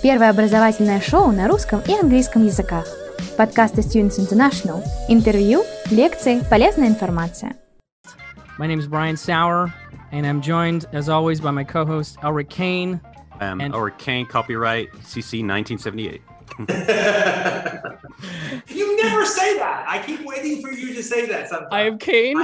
Первое образовательное шоу на русском и английском языках. Подкасты Students International. Интервью, лекции, полезная информация. My name is Brian Sauer, and I'm joined, as always, by my co-host, Elric Kane. Elric Kane, copyright CC 1978. You never say that. I keep waiting for you to say that sometimes. I am Kane.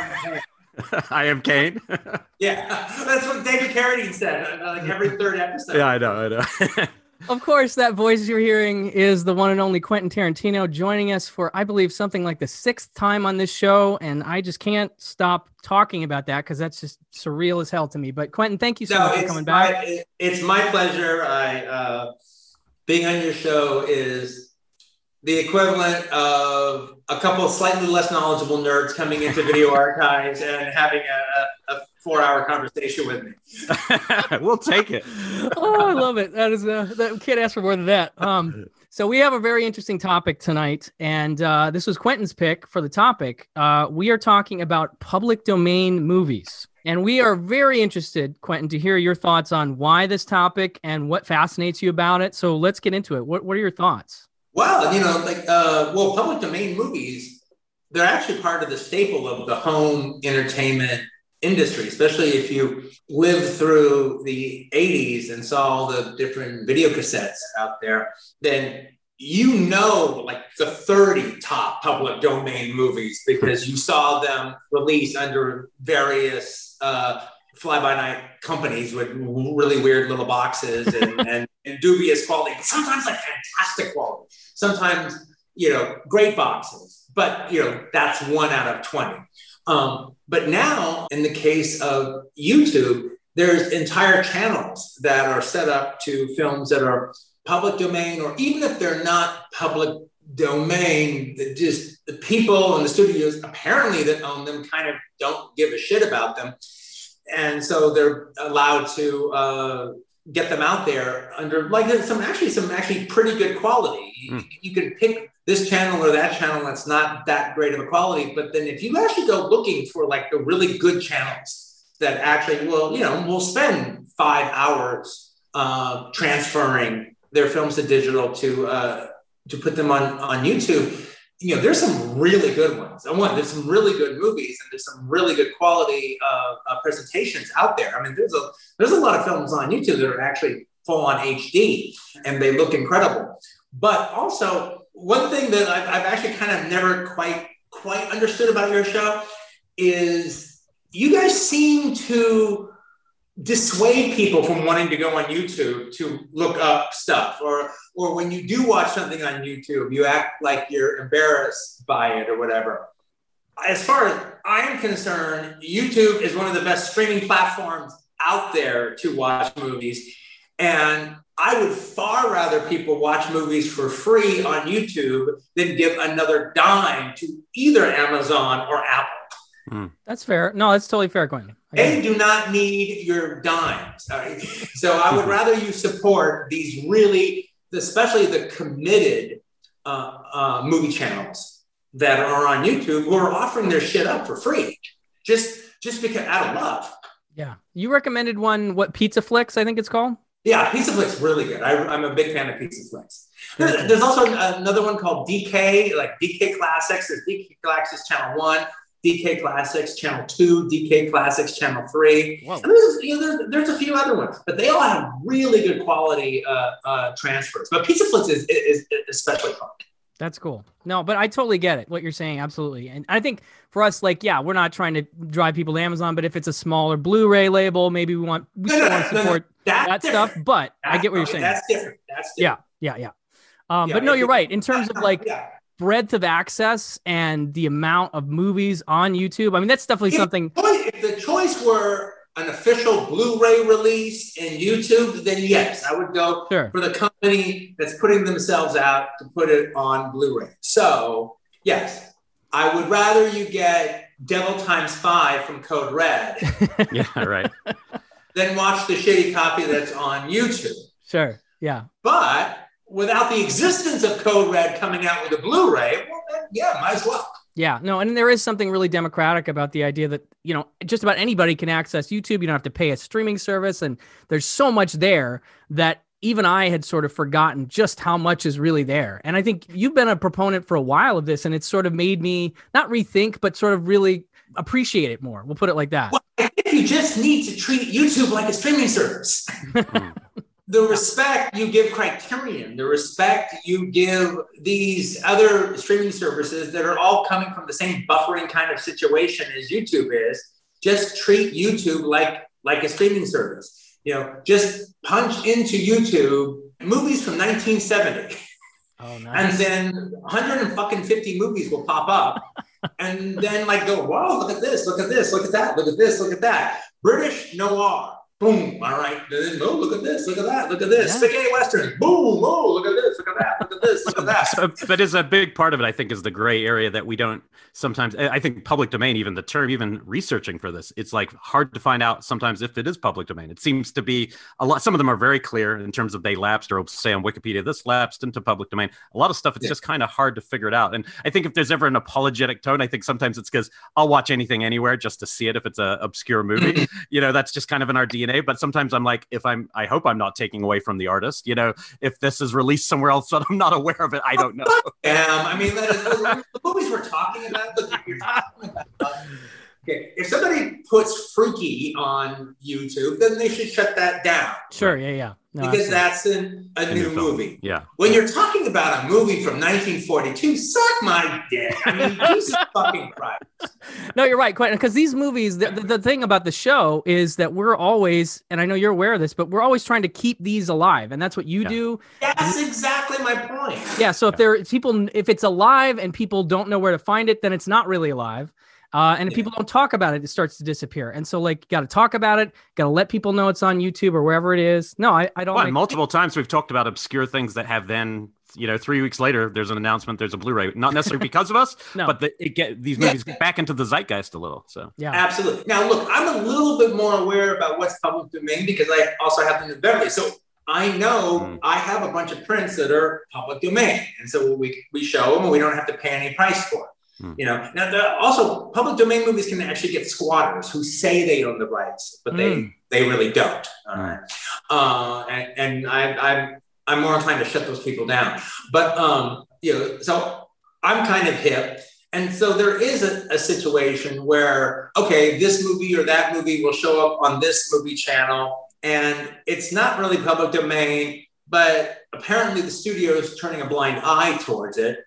I am Kane. Yeah, that's what David Carradine said like every third episode. Yeah, I know. Of course, that voice you're hearing is the one and only Quentin Tarantino, joining us for, I believe, something like the 6th time on this show, and I just can't stop talking about that because that's just surreal as hell to me. But Quentin, thank you so much for coming back. It's my pleasure. Being on your show is the equivalent of a couple of slightly less knowledgeable nerds coming into Video Archives and having a 4-hour conversation with me. We'll take it. Oh, I love it. That can't ask for more than that. So we have a very interesting topic tonight, and this was Quentin's pick for the topic. We are talking about public domain movies. And we are very interested, Quentin, to hear your thoughts on why this topic and what fascinates you about it. So let's get into it. What are your thoughts? Well, public domain movies, they're actually part of the staple of the home entertainment industry, especially if you lived through the 80s and saw all the different video cassettes out there, then you know like the 30 top public domain movies because you saw them released under various fly-by-night companies with really weird little boxes and dubious quality, sometimes like fantastic quality, sometimes, great boxes, but, that's 1 out of 20. But now, in the case of YouTube, there's entire channels that are set up to films that are public domain, or even if they're not public domain, just the people and the studios apparently that own them kind of don't give a shit about them. And so they're allowed to get them out there under like some actually pretty good quality. You can pick this channel or that channel that's not that great of a quality, but then if you actually go looking for like the really good channels that actually will spend 5 hours transferring their films to digital to put them on YouTube. There's some really good ones. There's some really good movies and there's some really good quality presentations out there. I mean, there's a lot of films on YouTube that are actually full on HD and they look incredible. But also, one thing that I've actually kind of never quite understood about your show is you guys seem to dissuade people from wanting to go on YouTube to look up stuff, or when you do watch something on YouTube, you act like you're embarrassed by it or whatever. As far as I am concerned, YouTube is one of the best streaming platforms out there to watch movies. And I would far rather people watch movies for free on YouTube than give another dime to either Amazon or Apple. That's fair. No, that's totally fair, Quentin. They do not need your dimes. Right? So I would rather you support these really, especially the committed movie channels that are on YouTube who are offering their shit up for free, just because out of love. Yeah. You recommended one, Pizza Flicks, I think it's called? Yeah, Pizza Flicks really good. I'm a big fan of Pizza Flicks. There's also another one called DK, like DK Classics. There's DK Classics Channel 1, DK Classics Channel 2, DK Classics Channel 3. Whoa. And there's a few other ones, but they all have really good quality transfers. But Pizza Flicks is especially fun. That's cool. No, but I totally get it, what you're saying. Absolutely. And I think for us, we're not trying to drive people to Amazon, but if it's a smaller Blu-ray label, maybe we still want to support that stuff. But I get what you're saying. That's different. Yeah. But no, you're right. In terms of breadth of access and the amount of movies on YouTube, I mean, that's definitely something. If the choice were an official Blu-ray release in YouTube, then yes, I would go for the company that's putting themselves out to put it on Blu-ray. So yes, I would rather you get Devil Times 5 from Code Red. Yeah, right. Than watch the shitty copy that's on YouTube. Sure. Yeah. But without the existence of Code Red coming out with a Blu-ray, well, then, yeah, might as well. Yeah, no, and there is something really democratic about the idea that, just about anybody can access YouTube. You don't have to pay a streaming service, and there's so much there that even I had sort of forgotten just how much is really there. And I think you've been a proponent for a while of this, and it's sort of made me not rethink, but sort of really appreciate it more. We'll put it like that. Well, I think you just need to treat YouTube like a streaming service. The respect you give Criterion, the respect you give these other streaming services that are all coming from the same buffering kind of situation as YouTube is, just treat YouTube like a streaming service. Just punch into YouTube movies from 1970. Oh, nice. And then 150 movies will pop up. And then go, wow, look at this, look at this, look at that, look at this, look at that. British noir. Boom. All right. Then, oh, look at this. Look at that. Look at this. Yeah. Spaghetti Western. Boom. Oh, look at this. Look at that. Look at this. Look at that. But is a big part of it, I think, is the gray area that we don't sometimes. I think public domain, even the term, even researching for this, it's hard to find out sometimes if it is public domain. It seems to be a lot. Some of them are very clear in terms of they lapsed, or say on Wikipedia, this lapsed into public domain. A lot of stuff, it's just kind of hard to figure it out. And I think if there's ever an apologetic tone, I think sometimes it's because I'll watch anything anywhere just to see it if it's an obscure movie. That's just kind of in our DNA. But sometimes I'm like, I hope I'm not taking away from the artist. If this is released somewhere else that I'm not aware of it, I don't know. I mean, the movies we're talking about. Look, you're talking about. Okay, if somebody puts Freaky on YouTube, then they should shut that down. Sure, yeah. No, because that's a new movie. Yeah. When you're talking about a movie from 1942, suck my dick. I mean, Jesus fucking Christ. No, you're right. Because these movies, the thing about the show is that we're always, and I know you're aware of this, but we're always trying to keep these alive. And that's what you do. That's exactly my point. Yeah. So if it's alive and people don't know where to find it, then it's not really alive. And if people don't talk about it, it starts to disappear. And so, you got to talk about it. Got to let people know it's on YouTube or wherever it is. No, I don't. Well, multiple times we've talked about obscure things that have then, 3 weeks later, there's an announcement, there's a Blu-ray. Not necessarily because of us, no. But these movies get back into the zeitgeist a little. So yeah, absolutely. Now, look, I'm a little bit more aware about what's public domain because I also have them in Beverly. So I know I have a bunch of prints that are public domain, and so we show them, and we don't have to pay any price for it. Now also public domain movies can actually get squatters who say they own the rights, but they really don't. All right. And I'm more inclined to shut those people down. But so I'm kind of hip. And so there is a situation where, okay, this movie or that movie will show up on this movie channel, and it's not really public domain, but apparently the studio is turning a blind eye towards it.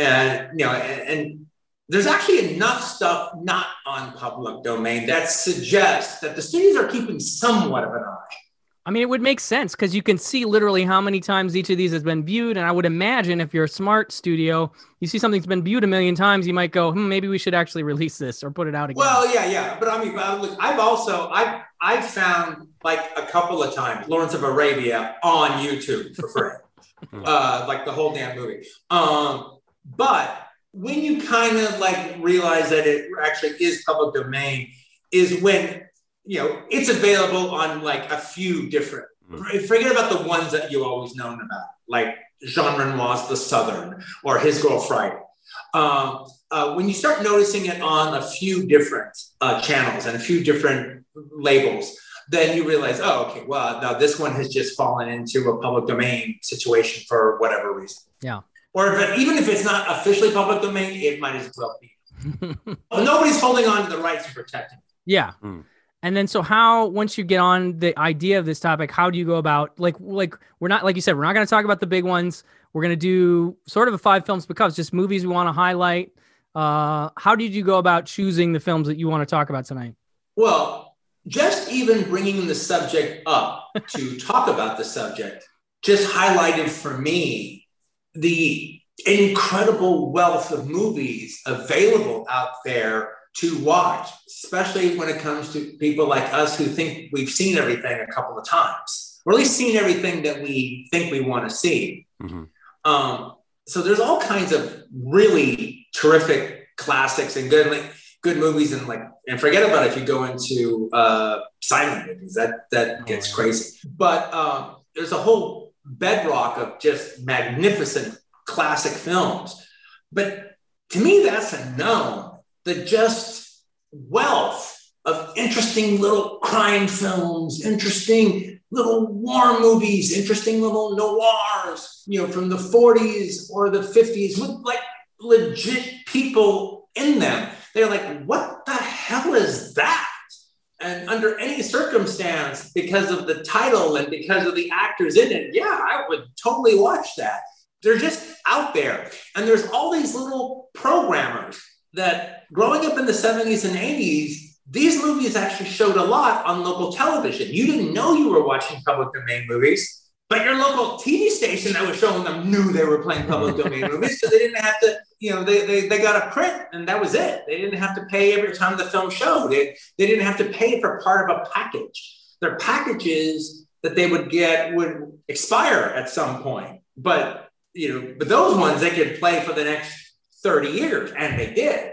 And there's actually enough stuff not on public domain that suggests that the studios are keeping somewhat of an eye. I mean, it would make sense because you can see literally how many times each of these has been viewed. And I would imagine if you're a smart studio, you see something's been viewed 1 million times, you might go, maybe we should actually release this or put it out again. Well, yeah. But I mean, look, I've found a couple of times Lawrence of Arabia on YouTube for free, the whole damn movie. But when you kind of realize that it actually is public domain is when, it's available on a few different, forget about the ones that you always known about, like Jean Renoir's The Southern or His Girl Friday. When you start noticing it on a few different channels and a few different labels, then you realize, okay, well, now this one has just fallen into a public domain situation for whatever reason. Yeah. Or even if it's not officially public domain, it might as well be. Well, nobody's holding on to the rights and protecting it. Yeah. And then so how, once you get on the idea of this topic, how do you go about, we're not, like you said, we're not going to talk about the big ones. We're going to do sort of a 5 films because just movies we want to highlight. How did you go about choosing the films that you want to talk about tonight? Well, just even bringing the subject up to talk about the subject just highlighted for me the incredible wealth of movies available out there to watch, especially when it comes to people like us who think we've seen everything a couple of times, or at least seen everything that we think we want to see. So there's all kinds of really terrific classics and good movies, and forget about if you go into silent movies, that gets crazy. But there's a whole bedrock of just magnificent classic films. But to me, that's a known. The just wealth of interesting little crime films, interesting little war movies, interesting little noirs, from the 40s or the 50s with like legit people in them. They're like, what the hell is that? And under any circumstance, because of the title and because of the actors in it, yeah, I would totally watch that. They're just out there. And there's all these little programmers that growing up in the 70s and 80s, these movies actually showed a lot on local television. You didn't know you were watching public domain movies, but your local TV station that was showing them knew they were playing public domain movies, so they didn't have to, they got a print and that was it. They didn't have to pay every time the film showed. They didn't have to pay for part of a package. Their packages that they would get would expire at some point, but those ones they could play for the next 30 years, and they did.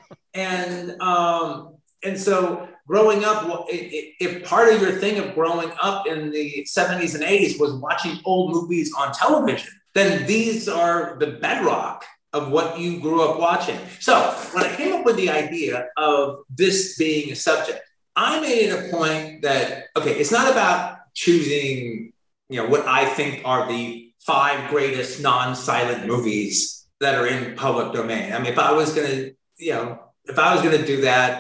And so growing up, if part of your thing of growing up in the 70s and 80s was watching old movies on television, then these are the bedrock of what you grew up watching. So when I came up with the idea of this being a subject, I made it a point that, okay, it's not about choosing, what I think are the 5 greatest non-silent movies that are in public domain. I mean, if I was going to do that,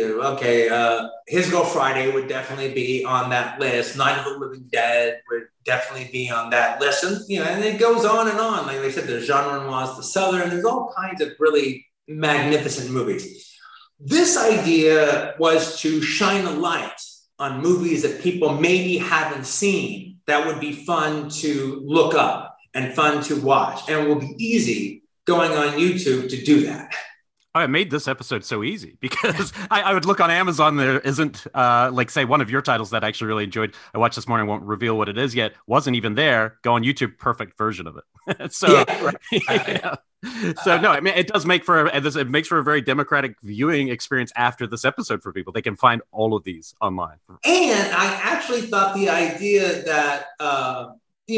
His Girl Friday would definitely be on that list. Night of the Living Dead would definitely be on that list. And, and it goes on and on. Like I said, there's Genre Noirs, The Southern, there's all kinds of really magnificent movies. This idea was to shine a light on movies that people maybe haven't seen that would be fun to look up and fun to watch. And it will be easy going on YouTube to do that. I made this episode so easy because I would look on Amazon. There isn't, say, one of your titles that I actually really enjoyed. I watched this morning, won't reveal what it is yet. Wasn't even there. Go on YouTube, perfect version of it. So, yeah. So no, I mean, it does make for it makes for a very democratic viewing experience after this episode for people. They can find all of these online. And I actually thought the idea that now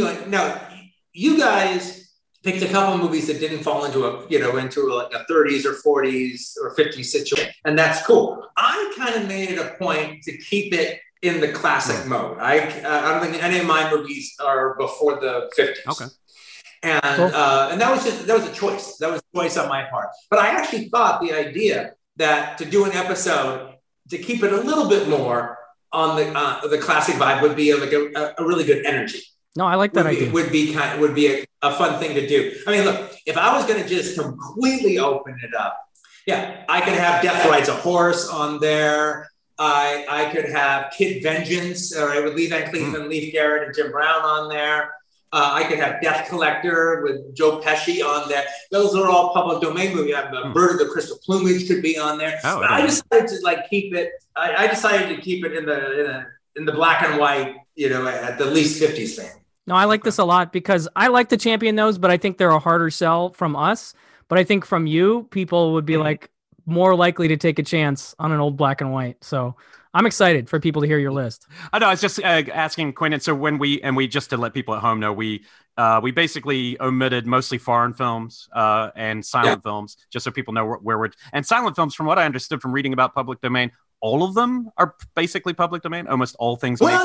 you guys picked a couple of movies that didn't fall into a 30s or 40s or 50s situation, and that's cool. I kind of made it a point to keep it in the classic mode. I don't think any of my movies are before the 50s. Okay. And and that was a choice. That was a choice on my part. But I actually thought the idea that to do an episode to keep it a little bit more on the classic vibe would be like a really good energy. No, I like that idea. Would be a fun thing to do. I mean, look, if I was going to just completely open it up, yeah, I could have Death Rides a Horse on there. I could have Kid Vengeance, all right, with Lee Van Cleef and Leif Garrett and Jim Brown on there. I could have Death Collector with Joe Pesci on there. Those are all public domain movies. Bird of the Crystal Plumage could be on there. But I decided to keep it. I decided to keep it in the black and white, at the least 50s thing. No, I like this a lot because I like to champion those, but I think they're a harder sell from us. But I think from you, people would be more likely to take a chance on an old black and white. So I'm excited for people to hear your list. I know. I was just asking Quentin. So when we just to let people at home know, we basically omitted mostly foreign films and silent films, just so people know where we're. And silent films, from what I understood from reading about public domain, all of them are basically public domain. Almost all things. They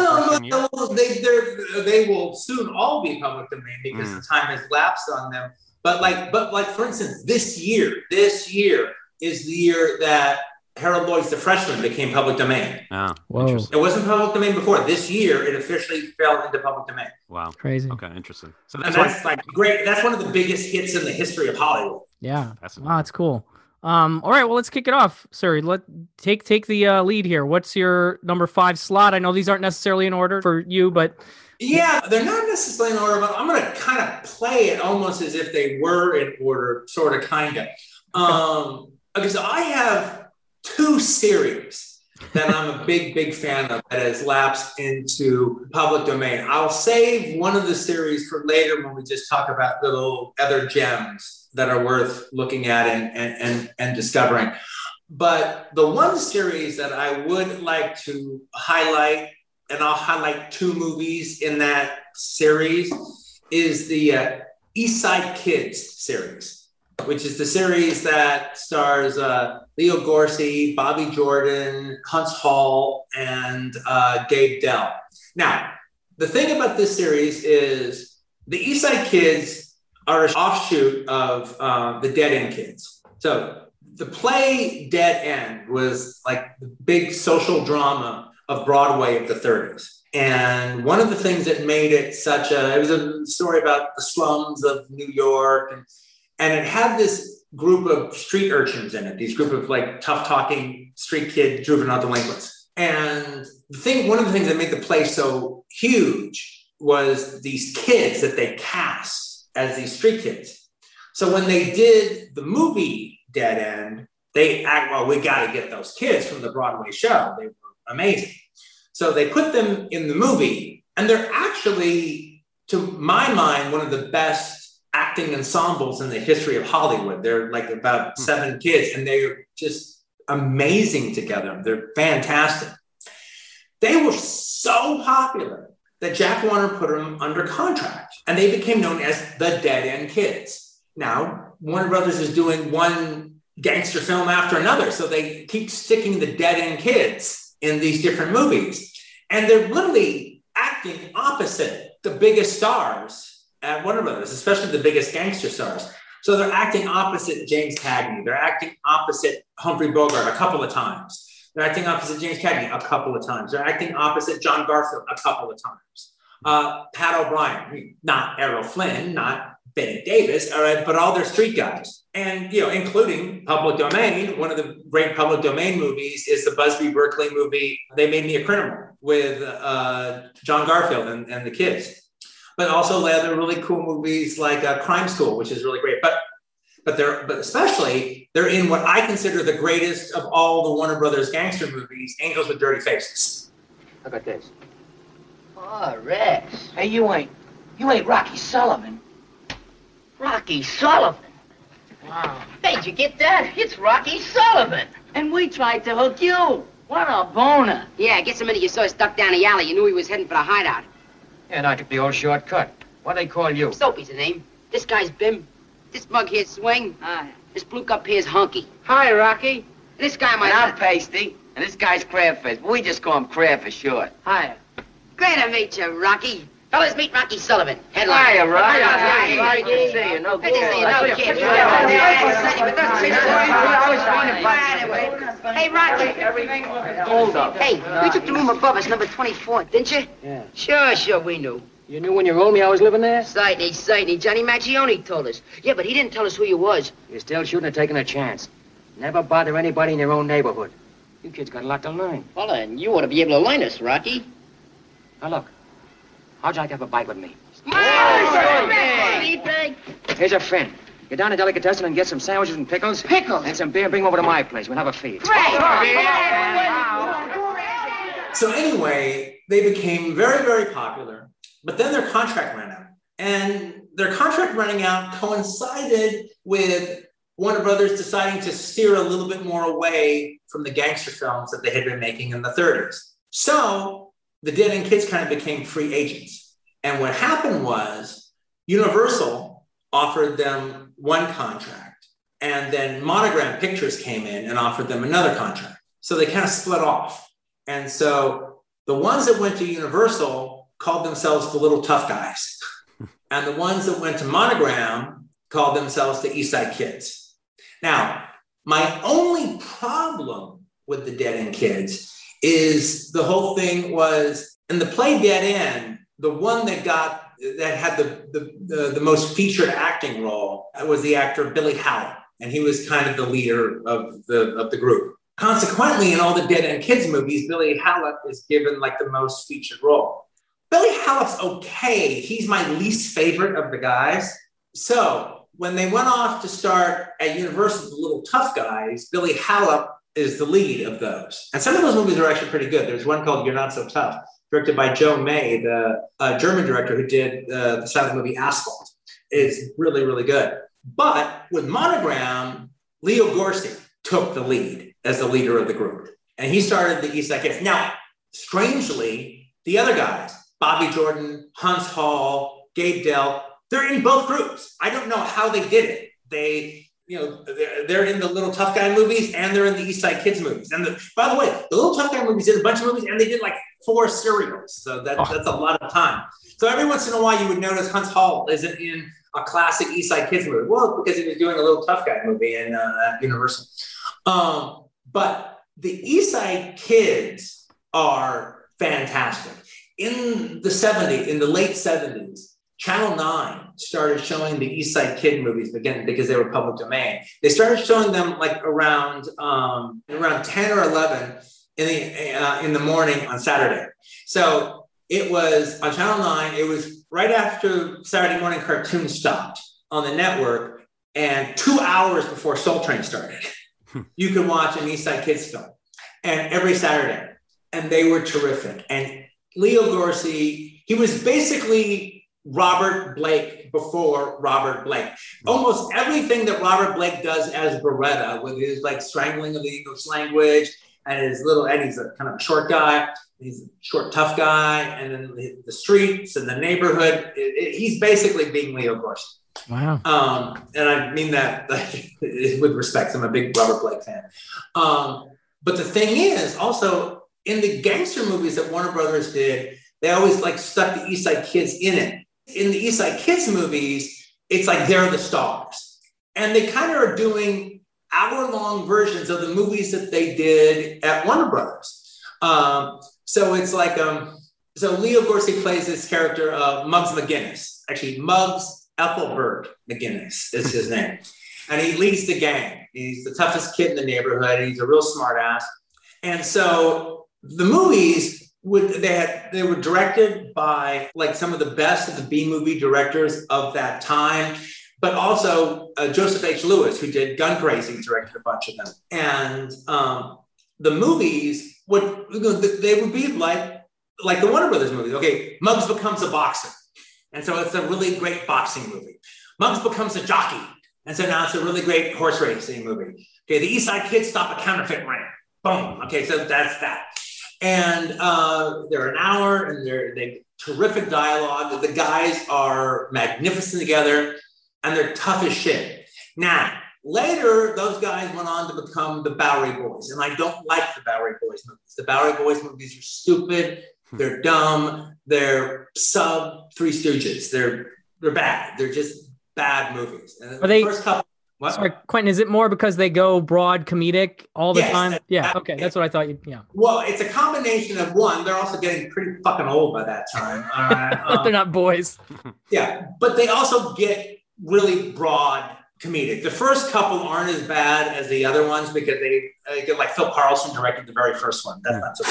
will soon all be public domain because the time has lapsed on them. But for instance, this year is the year that Harold Lloyd's The Freshman became public domain. Oh, it wasn't public domain before. This year, it officially fell into public domain. Wow, crazy. Okay, interesting. So that's great. That's one of the biggest hits in the history of Hollywood. Yeah, that's cool. All right, well, let's kick it off, sir. Take the lead here. What's your number 5 slot? I know these aren't necessarily in order for you, but yeah, they're not necessarily in order. But I'm going to kind of play it almost as if they were in order, sort of, kind of. Okay, so I have 2 series that I'm a big fan of that has lapsed into public domain. I'll save one of the series for later when we just talk about little other gems that are worth looking at and discovering. But the one series that I would like to highlight, and I'll highlight 2 movies in that series, is the East Side Kids series. which is the series that stars Leo Gorcey, Bobby Jordan, Huntz Hall, and Gabe Dell. Now, the thing about this series is the East Side Kids are an offshoot of the Dead End Kids. So the play Dead End was like the big social drama of Broadway of the 30s. And one of the things that made it it was a story about the slums of New York. And it had this group of street urchins in it, these group of like tough talking street kid juvenile delinquents. And one of the things that made the play so huge was these kids that they cast as these street kids. So when they did the movie Dead End, we got to get those kids from the Broadway show. They were amazing. So they put them in the movie, and they're actually, to my mind, one of the best acting ensembles in the history of Hollywood. They're like about 7 kids, and they're just amazing together. They're fantastic. They were so popular that Jack Warner put them under contract, and they became known as the Dead End Kids. Now, Warner Brothers is doing one gangster film after another, so they keep sticking the Dead End Kids in these different movies. And they're literally acting opposite the biggest stars at Warner Brothers, especially the biggest gangster stars. So they're acting opposite James Cagney. They're acting opposite Humphrey Bogart a couple of times. They're acting opposite James Cagney a couple of times. They're acting opposite John Garfield a couple of times. Pat O'Brien, not Errol Flynn, not Bette Davis, all right, but all their street guys. And, including Public Domain. One of the great Public Domain movies is the Busby Berkeley movie, They Made Me a Criminal, with John Garfield and the kids. But also they have really cool movies like Crime School, which is really great. But especially they're in what I consider the greatest of all the Warner Brothers gangster movies, Angels with Dirty Faces. Look at this. Oh, Rex. Hey, you ain't Rocky Sullivan. Rocky Sullivan. Wow. How'd you get that? It's Rocky Sullivan. And we tried to hook you. What a boner. Yeah, guess the minute you saw us duck down the alley, you knew he was heading for the hideout. Yeah, and I took the old shortcut. What do they call you? Soapy's the name. This guy's Bim. This mug here's Swing. This blue cup here's Hunky. Hi, Rocky. And this guy might... And I'm Pasty. And this guy's Crabfish. We just call him Crab for short. Hi. Great to meet you, Rocky. Fellas, meet Rocky Sullivan. Headline. Hiya, Rocky. Hi, good to see you. No good. Kid. Hey, Rocky. Hold up. Hey, you took the room above us, number 24, didn't you? Yeah. Sure, we knew. You knew when you rolled me I was living there? Certainly. Johnny Maggione told us. Yeah, but he didn't tell us who you was. You still shouldn't have taken a chance. Never bother anybody in your own neighborhood. You kids got a lot to learn. Well, and you ought to be able to learn us, Rocky. Now, look. How'd you like to have a bite with me? Hey! Here's a friend. Get down to Delicatessen and get some sandwiches and pickles. Pickles? And some beer. Bring them over to my place. We'll have a feed. So anyway, they became very, very popular, but then their contract ran out. And their contract running out coincided with Warner Brothers deciding to steer a little bit more away from the gangster films that they had been making in the 30s. So the Dead End Kids kind of became free agents. And what happened was Universal offered them one contract, and then Monogram Pictures came in and offered them another contract. So they kind of split off. And so the ones that went to Universal called themselves the Little Tough Guys. And the ones that went to Monogram called themselves the East Side Kids. Now, my only problem with the Dead End Kids is the whole thing was, in the play Dead End, the one that had the most featured acting role was the actor Billy Howell, and he was kind of the leader of the group. Consequently, in all the Dead End Kids movies, Billy Howell is given like the most featured role. Billy Howell's okay. He's my least favorite of the guys. So when they went off to start at Universal, the Little Tough Guys, Billy Howell is the lead of those. And some of those movies are actually pretty good. There's one called You're Not So Tough, directed by Joe May, the German director who did the silent movie Asphalt. It's really, really good. But with Monogram, Leo Gorcey took the lead as the leader of the group. And he started the East Side Kids. Now, strangely, the other guys, Bobby Jordan, Huntz Hall, Gabe Dell, they're in both groups. I don't know how they did it. they're in the Little Tough Guy movies and they're in the East Side Kids movies. And by the way, the Little Tough Guy movies did a bunch of movies and they did like 4 serials. So that's a lot of time. So every once in a while you would notice Huntz Hall isn't in a classic East Side Kids movie. Well, because he was doing a Little Tough Guy movie in Universal. But the East Side Kids are fantastic. In the late 70s, Channel 9 started showing the East Side Kid movies again because they were public domain. They started showing them like around 10 or 11 in the morning on Saturday. So it was on Channel 9. It was right after Saturday morning cartoons stopped on the network, and 2 hours before Soul Train started, you could watch an East Side Kids film, and every Saturday, and they were terrific. And Leo Gorcey, he was basically Robert Blake before Robert Blake. Almost everything that Robert Blake does as Beretta, with his like strangling of the English language and he's a kind of a short guy, he's a short, tough guy, and then the streets and the neighborhood, he's basically being Leo Gorcey. Wow. And I mean that with respect. I'm a big Robert Blake fan. But the thing is, also, in the gangster movies that Warner Brothers did, they always like stuck the East Side Kids in it. In the East Side Kids movies, it's like they're the stars. And they kind of are doing hour-long versions of the movies that they did at Warner Brothers. So it's like, so Leo Gorcey plays this character, Muggs McGinnis. Actually, Muggs Ethelbert McGinnis is his name. And he leads the gang. He's the toughest kid in the neighborhood. He's a real smart ass. And so the movies, they were directed by like some of the best of the B-movie directors of that time, but also Joseph H. Lewis, who did Gun Crazy, directed a bunch of them. And the movies they would be like the Warner Brothers movies. Okay, Muggs becomes a boxer, and so it's a really great boxing movie. Muggs becomes a jockey, and so now it's a really great horse racing movie. Okay, the East Side Kids stop a counterfeit ring. Boom. Okay, so that's that. And they're an hour, and they terrific dialogue. The guys are magnificent together, and they're tough as shit. Now, later, those guys went on to become the Bowery Boys, and I don't like the Bowery Boys movies. The Bowery Boys movies are stupid. They're dumb. They're sub Three Stooges. They're bad. They're just bad movies. Are they? First couple. What? Sorry, Quentin, is it more because they go broad comedic all the time? Yeah, okay, that's what I thought. Yeah. Well, it's a combination of one. They're also getting pretty fucking old by that time. They're not boys. Yeah, but they also get really broad comedic. The first couple aren't as bad as the other ones because they get like Phil Carlson directed the very first one. That's not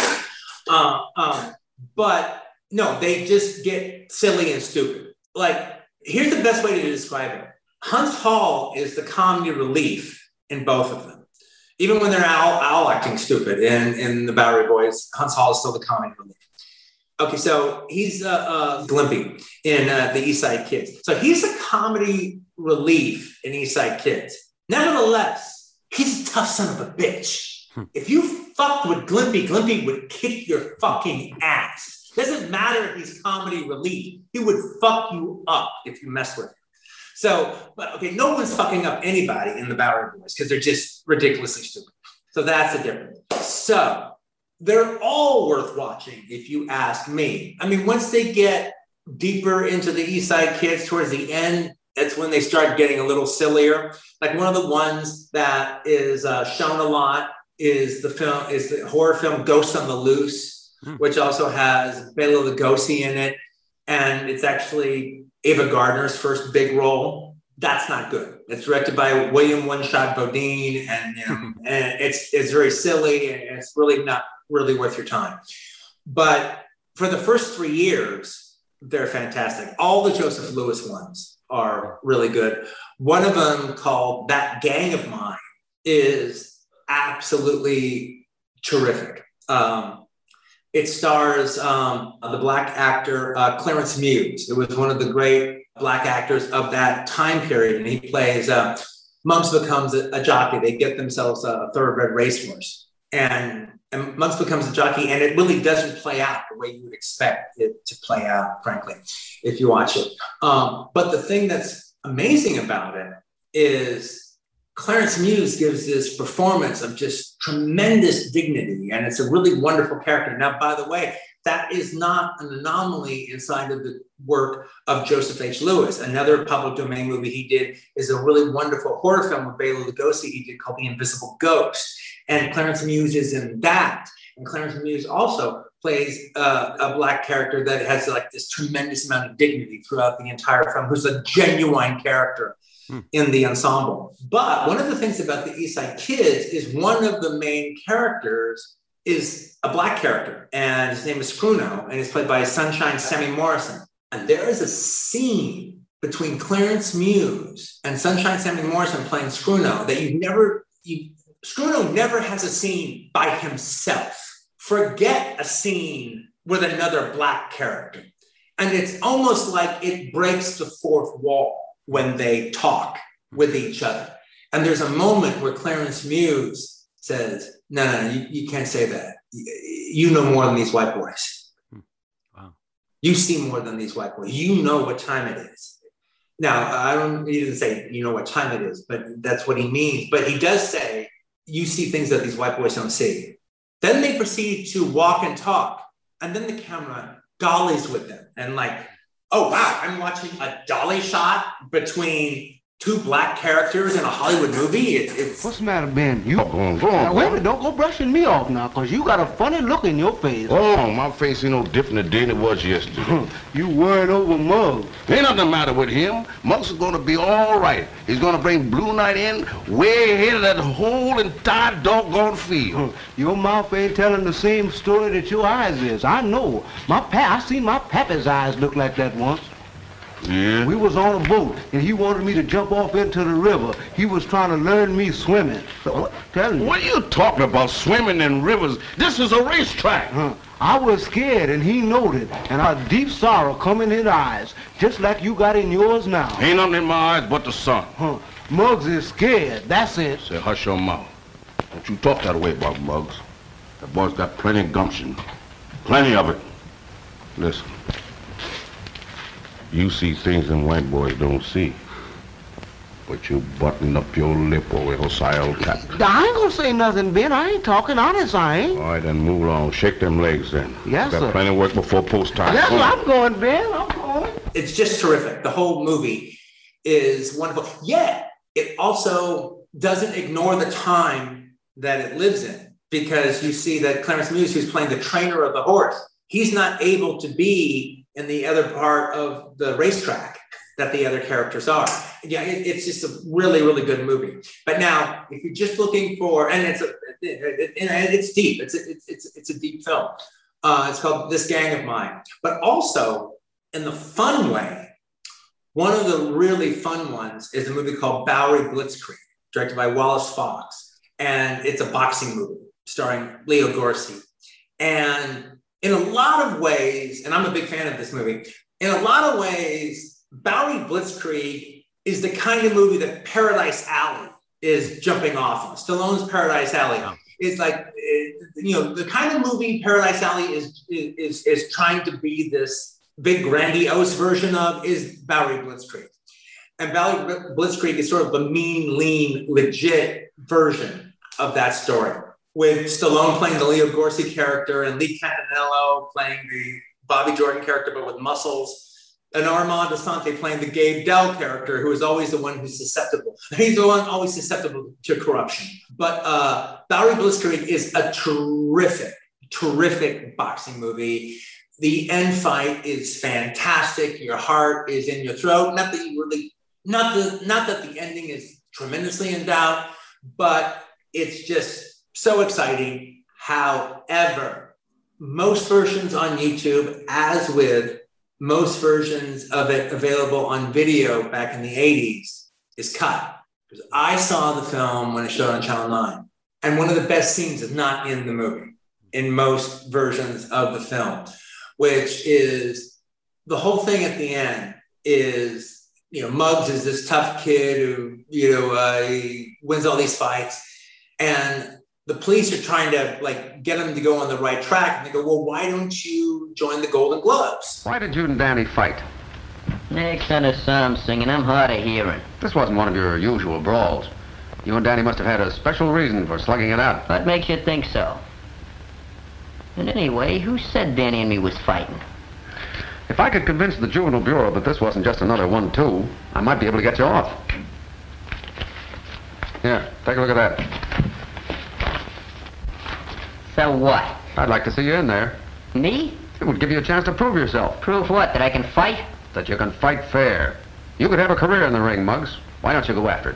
so bad. But no, they just get silly and stupid. Like, here's the best way to describe it. Huntz Hall is the comedy relief in both of them. Even when they're all acting stupid in the Bowery Boys, Huntz Hall is still the comedy relief. Okay, so he's Glimpy in the East Side Kids. So he's a comedy relief in East Side Kids. Nevertheless, he's a tough son of a bitch. If you fucked with Glimpy, Glimpy would kick your fucking ass. Doesn't matter if he's comedy relief. He would fuck you up if you mess with him. So, but okay, no one's fucking up anybody in the Bowery Boys because they're just ridiculously stupid. So that's the difference. So they're all worth watching if you ask me. I mean, once they get deeper into the East Side Kids towards the end, that's when they start getting a little sillier. Like one of the ones that is shown a lot is the horror film Ghost on the Loose, which also has Bela Lugosi in it. And it's actually Ava Gardner's first big role. That's not good. It's directed by William One-Shot Bodine, and it's very silly, and it's really not really worth your time. But for the first 3 years, they're fantastic. All the Joseph Lewis ones are really good. One of them, called That Gang of Mine, is absolutely terrific. It stars the Black actor Clarence Muse. It was one of the great Black actors of that time period, and he plays Mumps becomes a jockey. They get themselves a thoroughbred racehorse, and Mumps becomes a jockey, and it really doesn't play out the way you would expect it to play out, frankly, if you watch it. But the thing that's amazing about it is Clarence Muse gives this performance of just tremendous dignity, and it's a really wonderful character. Now, by the way, that is not an anomaly inside of the work of Joseph H. Lewis. Another public domain movie he did is a really wonderful horror film with Bela Lugosi he did called The Invisible Ghost. And Clarence Muse is in that. And Clarence Muse also plays a Black character that has like this tremendous amount of dignity throughout the entire film, who's a genuine character in the ensemble. But one of the things about the East Side Kids is one of the main characters is a Black character, and his name is Scruno, and he's played by Sunshine Sammy Morrison. And there is a scene between Clarence Muse and Sunshine Sammy Morrison playing Scruno that Scruno never has a scene by himself. Forget a scene with another Black character. And it's almost like it breaks the fourth wall when they talk with each other. And there's a moment where Clarence Muse says, no, you can't say that. You know more than these white boys. Wow. You see more than these white boys. You know what time it is. Now, he didn't say, you know what time it is, but that's what he means. But he does say, you see things that these white boys don't see. Then they proceed to walk and talk. And then the camera dollies with them. And like, oh, wow, I'm watching a dolly shot between two Black characters in a Hollywood movie. What's the matter, Ben? You go on. Wait a minute, don't go brushing me off now, because you got a funny look in your face. Oh, my face ain't no different today than it was yesterday. You worried over Muggs. Ain't nothing the matter with him. Muggs is going to be all right. He's going to bring Blue Knight in way ahead of that whole entire doggone field. Your mouth ain't telling the same story that your eyes is. I know. I seen my pappy's eyes look like that once. Yeah? We was on a boat, and he wanted me to jump off into the river. He was trying to learn me swimming. So, tell me. What are you talking about, swimming in rivers? This is a racetrack. I was scared, and he knowed it, and a deep sorrow come in his eyes, just like you got in yours now. Ain't nothing in my eyes but the sun. Muggs is scared, that's it. Say, hush your mouth. Don't you talk that way about Muggs. The boy's got plenty of gumption. Plenty of it. Listen. You see things them white boys don't see. But you button up your lip over Hosea old cat. I ain't gonna say nothing, Ben. I ain't talking honest, I ain't. All right, then move along. Shake them legs then. Yes, sir. Got plenty of work before post time. Yes, sir. I'm going, Ben. I'm going. It's just terrific. The whole movie is wonderful. Yet, it also doesn't ignore the time that it lives in, because you see that Clarence Muse, who's playing the trainer of the horse, he's not able to be in the other part of the racetrack that the other characters are. Yeah, it's just a really, really good movie. But now, if you're just looking for, and it's deep. It's a deep film. It's called This Gang of Mine. But also, in the fun way, one of the really fun ones is a movie called Bowery Blitzkrieg, directed by Wallace Fox, and it's a boxing movie starring Leo Gorcey. And in a lot of ways, and I'm a big fan of this movie, in a lot of ways, Bowery Blitzkrieg is the kind of movie that Paradise Alley is jumping off of. Stallone's Paradise Alley. It's like, the kind of movie Paradise Alley is trying to be this big grandiose version of is Bowery Blitzkrieg. And Bowery Blitzkrieg is sort of the mean, lean, legit version of that story, with Stallone playing the Leo Gorcey character and Lee Campanello playing the Bobby Jordan character, but with muscles, and Armand Assante playing the Gabe Dell character, who is always the one who's susceptible. He's the one always susceptible to corruption. But Bowery Blitzkrieg is a terrific, terrific boxing movie. The end fight is fantastic. Your heart is in your throat. Not that the ending is tremendously in doubt, but it's just so exciting. However, most versions on YouTube, as with most versions of it available on video back in the 80s, is cut. Because I saw the film when it showed on Channel 9. And one of the best scenes is not in the movie, in most versions of the film, which is the whole thing at the end is, Muggs is this tough kid who, he wins all these fights. And the police are trying to get him to go on the right track. And they go, well, why don't you join the Golden Gloves? Why did you and Danny fight? Next on the psalm singing, I'm hard of hearing. This wasn't one of your usual brawls. You and Danny must have had a special reason for slugging it out. What makes you think so? And anyway, who said Danny and me was fighting? If I could convince the Juvenile Bureau that this wasn't just another 1-2, I might be able to get you off. Here, take a look at that. So what? I'd like to see you in there. Me? It would give you a chance to prove yourself. Prove what? That I can fight? That you can fight fair. You could have a career in the ring, Muggs. Why don't you go after it?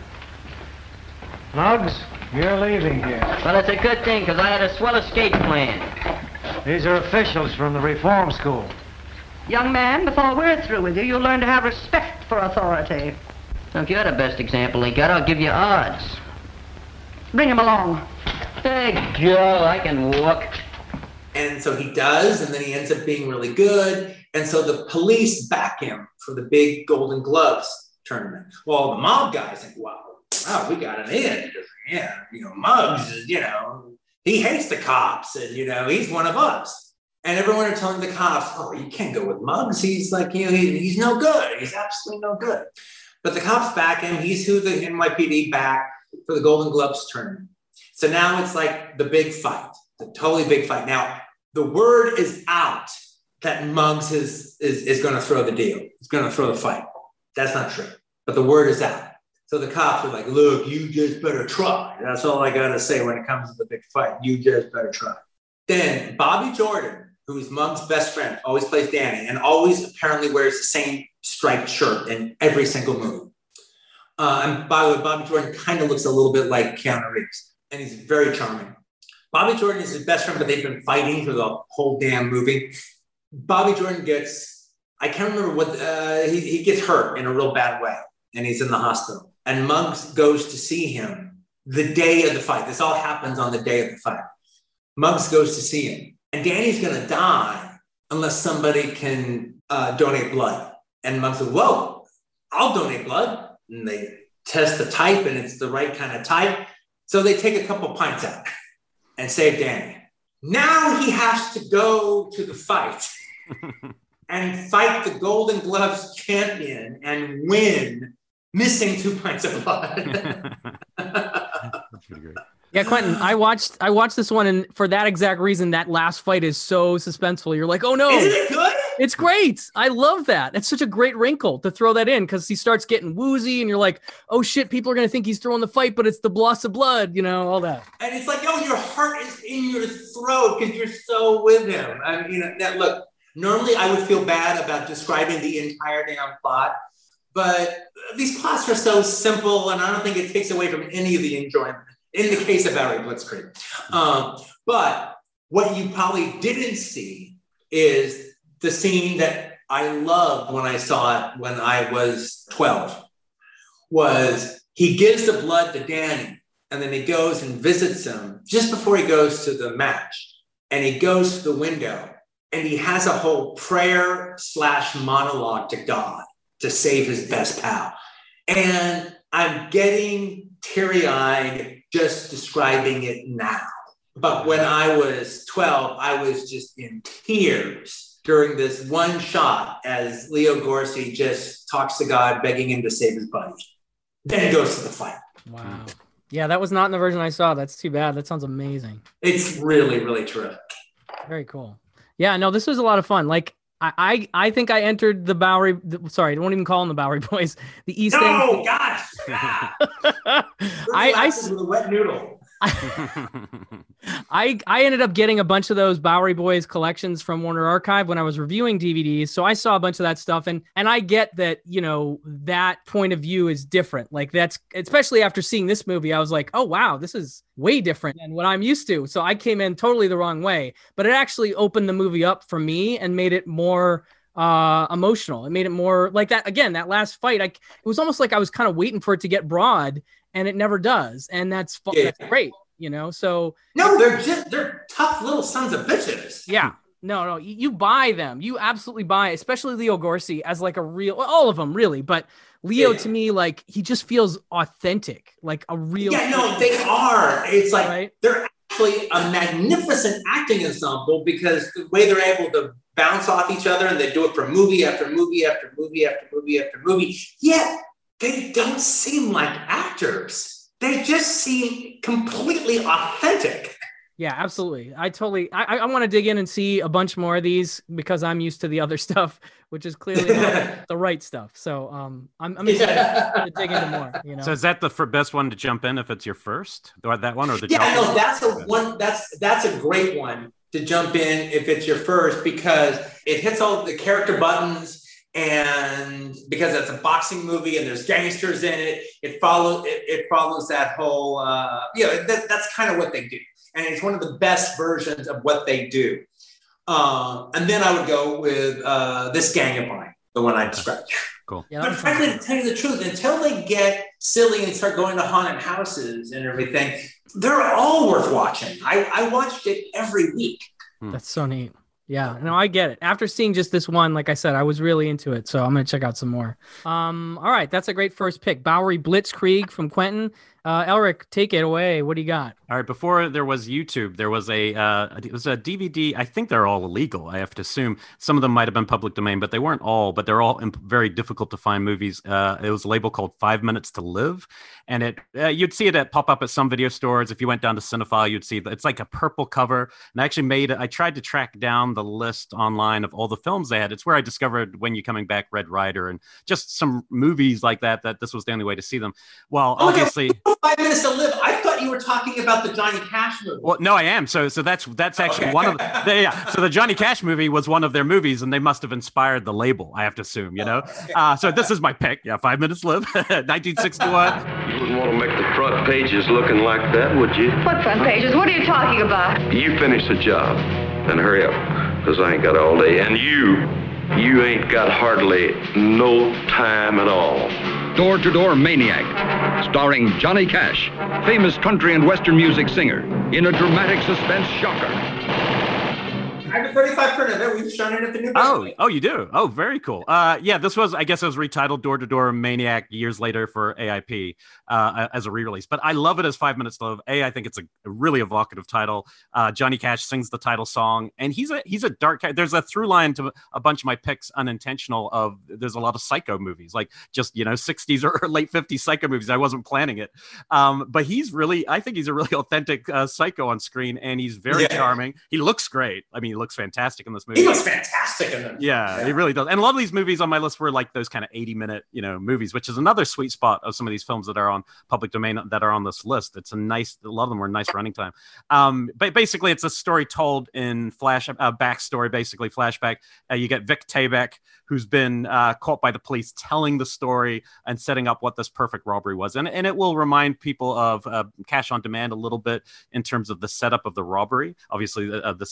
Muggs, you're leaving here. Well, it's a good thing, because I had a swell escape plan. These are officials from the reform school. Young man, before we're through with you, you'll learn to have respect for authority. Now, if you're the best example he got, I'll give you odds. Bring him along. Hey, Joe, I can walk. And so he does, and then he ends up being really good. And so the police back him for the big Golden Gloves tournament. Well, the mob guys think, wow, we got an in. Because, Muggs is, he hates the cops, and, he's one of us. And everyone are telling the cops, oh, you can't go with Muggs. He's like, he's no good. He's absolutely no good. But the cops back him. He's who the NYPD back for the Golden Gloves tournament. So now it's like the big fight, the totally big fight. Now, the word is out that Muggs is going to throw the deal. He's going to throw the fight. That's not true. But the word is out. So the cops are like, look, you just better try. That's all I got to say when it comes to the big fight. You just better try. Then Bobby Jordan, who is Muggs' best friend, always plays Danny and always apparently wears the same striped shirt in every single movie. And by the way, Bobby Jordan kind of looks a little bit like Keanu Reeves, and he's very charming. Bobby Jordan is his best friend, but they've been fighting for the whole damn movie. Bobby Jordan I can't remember what, he gets hurt in a real bad way, and he's in the hospital. And Muggs goes to see him the day of the fight. This all happens on the day of the fight. Muggs goes to see him. And Danny's going to die unless somebody can donate blood. And Muggs says, whoa, I'll donate blood. And they test the type, and it's the right kind of type. So they take a couple pints out and save Danny. Now he has to go to the fight and fight the Golden Gloves champion and win, missing 2 pints of blood. That's pretty great. Yeah, Quentin, I watched this one, and for that exact reason, that last fight is so suspenseful. You're like, oh no. Isn't it good? It's great. I love that. It's such a great wrinkle to throw that in, because he starts getting woozy and you're like, oh shit, people are going to think he's throwing the fight, but it's the loss of blood, all that. And it's like, your heart is in your throat because you're so with him. I mean, look, normally I would feel bad about describing the entire damn plot, but these plots are so simple, and I don't think it takes away from any of the enjoyment in the case of Barry Blitzkrieg. But what you probably didn't see is the scene that I loved when I saw it when I was 12, was he gives the blood to Danny, and then he goes and visits him just before he goes to the match. And he goes to the window, and he has a whole prayer / monologue to God to save his best pal. And I'm getting teary-eyed just describing it now. But when I was 12, I was just in tears during this one shot as Leo Gorcey just talks to God, begging him to save his buddy. Then goes to the fight. Wow. Yeah, that was not in the version I saw. That's too bad. That sounds amazing. It's really, really terrific. Very cool. Yeah, no, this was a lot of fun. Like, I think I entered the Bowery. Sorry, I won't even call them the Bowery Boys. The East End. No, gosh. I with a wet noodle. I ended up getting a bunch of those Bowery Boys collections from Warner Archive when I was reviewing DVDs. So I saw a bunch of that stuff, and I get that, that point of view is different. Like, that's, especially after seeing this movie, I was like, oh wow, this is way different than what I'm used to. So I came in totally the wrong way, but it actually opened the movie up for me and made it more emotional. It made it more like that. Again, that last fight, it was almost like I was kind of waiting for it to get broad, and it never does. And that's great, so. No, they're tough little sons of bitches. Yeah. No, you buy them. You absolutely buy, especially Leo Gorcey as like a real, all of them really, but Leo to me, like, he just feels authentic, like a real. Yeah, no, they are. It's like, right? They're actually a magnificent acting ensemble, because the way they're able to bounce off each other, and they do it for movie after movie after movie after movie after movie. Yet they don't seem like actors. they just seem completely authentic. Yeah, absolutely. I want to dig in and see a bunch more of these because I'm used to the other stuff, which is clearly not the right stuff. So I'm excited to dig into more. You know. So is that the best one to jump in if it's your first? That one or the? Yeah, no, that's a great one to jump in if it's your first, because it hits all the character buttons. And because it's a boxing movie and there's gangsters in it, it follows that whole that's kind of what they do. And it's one of the best versions of what they do. And then I would go with This Gang of Mine, the one I described. Cool. Yeah, but frankly, to tell you the truth, until they get silly and start going to haunted houses and everything, they're all worth watching. I watched it every week. That's so neat. Yeah, no, I get it. After seeing just this one, like I said, I was really into it, so I'm going to check out some more. All right, that's a great first pick. Bowery Blitzkrieg from Quentin. Elric, take it away. What do you got? All right, before there was YouTube, there was it was a DVD. I think they're all illegal. I have to assume some of them might have been public domain, but they weren't all. But they're all very difficult to find movies. It was a label called 5 Minutes to Live, and you'd see it pop up at some video stores. If you went down to Cinephile, you'd see it's like a purple cover. And I actually I tried to track down the list online of all the films they had. It's where I discovered When You Coming Back, Red Rider, and just some movies like that. That this was the only way to see them. Well, obviously. 5 Minutes to Live. I thought you were talking about the Johnny Cash movie. Well, no, I am. So that's actually one of yeah. So the Johnny Cash movie was one of their movies, and they must have inspired the label. I have to assume, you know. So this is my pick. Yeah, 5 Minutes to Live, 1961. You wouldn't want to make the front pages looking like that, would you? What front pages? What are you talking about? You finish the job, and hurry up, because I ain't got all day. And you ain't got hardly no time at all. Door to Door Maniac, starring Johnny Cash, famous country and western music singer, in a dramatic suspense shocker. I have a 35 print of it. We've shown it at the new. Oh, you do? Oh, very cool. Yeah, I guess it was retitled Door to Door Maniac years later for AIP as a re-release. But I love it as 5 Minutes to Live. I think it's a really evocative title. Johnny Cash sings the title song, and he's a dark guy. There's a through line to a bunch of my picks, unintentional. There's a lot of Psycho movies, like just 60s or late 50s Psycho movies. I wasn't planning it, but I think he's a really authentic Psycho on screen, and he's very charming. He looks great. I mean, he looks fantastic in this movie. He looks fantastic in them. Yeah, he really does. And a lot of these movies on my list were like those kind of 80-minute, movies, which is another sweet spot of some of these films that are on public domain that are on this list. A lot of them were nice running time. But basically, it's a story told in backstory, basically flashback. You get Vic Tayback, who's been caught by the police, telling the story and setting up what this perfect robbery was. And it will remind people of Cash on Demand a little bit in terms of the setup of the robbery. Obviously,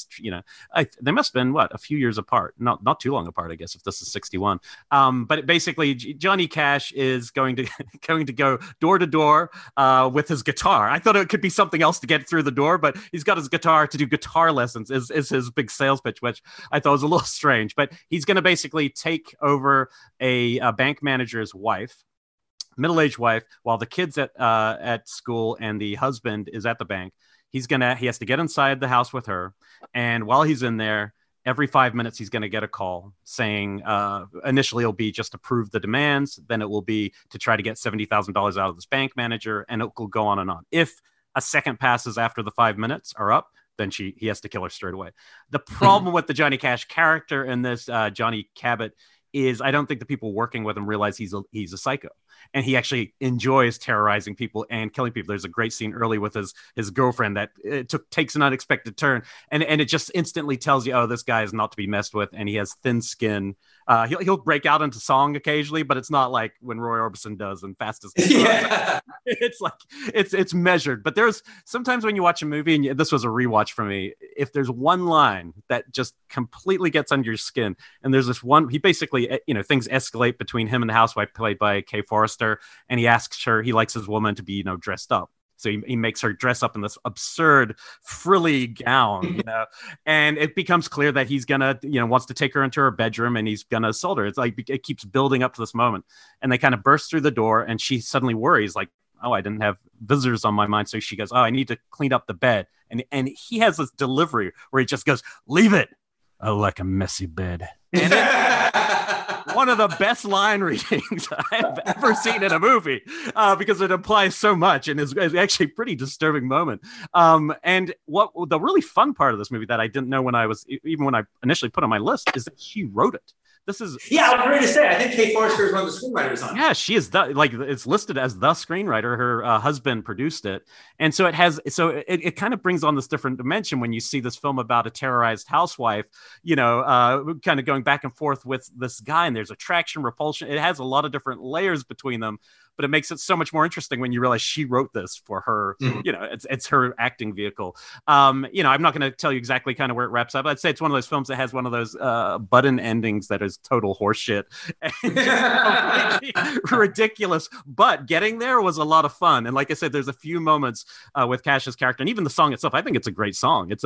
they must have been a few years apart, not too long apart, I guess, if this is 61. But basically, Johnny Cash is going to go door to door with his guitar. I thought it could be something else to get through the door, but he's got his guitar to do guitar lessons. Is his big sales pitch, which I thought was a little strange. But he's going to basically take over a bank manager's wife, middle-aged wife, while the kids at school and the husband is at the bank. He has to get inside the house with her, and while he's in there, every 5 minutes he's going to get a call saying, initially it'll be just to prove the demands, then it will be to try to get $70,000 out of this bank manager, and it will go on and on. If a second passes after the 5 minutes are up, then he has to kill her straight away. The problem with the Johnny Cash character in this, Johnny Cabot, is I don't think the people working with him realize he's a psycho. And he actually enjoys terrorizing people and killing people. There's a great scene early with his girlfriend that takes an unexpected turn. And it just instantly tells you, oh, this guy is not to be messed with. And he has thin skin. He'll break out into song occasionally, but it's not like when Roy Orbison does in Fast as It's like, it's measured. But there's sometimes when you watch a movie, and this was a rewatch for me, if there's one line that just completely gets under your skin, and there's this one, he basically, things escalate between him and the housewife played by Kay Forrester, and he asks her, he likes his woman to be, dressed up. So he makes her dress up in this absurd frilly gown, and it becomes clear that he's gonna, wants to take her into her bedroom and he's gonna assault her. It's like, it keeps building up to this moment, and they kind of burst through the door, and she suddenly worries, like, oh, I didn't have visitors on my mind. So she goes, oh, I need to clean up the bed. And he has this delivery where he just goes, leave it. I like a messy bed. And one of the best line readings I've ever seen in a movie, because it implies so much and is actually a pretty disturbing moment. And what the really fun part of this movie that I didn't know when I initially put on my list is that she wrote it. This is I was ready to say. I think Kate Forrester is one of the screenwriters on it. Yeah, she is it's listed as the screenwriter. Her husband produced it, and so it kind of brings on this different dimension when you see this film about a terrorized housewife, kind of going back and forth with this guy, and there's attraction, repulsion. It has a lot of different layers between them. But it makes it so much more interesting when you realize she wrote this for her. It's her acting vehicle. I'm not going to tell you exactly kind of where it wraps up. I'd say it's one of those films that has one of those button endings that is total horseshit and ridiculous. But getting there was a lot of fun. And like I said, there's a few moments with Cash's character, and even the song itself. I think it's a great song. The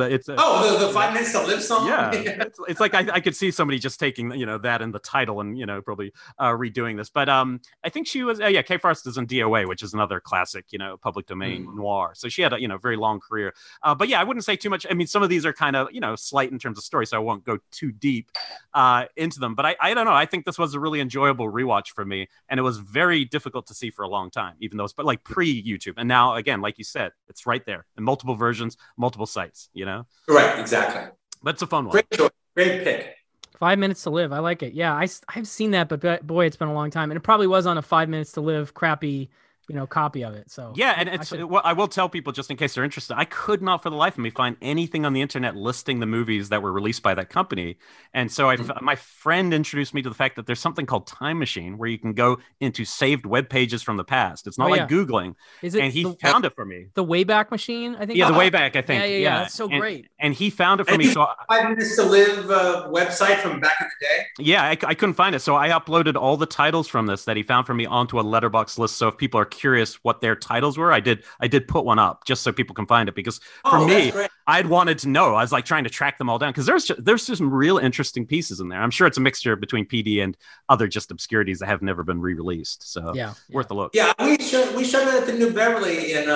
5 Minutes to Live song. Yeah, it's like I could see somebody just taking that in the title and probably redoing this. But I think she was Kate Forster's in DOA, which is another classic, public domain noir. So she had a very long career. But I wouldn't say too much. I mean, some of these are kind of, slight in terms of story, so I won't go too deep into them. But I don't know. I think this was a really enjoyable rewatch for me. And it was very difficult to see for a long time, even though it's like pre-YouTube. And now, again, like you said, it's right there in multiple versions, multiple sites, Right, exactly. But it's a fun one. Great choice. Great pick. 5 Minutes to Live. I like it. Yeah, I've seen that, but boy, it's been a long time. And it probably was on a 5 Minutes to Live crappy, copy of it. So yeah, and I will tell people, just in case they're interested, I could not for the life of me find anything on the internet listing the movies that were released by that company. And so my friend introduced me to the fact that there's something called Time Machine, where you can go into saved web pages from the past. It's not like Googling. And he found it for me. The Wayback Machine, I think. Yeah, the Wayback, I think. Yeah. That's so great. And he found it for me. So 5 Minutes to Live website from back in the day. Yeah, I couldn't find it. So I uploaded all the titles from this that he found for me onto a Letterboxd list. So if people are curious what their titles were, I did put one up just so people can find it, because for me, I'd wanted to know. I was like trying to track them all down, because there's just some real interesting pieces in there. I'm sure it's a mixture between PD and other just obscurities that have never been re-released. So worth a look. Yeah, we showed it at the New Beverly in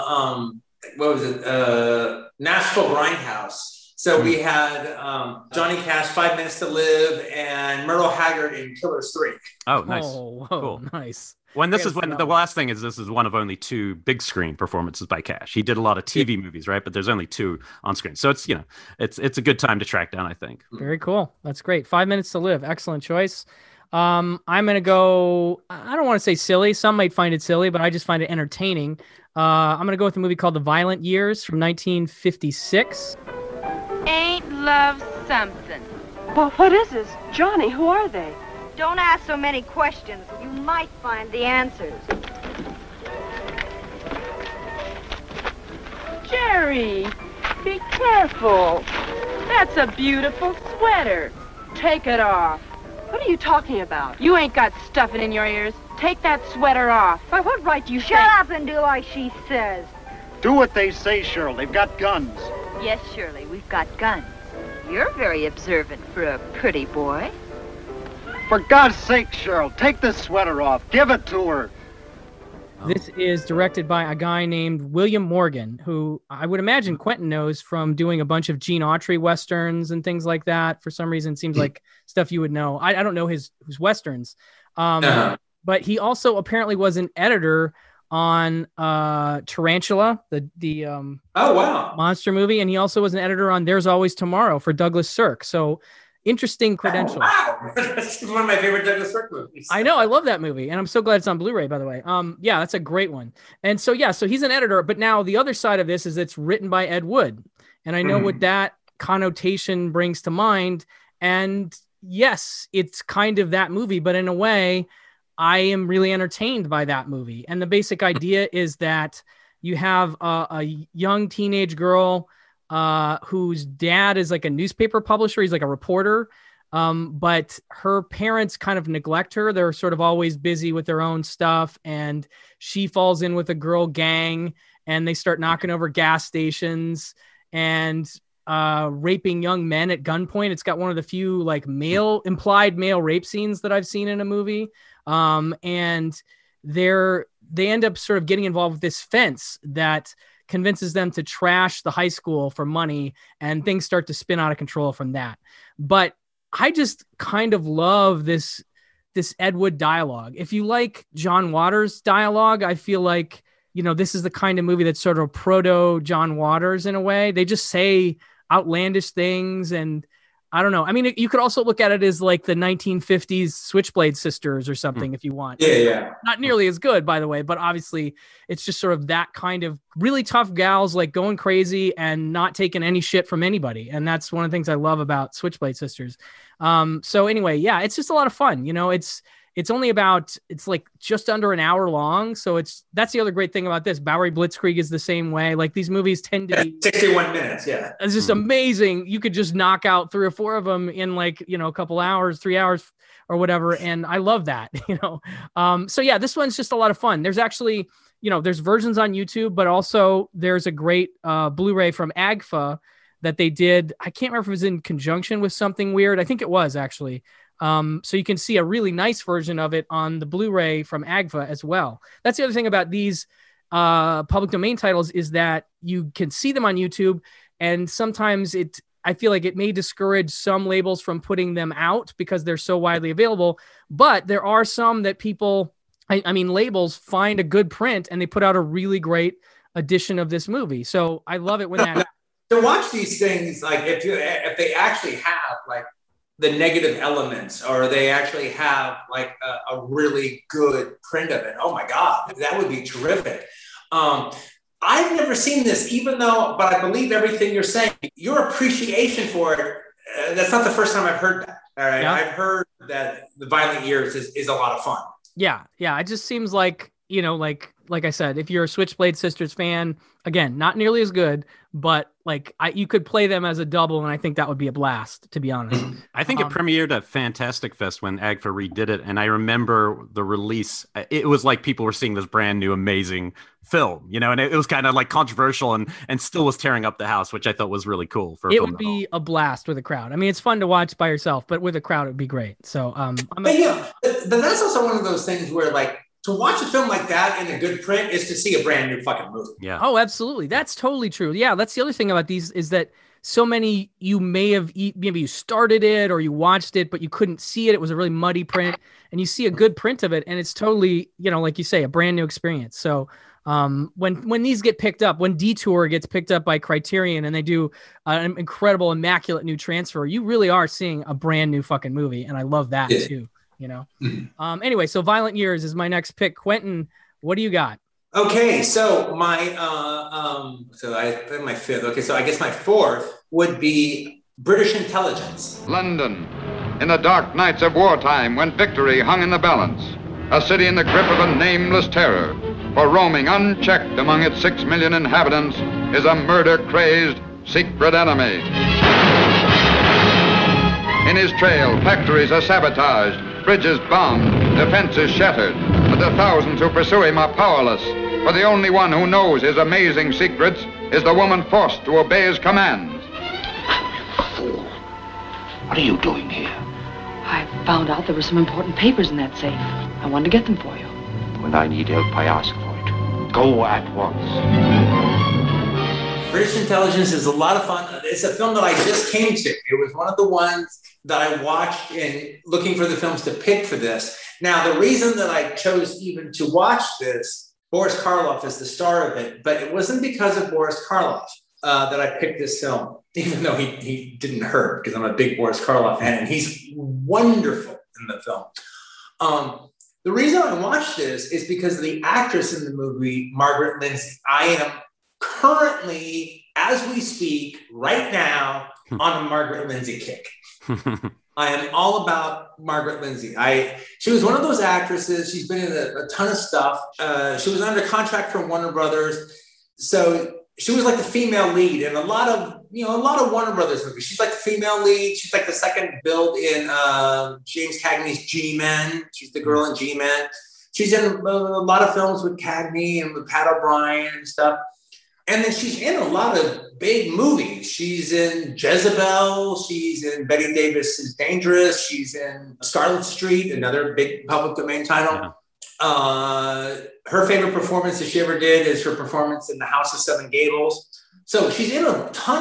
what was it? Nashville Grindhouse. So we had Johnny Cash, 5 Minutes to Live, and Myrtle Haggard in Killers 3. Oh, nice. Oh, cool. Nice. The last thing is, this is one of only 2 big screen performances by Cash. He did a lot of TV movies, right? But there's only 2 on screen. So it's, it's a good time to track down, I think. Very cool. That's great. 5 Minutes to Live. Excellent choice. I'm going to go, I don't want to say silly. Some might find it silly, but I just find it entertaining. I'm going to go with a movie called The Violent Years from 1956. Ain't love something? But what is this? Johnny, who are they? Don't ask so many questions. You might find the answers. Jerry, be careful. That's a beautiful sweater. Take it off. What are you talking about? You ain't got stuffing in your ears. Take that sweater off. By what right do you Shut up and do like she says. Do what they say, Cheryl. They've got guns. Yes, Shirley, we've got guns. You're very observant for a pretty boy. For God's sake, Cheryl, take this sweater off. Give it to her. This is directed by a guy named William Morgan, who I would imagine Quentin knows from doing a bunch of Gene Autry Westerns and things like that. For some reason, it seems like stuff you would know. I don't know his Westerns. But he also apparently was an editor on Tarantula, the monster movie. And he also was an editor on There's Always Tomorrow for Douglas Sirk. So interesting credentials. Wow. That's one of my favorite Douglas Sirk movies. I know. I love that movie. And I'm so glad it's on Blu-ray, by the way. Yeah, that's a great one. And so, so he's an editor. But now the other side of this is it's written by Ed Wood. And I know what that connotation brings to mind. And yes, it's kind of that movie. But in a way, I am really entertained by that movie. And the basic idea is that you have a young teenage girl whose dad is like a newspaper publisher. He's like a reporter. But her parents kind of neglect her. They're sort of always busy with their own stuff. And she falls in with a girl gang and they start knocking over gas stations and raping young men at gunpoint. It's got one of the few like implied male rape scenes that I've seen in a movie. And they end up sort of getting involved with this fence that convinces them to trash the high school for money, and things start to spin out of control from that. But I just kind of love this this Ed Wood dialogue. If you like John Waters dialogue, I feel like, this is the kind of movie that's sort of proto John Waters in a way. They just say outlandish things. And I don't know. I mean, you could also look at it as like the 1950s Switchblade Sisters or something if you want. Yeah. Not nearly as good, by the way, but obviously it's just sort of that kind of really tough gals like going crazy and not taking any shit from anybody. And that's one of the things I love about Switchblade Sisters. So anyway, yeah, it's just a lot of fun. It's only it's like just under an hour long. So that's the other great thing about this. Bowery Blitzkrieg is the same way. Like these movies tend to be 61 minutes. Yeah. It's just amazing. You could just knock out 3 or 4 of them in like, a couple hours, 3 hours or whatever. And I love that, So yeah, this one's just a lot of fun. There's actually, there's versions on YouTube, but also there's a great Blu-ray from AGFA that they did. I can't remember if it was in conjunction with something weird. I think it was actually. So you can see a really nice version of it on the Blu-ray from AGFA as well. That's the other thing about these public domain titles is that you can see them on YouTube, and sometimes I feel like it may discourage some labels from putting them out because they're so widely available. But there are some that people, labels find a good print and they put out a really great edition of this movie. So I love it when that. To watch these things, like if they actually have like the negative elements, or they actually have like a really good print of it. Oh my God, that would be terrific. I've never seen this, but I believe everything you're saying. Your appreciation for it, that's not the first time I've heard that. All right. Yeah. I've heard that The Violent Years is a lot of fun. Yeah. Yeah. It just seems like, like I said, if you're a Switchblade Sisters fan, again, not nearly as good, but like you could play them as a double, and I think that would be a blast, to be honest. I think it premiered at Fantastic Fest when AGFA redid it, and I remember the release. It was like people were seeing this brand new, amazing film, and it was kind of like controversial and still was tearing up the house, which I thought was really cool. It would be a blast with a crowd. I mean, it's fun to watch by yourself, but with a crowd, it would be great. So, but that's also one of those things where like, to watch a film like that in a good print is to see a brand new fucking movie. Yeah. Oh, absolutely. That's totally true. Yeah. That's the other thing about these is that so many, you may have, maybe you started it or you watched it, but you couldn't see it. It was a really muddy print, and you see a good print of it, and it's totally, like you say, a brand new experience. So when these get picked up, when Detour gets picked up by Criterion and they do an incredible, immaculate new transfer, you really are seeing a brand new fucking movie. And I love that too. Anyway, so Violent Years is my next pick. Quentin, what do you got? Okay, so my fifth. Okay, so I guess my fourth would be British Intelligence. London, in the dark nights of wartime, when victory hung in the balance, a city in the grip of a nameless terror, for roaming unchecked among its 6 million inhabitants is a murder-crazed secret enemy. In his trail, factories are sabotaged, bridges bombed, defenses shattered, but the thousands who pursue him are powerless, for the only one who knows his amazing secrets is the woman forced to obey his commands. Fool. What are you doing here? I found out there were some important papers in that safe. I wanted to get them for you. When I need help, I ask for it. Go at once. British Intelligence is a lot of fun. It's a film that I just came to. It was one of the ones that I watched in looking for the films to pick for this. Now, the reason that I chose even to watch this, Boris Karloff is the star of it, but it wasn't because of Boris Karloff that I picked this film, even though he didn't hurt, because I'm a big Boris Karloff fan, and he's wonderful in the film. The reason I watched this is because of the actress in the movie, Margaret Lindsay. I am currently, as we speak, right now, on a Margaret Lindsay kick. I am all about Margaret Lindsay. She was one of those actresses. She's been in a ton of stuff. She was under contract for Warner Brothers. So she was like the female lead in a lot of Warner Brothers movies. She's like the female lead. She's like the second build in James Cagney's G-Men. She's the girl in G-Men. She's in a lot of films with Cagney and with Pat O'Brien and stuff. And then she's in a lot of big movies. She's in Jezebel. She's in Bette Davis' Dangerous. She's in Scarlet Street, another big public domain title. Yeah. Her favorite performance that she ever did is her performance in The House of Seven Gables. So she's in a ton of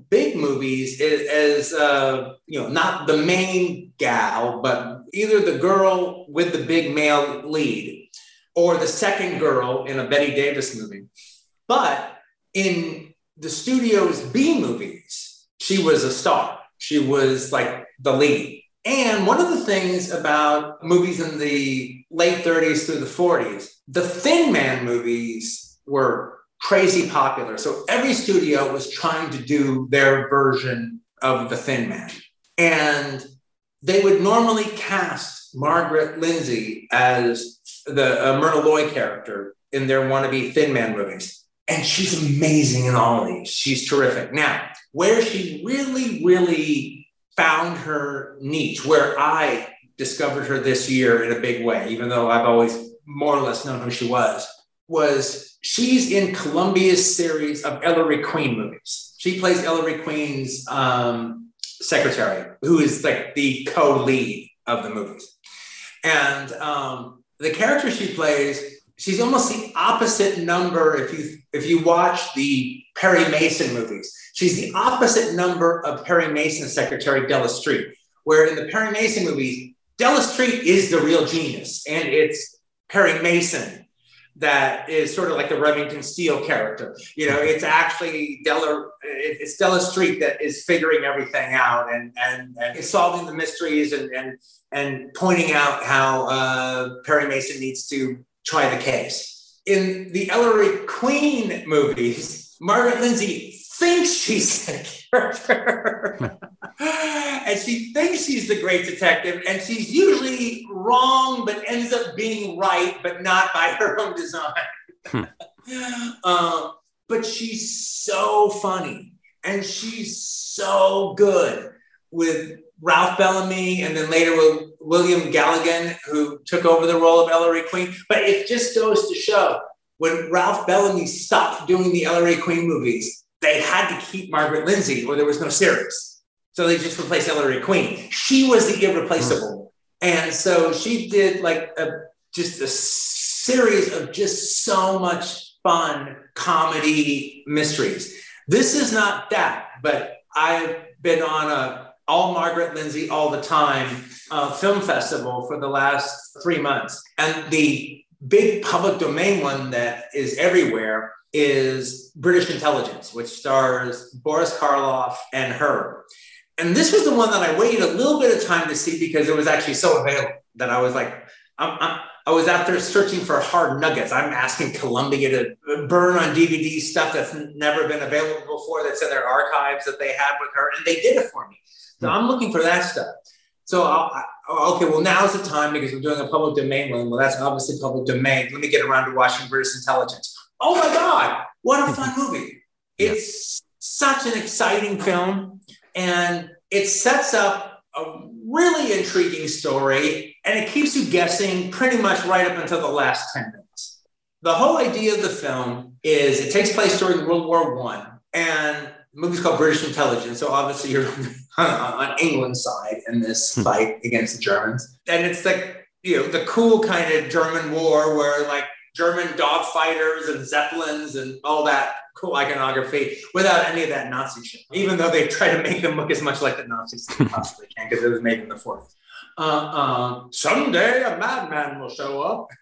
big movies as not the main gal, but either the girl with the big male lead or the second girl in a Bette Davis movie. But in the studio's B movies, she was a star. She was like the lead. And one of the things about movies in the late 30s through the 40s, the Thin Man movies were crazy popular. So every studio was trying to do their version of the Thin Man. And they would normally cast Margaret Lindsay as the Myrna Loy character in their wannabe Thin Man movies. And she's amazing in all of these. She's terrific. Now, where she really, really found her niche, where I discovered her this year in a big way, even though I've always more or less known who she was she's in Columbia's series of Ellery Queen movies. She plays Ellery Queen's secretary, who is like the co-lead of the movies. And the character she plays, she's almost the opposite number. If you watch the Perry Mason movies, she's the opposite number of Perry Mason's secretary, Della Street, where in the Perry Mason movies, Della Street is the real genius. And it's Perry Mason that is sort of like the Remington Steele character. It's actually it's Della Street that is figuring everything out and solving the mysteries and pointing out how Perry Mason needs to try the case. In the Ellery Queen movies, Margaret Lindsay thinks she's the character. And she thinks she's the great detective, and she's usually wrong, but ends up being right, but not by her own design. But she's so funny, and she's so good with Ralph Bellamy, and then later with William Galligan, who took over the role of Ellery Queen. But it just goes to show, when Ralph Bellamy stopped doing the Ellery Queen movies, they had to keep Margaret Lindsay or there was no series. So they just replaced Ellery Queen. She was the irreplaceable. And so she did like just a series of just so much fun comedy mysteries. This is not that, but I've been on a all Margaret Lindsay all the time film festival for the last 3 months. And the big public domain one that is everywhere is British Intelligence, which stars Boris Karloff and her. And this was the one that I waited a little bit of time to see because it was actually so available that I was like, I was out there searching for hard nuggets. I'm asking Columbia to burn on DVD stuff that's never been available before, that's in their archives that they had with her, and they did it for me. So I'm looking for that stuff. So, now's the time because we're doing a public domain one. Well, that's obviously public domain. Let me get around to watching British Intelligence. Oh my God, what a fun movie. It's such an exciting film, and it sets up a really intriguing story, and it keeps you guessing pretty much right up until the last 10 minutes. The whole idea of the film is it takes place during World War I, and the movie's called British Intelligence, so obviously you're on England's side in this fight against the Germans. And it's like, the cool kind of German war where like German dogfighters and Zeppelins and all that cool iconography without any of that Nazi shit, even though they try to make them look as much like the Nazis as they possibly can because it was made in the 40s. Someday a madman will show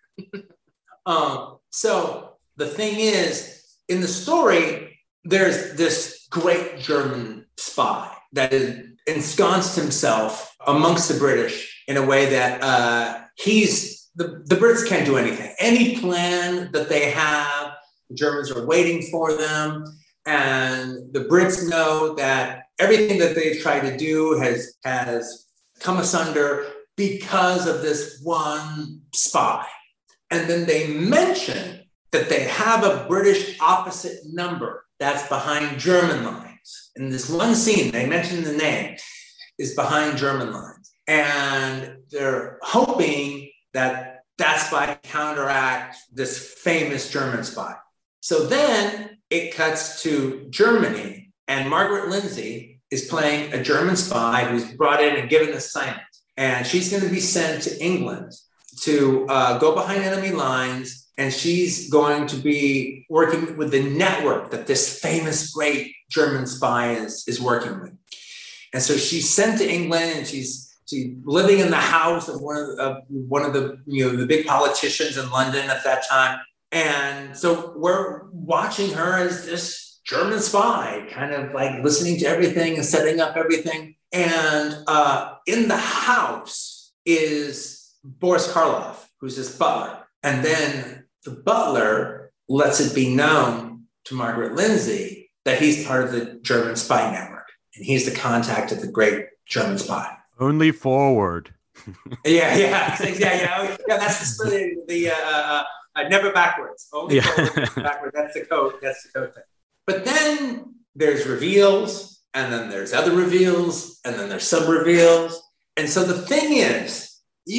up. So the thing is, in the story, there's this great German spy that has ensconced himself amongst the British in a way that the Brits can't do anything. Any plan that they have, the Germans are waiting for them. And the Brits know that everything that they've tried to do has come asunder because of this one spy. And then they mention that they have a British opposite number that's behind German lines. In this one scene, they mention the name is behind German lines. And they're hoping that spy counteract this famous German spy. So then it cuts to Germany, and Margaret Lindsay is playing a German spy who's brought in and given an assignment. And she's going to be sent to England to go behind enemy lines, and she's going to be working with the network that this famous, great German spy is working with. And so she's sent to England, and she's living in the house of one of the the big politicians in London at that time. And so we're watching her as this German spy, kind of like listening to everything and setting up everything. And in the house is Boris Karloff, who's his butler. And then the butler lets it be known to Margaret Lindsay that he's part of the German spy network. And he's the contact of the great German spy. Only forward. Yeah. That's the never backwards. Only forward, never backwards. That's the code. That's the code thing. But then there's reveals, and then there's other reveals, and then there's sub reveals. And so the thing is,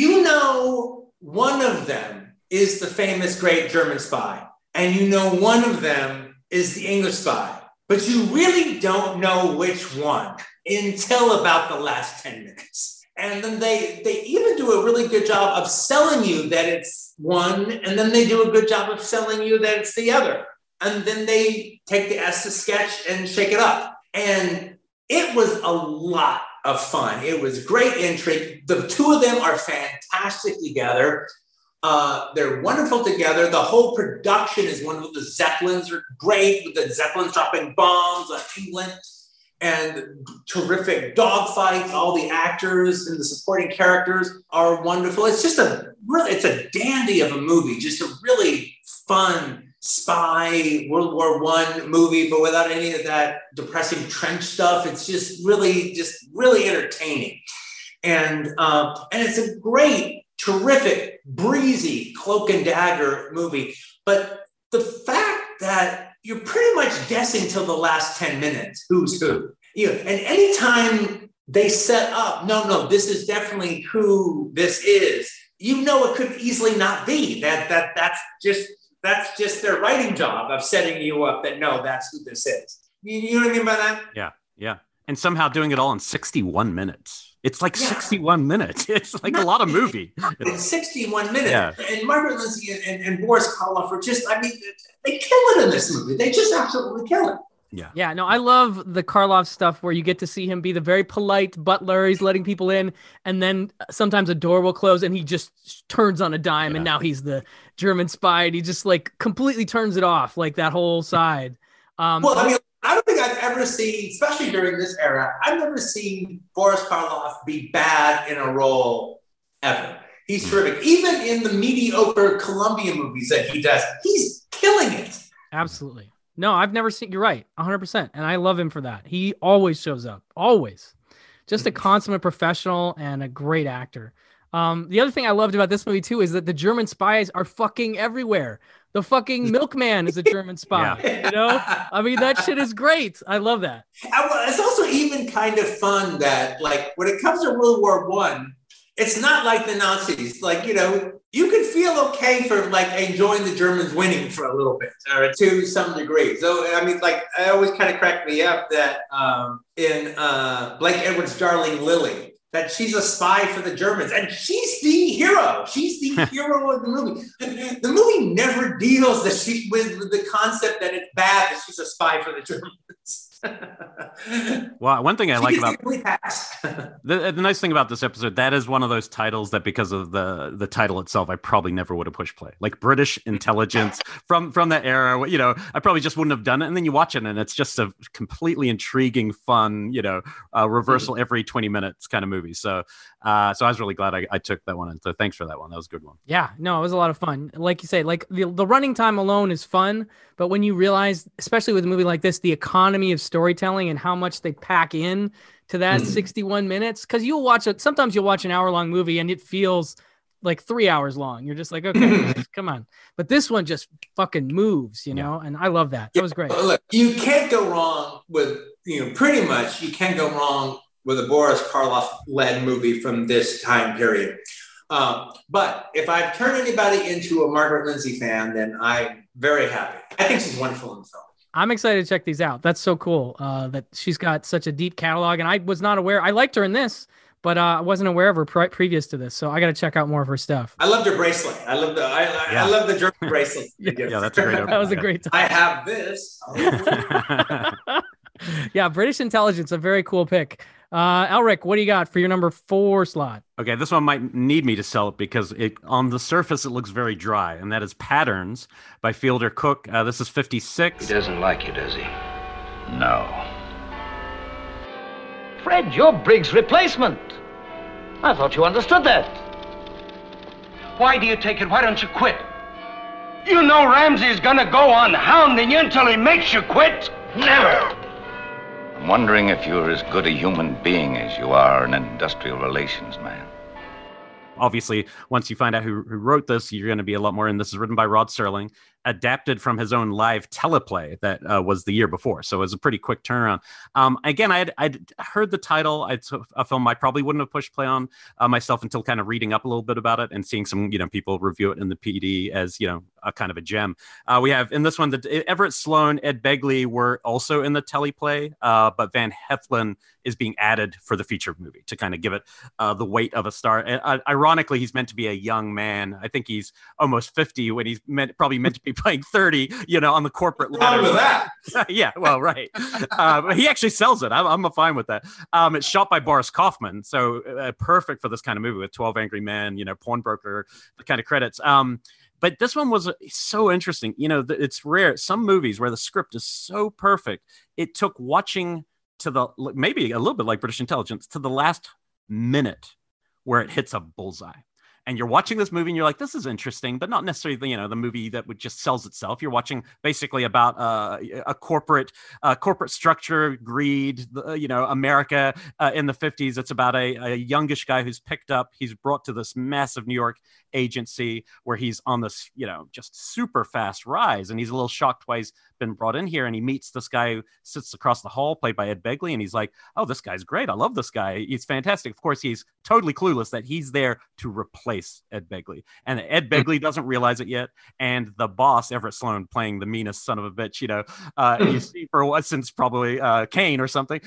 one of them is the famous great German spy, and one of them is the English spy, but you really don't know which one until about the last 10 minutes. And then they even do a really good job of selling you that it's one, and then they do a good job of selling you that it's the other. And then they take the Estes sketch and shake it up. And it was a lot of fun. It was great intrigue. The two of them are fantastic together. They're wonderful together. The whole production is wonderful. The Zeppelins are great, with the Zeppelins dropping bombs on England, and terrific dogfights. All the actors and the supporting characters are wonderful. It's just it's a dandy of a movie, just a really fun spy World War I movie, but without any of that depressing trench stuff. It's just really entertaining. And it's a great, terrific, breezy cloak and dagger movie. But the fact that you're pretty much guessing till the last 10 minutes who's who. And anytime they set up, no, this is definitely who this is, it could easily not be. That's just their writing job of setting you up that, no, that's who this is. You know what I mean by that? Yeah. And somehow doing it all in 61 minutes. It's like 61 minutes. It's like a lot of movie. It's 61 minutes. Yeah. And Margaret Lindsay and Boris Karloff are they kill it in this movie. They just absolutely kill it. Yeah, no, I love the Karloff stuff where you get to see him be the very polite butler. He's letting people in, and then sometimes a door will close and he just turns on a dime, and now he's the German spy, and he just like completely turns it off, like that whole side. I don't think I've ever seen, especially during this era, I've never seen Boris Karloff be bad in a role ever. He's terrific. Even in the mediocre Columbia movies that he does, he's killing it. Absolutely. No, I've never seen, you're right, 100%. And I love him for that. He always shows up, always. Just a consummate professional and a great actor. The other thing I loved about this movie too is that the German spies are fucking everywhere. The fucking milkman is a German spy. I mean, that shit is great. I love that. It's also even kind of fun that, like, when it comes to World War I, it's not like the Nazis. Like, you can feel okay for like enjoying the Germans winning for a little bit, or to some degree. So, I mean, like, it always kind of cracked me up that in Blake Edwards' Darling Lily, that she's a spy for the Germans, and she's the hero. She's the hero of the movie. The movie never deals with the concept that it's bad that she's a spy for the Germans. Well, one thing I like about the nice thing about this episode, that is one of those titles that, because of the title itself, I probably never would have pushed play. Like British intelligence from that era, I probably just wouldn't have done it. And then you watch it, and it's just a completely intriguing, fun, reversal every 20 minutes kind of movie. So I was really glad I took that one. And so thanks for that one. That was a good one. Yeah, no, it was a lot of fun. Like you say, like the running time alone is fun, but when you realize, especially with a movie like this, the economy of storytelling and how much they pack in to that 61 minutes, because sometimes you'll watch an hour-long movie and it feels like 3 hours long. You're just like, okay, come on. But this one just fucking moves, and I love that. That was great. Look, you can't go wrong with, pretty much you can't go wrong with a Boris Karloff-led movie from this time period. But if I've turned anybody into a Margaret Lindsay fan, then I'm very happy. I think she's wonderful in the film. I'm excited to check these out. That's so cool that she's got such a deep catalog. And I was not aware. I liked her in this, but I wasn't aware of her previous to this, so I got to check out more of her stuff. I loved her bracelet. I Yeah. love the German bracelet. Yeah, Yeah, that's a great that was opening. a great I time. have this. Oh. Yeah, British Intelligence, a very cool pick. Elric, what do you got for your number 4 slot? Okay, this one might need me to sell it because on the surface it looks very dry, and that is Patterns by Fielder Cook. This is 56. He doesn't like you, does he? No. Fred, you're Briggs' replacement. I thought you understood that. Why do you take it? Why don't you quit? You know Ramsey's gonna go on hounding you until he makes you quit? Never! I'm wondering if you're as good a human being as you are an industrial relations man. Obviously, once you find out who wrote this, you're going to be a lot more in. This is written by Rod Serling, adapted from his own live teleplay that was the year before. So it was a pretty quick turnaround. Again, I'd heard the title. It's a film I probably wouldn't have pushed play on myself until kind of reading up a little bit about it and seeing some, people review it in the PD as, a kind of a gem. We have in this one, Everett Sloan, Ed Begley were also in the teleplay, but Van Heflin is being added for the feature movie to kind of give it the weight of a star. And, ironically, he's meant to be a young man. I think he's almost 50 when he's probably meant to be playing 30, on the corporate ladder. With that. Yeah, well, right. But he actually sells it. I'm fine with that. It's shot by Boris Kaufman, so perfect for this kind of movie with 12 Angry Men, Pawnbroker, the kind of credits. But this one was so interesting. It's rare. Some movies where the script is so perfect, it took watching to the, maybe a little bit like British Intelligence, to the last minute where it hits a bullseye. And you're watching this movie and you're like, this is interesting, but not necessarily, the movie that would just sells itself. You're watching basically about a corporate structure, greed, America in the 50s. It's about a youngish guy who's picked up. He's brought to this massive New York agency where he's on this, just super fast rise. And he's a little shocked why he's been brought in here. And he meets this guy who sits across the hall, played by Ed Begley. And he's like, oh, this guy's great. I love this guy. He's fantastic. Of course, he's totally clueless that he's there to replace Ed Begley. And Ed Begley doesn't realize it yet. And the boss, Everett Sloan, playing the meanest son of a bitch, you see for what, since probably Kane or something,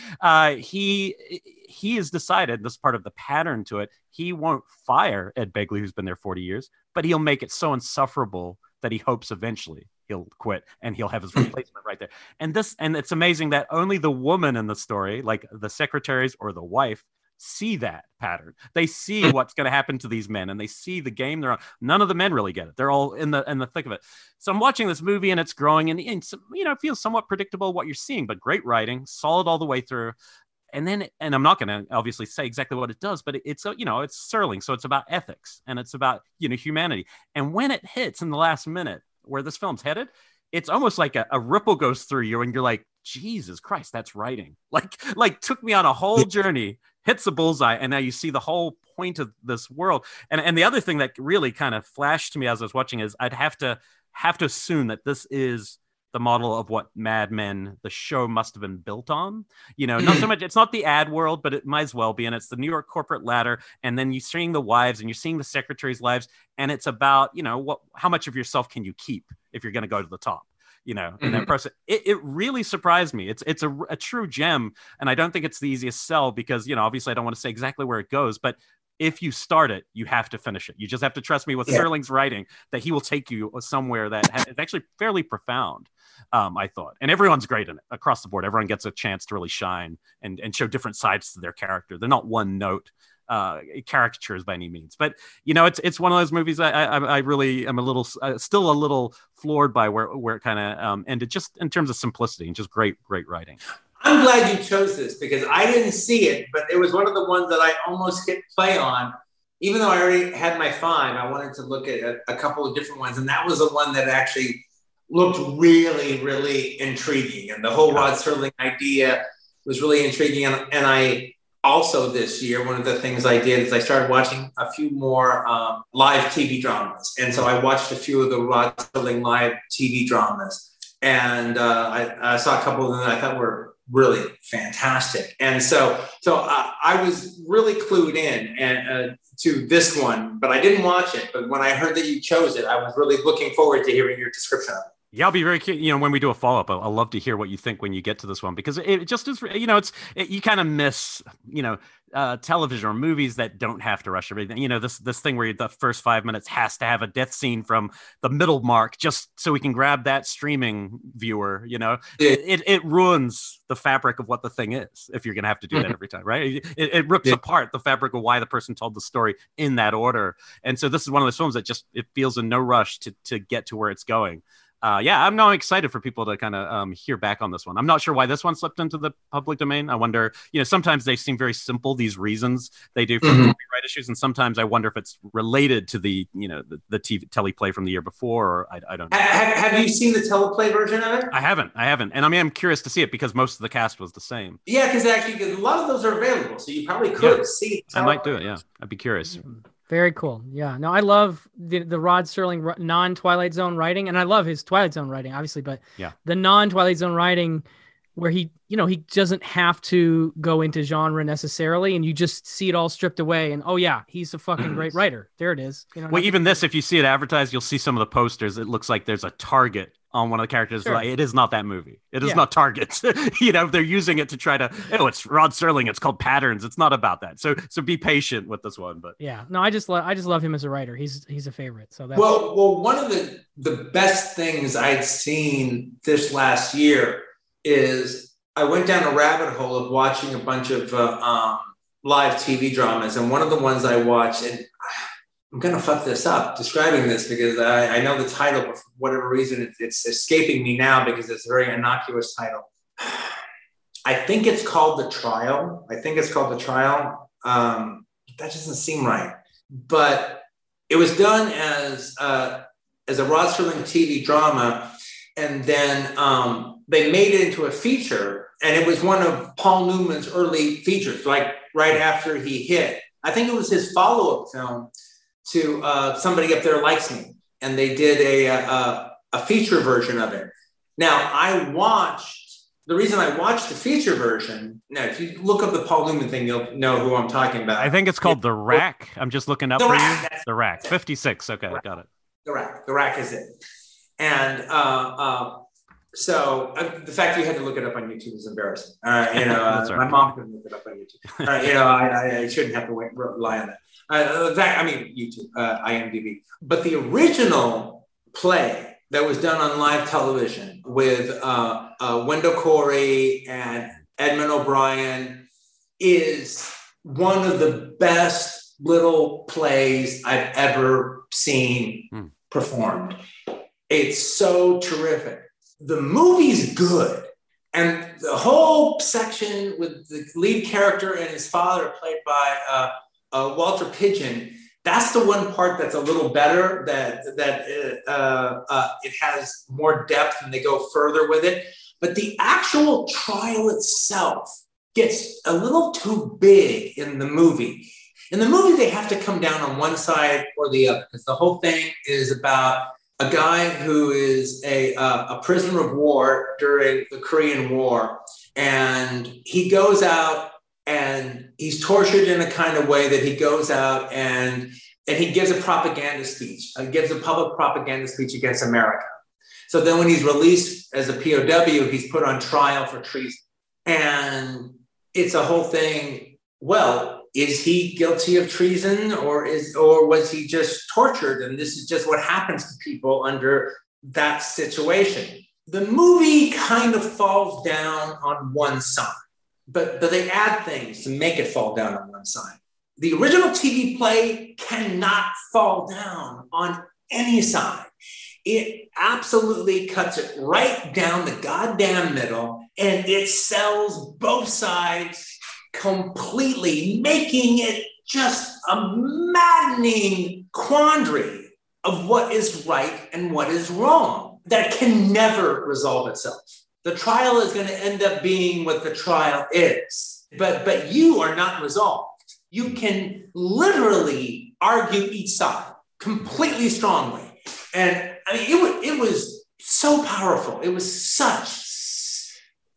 he has decided, this is part of the pattern to it, he won't fire Ed Begley, who's been there 40 years, but he'll make it so insufferable that he hopes eventually he'll quit and he'll have his replacement right there. And it's amazing that only the woman in the story, like the secretaries or the wife, see that pattern. They see what's going to happen to these men, and they see the game they're on. None of the men really get it. They're all in the thick of it. So I'm watching this movie, and it's growing, and it feels somewhat predictable what you're seeing, but great writing, solid all the way through. And then, and I'm not going to obviously say exactly what it does, but it's Serling, so it's about ethics and it's about humanity. And when it hits in the last minute where this film's headed, it's almost like a ripple goes through you, and you're like, Jesus Christ, that's writing. Like took me on a whole journey, hits the bullseye, and now you see the whole point of this world. And the other thing that really kind of flashed to me as I was watching is I'd have to assume that this is the model of what Mad Men, the show, must have been built on. Not so much, it's not the ad world, but it might as well be. And it's the New York corporate ladder. And then you're seeing the wives and you're seeing the secretaries' lives. And it's about, how much of yourself can you keep if you're going to go to the top? And that person, it really surprised me. It's a true gem. And I don't think it's the easiest sell because, obviously I don't want to say exactly where it goes, but if you start it, you have to finish it. You just have to trust me with Serling's writing that he will take you somewhere that is actually fairly profound, I thought. And everyone's great in it across the board. Everyone gets a chance to really shine and show different sides to their character. They're not one note caricatures by any means, but it's one of those movies I really am still a little floored by where it kind of ended, just in terms of simplicity and just great writing. I'm glad you chose this because I didn't see it, but it was one of the ones that I almost hit play on. Even though I already had my 5, I wanted to look at a couple of different ones, and that was the one that actually looked really, really intriguing, and the whole Rod Serling idea was really intriguing. And I also, this year, one of the things I did is I started watching a few more live TV dramas. And so I watched a few of the Rod Serling live TV dramas. And I saw a couple of them that I thought were really fantastic. And so I was really clued in to this one, but I didn't watch it. But when I heard that you chose it, I was really looking forward to hearing your description of it. Yeah, I'll be very curious. When we do a follow up, I'll love to hear what you think when you get to this one because it just is. You kind of miss television or movies that don't have to rush everything. This thing where the first 5 minutes has to have a death scene from the middle mark just so we can grab that streaming viewer. Yeah. It ruins the fabric of what the thing is if you're gonna have to do that every time, right? It rips Yeah. apart the fabric of why the person told the story in that order. And so this is one of those films that just it feels in no rush to get to where it's going. Yeah, I'm now excited for people to kind of hear back on this one. I'm not sure why this one slipped into the public domain. I wonder, sometimes they seem very simple, these reasons they do for Mhm. copyright issues. And sometimes I wonder if it's related to the TV teleplay from the year before, or I don't know. Have you seen the teleplay version of it? I haven't. And I mean, I'm curious to see it because most of the cast was the same. Yeah, because actually a lot of those are available, so you probably Yeah, could see. I might do it. Yeah, I'd be curious. Very cool. Yeah. No, I love the Rod Serling non-Twilight Zone writing, and I love his Twilight Zone writing, obviously, but Yeah. the non-Twilight Zone writing where he doesn't have to go into genre necessarily, and you just see it all stripped away, and oh yeah, he's a fucking great writer. There it is. Well, even this, if you see it advertised, you'll see some of the posters. It looks like there's a Target on one of the characters. Sure. Like, it is not that movie. It is Yeah. not Target. They're using it to try to. It's Rod Serling. It's called Patterns. It's not about that. So be patient with this one. But Yeah. No, I just love him as a writer. He's a favorite. So that's Well, one of the best things I'd seen this last year is I went down a rabbit hole of watching a bunch of live TV dramas, and one of the ones I watched, and I'm gonna fuck this up describing this because I know the title, but for whatever reason it's escaping me now because it's a very innocuous title. I think it's called The Trial. That doesn't seem right, but it was done as a Rod Serling TV drama, and then they made it into a feature, and it was one of Paul Newman's early features, like right after he hit. I think it was his follow-up film to Somebody Up There Likes Me, and they did a feature version of it. Now, the reason I watched the feature version, now if you look up the Paul Newman thing, you'll know who I'm talking about. I think it's called The Rack. I'm just looking up The for Rack, you. The Rack. 56. Okay, got it. The Rack is it. And so the fact that you had to look it up on YouTube is embarrassing. That's right. My mom couldn't look it up on YouTube. I shouldn't have to rely on that. YouTube, IMDb. But the original play that was done on live television with Wendell Corey and Edmund O'Brien is one of the best little plays I've ever seen performed. It's so terrific. The movie's good. And the whole section with the lead character and his father, played by Walter Pidgeon, that's the one part that's a little better, that it has more depth and they go further with it. But the actual trial itself gets a little too big in the movie. In the movie, they have to come down on one side or the other, because the whole thing is about a guy who is a prisoner of war during the Korean War. And he goes out and he's tortured in a kind of way that he goes out and he gives a propaganda speech. He gives a public propaganda speech against America. So then when he's released as a POW, he's put on trial for treason. And it's a whole thing. Well, is he guilty of treason or was he just tortured? And this is just what happens to people under that situation. The movie kind of falls down on one side, but they add things to make it fall down on one side. The original TV play cannot fall down on any side. It absolutely cuts it right down the goddamn middle, and it sells both sides completely, making it just a maddening quandary of what is right and what is wrong that can never resolve itself. The trial is going to end up being what the trial is, but you are not resolved. You can literally argue each side completely strongly. And I mean, it was so powerful. It was such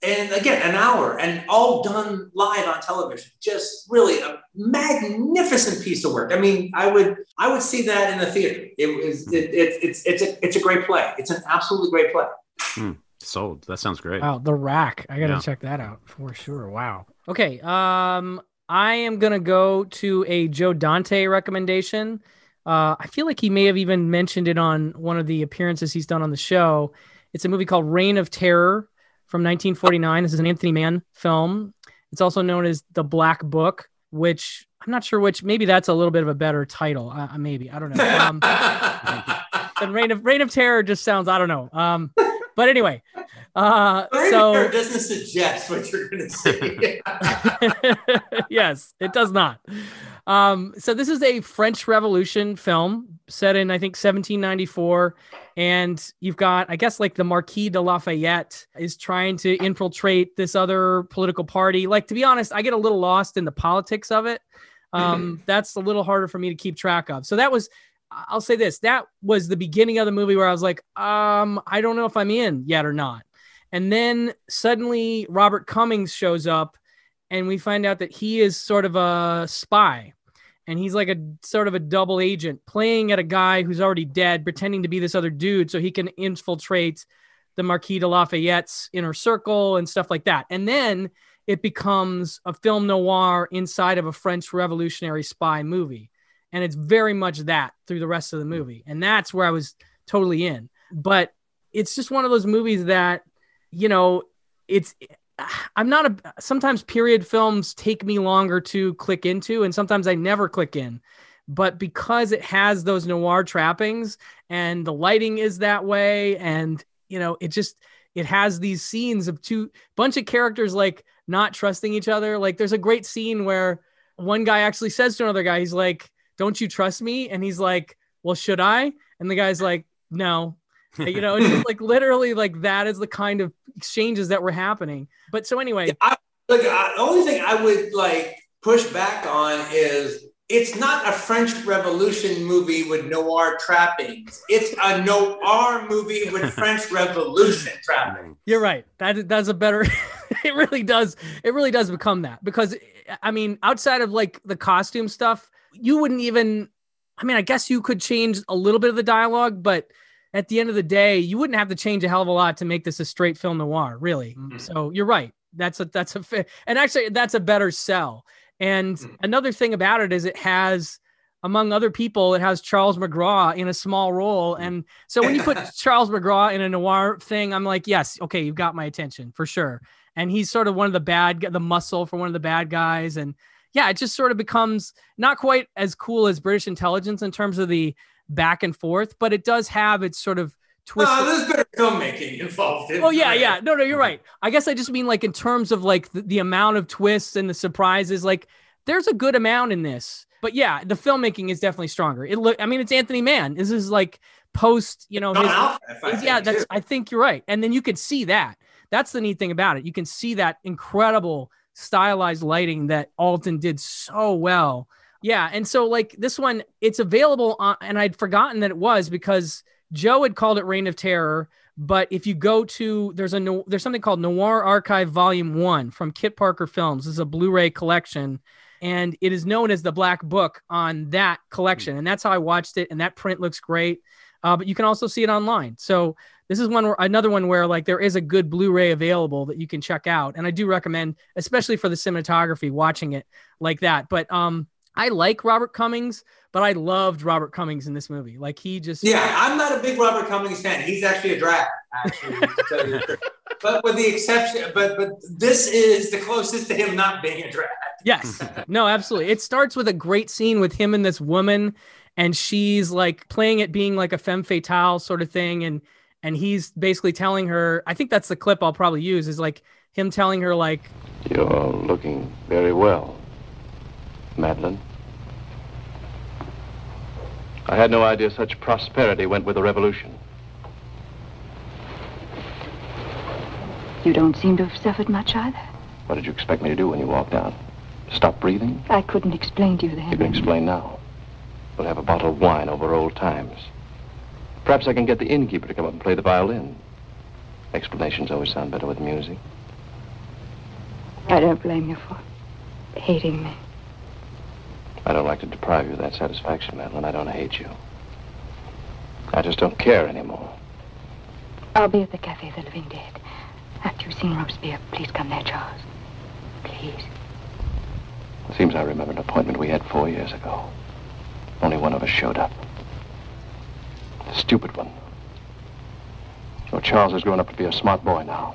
And again, an hour, and all done live on television. Just really a magnificent piece of work. I mean, I would see that in the theater. It's a great play. It's an absolutely great play. Sold. That sounds great. Wow, The Rack. I gotta check that out for sure. Wow. Okay. I am gonna go to a Joe Dante recommendation. I feel like he may have even mentioned it on one of the appearances he's done on the show. It's a movie called Reign of Terror from 1949. This is an Anthony Mann film. It's also known as The Black Book, which I'm not sure maybe that's a little bit of a better title. Maybe, I don't know. And Reign of Terror just sounds, I don't know. But anyway, so doesn't suggest what you're going to say. Yes, it does not. So this is a French Revolution film set in, I think, 1794. And you've got, I guess, like the Marquis de Lafayette is trying to infiltrate this other political party. Like, to be honest, I get a little lost in the politics of it. That's a little harder for me to keep track of. So I'll say this, that was the beginning of the movie where I was like, I don't know if I'm in yet or not. And then suddenly Robert Cummings shows up and we find out that he is sort of a spy. And he's like a sort of a double agent playing at a guy who's already dead, pretending to be this other dude so he can infiltrate the Marquis de Lafayette's inner circle and stuff like that. And then it becomes a film noir inside of a French revolutionary spy movie. And it's very much that through the rest of the movie. And that's where I was totally in. But it's just one of those movies that, sometimes period films take me longer to click into, and sometimes I never click in. But because it has those noir trappings and the lighting is that way, and, it has these scenes of bunch of characters like not trusting each other. Like there's a great scene where one guy actually says to another guy, he's like, "Don't you trust me?" And he's like, "Well, should I?" And the guy's like, "No." It's just like literally like that is the kind of exchanges that were happening. But so anyway, the only thing I would like push back on is it's not a French Revolution movie with noir trappings. It's a noir movie with French Revolution trappings. You're right. That's a better. It really does. It really does become that, because I mean, outside of like the costume stuff, you wouldn't even. I mean, I guess you could change a little bit of the dialogue, but at the end of the day, you wouldn't have to change a hell of a lot to make this a straight film noir, really. Mm-hmm. So you're right. That's a and actually that's a better sell. And another thing about it is it has, among other people, it has Charles McGraw in a small role. And so when you put Charles McGraw in a noir thing, I'm like, yes, okay, you've got my attention for sure. And he's sort of one of the muscle for one of the bad guys. And yeah, it just sort of becomes not quite as cool as British Intelligence in terms of the back and forth, but it does have its sort of twist. There's better filmmaking involved. Oh yeah. No, you're right. I guess I just mean like in terms of like the amount of twists and the surprises, like there's a good amount in this. But yeah, the filmmaking is definitely stronger. It's Anthony Mann. This is like post, I think you're right. And then you can see that. That's the neat thing about it. You can see that incredible stylized lighting that Alton did so well. Yeah, and so like this one, it's available on, and I'd forgotten that it was because Joe had called it Reign of Terror. But if you go to, there's something called Noir Archive Volume 1 from Kit Parker Films. This is a Blu-ray collection, and it is known as the Black Book on that collection. And that's how I watched it, and that print looks great. But you can also see it online. So this is another one where like there is a good Blu-ray available that you can check out. And I do recommend, especially for the cinematography, watching it like that. But I like Robert Cummings, but I loved Robert Cummings in this movie. Like he just... Yeah, I'm not a big Robert Cummings fan. He's actually a drag, actually, to tell you the truth. But with the exception, but this is the closest to him not being a drag. Yes. No, absolutely. It starts with a great scene with him and this woman, and she's like playing it being like a femme fatale sort of thing. And he's basically telling her, I think that's the clip I'll probably use, is like him telling her like... You're looking very well, Madeline. I had no idea such prosperity went with the revolution. You don't seem to have suffered much either. What did you expect me to do when you walked out? Stop breathing? I couldn't explain to you then. You can explain now. We'll have a bottle of wine over old times. Perhaps I can get the innkeeper to come up and play the violin. Explanations always sound better with music. I don't blame you for hating me. I don't like to deprive you of that satisfaction, Madeline. I don't hate you. I just don't care anymore. I'll be at the Cafe the Living Dead. After you've seen Robespierre, please come there, Charles. Please. It seems I remember an appointment we had 4 years ago. Only one of us showed up. The stupid one. So Charles has grown up to be a smart boy now.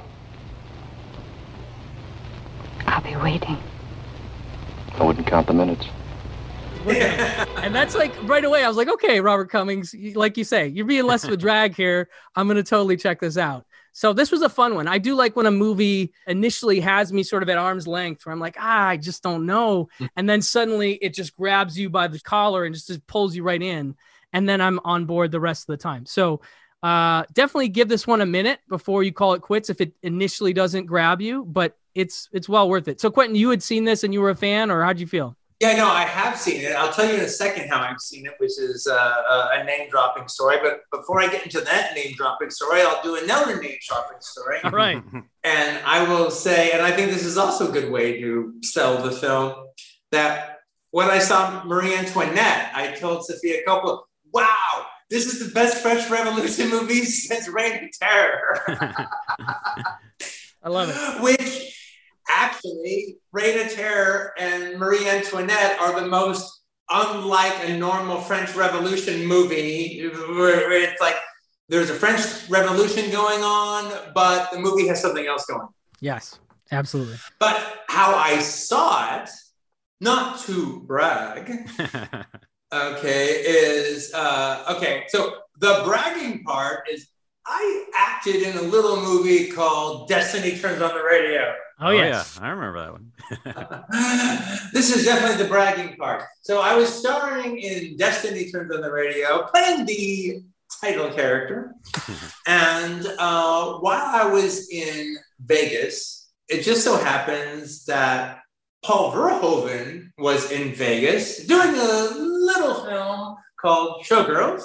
I'll be waiting. I wouldn't count the minutes. And that's like right away. I was like, okay, Robert Cummings, like you say, you're being less of a drag here. I'm going to totally check this out. So this was a fun one. I do like when a movie initially has me sort of at arm's length where I'm like, I just don't know. And then suddenly it just grabs you by the collar and just pulls you right in. And then I'm on board the rest of the time. So definitely give this one a minute before you call it quits if it initially doesn't grab you, but it's well worth it. So Quentin, you had seen this and you were a fan, or how'd you feel? Yeah, no, I have seen it. I'll tell you in a second how I've seen it, which is a name-dropping story. But before I get into that name-dropping story, I'll do another name-dropping story. All right. And I will say, and I think this is also a good way to sell the film, that when I saw Marie Antoinette, I told Sophia Coppola, wow, this is the best French Revolution movie since Reign of Terror. I love it. Which... actually, Reign of Terror and Marie Antoinette are the most unlike a normal French Revolution movie where it's like there's a French Revolution going on, but the movie has something else going on. Yes, absolutely. But how I saw it, not to brag, okay, so the bragging part is I acted in a little movie called Destiny Turns on the Radio. Oh, yes. Yeah, I remember that one. This is definitely the bragging part. So I was starring in Destiny Turns on the Radio, playing the title character. And while I was in Vegas, it just so happens that Paul Verhoeven was in Vegas doing a little film called Showgirls.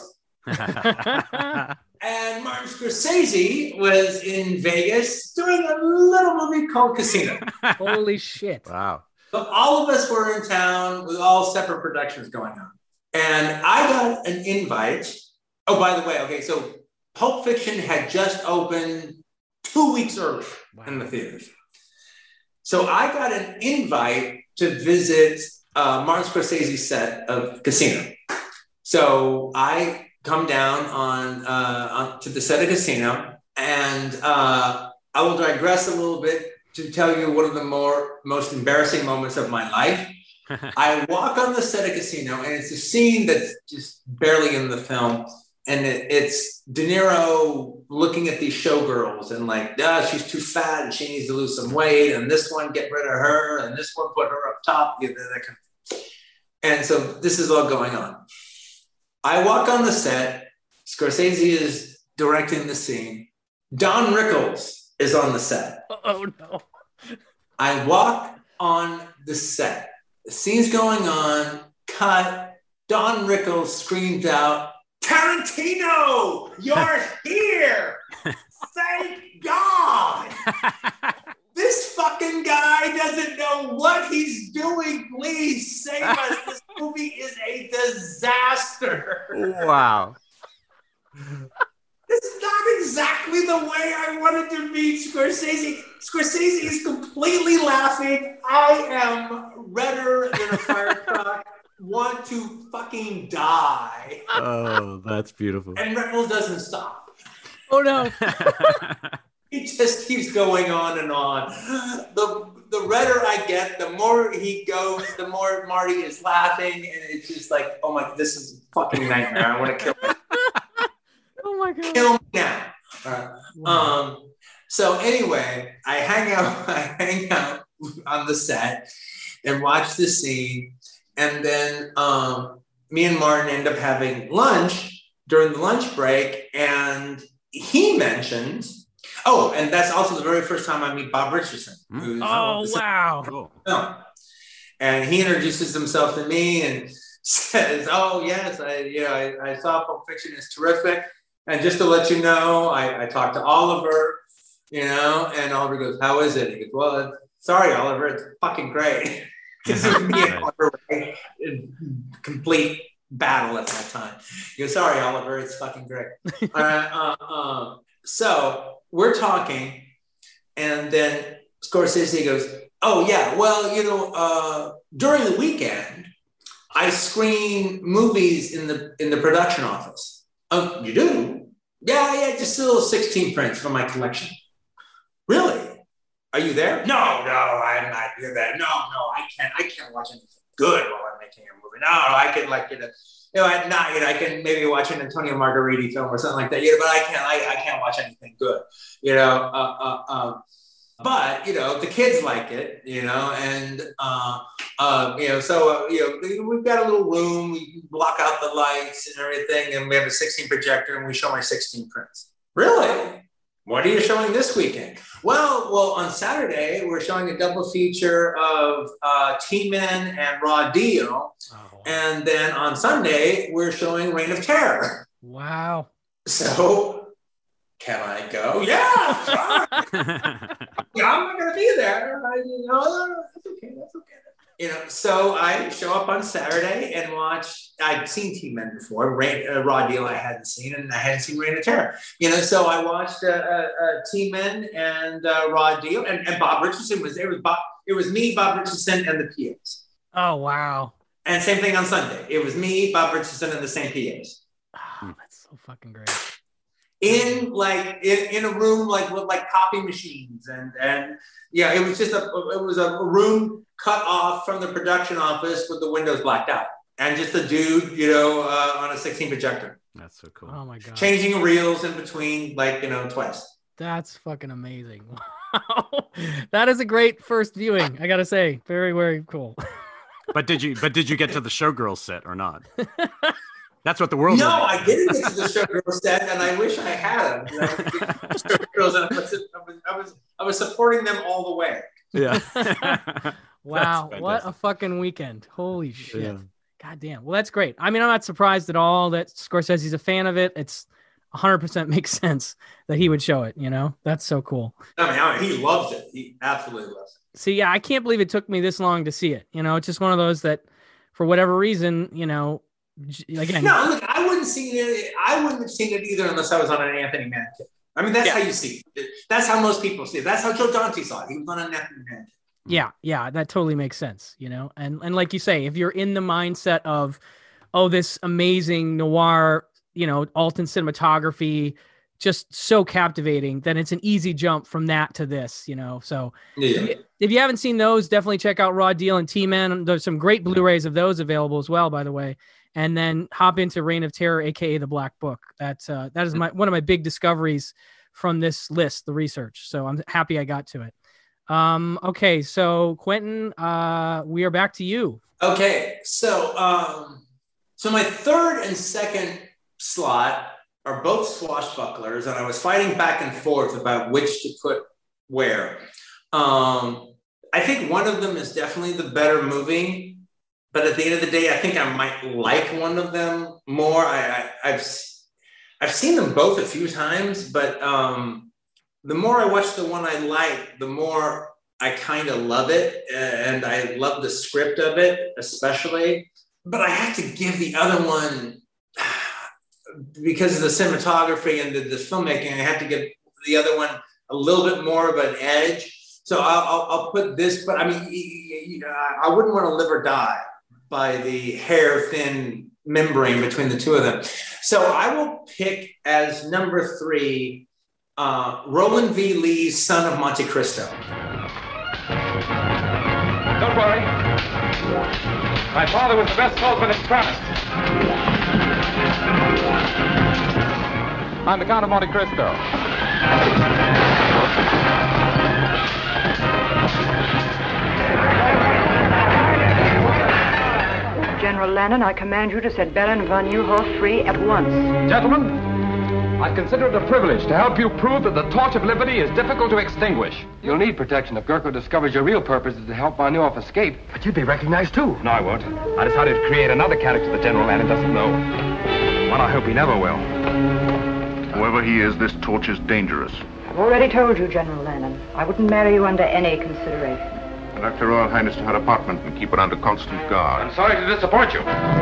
And Martin Scorsese was in Vegas doing a little movie called Casino. Holy shit. Wow. So all of us were in town with all separate productions going on. And I got an invite. Oh, by the way, okay, so Pulp Fiction had just opened 2 weeks early in the theaters. So I got an invite to visit Martin Scorsese's set of Casino. So I come down on to the set of Casino, and I will digress a little bit to tell you one of the most embarrassing moments of my life. I walk on the set of Casino, and it's a scene that's just barely in the film, and it's De Niro looking at these showgirls and like, she's too fat and she needs to lose some weight, and this one get rid of her, and this one put her up top. And so this is all going on. I walk on the set. Scorsese is directing the scene. Don Rickles is on the set. Oh, no. I walk on the set. The scene's going on. Cut. Don Rickles screams out, Tarantino, you're here. Thank God. This fucking guy doesn't know what he's doing. Please save us. This movie is a disaster. Wow. This is not exactly the way I wanted to meet Scorsese. Scorsese is completely laughing. I am redder than a fire truck. Want to fucking die. Oh, that's beautiful. And Rickles doesn't stop. Oh, no. He just keeps going on and on. The redder I get, the more he goes, the more Marty is laughing. And it's just like, oh my, this is a fucking nightmare. I want to kill him. Oh my God. Kill me now. So anyway, I hang out on the set and watch the scene. And then me and Martin end up having lunch during the lunch break. And he mentioned, and that's also the very first time I meet Bob Richardson. Oh, wow. Cool. And he introduces himself to me and says, oh, yes, I saw Pulp Fiction. It's terrific. And just to let you know, I talked to Oliver, and Oliver goes, how is it? He goes, well, Sorry, Oliver, it's fucking great. Because it was me and Oliver in complete battle at that time. He goes, sorry, Oliver, it's fucking great. So we're talking, and then Scorsese goes, oh, yeah, well, during the weekend, I screen movies in the production office. Oh, you do? Yeah, just a little 16 prints from my collection. Really? Are you there? No, I'm not there. No, I can't watch anything good while I'm making a movie. No, I can at night I can maybe watch an Antonio Margheriti film or something like that. But I can't watch anything good. But the kids like it. And so we've got a little room. We block out the lights and everything, and we have a 16 projector, and we show my 16 prints. Really? What are you showing this weekend? Well, on Saturday, we're showing a double feature of T-Men and Raw Deal. Oh, wow. And then on Sunday, we're showing Reign of Terror. Wow. So, can I go? Yeah, sure. Yeah, I'm not going to be there. That's okay. So I show up on Saturday and watch. I'd seen T-Men before. Raw Deal I hadn't seen, and I hadn't seen Reign of Terror. So I watched T-Men and Raw Deal, and Bob Richardson was there. It was me, Bob Richardson, and the PAs. Oh, wow. And same thing on Sunday. It was me, Bob Richardson, and the same PAs. Oh, that's so fucking great. In a room with copy machines and yeah, it was just a room cut off from the production office with the windows blacked out and just a dude on a 16 projector. That's so cool. Oh my god. Changing reels in between twice. That's fucking amazing. Wow. That is a great first viewing, I gotta say. Very, very cool. But did you get to the Showgirls set or not? That's what the world. No, I didn't get to the Showgirls set, and I wish I had. Showgirls, and I was supporting them all the way. Yeah. Wow, what a fucking weekend! Holy shit! Yeah. God damn. Well, that's great. I mean, I'm not surprised at all that Scorsese's a fan of it. It's 100% makes sense that he would show it. That's so cool. I mean, he loves it. He absolutely loves it. See, yeah, I can't believe it took me this long to see it. It's just one of those that, for whatever reason, again. No, look, I wouldn't have seen it either unless I was on an Anthony Mann kick. I mean, that's how you see it. That's how most people see it. That's how Joe Dante saw it. He was on an Anthony Mann kick. Yeah, that totally makes sense, And like you say, if you're in the mindset of, oh, this amazing noir, Alton cinematography, just so captivating, then it's an easy jump from that to this, So if you haven't seen those, definitely check out Raw Deal and T-Men. There's some great Blu-rays of those available as well, by the way. And then hop into Reign of Terror, aka The Black Book. That is one of my big discoveries from this list, the research. So I'm happy I got to it. Okay, so Quentin, we are back to you. Okay, so my third and second slot are both swashbucklers, and I was fighting back and forth about which to put where. I think one of them is definitely the better movie, but at the end of the day, I think I might like one of them more. I've seen them both a few times, but the more I watch the one I like, the more I kind of love it, and I love the script of it, especially. But I have to give the other one, because of the cinematography and the filmmaking, I have to give the other one a little bit more of an edge. So I'll put this, but I mean, I wouldn't want to live or die by the hair-thin membrane between the two of them. So I will pick as number 3, Roland V. Lee's Son of Monte Cristo. Don't worry. My father was the best salesman in Paris. I'm the Count of Monte Cristo. General Lennon, I command you to set Baron von Neuhoff free at once. Gentlemen, I consider it a privilege to help you prove that the torch of liberty is difficult to extinguish. You'll need protection if Gurko discovers your real purpose is to help von Neuhoff escape. But you'd be recognized too. No, I won't. I decided to create another character that General Lennon doesn't know. One I hope he never will. Whoever he is, this torch is dangerous. I've already told you, General Lennon, I wouldn't marry you under any consideration. Conduct Her Royal Highness to her apartment and keep her under constant guard. I'm sorry to disappoint you.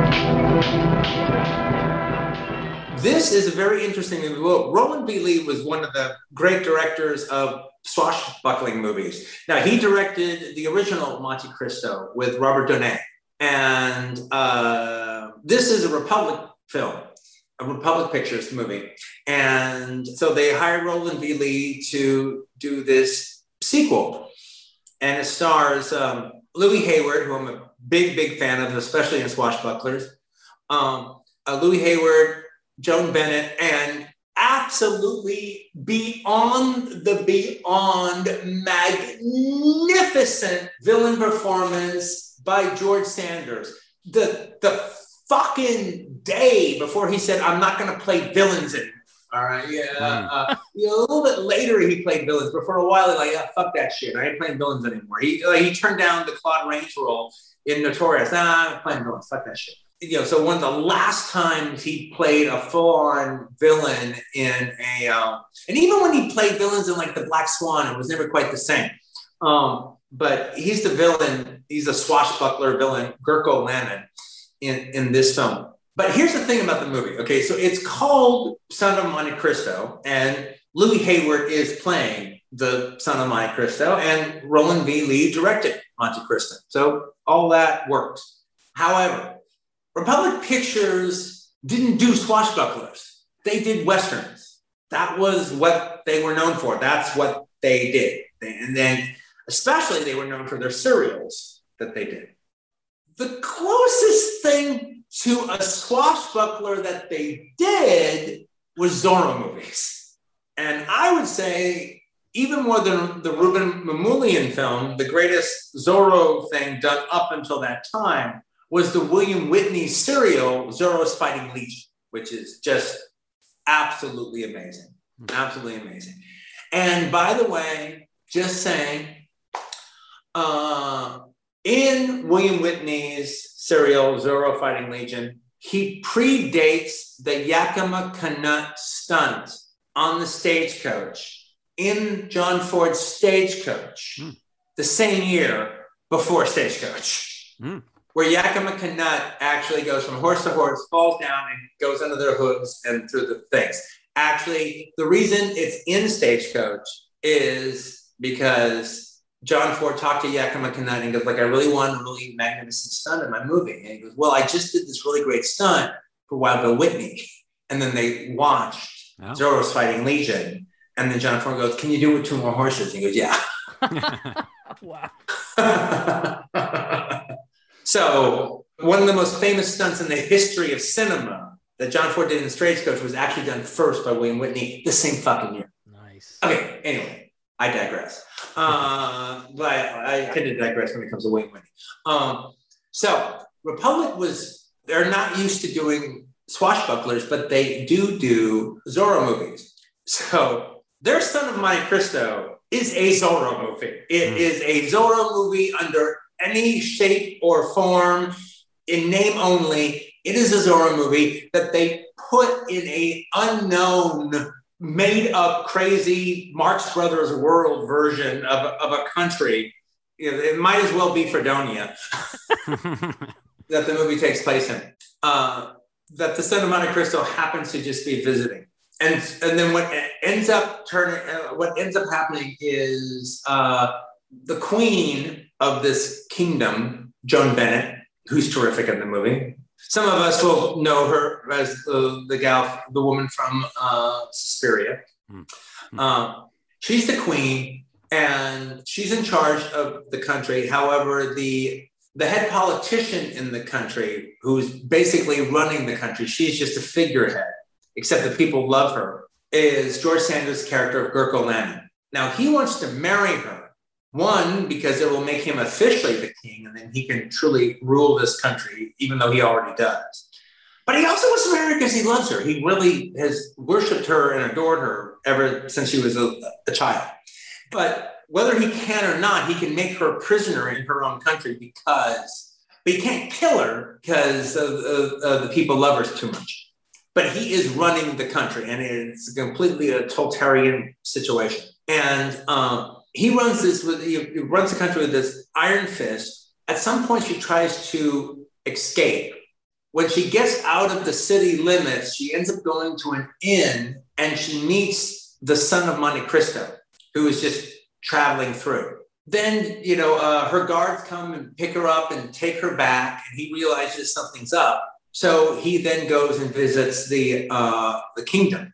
This is a very interesting movie. Well, Roland B. Lee was one of the great directors of swashbuckling movies. Now, he directed the original Monte Cristo with Robert Downey. And this is a Republic film, a Republic Pictures movie. And so they hired Roland B. Lee to do this sequel. And it stars Louis Hayward, who I'm a big, big fan of, especially in Swashbucklers. Louis Hayward, Joan Bennett, and absolutely beyond magnificent villain performance by George Sanders. The fucking day before he said, I'm not going to play villains anymore. All right, yeah. A little bit later, he played villains, but for a while, he's like, yeah, fuck that shit. I ain't playing villains anymore. He turned down the Claude Rains role in Notorious. Nah, I'm not playing villains. Fuck that shit. So one of the last times he played a full-on villain in a, and even when he played villains in like The Black Swan, it was never quite the same. But he's the villain. He's a swashbuckler villain, Gurko Lannon, in this film. But here's the thing about the movie. Okay, so it's called Son of Monte Cristo, and Louis Hayward is playing the Son of Monte Cristo, and Roland B. Lee directed Monte Cristo. So all that works. However, Republic Pictures didn't do swashbucklers. They did Westerns. That was what they were known for. That's what they did. And then especially they were known for their serials that they did. The closest thing to a swashbuckler that they did was Zorro movies. And I would say even more than the Ruben Mamoulian film, the greatest Zorro thing done up until that time was the William Whitney serial, Zorro's Fighting Legion, which is just absolutely amazing. Absolutely amazing. And by the way, just saying, in William Whitney's serial, Zorro Fighting Legion, he predates the Yakima Canutt stunt on the stagecoach in John Ford's Stagecoach, the same year before Stagecoach, where Yakima Canutt actually goes from horse to horse, falls down, and goes under their hooves and through the things. Actually, the reason it's in Stagecoach is because John Ford talked to Yakima Canutt and goes, like, I really want a really magnificent stunt in my movie. And he goes, well, I just did this really great stunt for Wild Bill Whitney. And then they watched Zorro's Fighting Legion. And then John Ford goes, can you do it with 2 more horses? And he goes, yeah. Wow. So one of the most famous stunts in the history of cinema that John Ford did in Stagecoach was actually done first by William Whitney the same fucking year. Nice. Okay, anyway, I digress. But I tend to digress when it comes to William Whitney. So Republic they're not used to doing swashbucklers, but they do Zorro movies. So their Son of Monte Cristo is a Zorro movie. It is a Zorro movie under any shape or form, in name only. It is a Zorro movie that they put in a unknown, made up, crazy Marx Brothers world version of a country. It might as well be Fredonia that the movie takes place in. That the Son of Monte Cristo happens to just be visiting. And then what ends up happening is the queen of this kingdom, Joan Bennett, who's terrific in the movie. Some of us will know her as the woman from Suspiria. She's the queen, and she's in charge of the country. However, the head politician in the country, who's basically running the country, she's just a figurehead, except that people love her, is George Sanders' character of Gurko Lannon. Now, he wants to marry her. One, because it will make him officially the king, and then he can truly rule this country, even though he already does. But he also wants to marry her because he loves her. He really has worshipped her and adored her ever since she was a child. But whether he can or not, he can make her a prisoner in her own country but he can't kill her because the people love her too much. but he is running the country, and it's completely a totalitarian situation. And he runs the country with this iron fist. At some point, she tries to escape. When she gets out of the city limits, she ends up going to an inn, and she meets the son of Monte Cristo, who is just traveling through. Then, her guards come and pick her up and take her back, and he realizes something's up. So he then goes and visits the kingdom.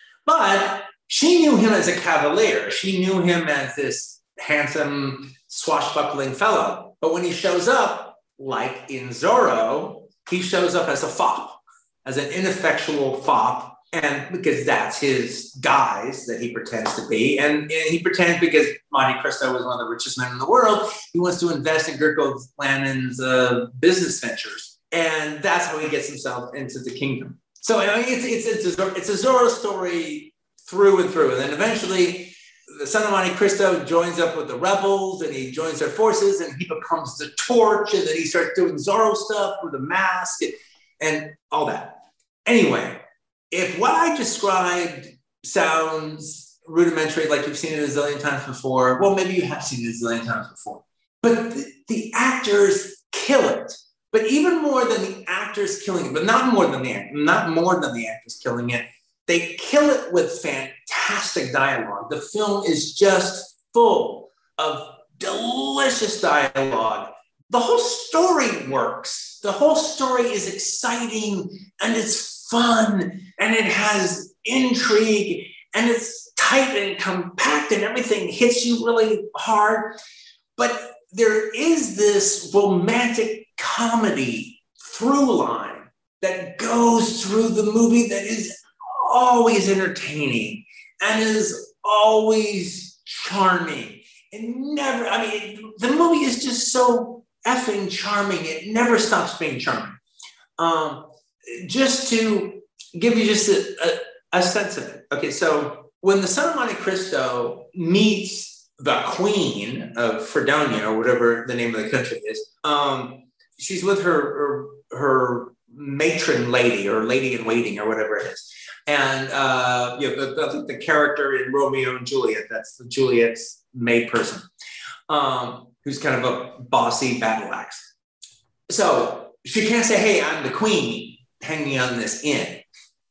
But she knew him as a cavalier. She knew him as this handsome, swashbuckling fellow. But when he shows up, like in Zorro, he shows up as a fop, as an ineffectual fop. And because that's his guise that he pretends to be. And he pretends because Monte Cristo was one of the richest men in the world, he wants to invest in Gergo Lannon's business ventures. And that's how he gets himself into the kingdom. So I mean, it's a Zorro story through and through. And then eventually the son of Monte Cristo joins up with the rebels, and he joins their forces, and he becomes the Torch, and then he starts doing Zorro stuff with a mask and all that. Anyway, if what I described sounds rudimentary, like you've seen it a zillion times before, well, maybe you have seen it a zillion times before, but the actors kill it. But even more than the actors killing it, but not more than the actors killing it, they kill it with fantastic dialogue. The film is just full of delicious dialogue. The whole story works. The whole story is exciting, and it's fun, and it has intrigue, and it's tight and compact, and everything hits you really hard. But there is this romantic comedy through line that goes through the movie that is always entertaining and is always charming. And the movie is just so effing charming. It never stops being charming. Just to give you just a sense of it. Okay, so when the son of Monte Cristo meets the queen of Fredonia, or whatever the name of the country is, she's with her matron lady, or lady in waiting, or whatever it is. And the character in Romeo and Juliet, that's Juliet's maid person, who's kind of a bossy battle axe. So she can't say, "Hey, I'm the queen, hang me on this inn."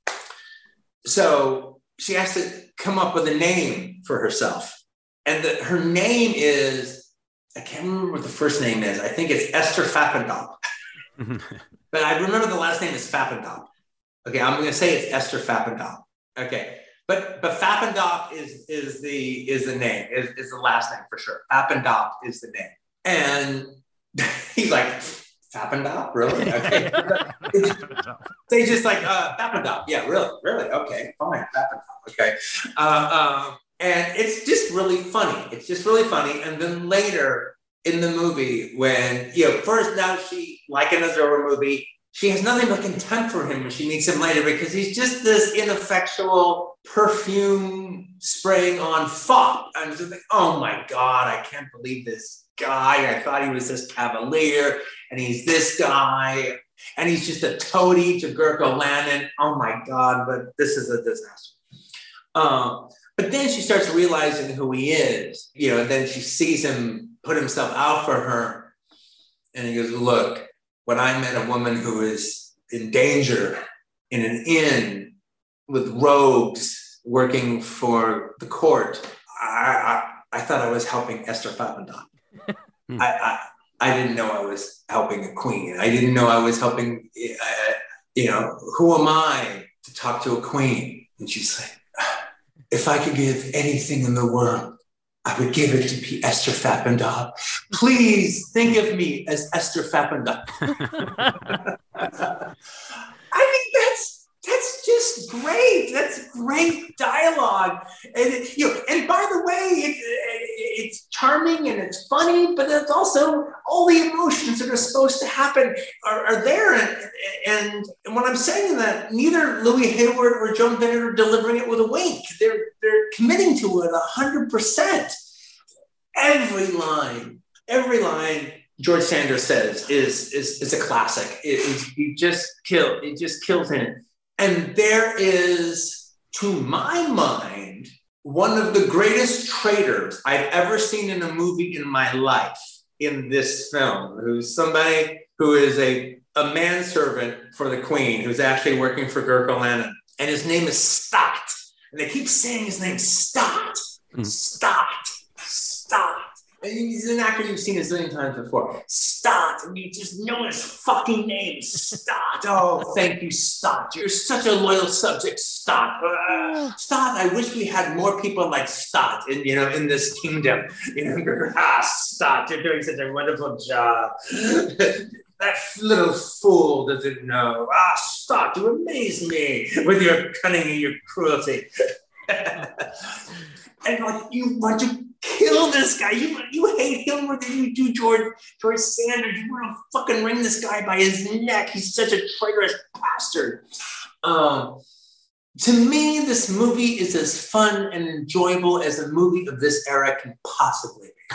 So she has to come up with a name for herself. And her name is, I can't remember what the first name is. I think it's Esther Fappendop. But I remember the last name is Fappendop. Okay, I'm going to say it's Esther Fappendop. Okay, but Fappendop is the name, is the last name for sure. Fappendop is the name. And he's like, Fappendop? Really? Okay. They just like, Fappendop. Yeah, really? Okay, fine, Fappendop. Okay. And it's just really funny. It's just really funny. And then later in the movie, when, first now she, like in a Zorro movie, she has nothing but contempt for him when she meets him later, because he's just this ineffectual perfume spraying on fop. I'm just like, oh my God, I can't believe this guy. I thought he was this cavalier, and he's this guy, and he's just a toady to Gergo Lannon. Oh my God, but this is a disaster. But then she starts realizing who he is, and then she sees him put himself out for her, and he goes, look, when I met a woman who is in danger in an inn with rogues working for the court, I thought I was helping Esther Fappendop. I didn't know I was helping a queen. I didn't know I was helping, who am I to talk to a queen? And she's like, if I could give anything in the world, I would give it to be Esther Fappendop. Please think of me as Esther Fappendop. I mean, that's just great. That's great dialogue. And and by the way, it's charming and it's funny, but it's also all the emotions that are supposed to happen are there. And when I'm saying that, neither Louis Hayward or Joan Bennett are delivering it with a wink. They're committing to it 100%. Every line George Sanders says is a classic. It just kills in it. And there is, to my mind, one of the greatest traitors I've ever seen in a movie in my life in this film, who's somebody who is a manservant for the Queen, who's actually working for Gurkha Lannan. And his name is Stott. And they keep saying his name, Stott, Stott, Stott. And he's an actor you've seen a zillion times before. Stott. And you just know his fucking name, Stott. Oh, thank you, Stott. You're such a loyal subject, Stott. Stott, I wish we had more people like Stott in this kingdom. Stott, you're doing such a wonderful job. That little fool doesn't know. Stott, you amaze me with your cunning and your cruelty. And like, you want to kill this guy. You hate him more than you do George Sanders. You want to fucking wring this guy by his neck. He's such a traitorous bastard. To me, this movie is as fun and enjoyable as a movie of this era can possibly be.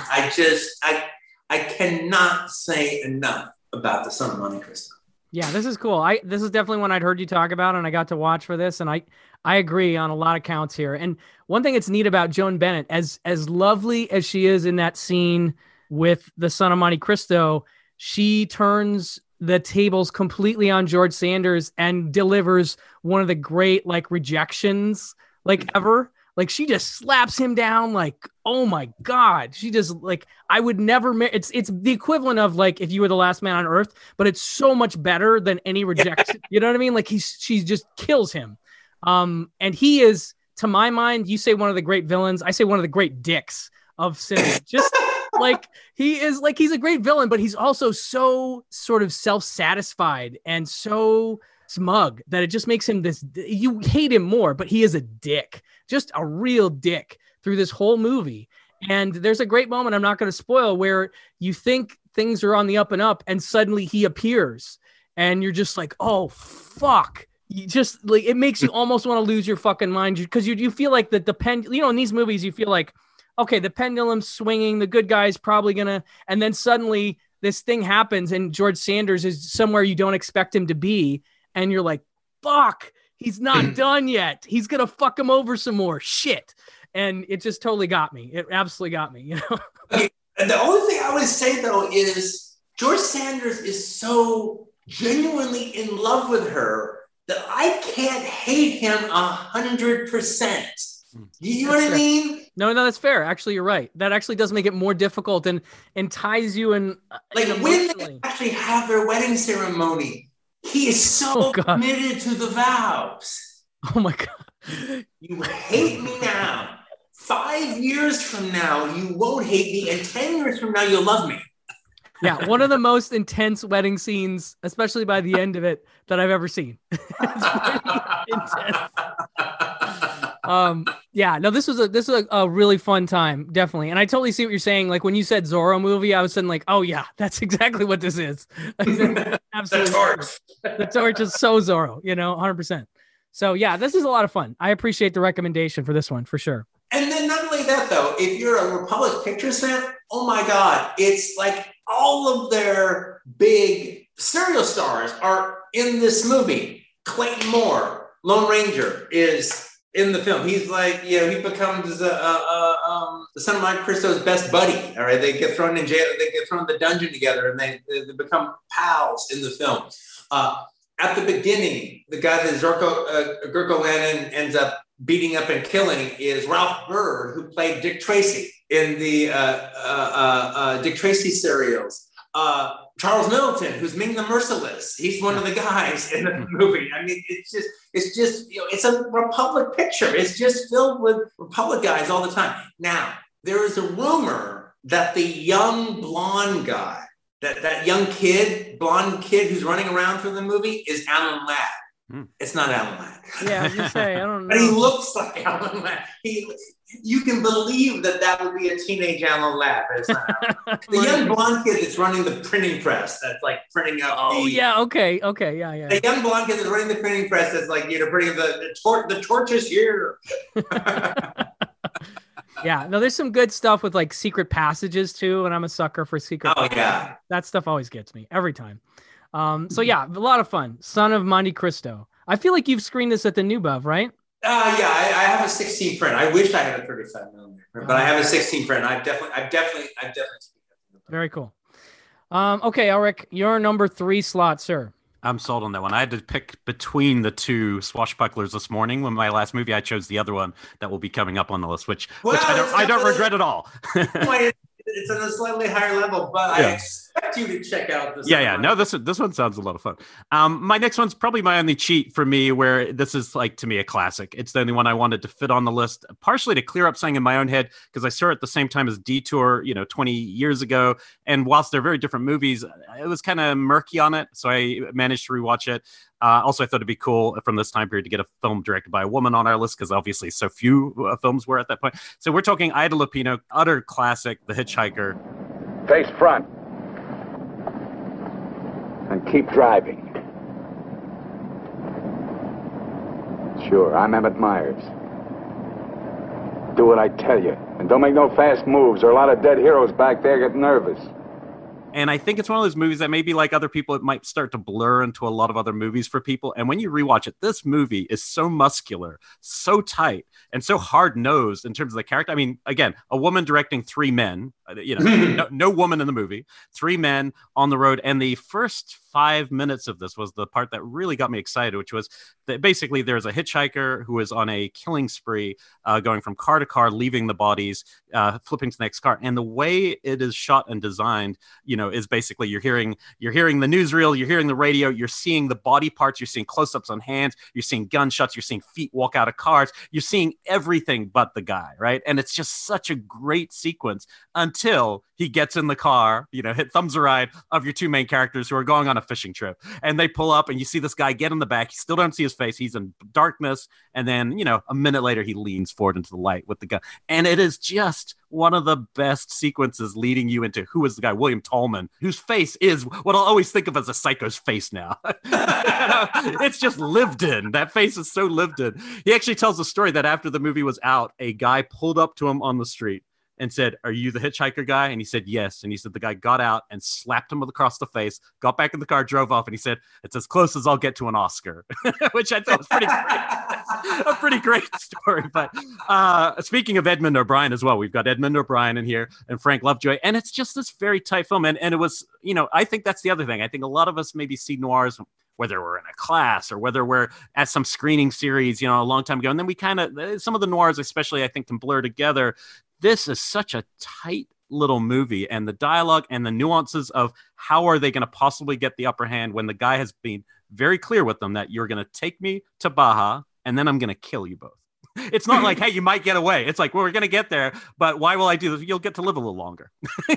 I cannot say enough about The Son of Monte Cristo. Yeah, this is cool. This is definitely one I'd heard you talk about, and I got to watch for this, and I agree on a lot of counts here. And one thing that's neat about Joan Bennett, as lovely as she is in that scene with The Son of Monte Cristo, she turns the tables completely on George Sanders and delivers one of the great rejections ever. Like, she just slaps him down like, oh my God. She just I would never it's the equivalent of if you were the last man on earth, but it's so much better than any rejection. You know what I mean? She just kills him. And he is, to my mind, you say one of the great villains. I say one of the great dicks of cinema. Just he is he's a great villain, but he's also so sort of self-satisfied and so smug that it just makes him you hate him more, but he is a dick, just a real dick through this whole movie. And there's a great moment, I'm not going to spoil, where you think things are on the up and up and suddenly he appears and you're just like, oh fuck. You just it makes you almost want to lose your fucking mind, because you feel like in these movies, you feel like, okay, the pendulum's swinging, the good guy's probably gonna, and then suddenly this thing happens and George Sanders is somewhere you don't expect him to be. And you're like, fuck, he's not done yet. He's going to fuck him over some more shit. And it just totally got me. It absolutely got me, Okay. And the only thing I would say, though, is George Sanders is so genuinely in love with her that I can't hate him 100%. You know what I mean? No, that's fair. Actually, you're right. That actually does make it more difficult and ties you in. When they actually have their wedding ceremony, he is so committed to the vows. Oh my God. You hate me now. 5 years from now, you won't hate me. And 10 years from now, you'll love me. Yeah, one of the most intense wedding scenes, especially by the end of it, that I've ever seen. It's pretty intense. Yeah, no, this was a really fun time, definitely. And I totally see what you're saying. When you said Zorro movie, I was saying oh yeah, that's exactly what this is. Absolutely. The torch. The torch is so Zorro, 100%. So yeah, this is a lot of fun. I appreciate the recommendation for this one, for sure. And then not only that, though, if you're a Republic Pictures fan, oh my God, it's all of their big serial stars are in this movie. Clayton Moore, Lone Ranger, is in the film. He's he becomes the Son of Monte Cristo's best buddy. All right, they get thrown in jail, they get thrown in the dungeon together, and they become pals in the film. At the beginning, the guy that Gurkha Lannan ends up beating up and killing is Ralph Bird, who played Dick Tracy in the Dick Tracy serials. Charles Middleton, who's Ming the Merciless, he's one of the guys in the movie. I mean, it's just it's a Republic picture. It's just filled with Republic guys all the time. Now, there is a rumor that the young blonde guy, that young blonde kid who's running around through the movie is Alan Ladd. It's not Alan Ladd. Yeah, I was gonna say, I don't know. But he looks like Alan Ladd. You can believe that would be a teenage Alan Ladd, but it's not. The young blonde kid that's running the printing press, that's printing up. Oh yeah, okay, yeah. The young blonde kid that's running the printing press, that's printing the torch is here. Yeah, no, there's some good stuff with secret passages too, and I'm a sucker for secret. Oh yeah, that stuff always gets me every time. So yeah, a lot of fun. Son of Monte Cristo. I feel like you've screened this at the New Bev, right? Yeah, I have a 16 print. I wish I had a 35 millimeter print, but I have a 16 print. I've definitely seen it. Very cool. Okay, Eric, your number 3 slot, sir. I'm sold on that one. I had to pick between the two swashbucklers this morning. When my last movie, I chose the other one that will be coming up on the list, which I don't regret at all. It's on a slightly higher level, but yeah. I expect you to check out this. Yeah. No, this one sounds a lot of fun. My next one's probably my only cheat for me, where this is like to me a classic. It's the only one I wanted to fit on the list, partially to clear up something in my own head because I saw it at the same time as Detour, 20 years ago. And whilst they're very different movies, it was kind of murky on it, so I managed to rewatch it. Also, I thought it'd be cool from this time period to get a film directed by a woman on our list because obviously so few films were at that point. So we're talking Ida Lupino, utter classic, The Hitchhiker. Face front. And keep driving. Sure, I'm Emmett Myers. Do what I tell you. And don't make no fast moves or a lot of dead heroes back there get nervous. And I think it's one of those movies that maybe like other people, it might start to blur into a lot of other movies for people. And when you rewatch it, this movie is so muscular, so tight, and so hard-nosed in terms of the character. I mean, again, a woman directing 3 men, no woman in the movie, 3 men on the road. And the first 5 minutes of this was the part that really got me excited, which was that basically there's a hitchhiker who is on a killing spree, going from car to car, leaving the bodies, flipping to the next car. And the way it is shot and designed, is basically you're hearing the newsreel, you're hearing the radio, you're seeing the body parts, you're seeing close-ups on hands, you're seeing gunshots, you're seeing feet walk out of cars, you're seeing everything but the guy, right? And it's just such a great sequence until he gets in the car, hit thumbs a ride of your 2 main characters who are going on a fishing trip. And they pull up and you see this guy get in the back. You still don't see his face. He's in darkness. And then, a minute later, he leans forward into the light with the gun. And it is just one of the best sequences leading you into who is the guy, William Tallman, whose face is what I'll always think of as a psycho's face now. It's just lived in. That face is so lived in. He actually tells a story that after the movie was out, a guy pulled up to him on the street and said, "Are you the hitchhiker guy?" And he said, "Yes." And he said the guy got out and slapped him across the face, got back in the car, drove off, and he said, "It's as close as I'll get to an Oscar," which I thought was pretty great. A pretty great story. But speaking of Edmund O'Brien as well, we've got Edmund O'Brien in here and Frank Lovejoy, and it's just this very tight film. And it was, I think that's the other thing. I think a lot of us maybe see noirs, whether we're in a class or whether we're at some screening series, a long time ago. And then we kind of, some of the noirs especially, I think, can blur together. This is such a tight little movie, and the dialogue and the nuances of how are they going to possibly get the upper hand when the guy has been very clear with them that you're going to take me to Baja and then I'm going to kill you both. It's not like, hey, you might get away. It's like, well, we're going to get there, but why will I do this? You'll get to live a little longer.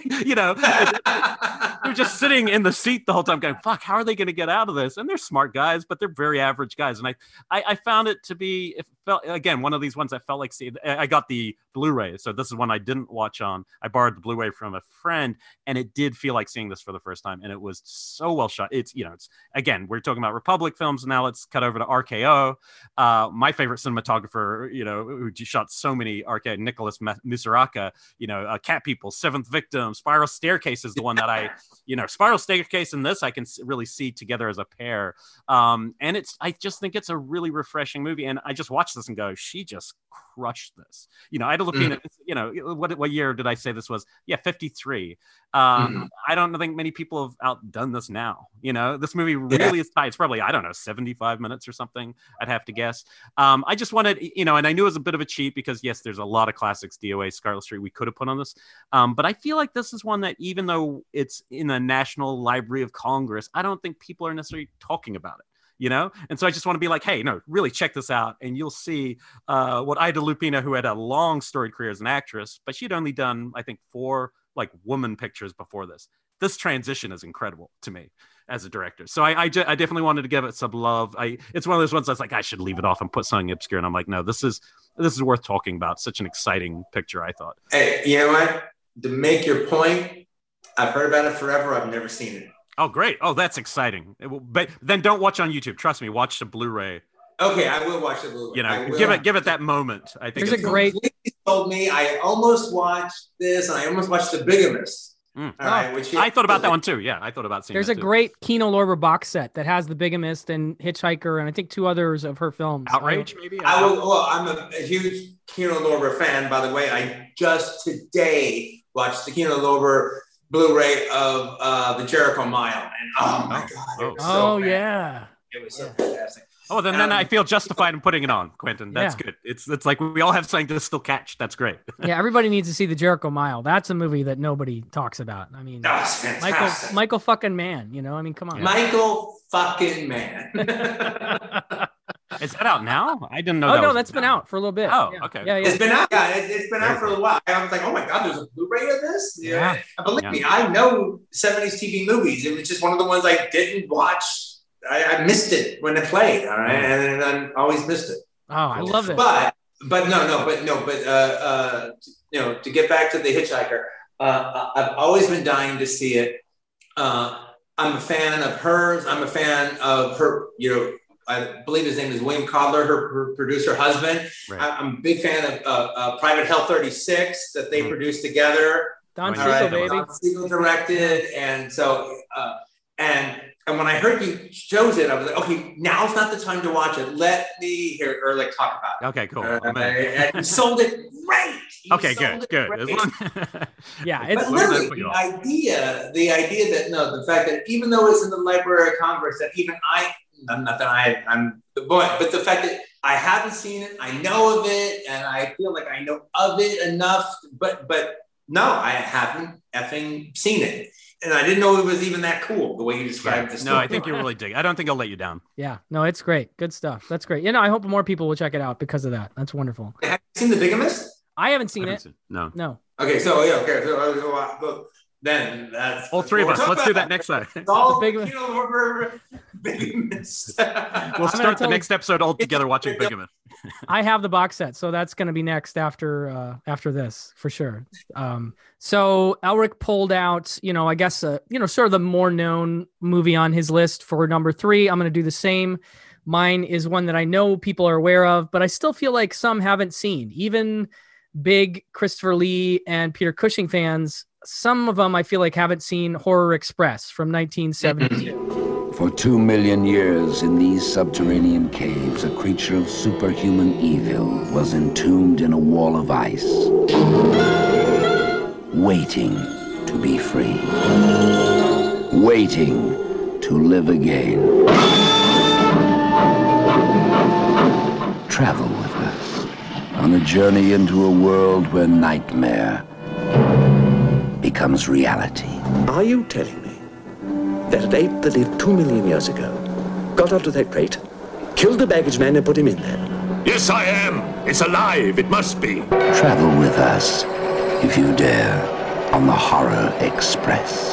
They're just sitting in the seat the whole time going, fuck, how are they going to get out of this? And they're smart guys, but they're very average guys. And I found it to be, it felt, again, one of these ones that felt like, I got the Blu-ray. So this is one I didn't watch on. I borrowed the Blu-ray from a friend, and it did feel like seeing this for the first time. And it was so well shot. It's, again, we're talking about Republic films. Now let's cut over to RKO. My favorite cinematographer, who shot so many RKO, Nicholas Musaraka, Cat People, Seventh Victim, Spiral Staircase is the one that Spiral Staircase and this I can really see together as a pair. And I just think it's a really refreshing movie. And I just watched this and go, she just crushed this. Ida Lupino, what year did I say this was? Yeah, 53. I don't think many people have outdone this now. This movie really is tight. It's probably, 75 minutes or something, I'd have to guess. I just wanted, and I knew it was a bit of a cheat because, yes, there's a lot of classics, DOA, Scarlet Street, we could have put on this. But I feel like this is one that, even though it's in the National Library of Congress, I don't think people are necessarily talking about it. And so I just want to be like, hey, no, really check this out. And you'll see what Ida Lupino, who had a long storied career as an actress, but she'd only done, I think, 4 woman pictures before this. This transition is incredible to me as a director. So I definitely wanted to give it some love. It's one of those ones that's like, I should leave it off and put something obscure. And I'm like, no, this is worth talking about. Such an exciting picture, I thought. Hey, you know what? To make your point, I've heard about it forever. I've never seen it. Oh, great. Oh, that's exciting. But then don't watch on YouTube. Trust me, watch the Blu-ray. Okay, I will watch the Blu-ray. Give it that moment. I think it's a great. Told me I almost watched this, and I almost watched The Bigamist. Mm. All right, I thought about that one too. Yeah, I thought about seeing There's that a too. great Kino Lorber box set that has The Bigamist and Hitchhiker and I think 2 others of her films. Outrage, maybe? I'm a huge Kino Lorber fan, by the way. I just today watched the Kino Lorber Blu-ray of the Jericho Mile, and oh my god, it was so yeah, it was so fantastic. Oh, then I feel justified in putting it on, Quentin. That's good. It's like we all have something to still catch. That's great. Yeah, everybody needs to see the Jericho Mile. That's a movie that nobody talks about. I mean, that's fantastic. Michael fucking Mann. You know, I mean, come on, Michael fucking Mann. Is that out now? I didn't know. Oh no, that's been out for a little bit. Oh, yeah. okay. Yeah, it's been out. Yeah, it's been out for a little while. I was like, oh my god, there's a Blu-ray of this. Yeah. Believe me, I know 70s TV movies. It was just one of the ones I didn't watch. I missed it when it played. All right, and I always missed it. Oh, I love it. But to get back to The Hitchhiker, I've always been dying to see it. I'm a fan of hers. I'm a fan of her. I believe his name is William Codler, her producer husband. Right. I'm a big fan of Private Hell 36 that they produced together. Don Siegel, baby. Don Siegel directed, and so and when I heard you chose it, I was like, okay, now's not the time to watch it. Let me hear or talk about it. Okay, cool. And you sold it great. Okay, good. Yeah, it's but literally the idea that the fact that even though it's in the Library of Congress, that even I'm the boy, but the fact that I haven't seen it, I know of it, and I feel like I know of it enough, but no, I haven't effing seen it. And I didn't know it was even that cool, the way you described this. No, I think you really dig. I don't think I'll let you down. Yeah, no, it's great. Good stuff. That's great. I hope more people will check it out because of that. That's wonderful. Have you seen The Bigamist? I haven't seen it. No. Okay, so then that's all three of us. Let's do that next time. All Bigamist. We'll start the next episode all together watching Bigamist. I have the box set, so that's going to be next after this for sure. So Elric pulled out, I guess, sort of the more known movie on his list for number 3. I'm going to do the same. Mine is one that I know people are aware of, but I still feel like some haven't seen. Even big Christopher Lee and Peter Cushing fans, some of them I feel like haven't seen Horror Express from 1972. For 2 million years in these subterranean caves, a creature of superhuman evil was entombed in a wall of ice, waiting to be free, waiting to live again. Travel with us on a journey into a world where nightmare becomes reality. Are you telling me that an ape that lived 2 million years ago got onto that crate, killed the baggage man and put him in there? Yes, I am. It's alive. It must be. Travel with us, if you dare, on the Horror Express.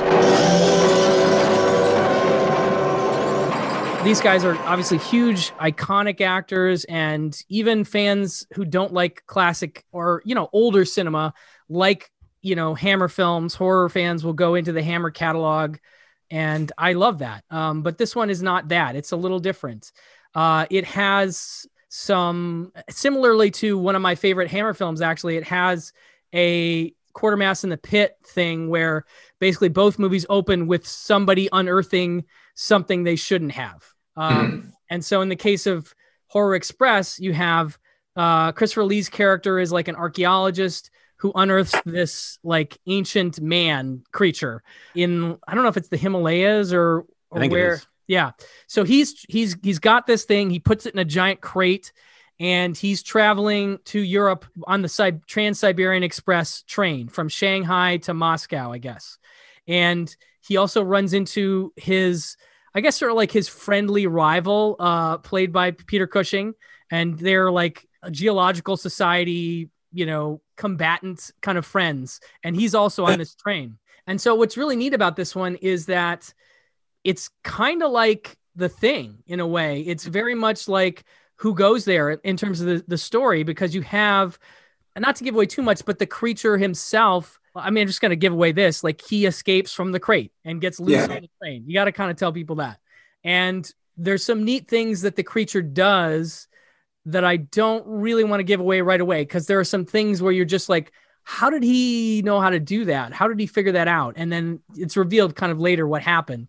These guys are obviously huge, iconic actors, and even fans who don't like classic or, older cinema, like, Hammer films, horror fans will go into the Hammer catalog, and I love that. But this one is not that. It's a little different. It has some, similarly to one of my favorite Hammer films, actually, it has a Quatermass in the Pit thing where basically both movies open with somebody unearthing something they shouldn't have. And so in the case of Horror Express, you have Christopher Lee's character is like an archaeologist who unearths this ancient man creature in, I don't know if it's the Himalayas or where. Yeah. So he's got this thing. He puts it in a giant crate and he's traveling to Europe on the Trans-Siberian Express train from Shanghai to Moscow, I guess. And he also runs into his, I guess, sort of like his friendly rival, played by Peter Cushing. And they're like a geological society, combatant kind of friends. And he's also on this train. And so what's really neat about this one is that it's kind of like The Thing in a way. It's very much like Who Goes There in terms of the story, because you have, and not to give away too much, but the creature himself, I mean, I'm just going to give away this, he escapes from the crate and gets loose on the train. You got to kind of tell people that. And there's some neat things that the creature does that I don't really want to give away right away, because there are some things where you're just like, how did he know how to do that? How did he figure that out? And then it's revealed kind of later what happened.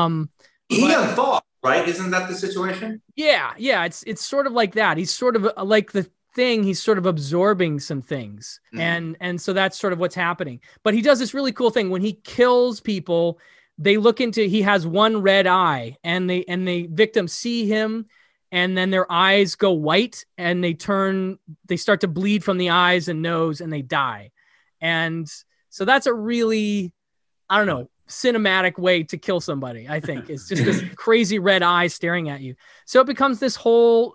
He unthawed, right? Isn't that the situation? Yeah, it's sort of like that. He's sort of like the thing. He's sort of absorbing some things, and so that's sort of what's happening. But he does this really cool thing when he kills people. They look into. He has one red eye, and the victims see him, and then their eyes go white, and they start to bleed from the eyes and nose, and they die. And so that's a really, I don't know, cinematic way to kill somebody. I think it's just this crazy red eye staring at you. So it becomes this whole,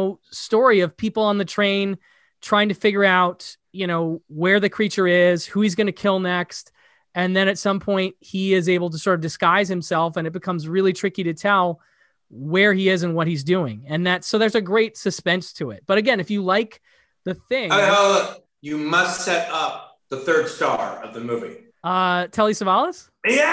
story of people on the train trying to figure out, where the creature is, who he's going to kill next. And then at some point he is able to sort of disguise himself, and it becomes really tricky to tell where he is and what he's doing. And so there's a great suspense to it. But again, if you like The Thing, you must set up the third star of the movie. Telly Savalas?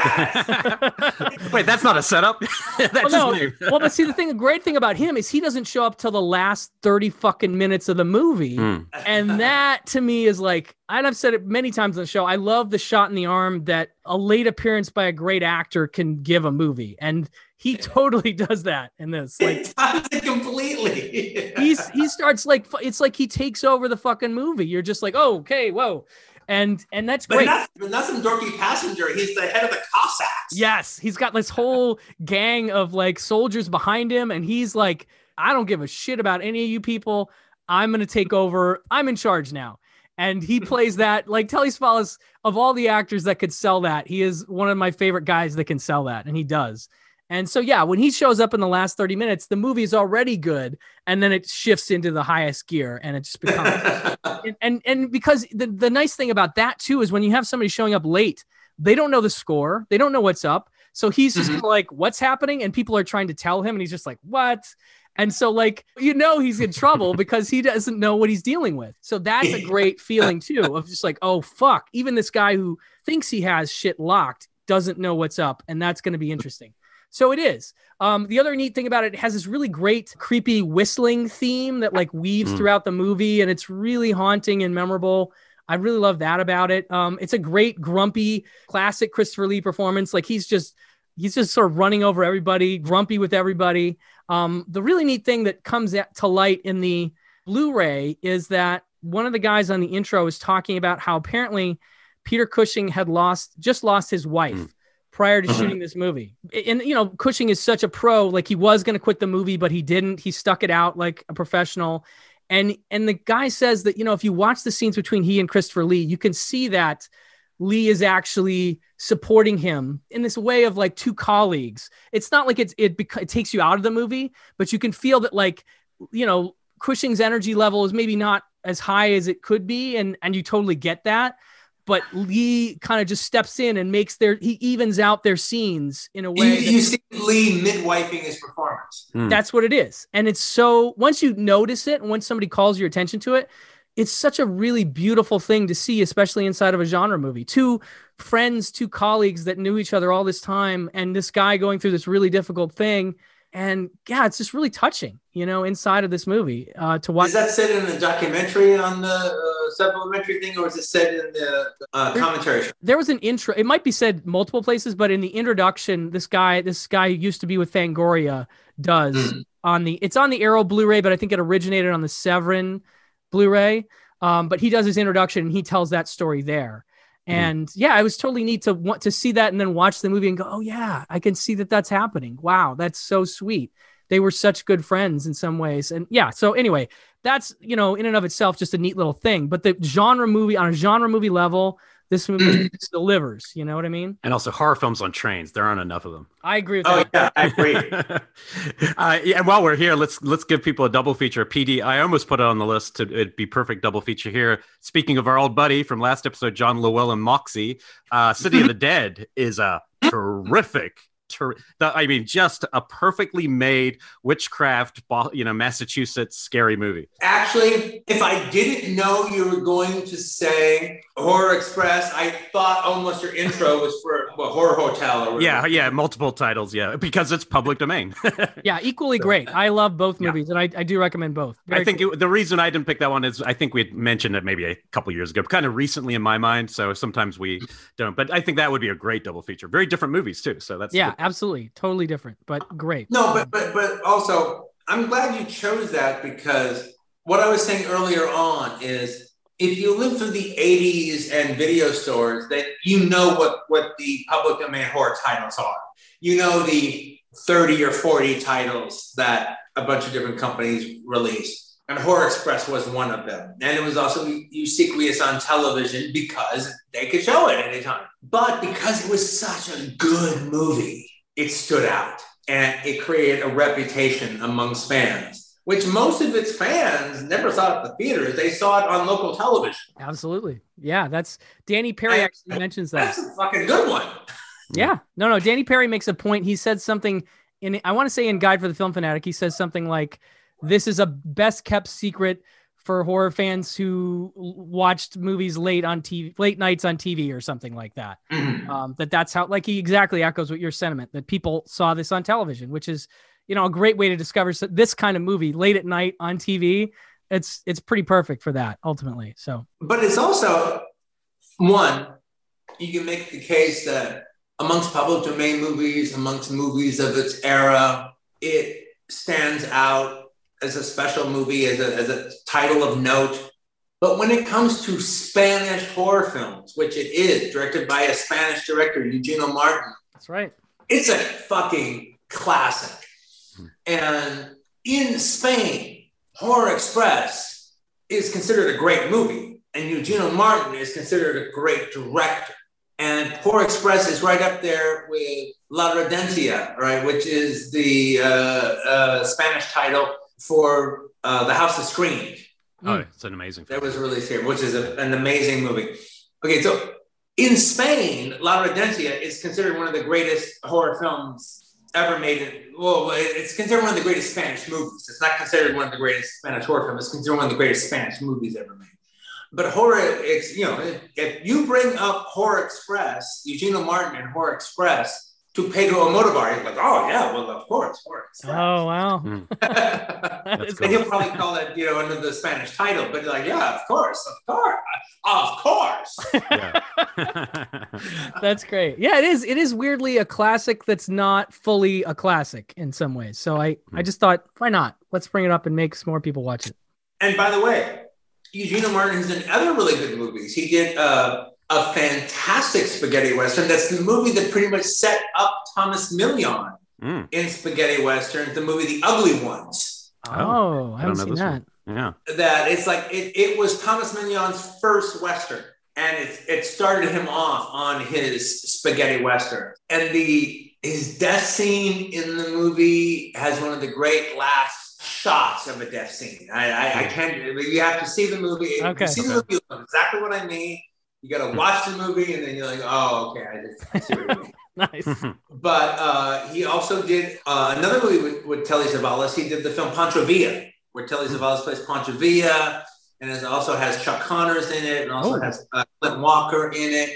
Yeah. Wait, that's not a setup. That's his name. Well, but see, the great thing about him is he doesn't show up till the last 30 fucking minutes of the movie. And that to me is like, and I've said it many times on the show, I love the shot in the arm that a late appearance by a great actor can give a movie. And he totally does that in this. Like, it does it completely. he starts like, it's like he takes over the fucking movie. You're just like, oh, okay, whoa. And that's great. But not some dorky passenger. He's the head of the Cossacks. Yes, he's got this whole gang of like soldiers behind him, and he's like, I don't give a shit about any of you people. I'm going to take over. I'm in charge now. And he plays that like Telly Savalas, of all the actors that could sell that, he is one of my favorite guys that can sell that, and he does. And so, yeah, when he shows up in the last 30 minutes, the movie is already good. And then it shifts into the highest gear, and it just becomes, and because the nice thing about that too, is when you have somebody showing up late, they don't know the score. They don't know what's up. So he's just like, what's happening? And people are trying to tell him, and he's just like, what? And so like, he's in trouble because he doesn't know what he's dealing with. So that's a great feeling too, of just like, oh, fuck. Even this guy who thinks he has shit locked doesn't know what's up. And that's going to be interesting. So it is. The other neat thing about it has this really great, creepy whistling theme that like weaves throughout the movie, and it's really haunting and memorable. I really love that about it. It's a great, grumpy, classic Christopher Lee performance. Like he's just sort of running over everybody, grumpy with everybody. The really neat thing that comes to light in the Blu-ray is that one of the guys on the intro is talking about how apparently Peter Cushing had just lost his wife prior to shooting this movie. And, Cushing is such a pro, like he was going to quit the movie, but he didn't. He stuck it out like a professional. And the guy says that, if you watch the scenes between he and Christopher Lee, you can see that Lee is actually supporting him in this way of like two colleagues. It's not like it takes you out of the movie, but you can feel that like, Cushing's energy level is maybe not as high as it could be. And you totally get that. But Lee kind of just steps in and he evens out their scenes in a way. You see Lee midwifing his performance. That's what it is. And it's so, once you notice it, and once somebody calls your attention to it, it's such a really beautiful thing to see, especially inside of a genre movie. Two friends, two colleagues that knew each other all this time, and this guy going through this really difficult thing. And yeah, it's just really touching, inside of this movie to watch. Is that said in the documentary on the supplementary thing, or is it said in the commentary? There was an intro. It might be said multiple places, but in the introduction, this guy who used to be with Fangoria does it's on the Arrow Blu-ray, but I think it originated on the Severin Blu-ray. But he does his introduction and he tells that story there. And yeah, it was totally neat to want to see that and then watch the movie and go, oh yeah, I can see that that's happening. Wow. That's so sweet. They were such good friends in some ways. And yeah, so anyway, that's, in and of itself, just a neat little thing, but the genre movie on a genre movie level, this movie delivers, you know what I mean? And also horror films on trains. There aren't enough of them. I agree with that. Oh yeah, I agree. And while we're here, let's give people a double feature. PD, I almost put it on the list it'd be perfect double feature here. Speaking of our old buddy from last episode, John Llewellyn Moxie, City of the Dead is a terrific just a perfectly made witchcraft, Massachusetts scary movie. Actually, if I didn't know you were going to say Horror Express, I thought almost your intro was for Horror Hotel. Or yeah, multiple titles, because it's public domain. Yeah, equally great. I love both movies, and I do recommend both. I think the reason I didn't pick that one is I think we had mentioned it maybe a couple years ago, kind of recently in my mind, so sometimes we don't. But I think that would be a great double feature. Very different movies, too, so that's... Yeah, absolutely. Totally different, but great. No, but also, I'm glad you chose that, because what I was saying earlier on is if you live through the 80s and video stores, that you know what the public domain horror titles are. You know the 30 or 40 titles that a bunch of different companies released. And Horror Express was one of them. And it was also ubiquitous on television because they could show it anytime. But because it was such a good movie, it stood out. And it created a reputation amongst fans, which most of its fans never saw it at the theaters. They saw it on local television. Absolutely. Yeah, that's Danny Perry actually mentions that. That's a fucking good one. Yeah. No, Danny Perry makes a point. He said something I want to say in Guide for the Film Fanatic, he says something like, this is a best kept secret for horror fans who watched movies late nights on TV or something like that. Mm-hmm. That's how, like, he exactly echoes what your sentiment, that people saw this on television, which is, a great way to discover this kind of movie late at night on TV. It's pretty perfect for that ultimately. So, but it's also one, you can make the case that amongst public domain movies, amongst movies of its era, it stands out as a special movie, as a title of note. But when it comes to Spanish horror films, which it is, directed by a Spanish director, Eugenio Martin. That's right. It's a fucking classic. And in Spain, Horror Express is considered a great movie. And Eugenio Martin is considered a great director. And Horror Express is right up there with La Redencia, right, which is the Spanish title for The House That Screamed. Oh, it's an amazing film. That was released here, which is an amazing movie. Okay, so in Spain, La Redencia is considered one of the greatest horror films ever made. It's considered one of the greatest Spanish movies. It's not considered one of the greatest Spanish horror films. It's considered one of the greatest Spanish movies ever made. But if you bring up Horror Express, Eugenio Martin and Horror Express, to Pedro Almodovar, he's like, oh yeah, well, of course, Horror Express. Oh, wow. And he'll probably call it, under the Spanish title, but like, yeah, of course. Yeah. That's great. Yeah, it is weirdly a classic that's not fully a classic in some ways. So I just thought, why not? Let's bring it up and make some more people watch it. And by the way, Eugenio Martin has done other really good movies. He did a fantastic spaghetti western. That's the movie that pretty much set up Thomas Million in spaghetti westerns, the movie The Ugly Ones. Oh, I haven't seen that. One. Yeah. That it's like, it was Thomas Million's first western. And it started him off on his spaghetti western. And his death scene in the movie has one of the great last shots of a death scene. I can't. You have to see the movie. Okay. You see the movie, you know exactly what I mean. You got to watch the movie, and then you're like, oh, okay, I see what you mean. Nice. But he also did another movie with Telly Savalas. He did the film Pancho Villa, where Telly Savalas plays Pancho Villa, and it also has Chuck Connors in it, and also has Clint Walker in it,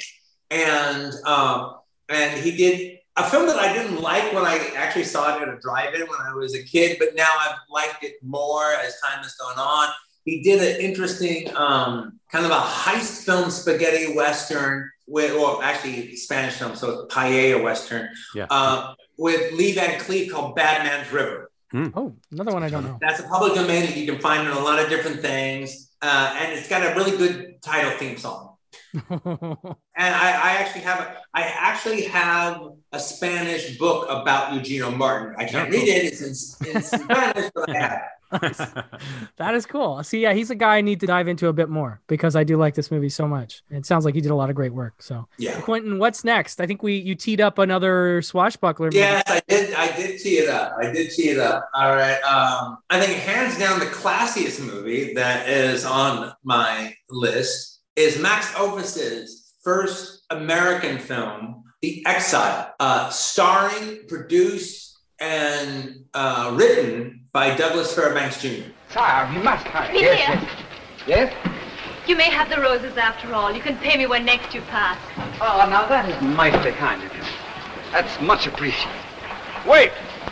and he did a film that I didn't like when I actually saw it at a drive-in when I was a kid, but now I've liked it more as time has gone on. He did an interesting kind of a heist film spaghetti western actually Spanish film, so it's paella western, with Lee Van Cleef called Bad Man's River. Oh, another one I don't know. That's a public domain that you can find in a lot of different things. And it's got a really good title theme song. And I actually have a Spanish book about Eugenio Martin. I can't read it. It's in Spanish, but I have it. That is cool. See, yeah, he's a guy I need to dive into a bit more because I do like this movie so much. It sounds like he did a lot of great work. So, yeah. Quentin, what's next? I think you teed up another swashbuckler movie. Yes, I did tee it up. All right. I think hands down the classiest movie that is on my list is Max Ophüs's first American film, The Exile, starring, produced, and written by Douglas Fairbanks Jr. Sire, we must hurry. Yes. Yes? You may have the roses after all. You can pay me when next you pass. Oh, now that is mighty kind of you. That's much appreciated. Wait!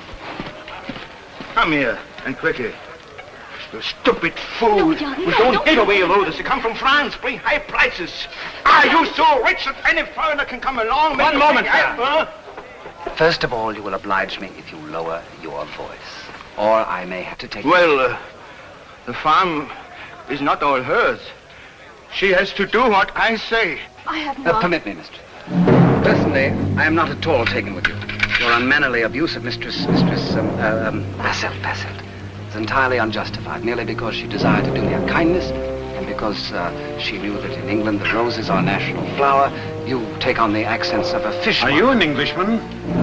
Come here, and quickly. You stupid fool. No, Johnny, We no, don't don't. give away roses. They come from France, bring high prices. Are you so rich that any foreigner can come along? One moment, sir. Huh? First of all, you will oblige me if you lower your voice. Or I may have to take... Well, the farm is not all hers. She has to do what I say. I have not. Permit me, mistress. Personally, I am not at all taken with you. Your unmannerly abuse of Bassett is entirely unjustified, merely because she desired to do me a kindness, and because she knew that in England the rose is our national flower. You take on the accents of a fisherman. Are you an Englishman?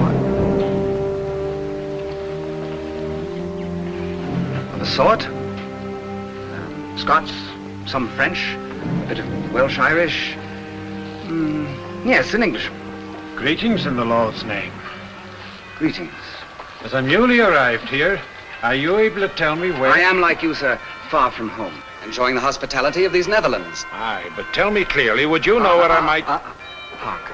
Of a sort. Scots, some French, a bit of Welsh-Irish. Yes, an Englishman. Greetings in the Lord's name. Greetings. As I'm newly arrived here, are you able to tell me where... I am, like you, sir, far from home, enjoying the hospitality of these Netherlands. Aye, but tell me clearly, would you know where I might... Hark.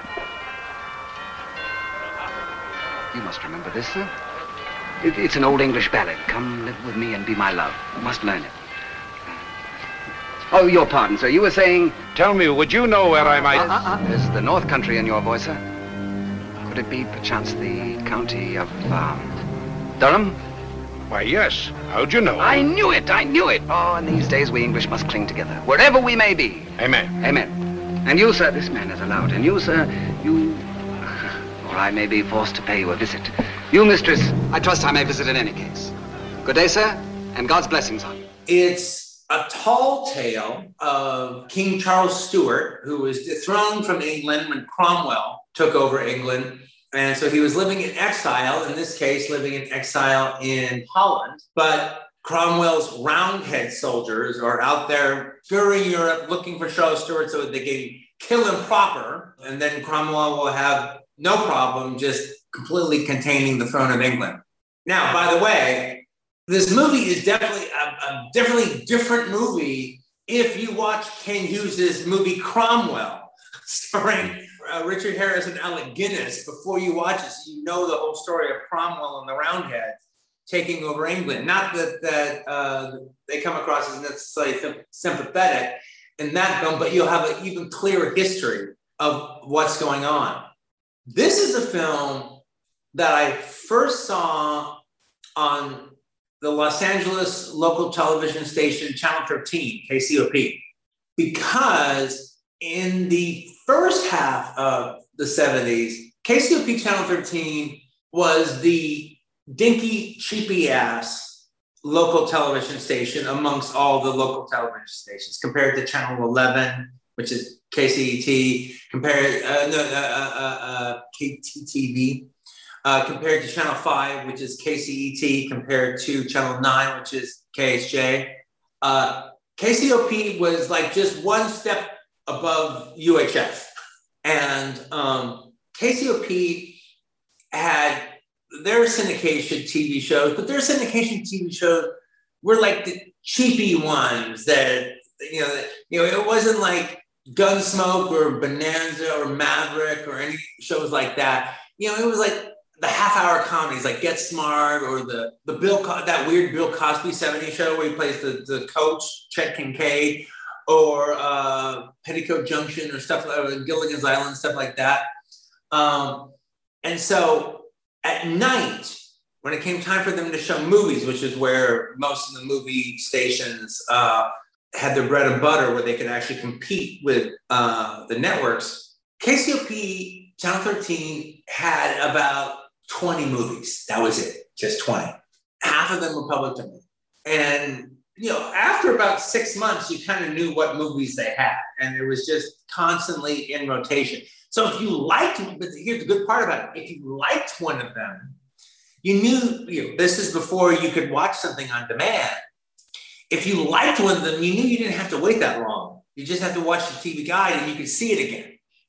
You must remember this, sir. It's an old English ballad. Come live with me and be my love. You must learn it. Oh, your pardon, sir. You were saying... Tell me, would you know where I might... There's the North Country in your voice, sir. Could it be, perchance, the county of, Durham? Why, yes. How'd you know? I knew it! Oh, in these days, we English must cling together, wherever we may be. Amen. Amen. And you, sir, this man is allowed. And you, sir, you... Or I may be forced to pay you a visit. You, mistress, I trust I may visit in any case. Good day, sir, and God's blessings on you. It's a tall tale of King Charles Stuart, who was dethroned from England when Cromwell took over England. And so he was living in exile, in this case, living in exile in Holland. But Cromwell's Roundhead soldiers are out there touring Europe looking for Charles Stuart so that they can kill him proper. And then Cromwell will have no problem just completely containing the throne of England. Now, by the way, this movie is definitely a different movie if you watch Ken Hughes's movie Cromwell, starring Richard Harris and Alec Guinness before you watch it, so you know the whole story of Cromwell and the Roundheads taking over England. Not that they come across as necessarily sympathetic in that film, but you'll have an even clearer history of what's going on. This is a film that I first saw on the Los Angeles local television station, Channel 13, KCOP, because in the first half of the 70s, KCOP Channel 13 was the dinky, cheapy-ass local television station amongst all the local television stations, compared to Channel 11, which is KCET, compared KTTV, compared to Channel 5, which is KCET, compared to Channel 9, which is KHJ. KCOP was like just one step above UHF. And KCOP had their syndication TV shows, but their syndication TV shows were like the cheapy ones that, it wasn't like Gunsmoke or Bonanza or Maverick or any shows like that. It was like the half-hour comedies like Get Smart or the that weird Bill Cosby 70s show where he plays the coach, Chet Kincaid, or Petticoat Junction or stuff like Gilligan's Island, stuff like that. And so at night, when it came time for them to show movies, which is where most of the movie stations had their bread and butter, where they could actually compete with the networks, KCOP Channel 13 had about 20 movies. That was it, just 20. Half of them were public domain. And after about 6 months, you kind of knew what movies they had, and it was just constantly in rotation. So if you liked, but here's the good part about it, if you liked one of them, you knew, this is before you could watch something on demand. If you liked one of them, you knew you didn't have to wait that long. You just have to watch the TV guide and you could see it again.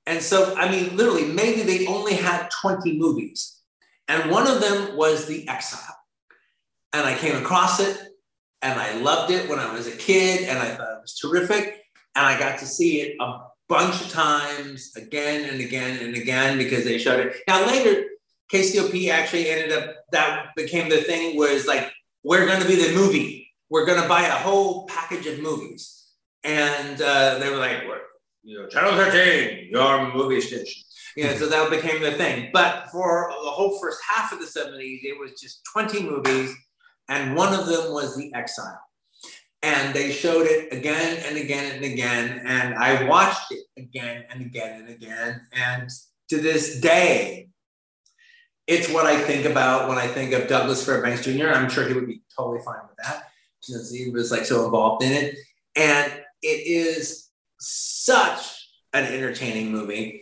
And so, I mean, literally, maybe they only had 20 movies. And one of them was The Exile. And I came across it, and I loved it when I was a kid, and I thought it was terrific. And I got to see it a bunch of times, again and again and again, because they showed it. Now, later, KCOP actually ended up, that became the thing, was like, we're going to be the movie. We're going to buy a whole package of movies. And they were like, Channel 13, your movie station. So that became the thing. But for the whole first half of the 70s, it was just 20 movies. And one of them was The Exile. And they showed it again and again and again. And I watched it again and again and again. And to this day, it's what I think about when I think of Douglas Fairbanks Jr. I'm sure he would be totally fine with that, since he was like so involved in it. And it is such an entertaining movie.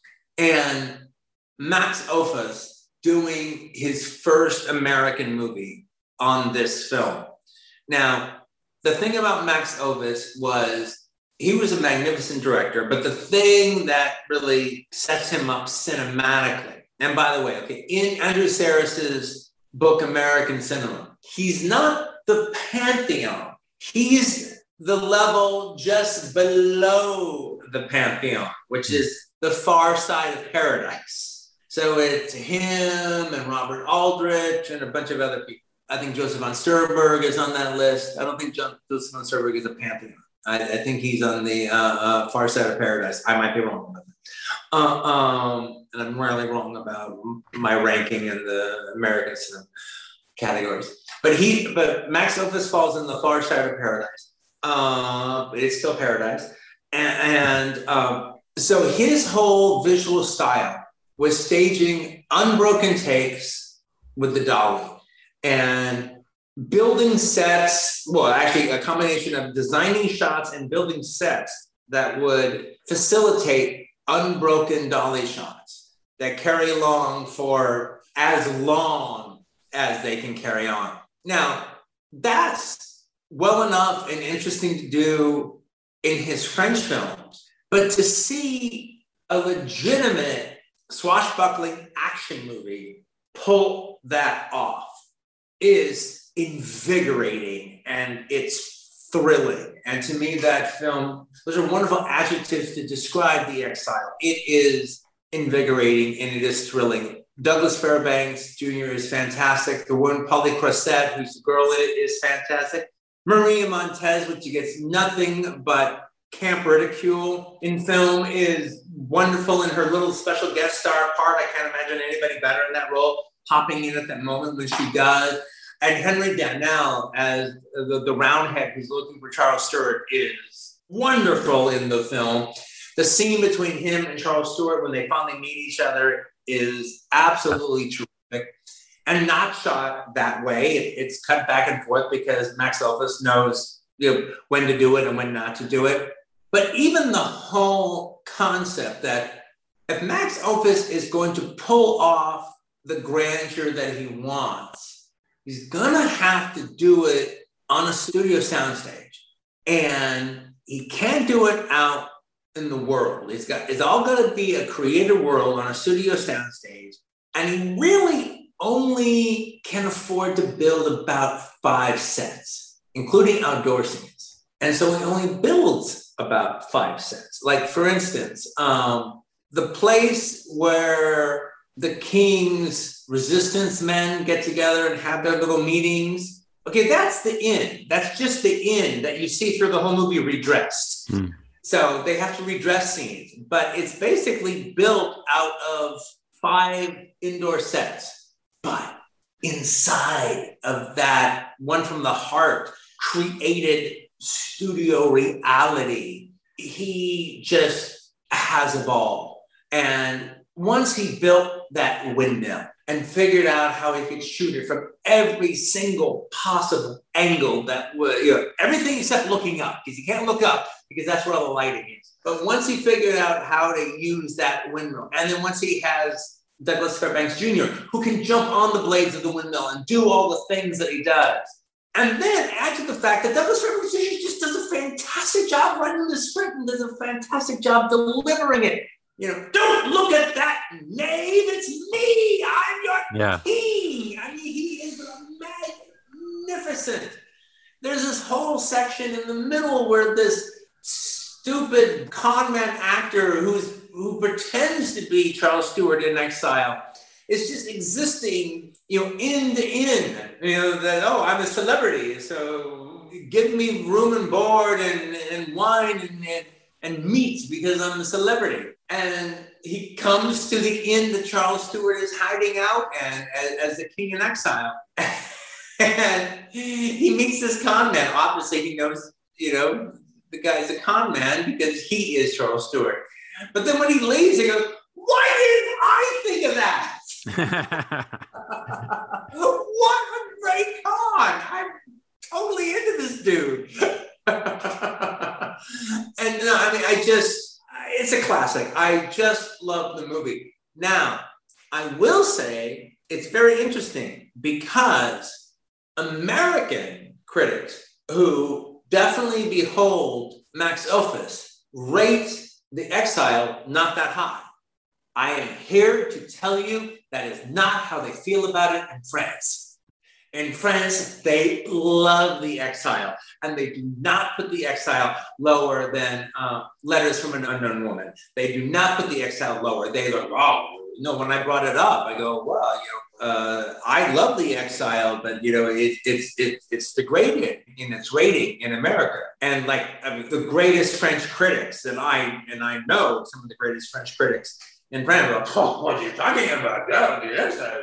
And Max Ophüls doing his first American movie on this film. Now, the thing about Max Ophüls was he was a magnificent director, but the thing that really sets him up cinematically, and by the way, in Andrew Sarris's book, American Cinema, he's not the pantheon. He's the level just below the pantheon, which is the far side of paradise. So it's him and Robert Aldrich and a bunch of other people. I think Joseph von Sternberg is on that list. I don't think Joseph von Sternberg is a pantheon. I think he's on the far side of paradise. I might be wrong about that. And I'm rarely wrong about my ranking in the American cinema categories. But Max Ophüls falls in the far side of paradise. But it's still paradise. And so his whole visual style was staging unbroken takes with the dolly and building sets, well, actually a combination of designing shots and building sets that would facilitate unbroken dolly shots that carry along for as long as they can carry on. Now, that's well enough and interesting to do in his French films, but to see a legitimate swashbuckling action movie pull that off is invigorating, and it's thrilling. And to me, that film, those are wonderful adjectives to describe The Exile. It is invigorating and it is thrilling. Douglas Fairbanks Jr. is fantastic. The woman, Polly Croisset, who's the girl in it, is fantastic. Maria Montez, which gets nothing but camp ridicule in film, is wonderful in her little special guest star part. I can't imagine anybody better in that role, popping in at that moment when she does. And Henry Darnell as the Roundhead who's looking for Charles Stewart is wonderful in the film. The scene between him and Charles Stewart when they finally meet each other is absolutely terrific and not shot that way. It's cut back and forth because Max Ophüls knows when to do it and when not to do it. But even the whole concept that if Max Ophüls is going to pull off the grandeur that he wants, he's gonna have to do it on a studio soundstage. And he can't do it out in the world. It's all gonna be a creative world on a studio soundstage. And he really only can afford to build about 5 sets, including outdoor scenes. And so he only builds about 5 sets. Like for instance, the place where the king's resistance men get together and have their little meetings. Okay, that's the inn. That's just the inn that you see through the whole movie redressed. So they have to redress scenes, but it's basically built out of 5 indoor sets. But inside of that one from the heart created studio reality, he just has a ball. And once he built that windmill and figured out how he could shoot it from every single possible angle that would, everything except looking up, because you can't look up because that's where all the lighting is. But once he figured out how to use that windmill, and then once he has Douglas Fairbanks Jr., who can jump on the blades of the windmill and do all the things that he does, and then add to the fact that Douglas Fairbanks Jr. just does a fantastic job writing the script and does a fantastic job delivering it. don't look at that knave. It's me. I'm your Yeah. king. I mean, he is magnificent. There's this whole section in the middle where this stupid conman actor who pretends to be Charles Stewart in Exile is just existing, in the inn. That I'm a celebrity, so give me room and board and wine and meat because I'm a celebrity. And he comes to the inn that Charles Stewart is hiding out and as the king in exile. And he meets this con man. Obviously, he knows, the guy's a con man because he is Charles Stewart. But then when he leaves, he goes, why didn't I think of that? What a great con. I'm totally into this dude. And it's a classic. I just love the movie. Now, I will say it's very interesting because American critics who definitely behold Max Ophüls rate The Exile not that high. I am here to tell you that is not how they feel about it in France. In France, they love The Exile, and they do not put The Exile lower than Letters from an Unknown Woman. They do not put The Exile lower. They go, when I brought it up, I go, I love The Exile, but it's degraded in its rating in America. And the greatest French critics, and I know some of the greatest French critics in France are like, what are you talking about? The Exile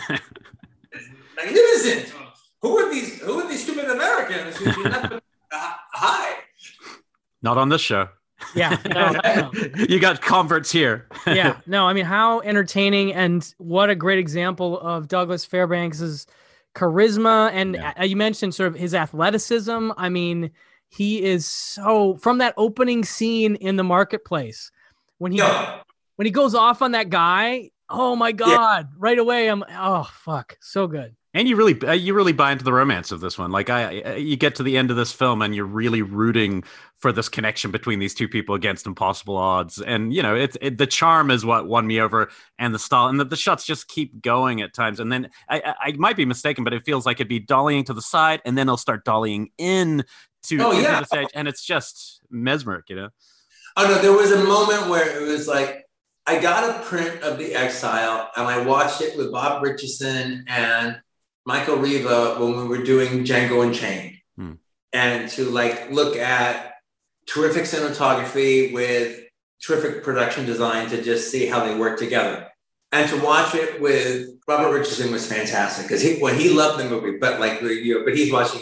is magnificent. Who are these stupid Americans who do not put high? Not on this show. Yeah, no. You got converts here. Yeah, no, I mean, how entertaining, and what a great example of Douglas Fairbanks's charisma. And you mentioned sort of his athleticism. I mean, he is so, from that opening scene in the marketplace, when he goes off on that guy, oh my God, right away, so good. And you really buy into the romance of this one. You get to the end of this film and you're really rooting for this connection between these two people against impossible odds. And, the charm is what won me over, and the style, and the shots just keep going at times. And then I might be mistaken, but it feels like it'd be dollying to the side and then it'll start dollying in to the stage. And it's just mesmeric, Oh no, there was a moment where it was like, I got a print of The Exile and I watched it with Bob Richardson and Michael Riva when we were doing Django Unchained. And to look at terrific cinematography with terrific production design to just see how they work together. And to watch it with Robert Richardson was fantastic because he loved the movie, but but he's watching,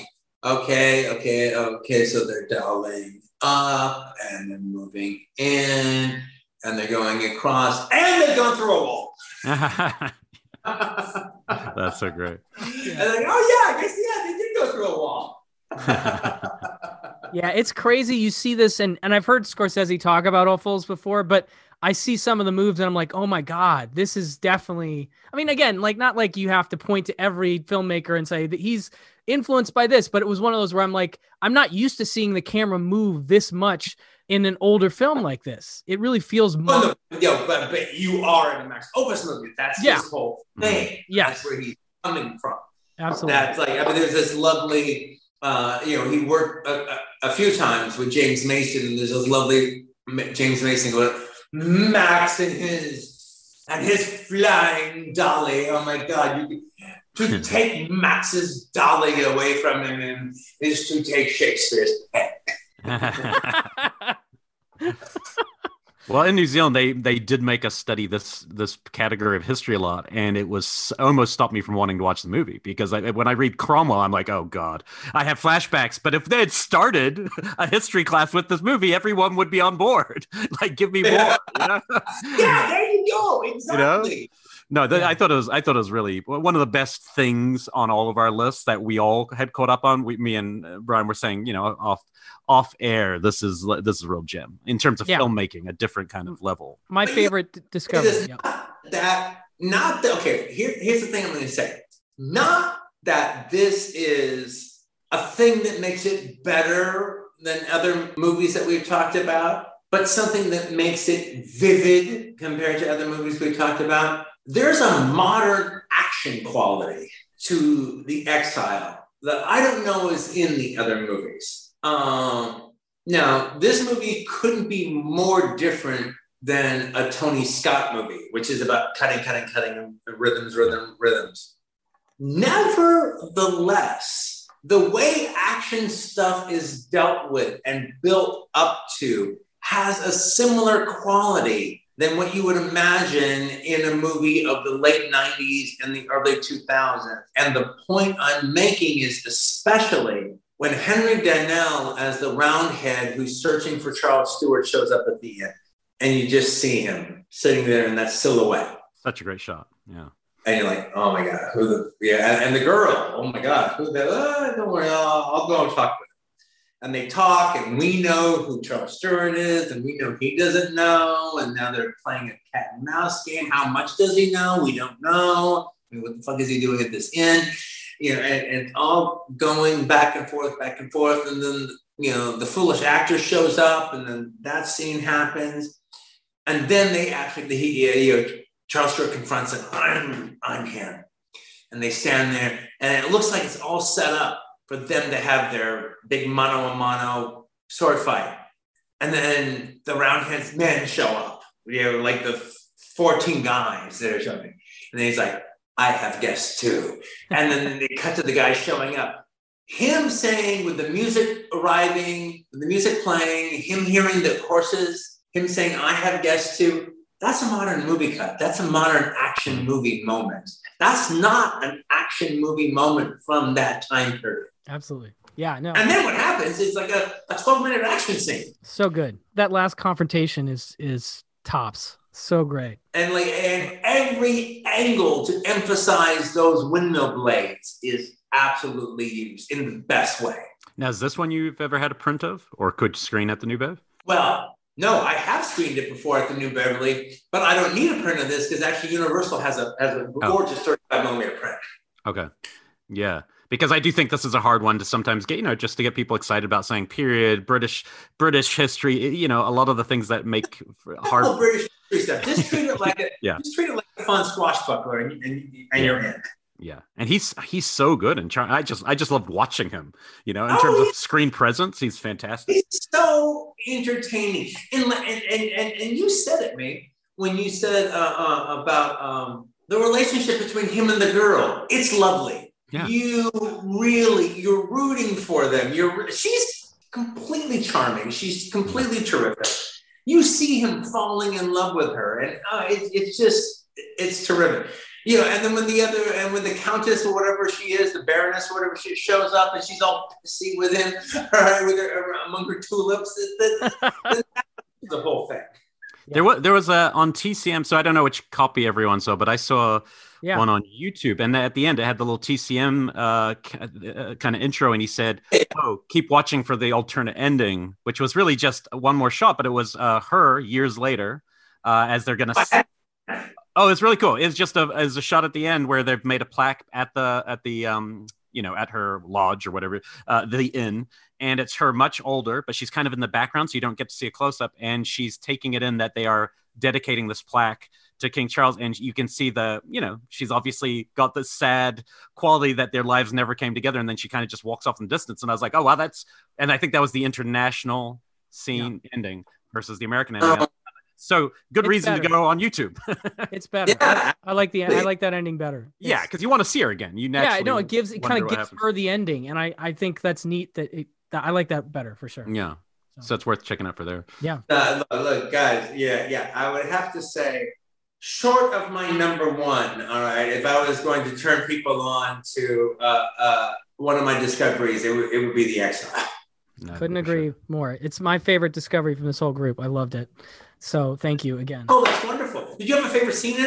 okay, so they're dialing up and they're moving in and they're going across and they've gone through a wall. That's so great. And I guess they did go through a wall. Yeah, it's crazy. You see this, and I've heard Scorsese talk about Ophüls before, but I see some of the moves and I'm like, oh my God, this is definitely, I mean, again, not like you have to point to every filmmaker and say that he's influenced by this, but it was one of those where I'm like, I'm not used to seeing the camera move this much in an older film like this. It really feels more. But you are in a Max Ophüls movie. That's his whole thing. Yeah, that's where he's coming from. Absolutely. That's there's this lovely, he worked a few times with James Mason, and there's this lovely James Mason going, Max and his flying dolly. Oh my God! To take Max's dolly away from him is to take Shakespeare's pen. Well, in New Zealand, they did make us study this category of history a lot, and it was almost stopped me from wanting to watch the movie because when I read Cromwell, I'm like, oh God, I have flashbacks. But if they had started a history class with this movie, everyone would be on board. Give me more. Yeah, there you go. Exactly. No, I thought it was really one of the best things on all of our lists that we all had caught up on. Me and Brian were saying, off air, this is a real gem in terms of filmmaking, a different kind of level. My favorite discovery. Here's the thing I'm going to say. Not that this is a thing that makes it better than other movies that we've talked about. but something that makes it vivid compared to other movies we talked about. There's a modern action quality to The Exile that I don't know is in the other movies. Now, this movie couldn't be more different than a Tony Scott movie, which is about cutting, rhythms. Nevertheless, the way action stuff is dealt with and built up to has a similar quality than what you would imagine in a movie of the late 90s and the early 2000s. And the point I'm making is especially when Henry Daniell as the Roundhead who's searching for Charles Stewart shows up at the end, and you just see him sitting there in that silhouette. Such a great shot, yeah. And you're like, oh my God, and the girl, oh my God, don't worry, I'll go and talk with him. And they talk, and we know who Charles Stewart is, and we know he doesn't know, and now they're playing a cat and mouse game. How much does he know? We don't know. I mean, what the fuck is he doing at this end? And all going back and forth, and then, the foolish actor shows up, and then that scene happens. And then Charles Stewart confronts him, I'm him. And they stand there, and it looks like it's all set up for them to have their big mano-a-mano sword fight. And then the Roundhead's men show up, like the 14 guys that are showing. And then he's like, I have guests too. And then they cut to the guy showing up. Him saying, with the music arriving, the music playing, him hearing the horses, him saying, I have guests too. That's a modern movie cut. That's a modern action movie moment. That's not an action movie moment from that time period. Absolutely. Yeah, no. And then what happens is like a 12-minute action scene. So good. That last confrontation is tops. So great. And every angle to emphasize those windmill blades is absolutely used in the best way. Now, is this one you've ever had a print of or could screen at the New Bev? Well, no, I have screened it before at the New Beverly, but I don't need a print of this because actually Universal has a gorgeous 35mm print. Okay. Yeah. Because I do think this is a hard one to sometimes get, just to get people excited about saying period, British history, a lot of the things that make hard. British history stuff. Just treat it like just treat it like a fun swashbuckler and you're in. Yeah. And he's so good. And I just loved watching him, in terms of screen presence. He's fantastic. He's so entertaining. And you said it, mate, when you said about the relationship between him and the girl. It's lovely. Yeah. You're rooting for them. She's completely charming. She's completely terrific. You see him falling in love with her, and it's terrific. And then when the Countess or whatever she is, the Baroness or whatever, she shows up and she's all pissy with him, with her among her tulips. That's the whole thing. Yeah. There was on TCM, so I don't know which copy everyone saw, but I saw one on YouTube, and at the end it had the little TCM kind of intro, and he said, "Oh, keep watching for the alternate ending," which was really just one more shot, but it was her years later as they're gonna. Oh, it's really cool. It's just as a shot at the end where they've made a plaque at the at her lodge or whatever, the inn. And it's her much older, but she's kind of in the background, so you don't get to see a close-up. And she's taking it in that they are dedicating this plaque to King Charles. And you can see she's obviously got this sad quality that their lives never came together. And then she kind of just walks off in the distance. And I was like, oh, wow, and I think that was the international scene ending versus the American ending. So good reason to go on YouTube. It's better. Yeah. I like that ending better. Yeah, because you want to see her again. You naturally it kind of gives her the ending, and I think that's neat. That I like that better for sure. Yeah, so it's worth checking out for there. Yeah. Look, guys. Yeah. I would have to say, short of my number one, all right, if I was going to turn people on to one of my discoveries, it would be The Exile. Couldn't agree more. It's my favorite discovery from this whole group. I loved it. So thank you again. Oh, that's wonderful. Did you have a favorite scene in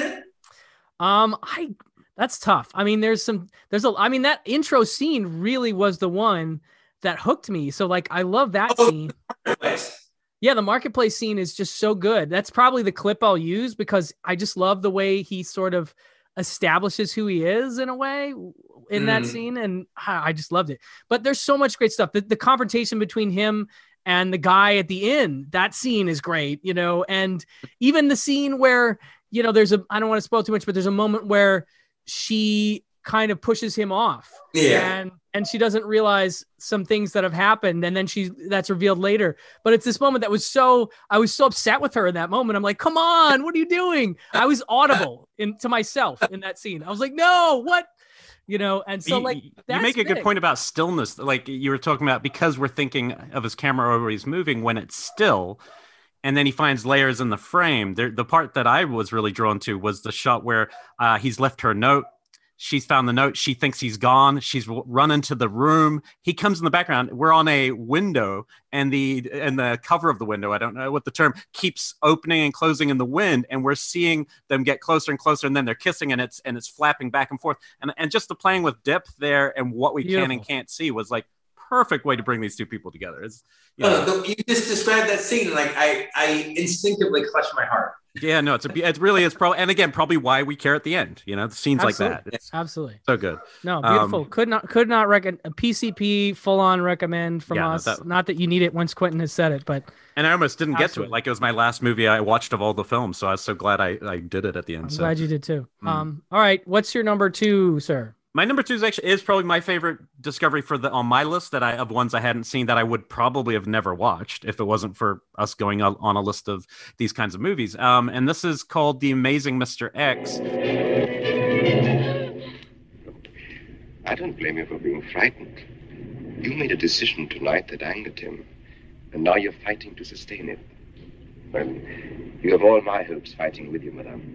it? That's tough. I mean, that intro scene really was the one that hooked me. So I love that scene. Yeah. The marketplace scene is just so good. That's probably the clip I'll use because I just love the way he sort of establishes who he is in a way in that scene. And I just loved it, but there's so much great stuff. The confrontation between him and the guy at the inn. That scene is great, and even the scene where, I don't want to spoil too much, but there's a moment where she kind of pushes him off. Yeah. And she doesn't realize some things that have happened. And then that's revealed later. But it's this moment I was so upset with her in that moment. I'm like, come on, what are you doing? I was audible to myself in that scene. I was like, no, what? And so you make a good point about stillness. Like you were talking about, because we're thinking of his camera always moving when it's still, and then he finds layers in the frame. The part that I was really drawn to was the shot where he's left her a note. She's found the note. She thinks he's gone. She's run into the room. He comes in the background. We're on a window, and the cover of the window, I don't know what the term, keeps opening and closing in the wind, and we're seeing them get closer and closer, and then they're kissing, and it's flapping back and forth. And just the playing with depth there and what we can and can't see was like perfect way to bring these two people together. You just described that scene, like I instinctively clutched my heart. Yeah, no, it really is and again, probably why we care at the end, the scenes Absolutely. Like that. It's Absolutely. So good. No, beautiful. Could not recommend a PCP full on recommend from us. Not that you need it once Quentin has said it, but. And I almost didn't get to it. Like it was my last movie I watched of all the films. So I was so glad I did it at the end. I'm glad you did too. All right. What's your number 2, sir? My number 2 is probably my favorite discovery on my list of ones I hadn't seen that I would probably have never watched if it wasn't for us going on a list of these kinds of movies. And this is called The Amazing Mr. X. I don't blame you for being frightened. You made a decision tonight that angered him, and now you're fighting to sustain it. Well, you have all my hopes fighting with you, madame.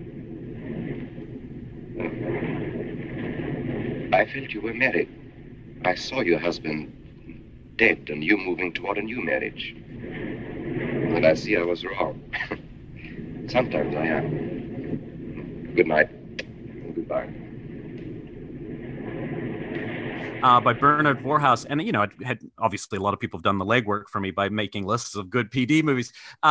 I felt you were married. I saw your husband dead and you moving toward a new marriage. And I see I was wrong. Sometimes I am. Good night and goodbye. By Bernard Voorhaus. And, obviously a lot of people have done the legwork for me by making lists of good PD movies.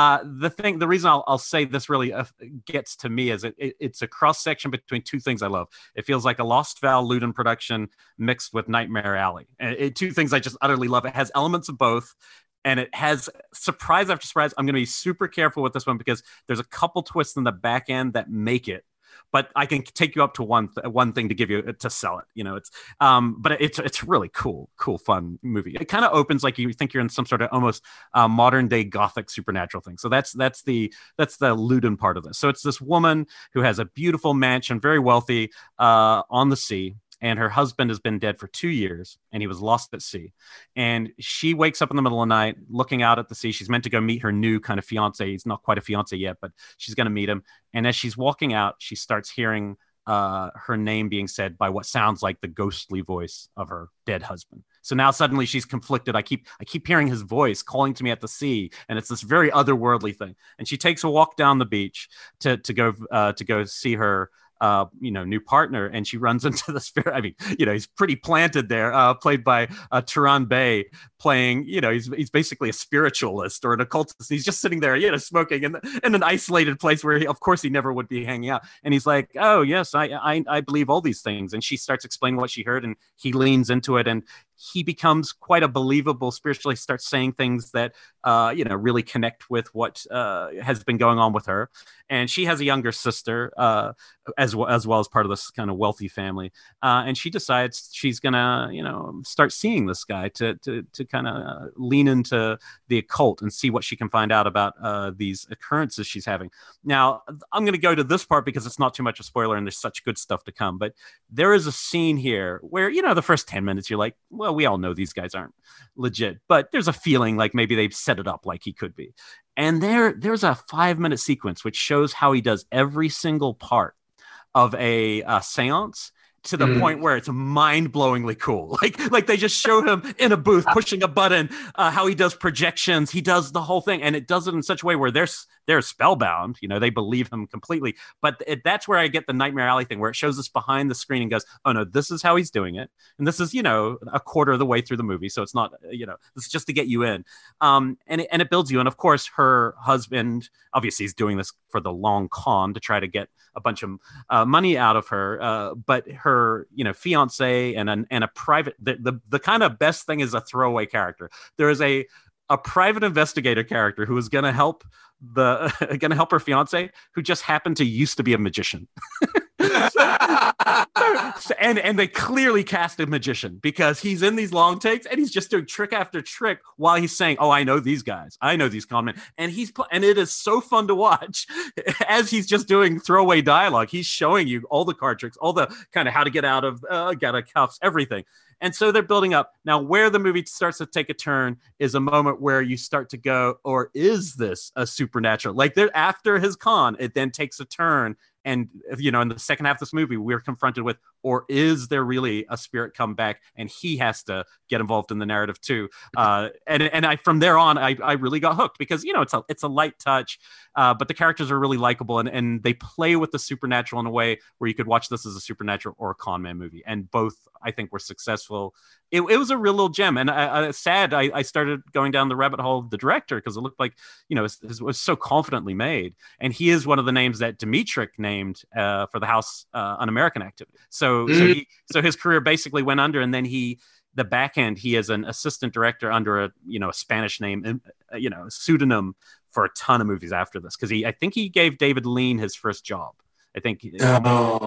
The reason I'll say this really gets to me is it's a cross section between two things I love. It feels like a Lost Val Loudon production mixed with Nightmare Alley. And two things I just utterly love. It has elements of both. And it has surprise after surprise. I'm going to be super careful with this one because there's a couple twists in the back end that make it. But I can take you up to one thing to give you to sell it. But it's really cool, fun movie. It kind of opens like you think you're in some sort of almost modern day Gothic supernatural thing. So that's the Loudon part of this. So it's this woman who has a beautiful mansion, very wealthy, on the sea. And her husband has been dead for 2 years, and he was lost at sea. And she wakes up in the middle of the night, looking out at the sea. She's meant to go meet her new kind of fiance. He's not quite a fiance yet, but she's going to meet him. And as she's walking out, she starts hearing her name being said by what sounds like the ghostly voice of her dead husband. So now suddenly she's conflicted. I keep hearing his voice calling to me at the sea, and it's this very otherworldly thing. And she takes a walk down the beach to go see her new partner, and she runs into the spirit. I mean, he's pretty planted there, played by Turan Bey, playing, he's basically a spiritualist or an occultist. He's just sitting there, smoking in an isolated place where of course he never would be hanging out. And he's like, oh yes, I believe all these things. And she starts explaining what she heard, and he leans into it, and he becomes quite a believable spiritually, starts saying things that, really connect with what has been going on with her. And she has a younger sister, as well as part of this kind of wealthy family. And she decides she's going to, start seeing this guy to kind of lean into the occult and see what she can find out about these occurrences she's having. Now, I'm going to go to this part because it's not too much a spoiler and there's such good stuff to come. But there is a scene here where, the first 10 minutes, you're like, well, we all know these guys aren't legit, but there's a feeling like maybe they've set it up like he could be. And there's a 5-minute sequence which shows how he does every single part of a seance to the point where it's mind-blowingly cool. Like they just show him in a booth pushing a button, how he does projections. He does the whole thing, and it does it in such a way where they're spellbound. They believe him completely. But that's where I get the Nightmare Alley thing, where it shows us behind the screen and goes, oh no, this is how he's doing it. And this is, a quarter of the way through the movie. So it's not, this is just to get you in. And it builds you. And of course, her husband, obviously he's doing this for the long con to try to get a bunch of money out of her. But her, fiance and a private, the kind of best thing is a throwaway character. There is a a private investigator character who was going to help her fiance, who just happened to used to be a magician. And they clearly cast a magician because he's in these long takes and he's just doing trick after trick while he's saying, "Oh, I know these guys, I know these con men," and and it is so fun to watch as he's just doing throwaway dialogue. He's showing you all the card tricks, all the kind of how to get out of cuffs, everything. And so they're building up. Now, where the movie starts to take a turn is a moment where you start to go, or is this a supernatural? Like after his con, it then takes a turn. And, in the second half of this movie, we're confronted with, or is there really a spirit come back and he has to get involved in the narrative too? From there on, I really got hooked because, it's a light touch, but the characters are really likable and they play with the supernatural in a way where you could watch this as a supernatural or a con man movie. And both, I think, were successful. It was a real little gem. And I started going down the rabbit hole of the director because it looked like, it was so confidently made. And he is one of the names that Dmytryk named for the House Un-American Activity. So his career basically went under, and then the back end, he is an assistant director under a Spanish name, pseudonym for a ton of movies after this. Because I think he gave David Lean his first job. I think the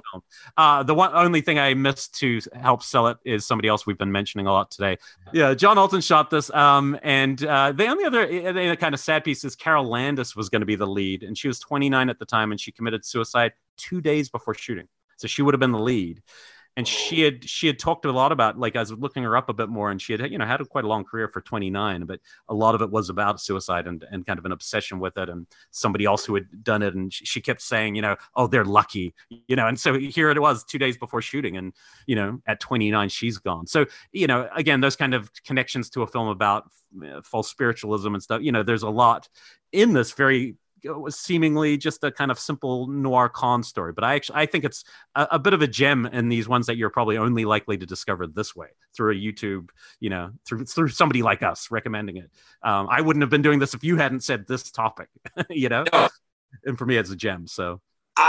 only thing I missed to help sell it is somebody else we've been mentioning a lot today. Yeah, John Alton shot this. And the only other kind of sad piece is Carol Landis was going to be the lead, and she was 29 at the time, and she committed suicide 2 days before shooting. So she would have been the lead. And she had talked a lot about, like, I was looking her up a bit more, and she had, had quite a long career for 29, but a lot of it was about suicide and kind of an obsession with it. And somebody else who had done it, and she kept saying, "Oh, they're lucky," and so here it was 2 days before shooting, and, at 29, she's gone. So, again, those kind of connections to a film about false spiritualism and stuff, there's a lot in this very was seemingly just a kind of simple noir con story, but I think it's a bit of a gem in these ones that you're probably only likely to discover this way through a YouTube, through somebody like us recommending it. I wouldn't have been doing this if you hadn't said this topic, No. And for me, it's a gem. So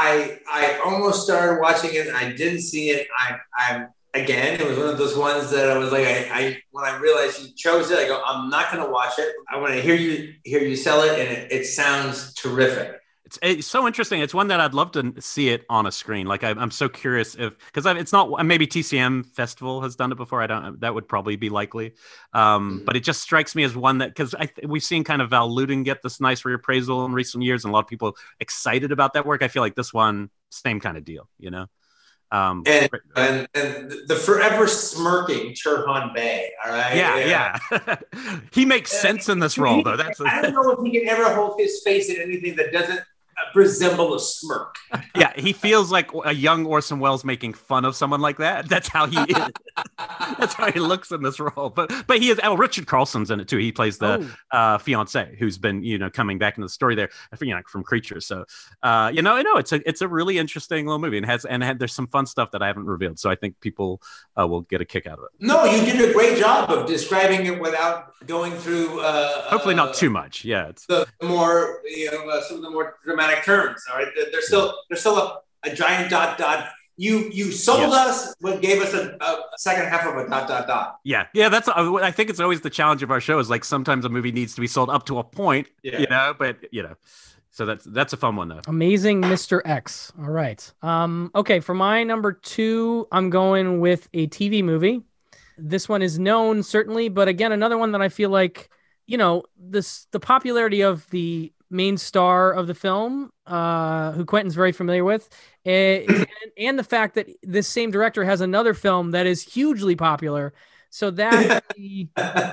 I almost started watching it. I didn't see it. Again, it was one of those ones that I was like, when I realized you chose it, I go, I'm not going to watch it. I want to hear you sell it, and it sounds terrific. It's so interesting. It's one that I'd love to see it on a screen. Like I'm so curious because it's not, maybe TCM Festival has done it before. That would probably be likely. But it just strikes me as one that, because we've seen kind of Val Lewton get this nice reappraisal in recent years, and a lot of people excited about that work. I feel like this one, same kind of deal, And the forever smirking Turhan Bey, all right? Yeah. He makes sense in this role, though. I don't know if he can ever hold his face in anything that doesn't resemble a smirk. Yeah, he feels like a young Orson Welles making fun of someone like that. That's how he is. That's how he looks in this role. But he is. Richard Carlson's in it too. He plays the fiance who's been coming back into the story there, from Creatures. So it's a really interesting little movie, and there's some fun stuff that I haven't revealed. So I think people will get a kick out of it. No, you did a great job of describing it without going through. Hopefully not too much. Yeah, it's the more some of the more dramatic terms. All right, there's still a giant ... You sold us, but gave us a second half of a ... Yeah. That's. I think it's always the challenge of our show is like sometimes a movie needs to be sold up to a point, but. So that's a fun one though. Amazing Mr. X. All right. Okay, for my number 2, I'm going with a TV movie. This one is known certainly, but again, another one that I feel like, the popularity of the main star of the film, who Quentin's very familiar with, and the fact that this same director has another film that is hugely popular. So that it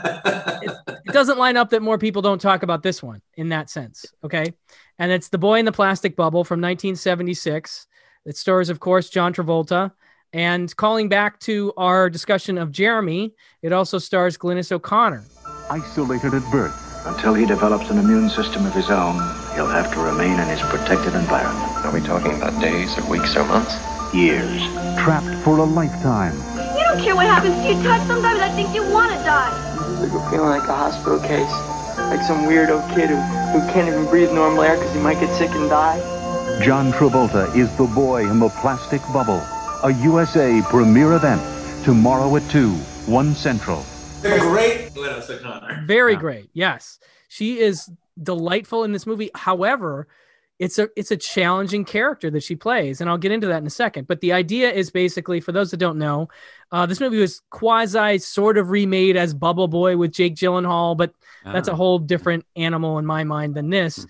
doesn't line up that more people don't talk about this one in that sense. Okay. And it's The Boy in the Plastic Bubble from 1976. It stars, of course, John Travolta. And calling back to our discussion of Jeremy, it also stars Glynis O'Connor. Isolated at birth. Until he develops an immune system of his own, he'll have to remain in his protected environment. Are we talking about days or weeks or months? Years. Trapped for a lifetime. You don't care what happens to you, Tut. Sometimes I think you want to die. It's like feeling like a hospital case. Like some weirdo kid who can't even breathe normal air because he might get sick and die. John Travolta is The Boy in the Plastic Bubble. A USA premiere event. Tomorrow at 2, 1 Central. The great Glynis O'Connor. Very great. Yes. She is delightful in this movie. However, it's a challenging character that she plays, and I'll get into that in a second. But the idea is basically, for those that don't know, this movie was quasi sort of remade as Bubble Boy with Jake Gyllenhaal, but that's a whole different animal in my mind than this.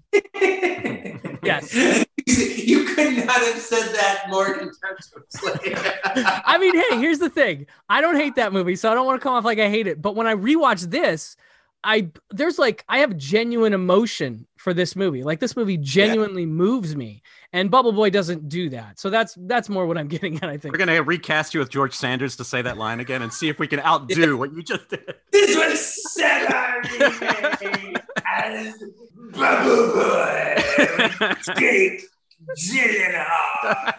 Yes. You could not have said that more contemptuously. I mean, hey, here's the thing. I don't hate that movie, so I don't want to come off like I hate it. But when I rewatch this, I have genuine emotion for this movie. Like, this movie genuinely moves me, and Bubble Boy doesn't do that. So that's more what I'm getting at, I think. We're gonna recast you with George Sanders to say that line again and see if we can outdo what you just did. This was set on remade as Bubble Boy with Jake Gyllenhaal.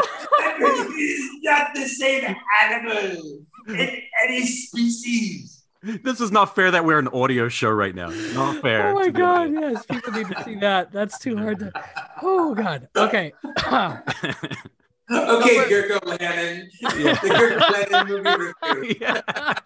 He's not the same animal in any species. This is not fair that we're an audio show right now. Not fair. Oh my God, yes. People need to see that. That's too hard to... Oh, God. Okay. Okay, Gurko Lannon. Yeah. The Gurko Lannon movie review. Yeah.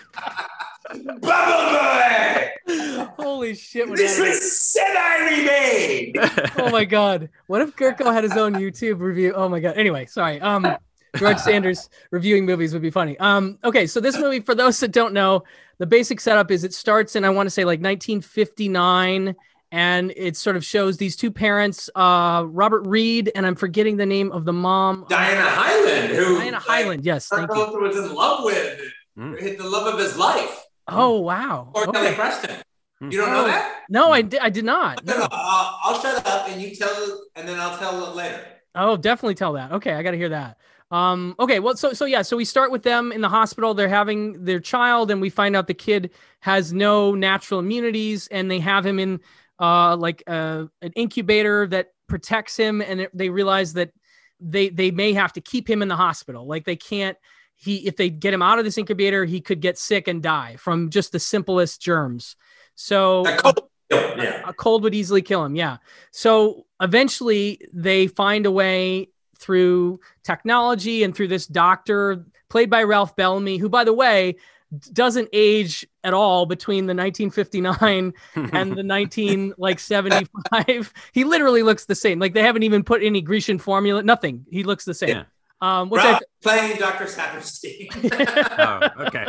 Bubble Boy! Holy shit. This was semi-remade! Oh my God. What if Gurko had his own YouTube review? Oh my God. Anyway, sorry. George Sanders reviewing movies would be funny. Okay, so this movie, for those that don't know, the basic setup is it starts in, I want to say, like 1959, and it sort of shows these two parents, Robert Reed, and I'm forgetting the name of the mom. Diana Hyland, Diana Hyland, yes, thank you. Was in love with, hit the love of his life. Oh, wow. Or Kelly Preston. You don't know that? No, I did not. No. I'll shut up and you tell, and then I'll tell it later. Oh, definitely tell that. Okay, I got to hear that. Okay, well, so we start with them in the hospital. They're having their child, and we find out the kid has no natural immunities, and they have him in an incubator that protects him, and they realize that they may have to keep him in the hospital. Like, they can't. If they get him out of this incubator, he could get sick and die from just the simplest germs. So a cold would easily kill him. Yeah. So eventually they find a way through technology and through this doctor played by Ralph Bellamy, who, by the way, doesn't age at all between the 1959 and the 1975. He literally looks the same. Like, they haven't even put any Grecian formula, nothing. He looks the same. Yeah. Playing Dr. Saperstein. Oh, okay.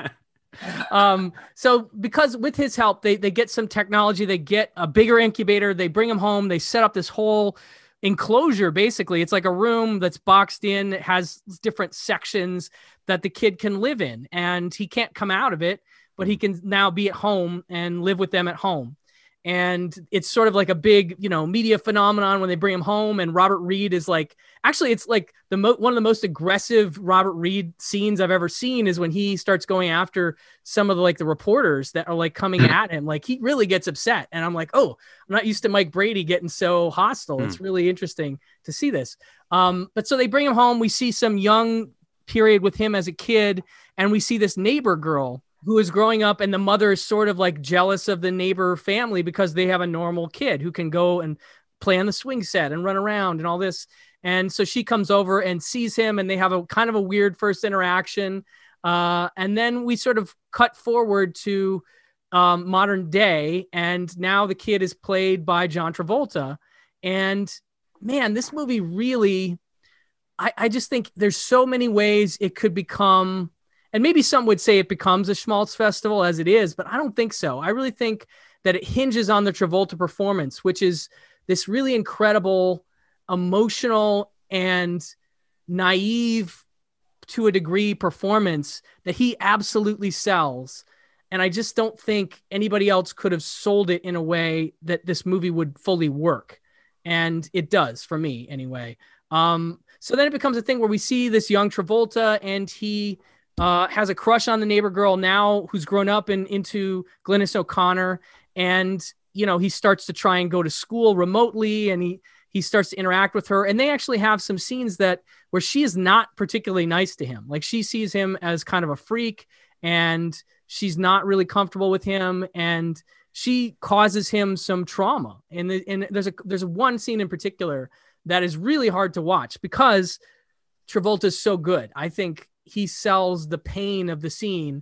So because with his help, they get some technology, they get a bigger incubator, they bring him home, they set up this whole enclosure. Basically, it's like a room that's boxed in. It has different sections that the kid can live in, and he can't come out of it, but he can now be at home and live with them at home. And it's sort of like a big, media phenomenon when they bring him home. And Robert Reed is like, actually, it's like one of the most aggressive Robert Reed scenes I've ever seen is when he starts going after some of the reporters that are coming at him. Like, he really gets upset. And I'm like, oh, I'm not used to Mike Brady getting so hostile. It's really interesting to see this. But so they bring him home. We see some young period with him as a kid. And we see this neighbor girl who is growing up, and the mother is sort of jealous of the neighbor family because they have a normal kid who can go and play on the swing set and run around and all this. And so she comes over and sees him, and they have a kind of a weird first interaction. And then we sort of cut forward to modern day. And now the kid is played by John Travolta. And man, this movie really, I just think there's so many ways it could become. And maybe some would say it becomes a schmaltz festival as it is, but I don't think so. I really think that it hinges on the Travolta performance, which is this really incredible, emotional, and naive to a degree performance that he absolutely sells. And I just don't think anybody else could have sold it in a way that this movie would fully work. And it does, for me anyway. So then it becomes a thing where we see this young Travolta, and he has a crush on the neighbor girl now who's grown up into Glynis O'Connor. And, he starts to try and go to school remotely, and he starts to interact with her. And they actually have some scenes where she is not particularly nice to him. Like, she sees him as kind of a freak, and she's not really comfortable with him. And she causes him some trauma. And there's one scene in particular that is really hard to watch because Travolta is so good. I think he sells the pain of the scene,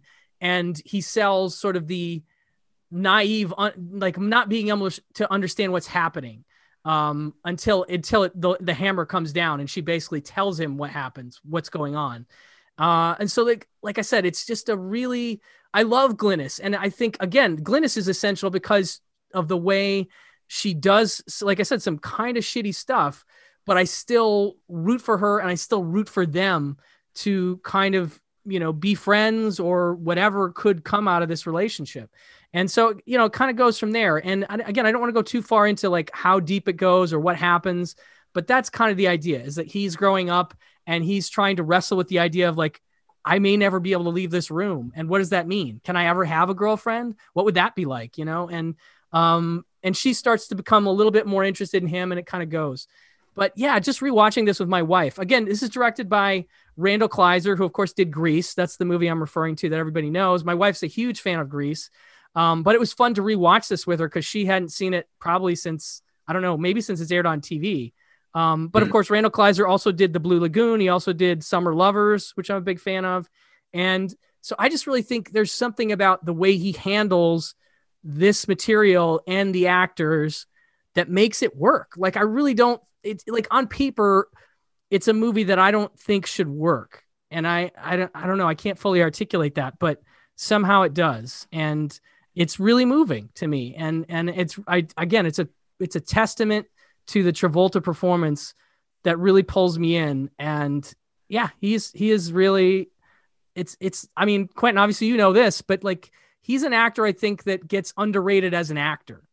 and he sells sort of the naive, like not being able to understand what's happening until the hammer comes down and she basically tells him what happens, what's going on. And so like I said, it's just I love Glynis. And I think, again, Glynis is essential because of the way she does, like I said, some kind of shitty stuff, but I still root for her and I still root for them to kind of, be friends or whatever could come out of this relationship. And so, it kind of goes from there. And again, I don't want to go too far into like how deep it goes or what happens, but that's kind of the idea, is that he's growing up and he's trying to wrestle with the idea of like, I may never be able to leave this room. And what does that mean? Can I ever have a girlfriend? What would that be like? And she starts to become a little bit more interested in him, and it kind of goes. But yeah, just rewatching this with my wife. Again, this is directed by Randall Kleiser, who of course did Grease. That's the movie I'm referring to that everybody knows. My wife's a huge fan of Grease. But it was fun to rewatch this with her because she hadn't seen it probably since, I don't know, maybe since it's aired on TV. But of course, Randall Kleiser also did The Blue Lagoon. He also did Summer Lovers, which I'm a big fan of. And so I just really think there's something about the way he handles this material and the actors that makes it work. Like, I really don't, it's like on paper, it's a movie that I don't think should work. And I don't know. I can't fully articulate that, but somehow it does. And it's really moving to me. And it's a testament to the Travolta performance that really pulls me in. And yeah, he is really, I mean, Quentin, obviously you know this, but like, he's an actor, I think, that gets underrated as an actor.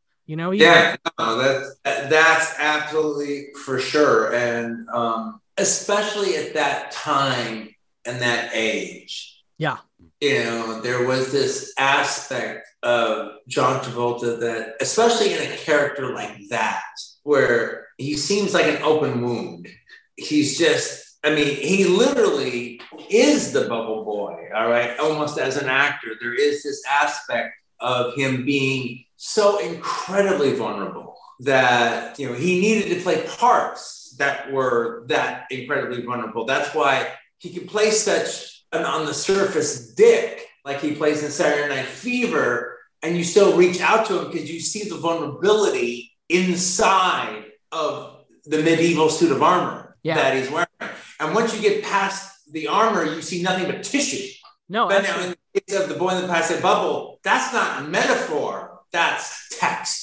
That's absolutely for sure. And especially at that time and that age. Yeah. There was this aspect of John Travolta that, especially in a character like that, where he seems like an open wound. He's just, he literally is the bubble boy, all right? Almost as an actor, there is this aspect of him being so incredibly vulnerable that, he needed to play parts that were that incredibly vulnerable. That's why he could play such an on the surface dick, like he plays in Saturday Night Fever, and you still reach out to him because you see the vulnerability inside of the medieval suit of armor that he's wearing. And once you get past the armor, you see nothing but tissue. No, but now in the case of The Boy in the Plastic Bubble, that's not a metaphor, that's text.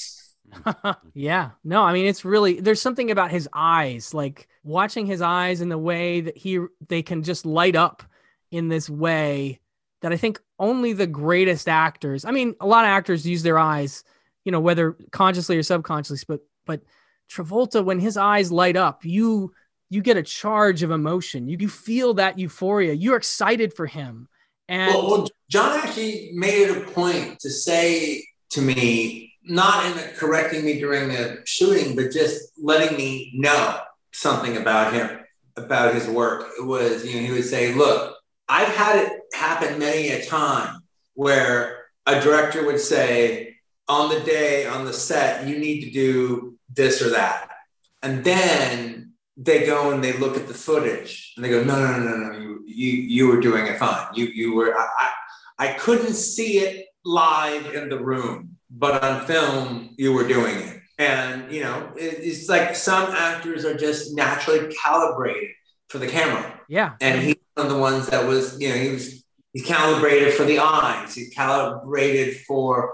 Yeah, no, it's really, there's something about his eyes, like watching his eyes and the way that they can just light up in this way that I think only the greatest actors, a lot of actors use their eyes, whether consciously or subconsciously, but Travolta, when his eyes light up, you get a charge of emotion. You feel that euphoria. You're excited for him. And well, John actually made it a point to say to me, not in correcting me during the shooting, but just letting me know something about him, about his work. It was, he would say, look, I've had it happen many a time where a director would say, on the day, on the set, you need to do this or that. And then they go and they look at the footage and they go, no, you were doing it fine. You were, I couldn't see it live in the room, but on film, you were doing it. And, it's like some actors are just naturally calibrated for the camera. Yeah. And he's one of the ones that was, he's calibrated for the eyes. He's calibrated for,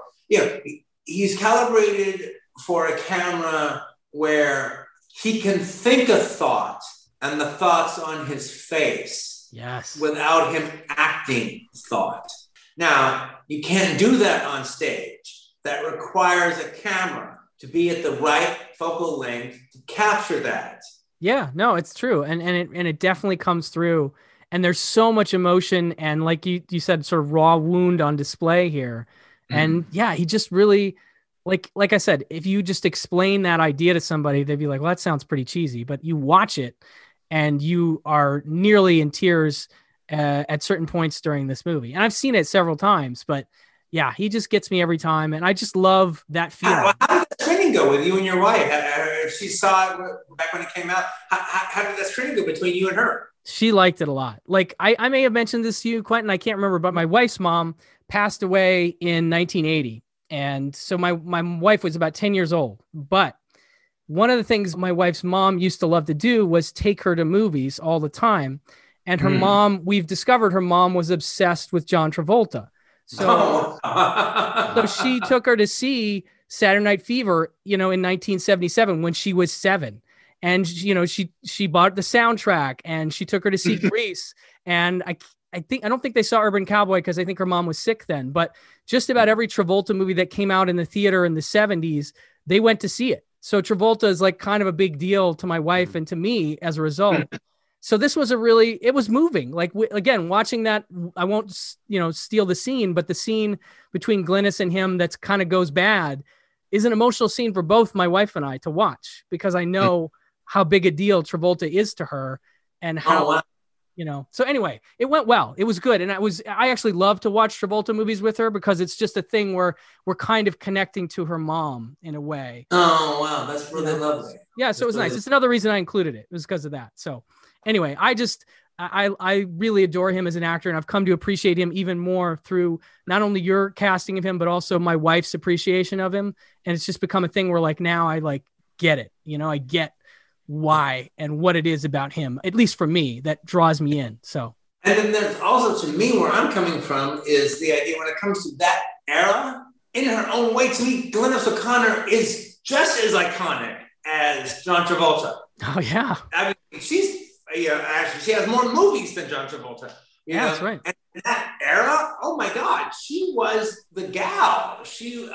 he's calibrated for a camera where he can think a thought and the thought's on his face. Yes. Without him acting thought. Now, you can't do that on stage. That requires a camera to be at the right focal length to capture that. Yeah, no, it's true. And it definitely comes through. And there's so much emotion and, like you said, sort of raw wound on display here. Mm-hmm. And yeah, he just really, like I said, if you just explain that idea to somebody, they'd be like, well, that sounds pretty cheesy. But you watch it and you are nearly in tears at certain points during this movie. And I've seen it several times, but yeah, he just gets me every time. And I just love that feeling. How did the screening go with you and your wife? If she saw it back when it came out, how did that screening go between you and her? She liked it a lot. Like I may have mentioned this to you, Quentin, I can't remember, but my wife's mom passed away in 1980. And so my wife was about 10 years old. But one of the things my wife's mom used to love to do was take her to movies all the time. And her mom, we've discovered her mom was obsessed with John Travolta. So, so she took her to see Saturday Night Fever, in 1977 when she was 7. And, she bought the soundtrack and she took her to see Grease. And I don't think they saw Urban Cowboy because I think her mom was sick then. But just about every Travolta movie that came out in the theater in the 70s, they went to see it. So Travolta is like kind of a big deal to my wife and to me as a result. So this was it was moving. Like, again, watching that, I won't, steal the scene, but the scene between Glynis and him that's kind of goes bad is an emotional scene for both my wife and I to watch because I know how big a deal Travolta is to her and how, so anyway, it went well. It was good. And I actually love to watch Travolta movies with her because it's just a thing where we're kind of connecting to her mom in a way. Oh, wow. That's really lovely. Yeah. So it was nice. It's another reason I included it. It was because of that. So anyway, I really adore him as an actor, and I've come to appreciate him even more through not only your casting of him, but also my wife's appreciation of him. And it's just become a thing where like now I get it. I get why and what it is about him, at least for me, that draws me in. So, and then there's also, to me, where I'm coming from is the idea when it comes to that era, in her own way, to me, Glynis O'Connor is just as iconic as John Travolta. Oh yeah, I mean, actually, she has more movies than John Travolta. Yeah, that's right. And in that era, oh my God, she was the gal. She's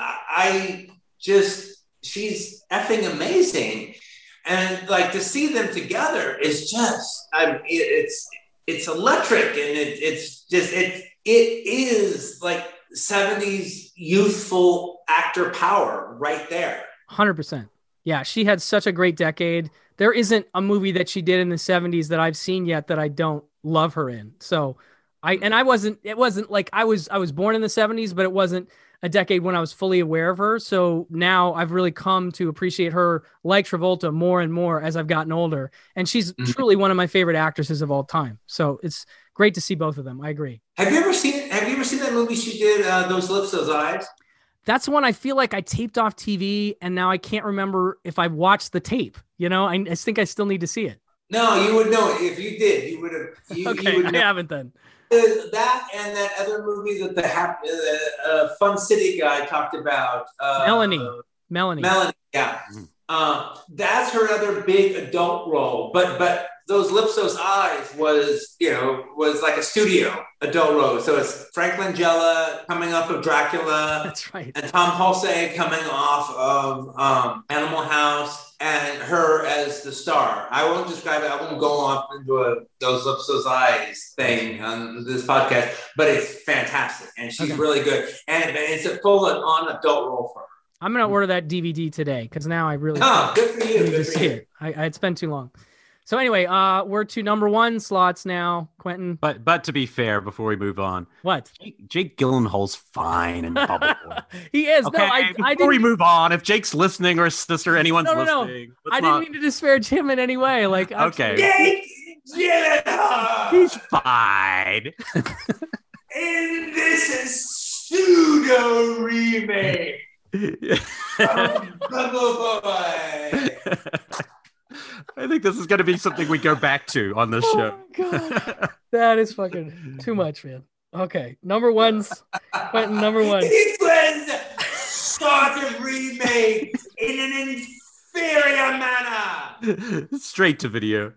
effing amazing. And like to see them together is just, it's electric, and it is like 70s youthful actor power right there. 100%. Yeah, she had such a great decade. There isn't a movie that she did in the 70s that I've seen yet that I don't love her in. So it wasn't like I was born in the 70s, but it wasn't a decade when I was fully aware of her. So now I've really come to appreciate her like Travolta more and more as I've gotten older. And she's truly one of my favorite actresses of all time. So it's great to see both of them. I agree. Have you ever seen that movie she did, Those Lips, Those Eyes? That's one I feel like I taped off TV and now I can't remember if I watched the tape. I think I still need to see it. No, you would know it. If you did, you would have. Okay, I haven't then. That and that other movie that the Fun City guy talked about. Melanie. Yeah. That's her other big adult role. But Those Lips, Those Eyes was like a studio adult role. So it's Frank Langella coming off of Dracula. That's right. And Tom Hulce coming off of Animal House. And her as the star. I won't describe it. I won't go off into Those Lips, Those Eyes thing on this podcast, but it's fantastic. And she's really good. And it's a full-on adult role for her. I'm going to order that DVD today because now I really good for you. Need to see it. It's been too long. So anyway, we're to number 1 slots now, Quentin. But to be fair, before we move on, what? Jake Gyllenhaal's fine in Bubblegum. He is. Okay, before we move on, if Jake's listening or his sister, anyone's listening. I didn't mean to disparage him in any way. Like, okay, Jake Gyllenhaal. He's fine. In this pseudo remake of Bubble Boy. Oh I think this is going to be something we go back to on this show. God. That is fucking too much, man. Okay, number 1's Quentin, number 1. It was sort of remade in an inferior manner. Straight to video.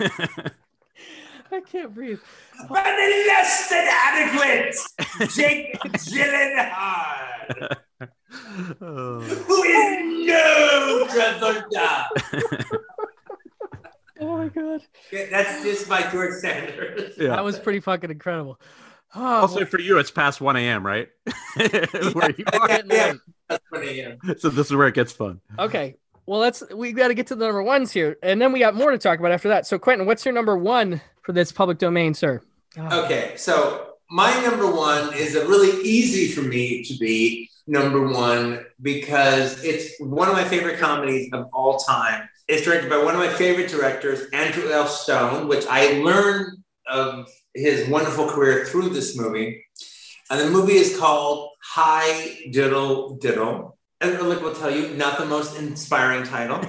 I can't breathe. But less than adequate Jake Gyllenhaal. Who is no Travolta. Oh my God. That's just my George Sanders. Yeah. That was pretty fucking incredible. Oh, also, for you, it's past 1 a.m., right? Where you are. Yeah, that's 1 a.m. So this is where it gets fun. Okay. Well, we got to get to the number 1s here, and then we got more to talk about after that. So, Quentin, what's your number 1 for this public domain, sir? Oh. Okay, so my number 1 is a really easy for me to be number 1 because it's one of my favorite comedies of all time. It's directed by one of my favorite directors, Andrew L. Stone, which I learned of his wonderful career through this movie. And the movie is called High Diddle Diddle. And Rick will tell you, not the most inspiring title.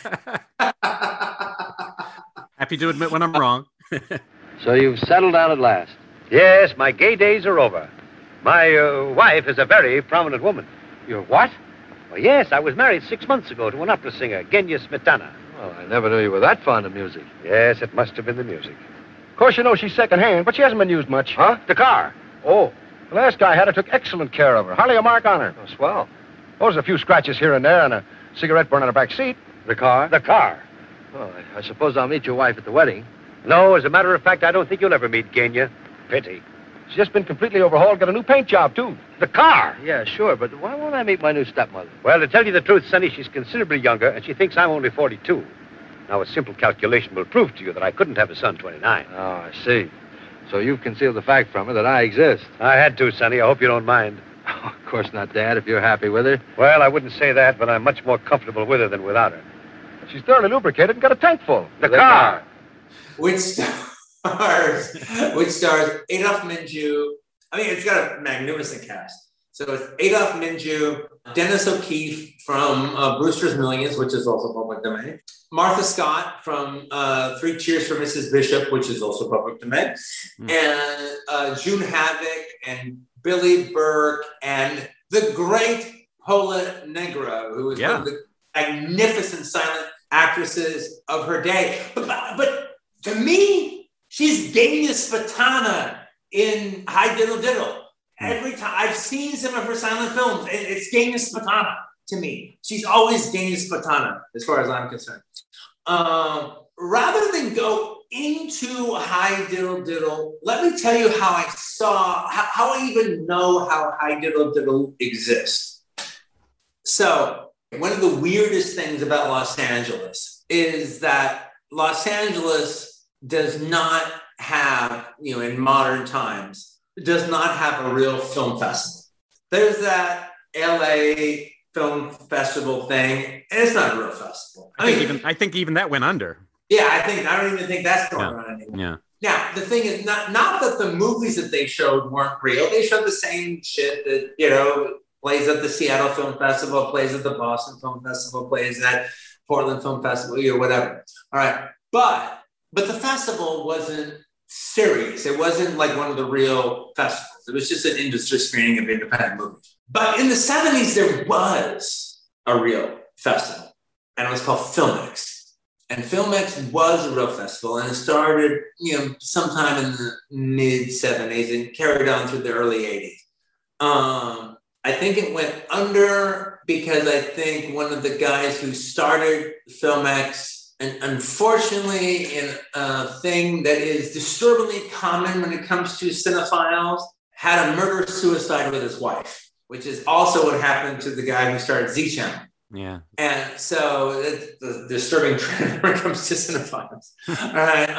Happy to admit when I'm wrong. So you've settled down at last? Yes, my gay days are over. My wife is a very prominent woman. Your what? Well, yes, I was married 6 months ago to an opera singer, Genya Smetana. Well, I never knew you were that fond of music. Yes, it must have been the music. Of course, you know she's second-hand, but she hasn't been used much. Huh? The car. Oh, the last guy had her took excellent care of her. Hardly a mark on her. Oh, swell. Oh, there's a few scratches here and there and a cigarette burn on her back seat. The car? The car. Well, I suppose I'll meet your wife at the wedding. No, as a matter of fact, I don't think you'll ever meet Genya. Pity. She's just been completely overhauled, got a new paint job, too. The car. Yeah, sure, but why won't I meet my new stepmother? Well, to tell you the truth, Sonny, she's considerably younger, and she thinks I'm only 42. Now, a simple calculation will prove to you that I couldn't have a son 29. Oh, I see. So you've concealed the fact from her that I exist. I had to, Sonny. I hope you don't mind. Oh, of course not, Dad, if you're happy with her. Well, I wouldn't say that, but I'm much more comfortable with her than without her. She's thoroughly lubricated and got a tank full. The car. Which stars Adolf Menjou. I mean, it's got a magnificent cast. So it's Adolf Menjou, Dennis O'Keefe from Brewster's Millions, which is also public domain. Martha Scott from Three Cheers for Mrs. Bishop, which is also public domain. And June Havoc and Billy Burke and the great Paula Negra, who was one of the magnificent silent actresses of her day. But to me, she's Genya Smetana in High Diddle Diddle. Every time I've seen some of her silent films, it's Genya Smetana to me. She's always Genya Smetana, as far as I'm concerned. Rather than go into High Diddle Diddle, let me tell you how I even know how High Diddle Diddle exists. So, one of the weirdest things about Los Angeles is that Los Angeles does not have, in modern times, does not have a real film festival. There's that LA Film Festival thing, and it's not a real festival. I think even that went under. Yeah, I don't even think that's going on anymore. Yeah. Now, the thing is, not that the movies that they showed weren't real. They showed the same shit that, plays at the Seattle Film Festival, plays at the Boston Film Festival, plays at Portland Film Festival, whatever. All right. But the festival wasn't serious. It wasn't like one of the real festivals. It was just an industry screening of independent movies. But in the 70s, there was a real festival, and it was called Filmex. And Filmex was a real festival, and it started, sometime in the mid-70s and carried on through the early 80s. I think it went under because I think one of the guys who started Filmex, and unfortunately in a thing that is disturbingly common when it comes to cinephiles, had a murder-suicide with his wife, which is also what happened to the guy who started Z-Channel. Yeah. And so it's the disturbing trend when it comes to cinephiles. All right.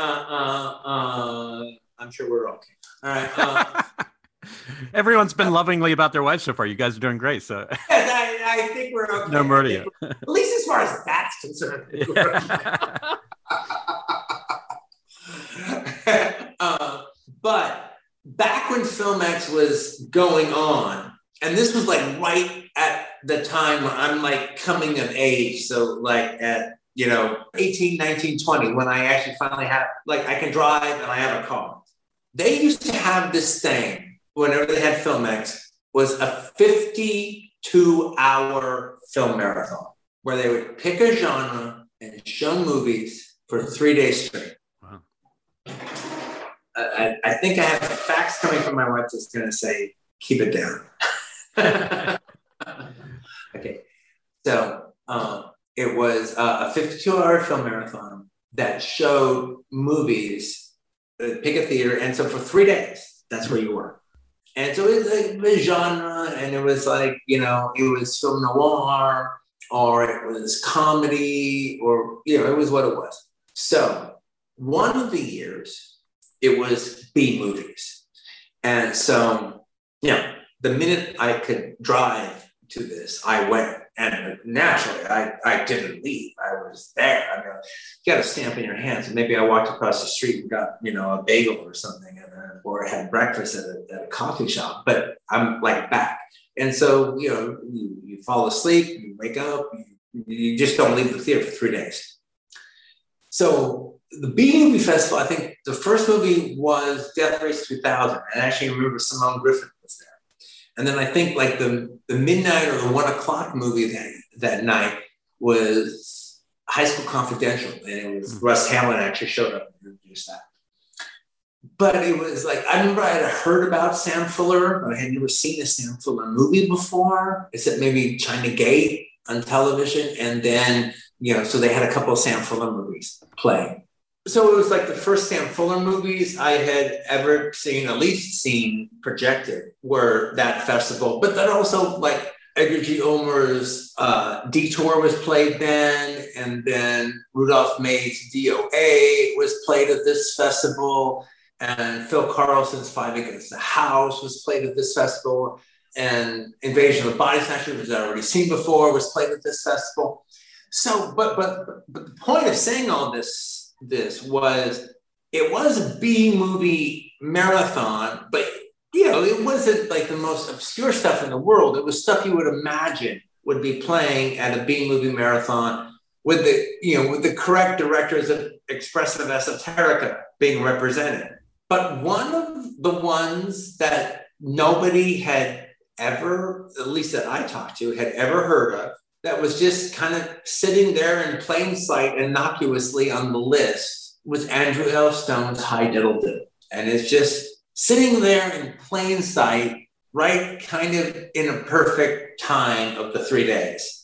I'm sure we're okay. All right. Everyone's been lovingly about their wives so far. You guys are doing great. So I think we're okay. No murder yet. At least as far as that's concerned. But back when Filmex was going on, and this was like right at the time when I'm like coming of age. So like at, 18, 19, 20, when I actually finally have, like I can drive and I have a car. They used to have this thing whenever they had Filmex, was a 52-hour film marathon where they would pick a genre and show movies for 3 days straight. Wow. I think I have facts coming from my wife that's going to say, keep it down. Okay. So it was a 52-hour film marathon that showed movies, pick a theater. And so for 3 days, that's where you were. And so it was like the genre, and it was like, it was film noir, or it was comedy, or, it was what it was. So one of the years, it was B movies. And so, the minute I could drive to this, I went. And naturally, I didn't leave. I was there. I mean, you got a stamp in your hands. And maybe I walked across the street and got, a bagel or something, or had breakfast at a coffee shop. But I'm like back. And so, you fall asleep, you wake up, you just don't leave the theater for 3 days. So the B Movie Festival, I think the first movie was Death Race 2000. And I actually remember Simone Griffith was there. And then I think like the midnight or the 1 o'clock movie that night was High School Confidential. And it was Russ Hamlin actually showed up and introduced that. But it was like, I remember I had heard about Sam Fuller, but I had never seen a Sam Fuller movie before, except maybe China Gate on television. And then, so they had a couple of Sam Fuller movies playing. So it was like the first Sam Fuller movies I had ever seen, at least seen projected, were that festival. But then also like Edgar G. Ulmer's Detour was played then, and then Rudolph May's DOA was played at this festival, and Phil Carlson's Five Against the House was played at this festival, and Invasion of the Body Snatchers, which I'd already seen before, was played at this festival. So, but the point of saying all this was, it was a B movie marathon, but it wasn't like the most obscure stuff in the world. It was stuff you would imagine would be playing at a B movie marathon with the correct directors of expressive esoterica being represented. But one of the ones that nobody had ever, at least that I talked to, had ever heard of, that was just kind of sitting there in plain sight innocuously on the list, was Andrew L. Stone's High Diddle Diddle. And it's just sitting there in plain sight, right kind of in a perfect time of the 3 days.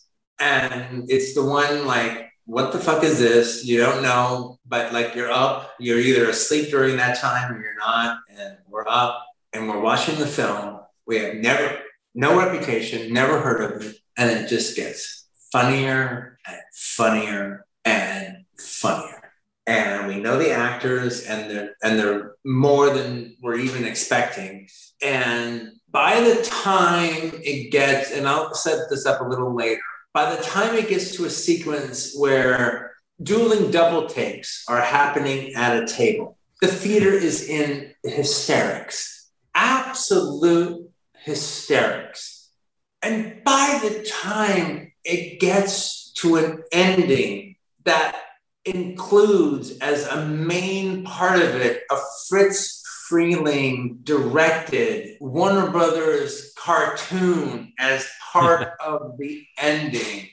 And it's the one like, what the fuck is this? You don't know, but like you're up, you're either asleep during that time or you're not, and we're up and we're watching the film. We have no reputation, never heard of it. And it just gets funnier and funnier and funnier. And we know the actors, and they're more than we're even expecting. And by the time it gets, and I'll set this up a little later, by the time it gets to a sequence where dueling double takes are happening at a table, the theater is in hysterics, absolute hysterics. And by the time it gets to an ending that includes as a main part of it a Fritz Freleng directed Warner Brothers cartoon as part of the ending,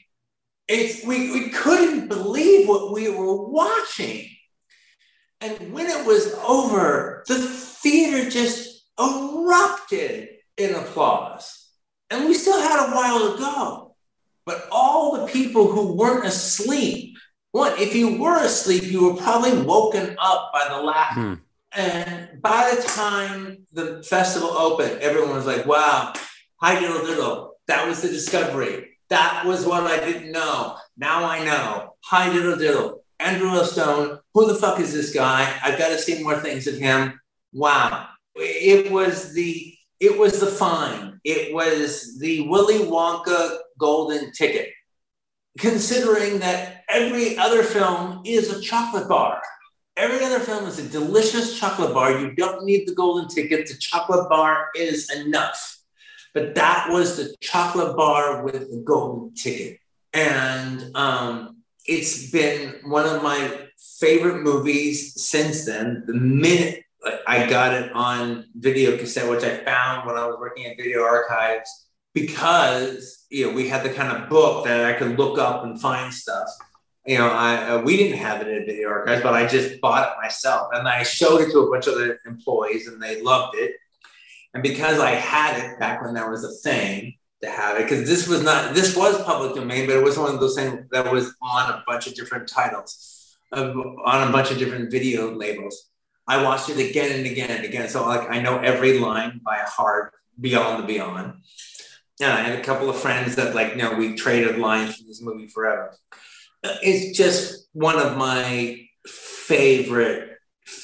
we couldn't believe what we were watching. And when it was over, the theater just erupted in applause. And we still had a while to go. But all the people who weren't asleep, if you were asleep, you were probably woken up by the laughter. And by the time the festival opened, everyone was like, wow, High Diddle Diddle. That was the discovery. That was what I didn't know. Now I know. High Diddle Diddle. Andrew L. Stone. Who the fuck is this guy? I've got to see more things of him. Wow. It was the find. It was the Willy Wonka golden ticket, considering that every other film is a chocolate bar. Every other film is a delicious chocolate bar. You don't need the golden ticket. The chocolate bar is enough. But that was the chocolate bar with the golden ticket. And it's been one of my favorite movies since then. The minute I got it on video cassette, which I found when I was working at Video Archives, because we had the kind of book that I could look up and find stuff. We didn't have it at Video Archives, but I just bought it myself, and I showed it to a bunch of the employees, and they loved it. And because I had it back when there was a thing to have it, because this was public domain, but it was one of those things that was on a bunch of different titles, on a bunch of different video labels. I watched it again and again and again. So I know every line by heart, beyond the beyond. And I had a couple of friends that we traded lines from this movie forever. It's just one of my favorite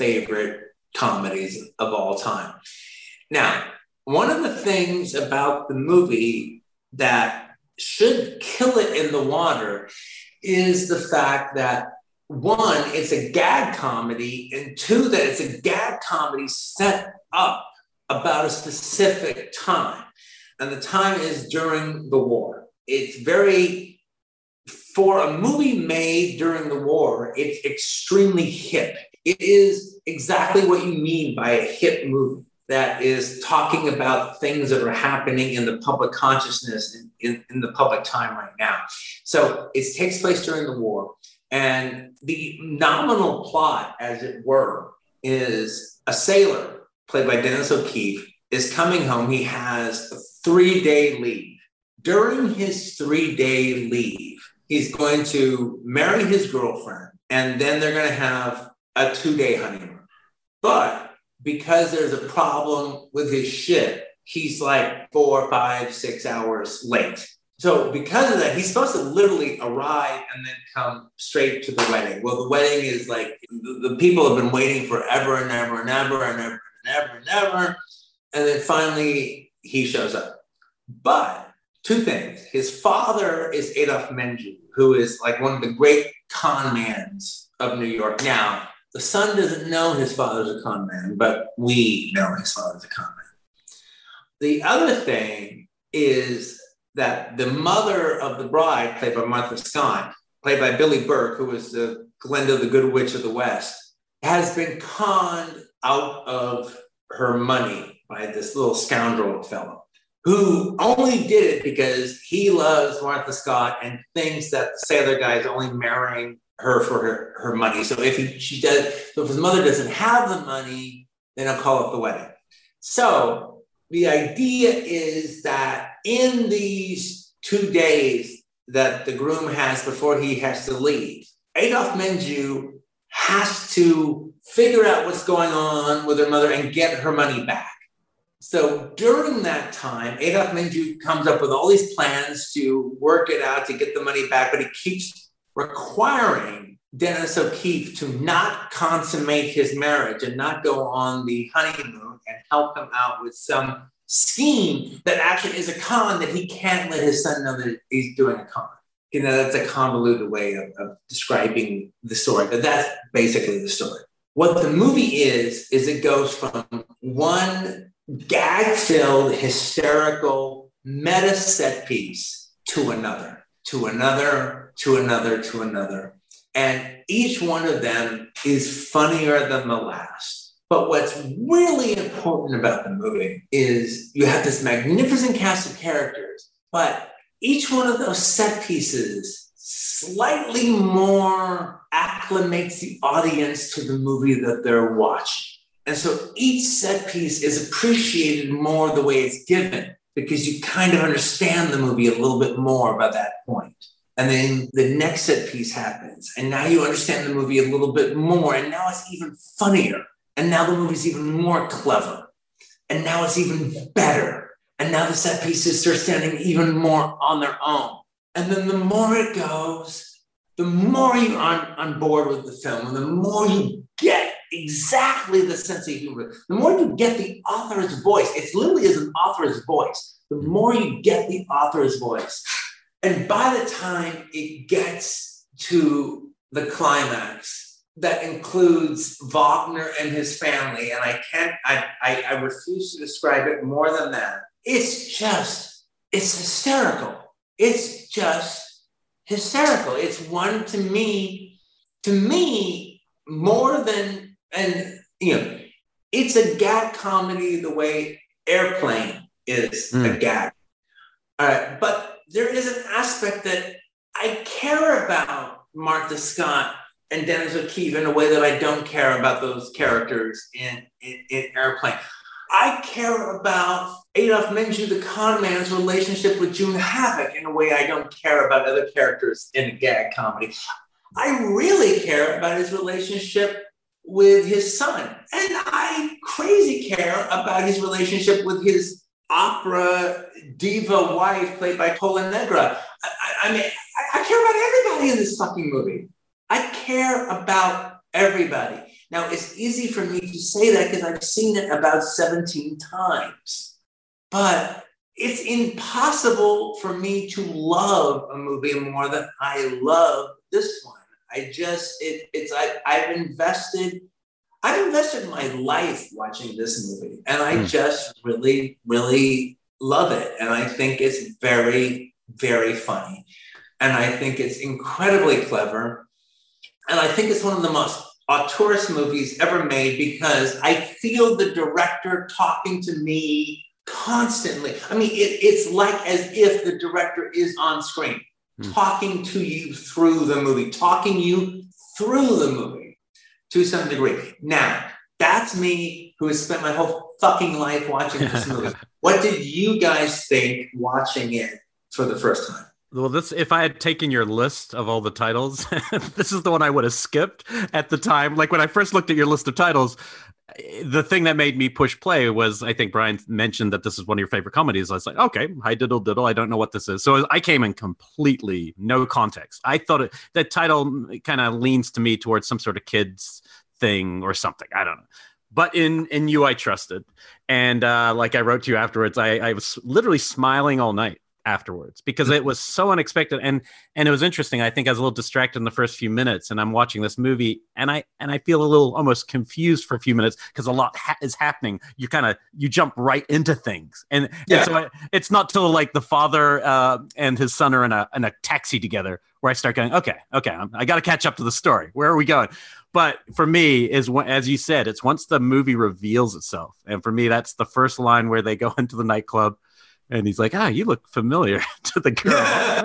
comedies of all time. Now, one of the things about the movie that should kill it in the water is the fact that one, it's a gag comedy, and two, that it's a gag comedy set up about a specific time. And the time is during the war. It's very, for a movie made during the war, it's extremely hip. It is exactly what you mean by a hip movie that is talking about things that are happening in the public consciousness in the public time right now. So it takes place during the war. And the nominal plot, as it were, is a sailor, played by Dennis O'Keefe, is coming home. He has a 3-day leave. During his 3-day leave, he's going to marry his girlfriend, and then they're going to have a 2-day honeymoon. But because there's a problem with his ship, he's like 4, 5, 6 hours late. So because of that, he's supposed to literally arrive and then come straight to the wedding. Well, the wedding is like, the people have been waiting forever and ever and ever and ever and ever and ever. And then finally he shows up. But two things. His father is Adolphe Menjou, who is like one of the great con mans of New York. Now, the son doesn't know his father's a con man, but we know his father's a con man. The other thing is that the mother of the bride, played by Martha Scott, played by Billie Burke, who was the Glinda, the Good Witch of the West, has been conned out of her money by this little scoundrel fellow who only did it because he loves Martha Scott and thinks that the sailor guy is only marrying her for her money. So if his mother doesn't have the money, then he'll call off the wedding. So the idea is that in these 2 days that the groom has before he has to leave, Adolphe Menjou has to figure out what's going on with her mother and get her money back. So during that time, Adolphe Menjou comes up with all these plans to work it out to get the money back, but he keeps requiring Dennis O'Keefe to not consummate his marriage and not go on the honeymoon and help him out with some scheme that actually is a con that he can't let his son know that he's doing a con. You know, that's a convoluted way of describing the story, but that's basically the story. What the movie is it goes from one gag-filled, hysterical, meta set piece to another, to another, to another, to another. And each one of them is funnier than the last. But what's really important about the movie is you have this magnificent cast of characters, but each one of those set pieces slightly more acclimates the audience to the movie that they're watching. And so each set piece is appreciated more the way it's given because you kind of understand the movie a little bit more by that point. And then the next set piece happens. And now you understand the movie a little bit more. And now it's even funnier. And now the movie's even more clever. And now it's even better. And now the set pieces are standing even more on their own. And then the more it goes, the more you're on board with the film, and the more you get exactly the sense of humor, the more you get the author's voice. It literally is an author's voice. The more you get the author's voice. And by the time it gets to the climax, that includes Wagner and his family, and I refuse to describe it more than that. It's hysterical. It's just hysterical. It's one to me, more than, and it's a gag comedy the way Airplane is a gag. But there is an aspect that I care about Martha Scott and Dennis O'Keefe in a way that I don't care about those characters in Airplane. I care about Adolphe Menjou, the con man's relationship with June Havoc in a way I don't care about other characters in a gag comedy. I really care about his relationship with his son. And I crazy care about his relationship with his opera diva wife played by Pola Negra. I mean, I care about everybody in this fucking movie. I care about everybody. Now, it's easy for me to say that because I've seen it about 17 times. But it's impossible for me to love a movie more than I love this one. I've invested my life watching this movie, and I just really, really love it. And I think it's very, very funny. And I think it's incredibly clever. And I think it's one of the most auteurist movies ever made, because I feel the director talking to me constantly. I mean, it's like as if the director is on screen, talking to you through the movie, to some degree. Now, that's me, who has spent my whole fucking life watching this movie. What did you guys think watching it for the first time? Well, if I had taken your list of all the titles, this is the one I would have skipped at the time. Like when I first looked at your list of titles, the thing that made me push play was, I think Brian mentioned that this is one of your favorite comedies. I was like, okay, hi diddle diddle. I don't know what this is. So I came in completely no context. I thought that title kind of leans to me towards some sort of kids thing or something. I don't know. But in you, I trusted. And like I wrote to you afterwards, I was literally smiling all night afterwards, because it was so unexpected, and it was interesting. I think I was a little distracted in the first few minutes, and I'm watching this movie, and I feel a little almost confused for a few minutes, because a lot is happening. You jump right into things, and so it's not till like the father and his son are in a taxi together where I start going, okay, I got to catch up to the story. Where are we going? But for me, as you said, it's once the movie reveals itself, and for me, that's the first line where they go into the nightclub. And he's like, you look familiar to the girl.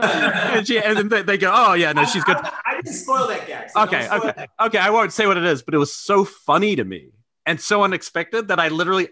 and then they go, oh, yeah, no, she's good. I didn't spoil that gag. So okay, I won't say what it is, but it was so funny to me and so unexpected that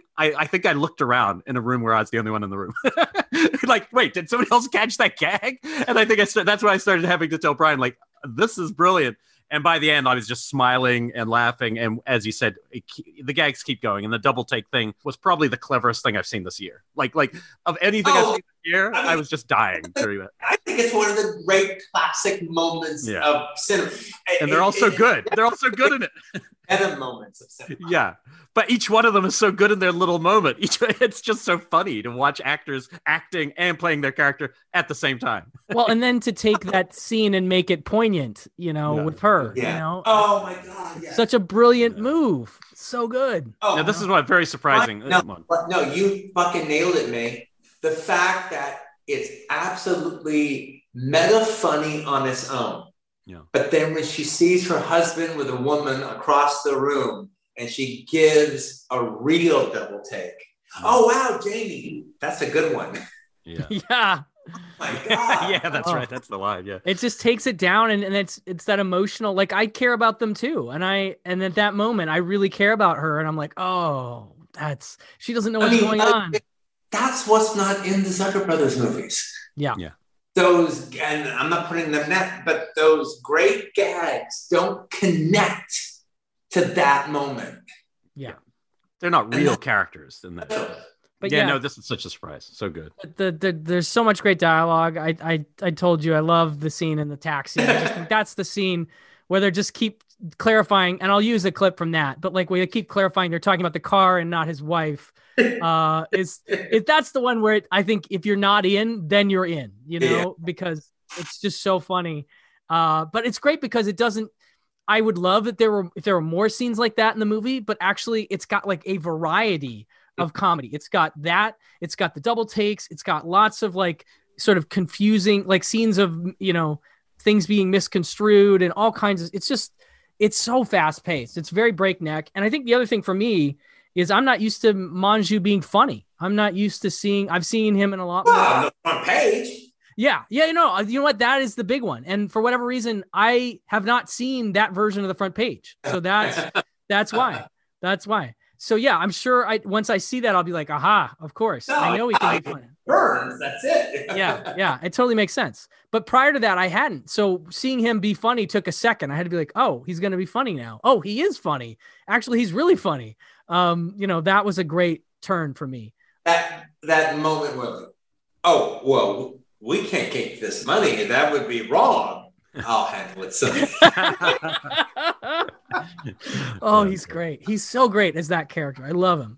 I think I looked around in a room where I was the only one in the room. Like, wait, did somebody else catch that gag? And I think that's when I started having to tell Brian, like, this is brilliant. And by the end, I was just smiling and laughing. And as you said, the gags keep going. And the double take thing was probably the cleverest thing I've seen this year. Like of anything I've seen this year, I was just dying during that. I think it's one of the great classic moments of cinema. And they're all so good. They're all so good in it. Meta moments of cinema. Yeah. But each one of them is so good in their little moment. It's just so funny to watch actors acting and playing their character at the same time. Well, and then to take that scene and make it poignant, with her, Oh my God. Yeah. Such a brilliant move. So good. Oh, now, this is what very surprising. No, you fucking nailed it, May. The fact that it's absolutely meta funny on its own. Yeah. But then when she sees her husband with a woman across the room, and she gives a real double take. Oh, wow, Jamie. That's a good one. Yeah. Yeah. Oh, my God. Yeah, that's right. That's the line. Yeah. It just takes it down, and it's that emotional, like, I care about them too. And at that moment, I really care about her. And I'm like, oh, she doesn't know what's going on. That's what's not in the Zucker Brothers movies. Yeah. Yeah. Those, and I'm not putting them net, but those great gags don't connect to that moment. Yeah. They're not real characters in that. But no, this is such a surprise. So good. There's so much great dialogue. I told you I love the scene in the taxi. I just think that's the scene where they just keep clarifying, and I'll use a clip from that, but like where they keep clarifying they're talking about the car and not his wife. That's the one where I think if you're not in, then you're in, because it's just so funny. But it's great because it doesn't. I would love if there were more scenes like that in the movie, but actually it's got like a variety of comedy. It's got the double takes. It's got lots of like sort of confusing, like scenes of, things being misconstrued and all kinds of, it's so fast paced. It's very breakneck. And I think the other thing for me is I'm not used to Manju being funny. I'm not used to I've seen him in a lot more. On the front page. Yeah. You know what? That is the big one. And for whatever reason, I have not seen that version of the front page. So that's why. So yeah, I'm sure once I see that, I'll be like, aha, of course. No, I know he can be funny. Burns, that's it. Yeah. It totally makes sense. But prior to that, I hadn't. So seeing him be funny took a second. I had to be like, oh, he's going to be funny now. Oh, he is funny. Actually, he's really funny. That was a great turn for me. That moment where, oh, well, we can't keep this money. That would be wrong. I'll handle it. Oh, he's great. He's so great as that character. I love him.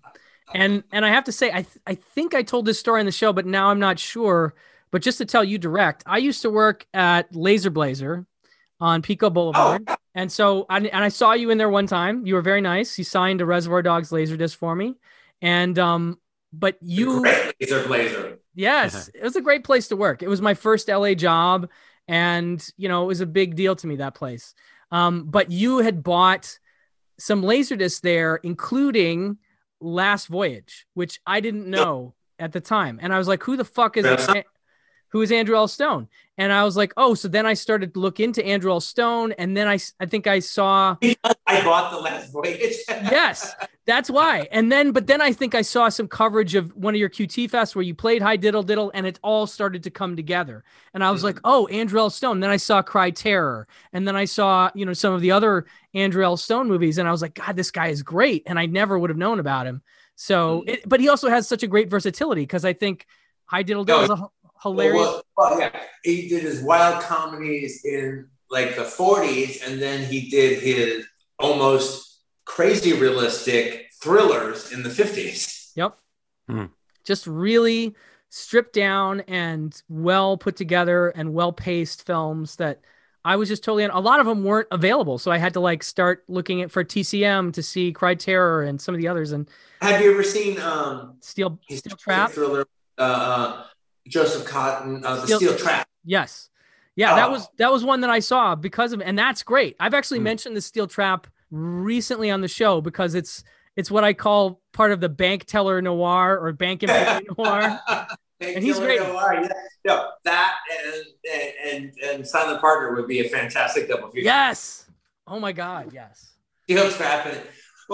And I have to say, I think I told this story on the show, but now I'm not sure. But just to tell you direct, I used to work at Laser Blazer on Pico Oh, Boulevard. And so, I saw you in there one time. You were very nice. You signed a Reservoir Dogs Laserdisc for me. And, but the you, great laser blazer. yes, it was a great place to work. It was my first LA job. And, it was a big deal to me, that place. But you had bought some Laserdiscs there, including Last Voyage, which I didn't know at the time. And I was like, who is Andrew L. Stone? And I was like, oh, so then I started to look into Andrew L. Stone. And then I think I saw, I bought the last voyage. yes, that's why. But then I think I saw some coverage of one of your QT fests where you played High Diddle Diddle and it all started to come together. And I was like, oh, Andrew L. Stone. And then I saw Cry Terror. And then I saw, some of the other Andrew L. Stone movies. And I was like, God, this guy is great. And I never would have known about him. So, but he also has such a great versatility because I think High Diddle Diddle is a hilarious. Well, yeah, he did his wild comedies in like the 40s, and then he did his almost crazy realistic thrillers in the 50s. Yep. Just really stripped down and well put together and well paced films that I was just totally a lot of them weren't available. So I had to start looking for TCM to see Cry Terror and some of the others. And have you ever seen Steel Trap? Thriller, Joseph Cotton, the Steel Trap? Yes. Yeah, that was one that I saw because of, and that's great. I've actually mentioned the Steel Trap recently on the show because it's what I call part of the bank teller noir or bank employee noir. And he's great. Noir, yeah. No, that and Silent Partner would be a fantastic double feature. Yes. Oh my God. Yes. Steel Trap and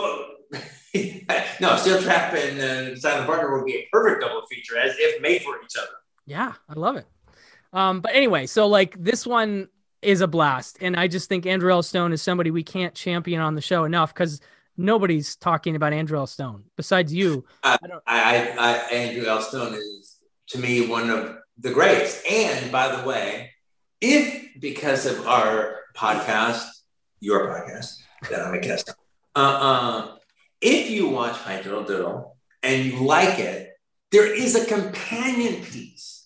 no, Steel Trap and Silent Partner would be a perfect double feature as if made for each other. Yeah, I love it. But anyway, so this one is a blast. And I just think Andrew L. Stone is somebody we can't champion on the show enough because nobody's talking about Andrew L. Stone besides you. Andrew L. Stone is, to me, one of the greats. And by the way, if because of our podcast, your podcast that I'm a guest on, if you watch High Diddle Diddle and you like it, there is a companion piece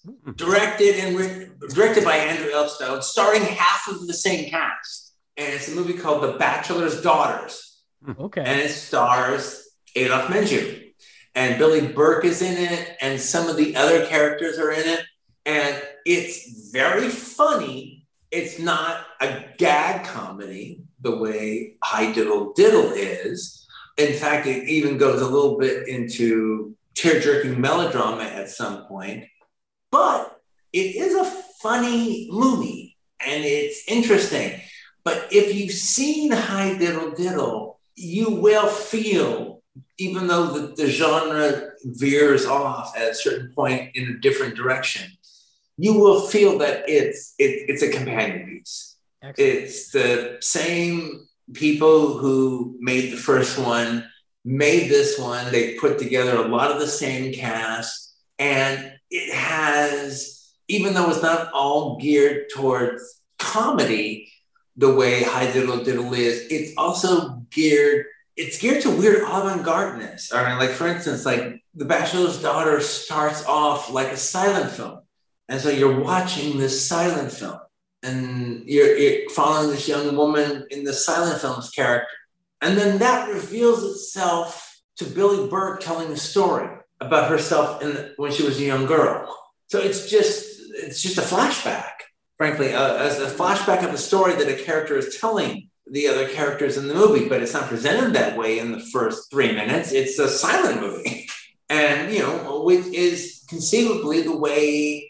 directed by Andrew L. Stone, starring half of the same cast. And it's a movie called The Bachelor's Daughters. Okay. And it stars Adolph Menjou. And Billy Burke is in it, and some of the other characters are in it. And it's very funny. It's not a gag comedy the way High Diddle Diddle is. In fact, it even goes a little bit into tear-jerking melodrama at some point. But it is a funny movie, and it's interesting. But if you've seen High Diddle Diddle, you will feel, even though the genre veers off at a certain point in a different direction, you will feel that it's a companion piece. Excellent. It's the same people who made the first one, made this one. They put together a lot of the same cast, and it has, even though it's not all geared towards comedy the way High Diddle Diddle is, it's also geared to weird avant-gardeness. I mean, like, for instance, like The Bachelor's Daughter starts off like a silent film. And so you're watching this silent film and you're following this young woman in the silent film's character. And then that reveals itself to Billy Burke telling a story about herself when she was a young girl. So it's just a flashback, frankly, as a flashback of a story that a character is telling the other characters in the movie, but it's not presented that way in the first 3 minutes. It's a silent movie. And, which is conceivably the way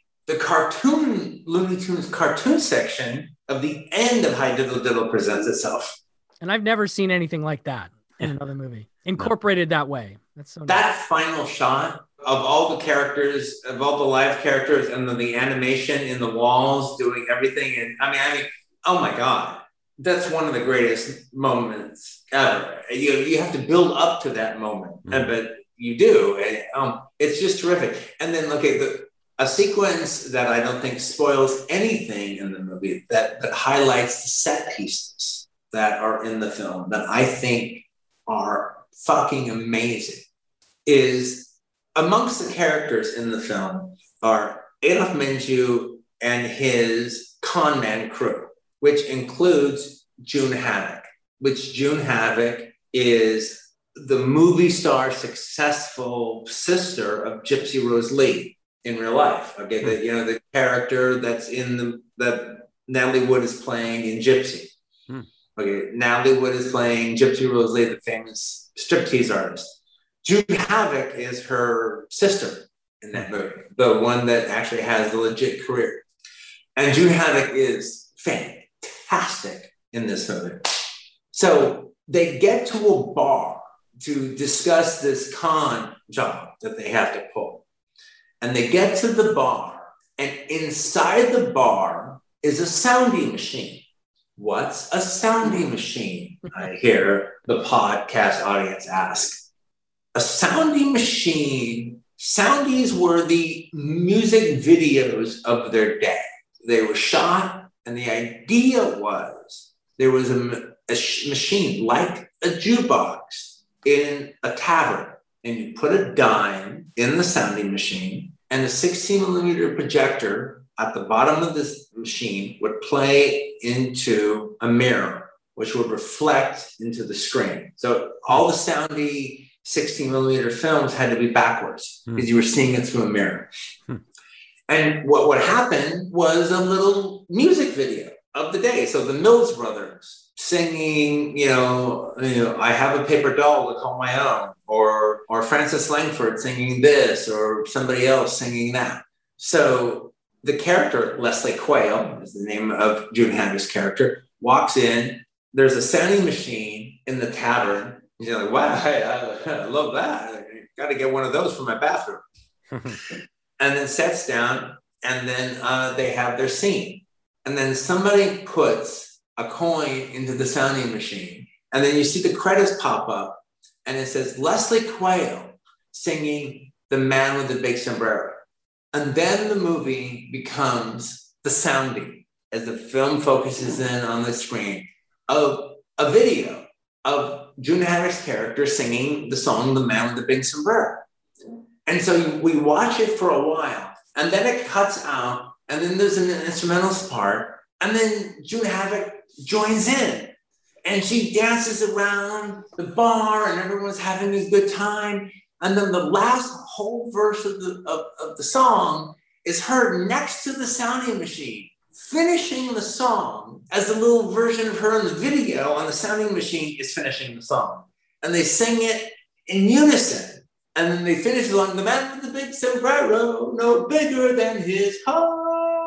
the Looney Tunes cartoon section of the end of High Diddle Diddle presents itself. And I've never seen anything like that in another movie, incorporated that way. That's so that nice. Final shot of all the characters, of all the live characters, and then the animation in the walls doing everything. And I mean, oh my God, that's one of the greatest moments ever. You have to build up to that moment, but you do. And, it's just terrific. And then look at a sequence that I don't think spoils anything in the movie that highlights the set pieces that are in the film that I think are fucking amazing. is amongst the characters in the film are Adolf Menjou and his con man crew, which includes June Havoc, which June Havoc is the movie star successful sister of Gypsy Rose Lee in real life. Okay, the character that's that Natalie Wood is playing in Gypsy. Okay, Natalie Wood is playing Gypsy Rose Lee, the famous striptease artist. June Havoc is her sister in that movie, the one that actually has a legit career. And June Havoc is fantastic in this movie. So they get to a bar to discuss this con job that they have to pull. And they get to the bar, and inside the bar is a sounding machine. What's a sounding machine? I hear the podcast audience ask. A sounding machine, soundies were the music videos of their day. They were shot, and the idea was there was a machine like a jukebox in a tavern, and you put a dime in the sounding machine, and a 16-millimeter projector at the bottom of this machine would play into a mirror, which would reflect into the screen. So all the soundy 16-millimeter films had to be backwards because you were seeing it through a mirror. And what would happen was a little music video of the day. So the Mills Brothers singing, I have a paper doll to call my own, or Francis Langford singing this, or somebody else singing that. So the character, Leslie Quayle, is the name of June Havoc's character, walks in. There's a sounding machine in the tavern. You're like, wow, I love that. Got to get one of those for my bathroom. And then sits down, and then they have their scene. And then somebody puts a coin into the sounding machine, and then you see the credits pop up, and it says Leslie Quayle singing The Man with the Big Sombrero. And then the movie becomes the sounding, as the film focuses in on the screen, of a video of June Havoc's character singing the song The Man with the Big Sombrero. And so we watch it for a while, and then it cuts out, and then there's an instrumental part, and then June Havoc joins in, and she dances around the bar, and everyone's having a good time. And then the last whole verse of the song is heard next to the sounding machine, finishing the song as the little version of her in the video on the sounding machine is finishing the song. And they sing it in unison. And then they finish along, the man with the big sombrero, no bigger than his heart.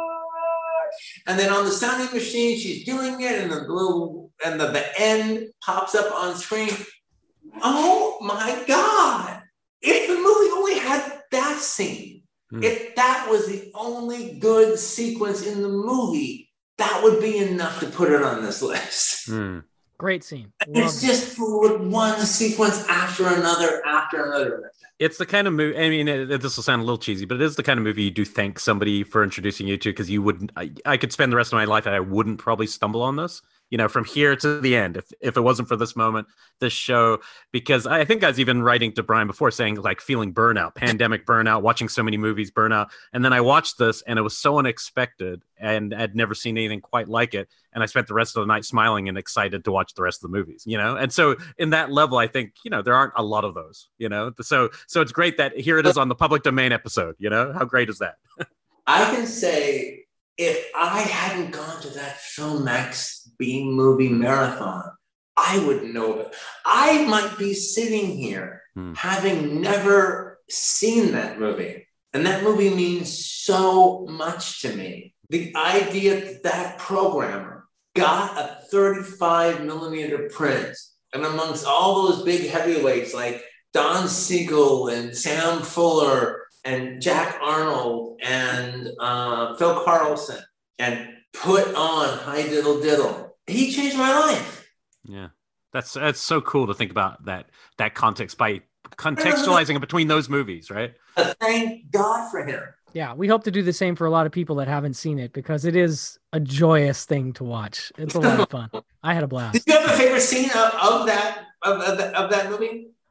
And then on the sounding machine, she's doing it, and the end pops up on screen. Oh my God. If the movie only had that scene, if that was the only good sequence in the movie, that would be enough to put it on this list. Great scene. It's just one sequence after another. It's the kind of movie, I mean, this will sound a little cheesy, but it is the kind of movie you do thank somebody for introducing you to, because you wouldn't, I could spend the rest of my life and I wouldn't probably stumble on this, from here to the end, if it wasn't for this moment, this show, because I think I was even writing to Brian before saying like feeling burnout, pandemic burnout, watching so many movies, burnout. And then I watched this and it was so unexpected and I'd never seen anything quite like it. And I spent the rest of the night smiling and excited to watch the rest of the movies, And so in that level, I think, there aren't a lot of those, So it's great that here it is on the public domain episode, How great is that? I can say if I hadn't gone to that Filmex B-movie marathon, I wouldn't know of it. I might be sitting here having never seen that movie. And that movie means so much to me. The idea that programmer got a 35-millimeter print, and amongst all those big heavyweights like Don Siegel and Sam Fuller and Jack Arnold and Phil Carlson, and put on Hi Diddle Diddle, he changed my life. Yeah, that's so cool to think about that context by contextualizing it between those movies, right? Thank God for him. Yeah, we hope to do the same for a lot of people that haven't seen it, because it is a joyous thing to watch. It's a lot of fun. I had a blast. Did you have a favorite scene of that movie?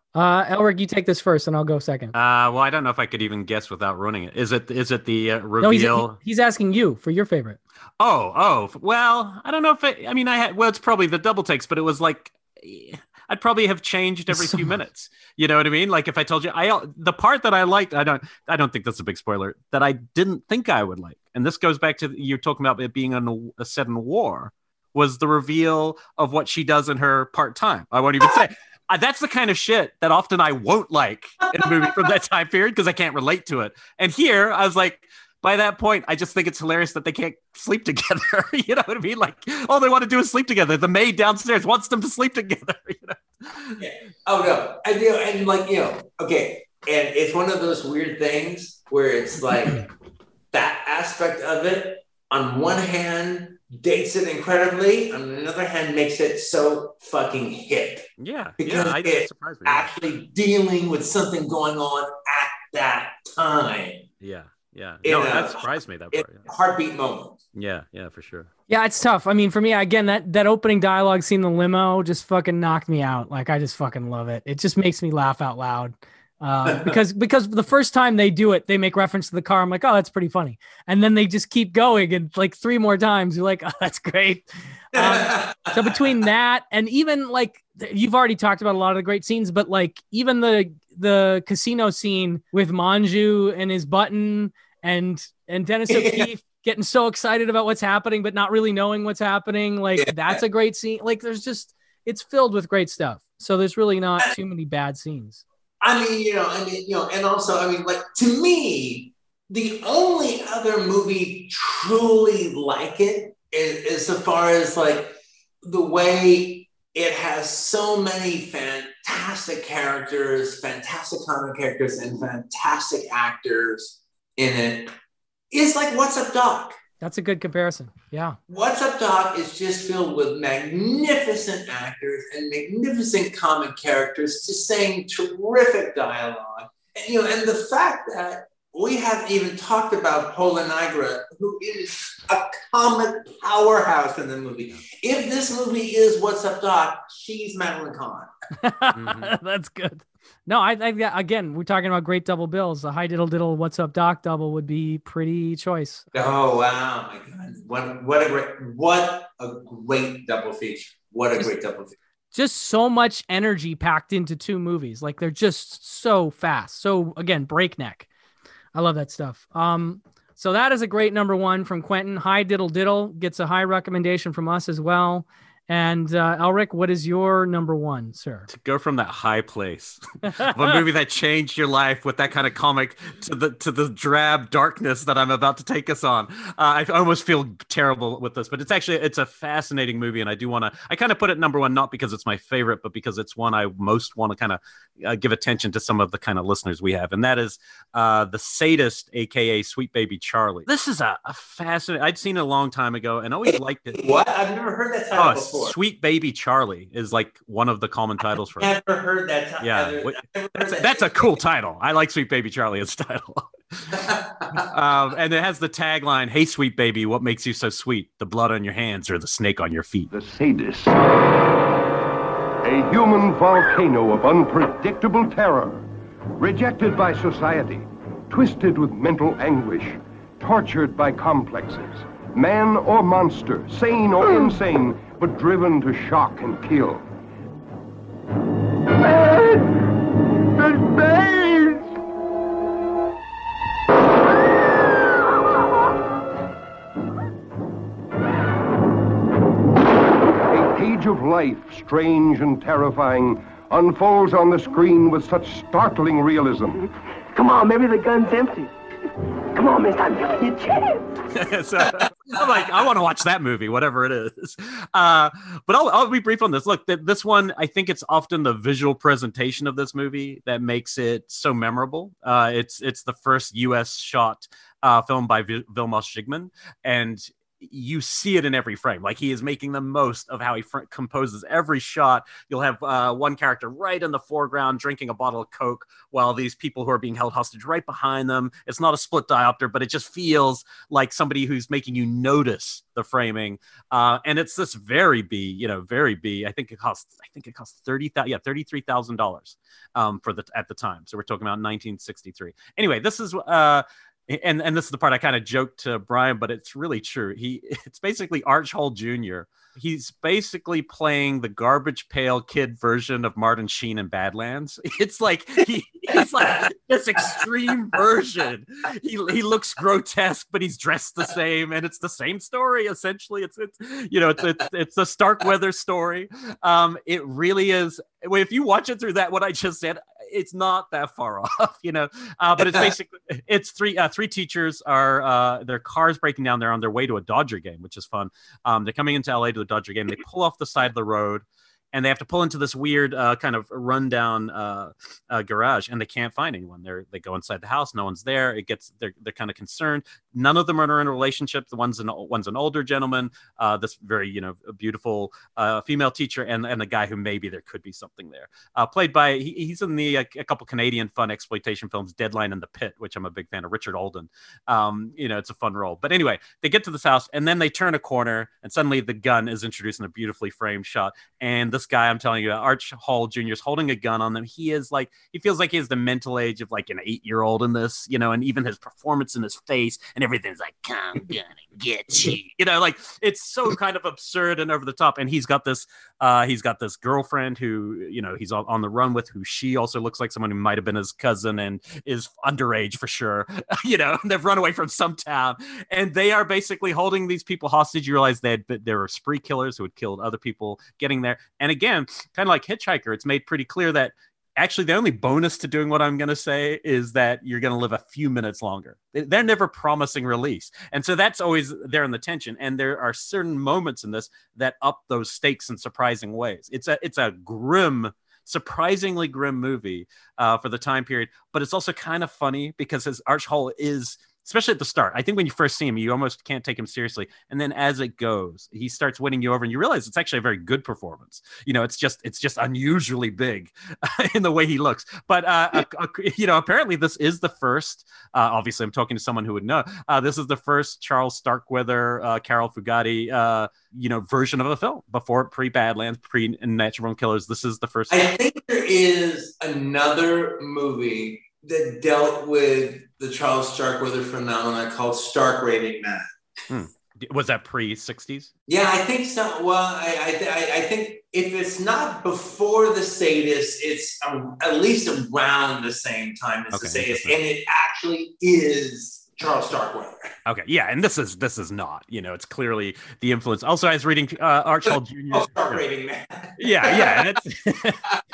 Elric, you take this first, and I'll go second. Well, I don't know if I could even guess without ruining it. Is it the No, reveal? he's asking you for your favorite. Oh, well, I don't know if I mean, well, it's probably the double takes, but it was like, I'd probably have changed every So few minutes. You know what I mean? Like if I told you, the part that I liked, I don't think that's a big spoiler, that I didn't think I would like. And this goes back to you're talking about it being a set in war, was the reveal of what she does in her part time. I won't even say. That's the kind of shit that often I won't like in a movie from that time period because I can't relate to it. And here I was like, by that point, I just think it's hilarious that they can't sleep together. You know what I mean? Like, all they want to do is sleep together. The maid downstairs wants them to sleep together. Yeah. Oh no, and like okay, and it's one of those weird things where it's like that aspect of it. On one hand, dates it incredibly. On another hand, makes it so fucking hip Yeah, because it it's surprised me. actually dealing with something going on at that time. Yeah, yeah. In No, a, that surprised me. That in part. a heartbeat moment. Yeah, for sure. yeah, it's tough. I mean, for me, again, that opening dialogue scene, in the limo, just fucking knocked me out. Like, I just fucking love it. It just makes me laugh out loud. Because the first time they do it, they make reference to the car. I'm like, oh, that's pretty funny. And then they just keep going, and like three more times, you're like, oh, that's great. So between that and even like you've already talked about a lot of the great scenes, but like even the casino scene with Manju and his button and Dennis O'Keefe getting so excited about what's happening, but not really knowing what's happening. Like that's a great scene. Like it's filled with great stuff. So there's really not too many bad scenes. And also, I mean, like to me, the only other movie truly like it is so far as like the way it has so many fantastic characters, fantastic comic characters, and fantastic actors in it. Is like What's Up, Doc? That's a good comparison. Yeah. What's Up, Doc is just filled with magnificent actors and magnificent comic characters just saying terrific dialogue. And the fact that we haven't even talked about Paula Nigra, who is a comic powerhouse in the movie. If this movie is What's Up, Doc, she's Madeline Kahn. Mm-hmm. That's good. No, I again, we're talking about great double bills. The Hi Diddle Diddle What's Up Doc double would be pretty choice. Oh wow, my God! What a great double feature! What a great double feature! Just so much energy packed into two movies. Like they're just so fast. So again, breakneck. I love that stuff. So that is a great number one from Quentin. Hi Diddle Diddle gets a high recommendation from us as well. And Elric, what is your number one, sir? To go from that high place, of a movie that changed your life with that kind of comic to the drab darkness that I'm about to take us on. I almost feel terrible with this, but it's a fascinating movie, and I kind of put it number one, not because it's my favorite, but because it's one I most want to kind of give attention to some of the kind of listeners we have, and that is The Sadist, aka Sweet Baby Charlie. This is a fascinating. I'd seen it a long time ago and always liked it. What? I've never heard that title before. Sweet Baby Charlie is like one of the common titles for it. Never heard that title. Yeah, that's a cool title. I like Sweet Baby Charlie as title. And it has the tagline, "Hey, sweet baby, what makes you so sweet? The blood on your hands or the snake on your feet?" The Sadist. A human volcano of unpredictable terror. Rejected by society. Twisted with mental anguish. Tortured by complexes. Man or monster, sane or insane, but driven to shock and kill. A page of life, strange and terrifying, unfolds on the screen with such startling realism. Come on, maybe the gun's empty. Come on, mister, I'm giving you a chance. So I'm like, I want to watch that movie, whatever it is. But I'll be brief on this. Look, this one, I think it's often the visual presentation of this movie that makes it so memorable. It's the first U.S. shot film by Vilmos Zsigmond, and you see it in every frame. Like, he is making the most of how he composes every shot. You'll have one character right in the foreground drinking a bottle of Coke while these people who are being held hostage right behind them. It's not a split diopter, but it just feels like somebody who's making you notice the framing. And it's this very B. I think it costs $33,000 at the time. So we're talking about 1963. Anyway, this is and this is the part I kind of joked to Brian, but it's really true. It's basically Arch Hall Jr. He's basically playing the garbage pail kid version of Martin Sheen in Badlands. It's like he's like this extreme version. He looks grotesque, but he's dressed the same, and it's the same story essentially. It's a Starkweather story. It really is. If you watch it through what I just said, it's not that far off, but it's basically, it's three teachers are, their car's breaking down. They're on their way to a Dodger game, which is fun. They're coming into LA to the Dodger game. They pull off the side of the road and they have to pull into this weird kind of rundown garage, and they can't find anyone. They go inside the house, no one's there. They're kind of concerned. None of them are in a relationship. One's an older gentleman, this very beautiful female teacher, and the guy who maybe there could be something there. Played by he's in a couple Canadian fun exploitation films, Deadline and The Pit, which I'm a big fan of, Richard Olden. It's a fun role. But anyway, they get to this house and then they turn a corner and suddenly the gun is introduced in a beautifully framed shot, and this guy I'm telling you, Arch Hall Jr. is holding a gun on them. He feels like he has the mental age of like an 8-year-old in this, and even his performance in his face and everything's like, I'm gonna get you, like it's so kind of absurd and over the top. And he's got this girlfriend who, he's on the run with, who she also looks like someone who might have been his cousin and is underage for sure. They've run away from some town and they are basically holding these people hostage. You realize they were spree killers who had killed other people getting there. And again, kind of like Hitchhiker, it's made pretty clear that actually the only bonus to doing what I'm going to say is that you're going to live a few minutes longer. They're never promising release. And so that's always there in the tension. And there are certain moments in this that up those stakes in surprising ways. It's a grim, surprisingly grim movie for the time period, but it's also kind of funny because his Arch Hall is, especially at the start, I think when you first see him, you almost can't take him seriously. And then as it goes, he starts winning you over and you realize it's actually a very good performance. It's just unusually big in the way he looks. But, apparently this is the first, obviously I'm talking to someone who would know, this is the first Charles Starkweather, Carol Fugate, version of a film before pre-Badlands, pre-Natural Born Killers. This is the first. I think there is another movie that dealt with the Charles Starkweather phenomenon called Stark Raving Mad. Was that pre-60s? Yeah, I think so. Well, I think if it's not before the Sadists, it's at least around the same time as the Sadists, and it actually is Charles Starkweather. Okay, yeah, and this is not. It's clearly the influence. Also, I was reading Arch Hall Jr. Stark Raving Mad. Yeah, and it's.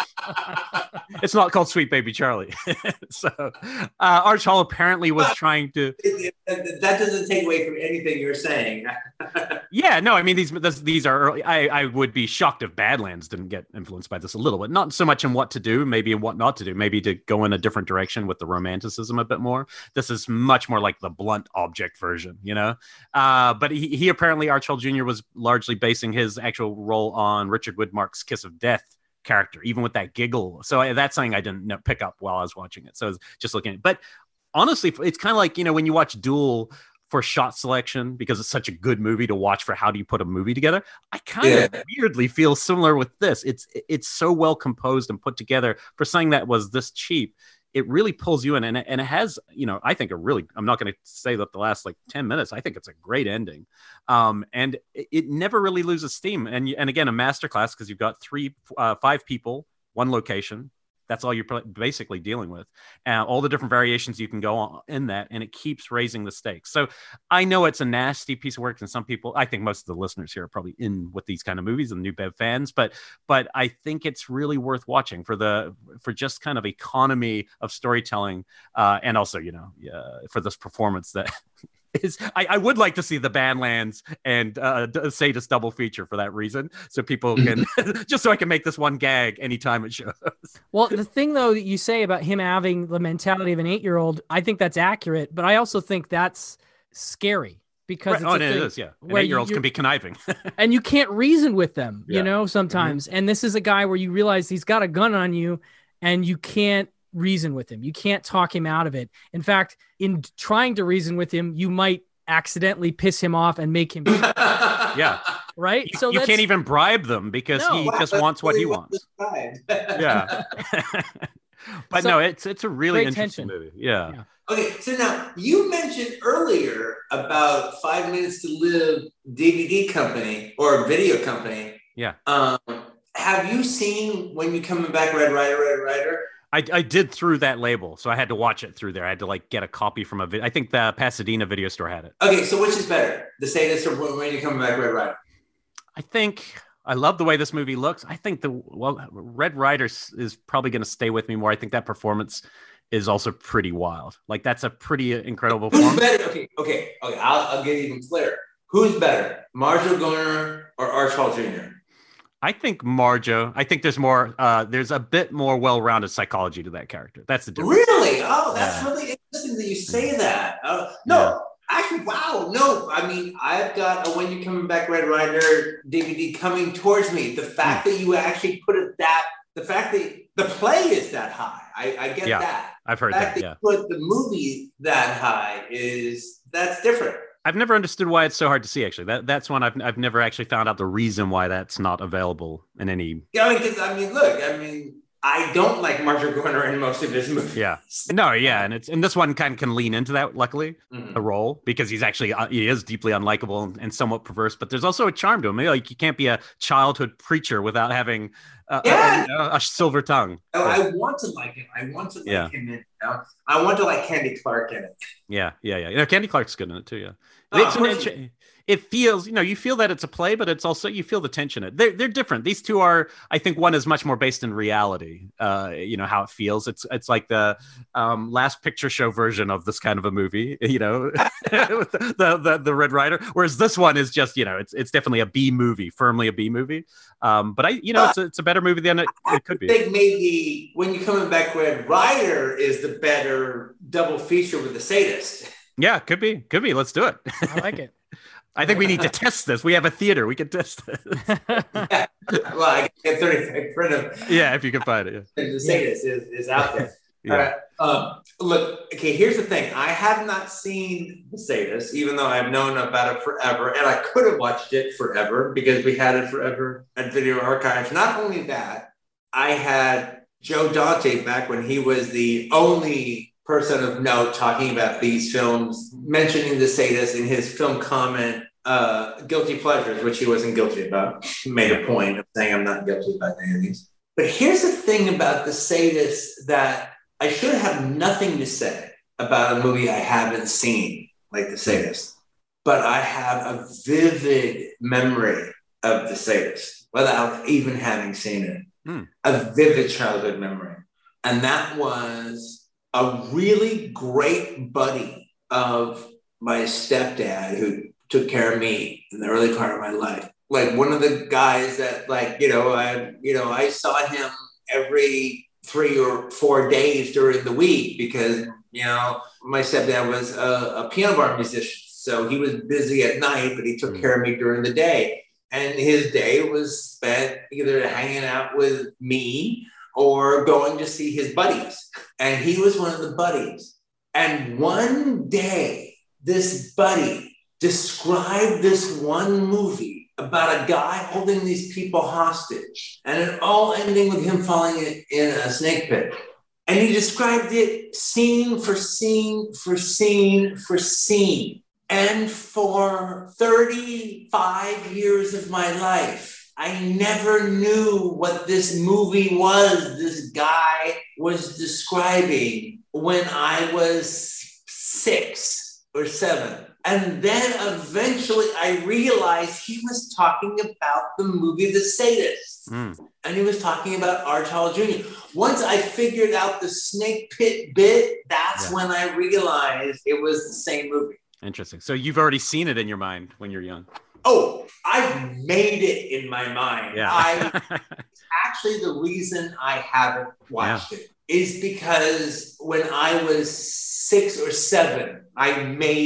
It's not called Sweet Baby Charlie. So Arch Hall apparently was trying to. That doesn't take away from anything you're saying. Yeah, no, I mean these are early. I would be shocked if Badlands didn't get influenced by this a little bit. Not so much in what to do, maybe in what not to do, maybe to go in a different direction with the romanticism a bit more. This is much more like the blunt object version, But he apparently, Arch Hall Jr. was largely basing his actual role on Richard Widmark's Kiss of Death character, even with that giggle. So that's something I didn't pick up while I was watching it. So I was just looking at it. But honestly, it's kind of like, when you watch Duel for shot selection, because it's such a good movie to watch for how do you put a movie together. I kind of weirdly feel similar with this. It's so well composed and put together for something that was this cheap. It really pulls you in, and it has, I think I'm not going to say that the last 10 minutes, I think it's a great ending. And it never really loses steam. And again, a masterclass, because you've got 5 people, one location. That's all you're basically dealing with. All the different variations you can go on in that, and it keeps raising the stakes. So I know it's a nasty piece of work, and some people, I think most of the listeners here are probably in with these kind of movies and New Bev fans, but I think it's really worth watching for just kind of economy of storytelling, and also, for this performance that I would like to see the Badlands and Sadist double feature for that reason, so people can just so I can make this one gag anytime it shows. Well, the thing though that you say about him having the mentality of an 8-year-old, I think that's accurate, but I also think that's scary. because Right. it's Oh, a and it thing is, yeah. And where 8-year-olds can be conniving. and you can't reason with them, Yeah. Hmm. sometimes. And this is a guy where you realize he's got a gun on you and you can't reason with him. You can't talk him out of it. In fact, in trying to reason with him, you might accidentally piss him off and make him shoot, Yeah. right? So You can't that's even bribe them because no. he Wow, just that's wants what he really well wants. described. Yeah. But So no, it's a really great interesting tension. movie. Yeah. Yeah. Okay, so now you mentioned earlier about 5 Minutes to Live DVD company or video company. Yeah. Have you seen When You Coming Back, Red Rider, Red Rider? I did through that label, so I had to watch it through there. I had to like get a copy from I think the Pasadena video store had it. Okay, so which is better, The Sadist or When You Coming Back, Red Rider? I think I love the way this movie looks. I think Red Rider is probably going to stay with me more. I think that performance is also pretty wild. Like that's a pretty incredible Who's performance. better? Okay. I'll get even clearer. Who's better, Marshall Garner or Arch Hall Jr.? I think Marjo. I think there's more. There's a bit more well-rounded psychology to that character. That's the difference. Really? Oh, that's Yeah. really interesting that you say that. No, Yeah. actually, wow. No, I mean, I've got a When You Coming Back, Red Rider DVD coming towards me. The fact that you actually put it the fact that the play is that high, I get Yeah, that. I've heard The fact that. that Yeah. you put the movie that high that's different. I've never understood why it's so hard to see. Actually, that's one I've never actually found out the reason why that's not available in any. Yeah, look, I don't like Marshall Garner in most of his movies. Yeah, no, yeah, and this one kind of can lean into that. Luckily, the role because he is deeply unlikable and somewhat perverse. But there's also a charm to him. Like you can't be a childhood preacher without having a silver tongue. Oh, I want to like him. I want to like him in. I want to like Candy Clark in it. Yeah. Candy Clark's good in it too. Yeah. It feels, you feel that it's a play, but it's also, you feel the tension in it. They're different. These two are, I think one is much more based in reality. How it feels. It's like the last picture show version of this kind of a movie, with the Red Rider. Whereas this one is just, it's definitely a B movie, firmly a B movie. But it's a better movie than it could be. I think maybe When You're Coming Back, Red Rider is the better double feature with The Sadist. Yeah, could be. Let's do it. I like it. I think we need to test this. We have a theater. We can test this. Yeah. Well, I get 35 print of. Yeah, if you can find it. Yeah. The Sadist is out there. Yeah. Look, okay, here's the thing. I have not seen The Sadist, even though I've known about it forever, and I could have watched it forever because we had it forever at Video Archives. Not only that, I had Joe Dante back when he was the only person of note talking about these films, mentioning The Sadist in his film comment, Guilty Pleasures, which he wasn't guilty about. He made a point of saying I'm not guilty about any of these. But here's the thing about The Sadist that I should have nothing to say about a movie I haven't seen, like The Sadist. But I have a vivid memory of The Sadist without even having seen it. A vivid childhood memory. And that was a really great buddy of my stepdad who took care of me in the early part of my life. Like one of the guys that I saw him every 3 or 4 days during the week because, my stepdad was a piano bar musician. So he was busy at night, but he took care of me during the day. And his day was spent either hanging out with me or going to see his buddies. And he was one of the buddies. And one day, this buddy described this one movie about a guy holding these people hostage. And it all ending with him falling in a snake pit. And he described it scene for scene for scene for scene. And for 35 years of my life, I never knew what this movie was this guy was describing when I was 6 or 7. And then eventually I realized he was talking about the movie The Sadist. And he was talking about Arch Hall Jr. Once I figured out the snake pit bit, that's when I realized it was the same movie. Interesting. So you've already seen it in your mind when you're young. Oh, I made it in my mind. Yeah. Actually, the reason I haven't watched it is because when I was 6 or 7, I made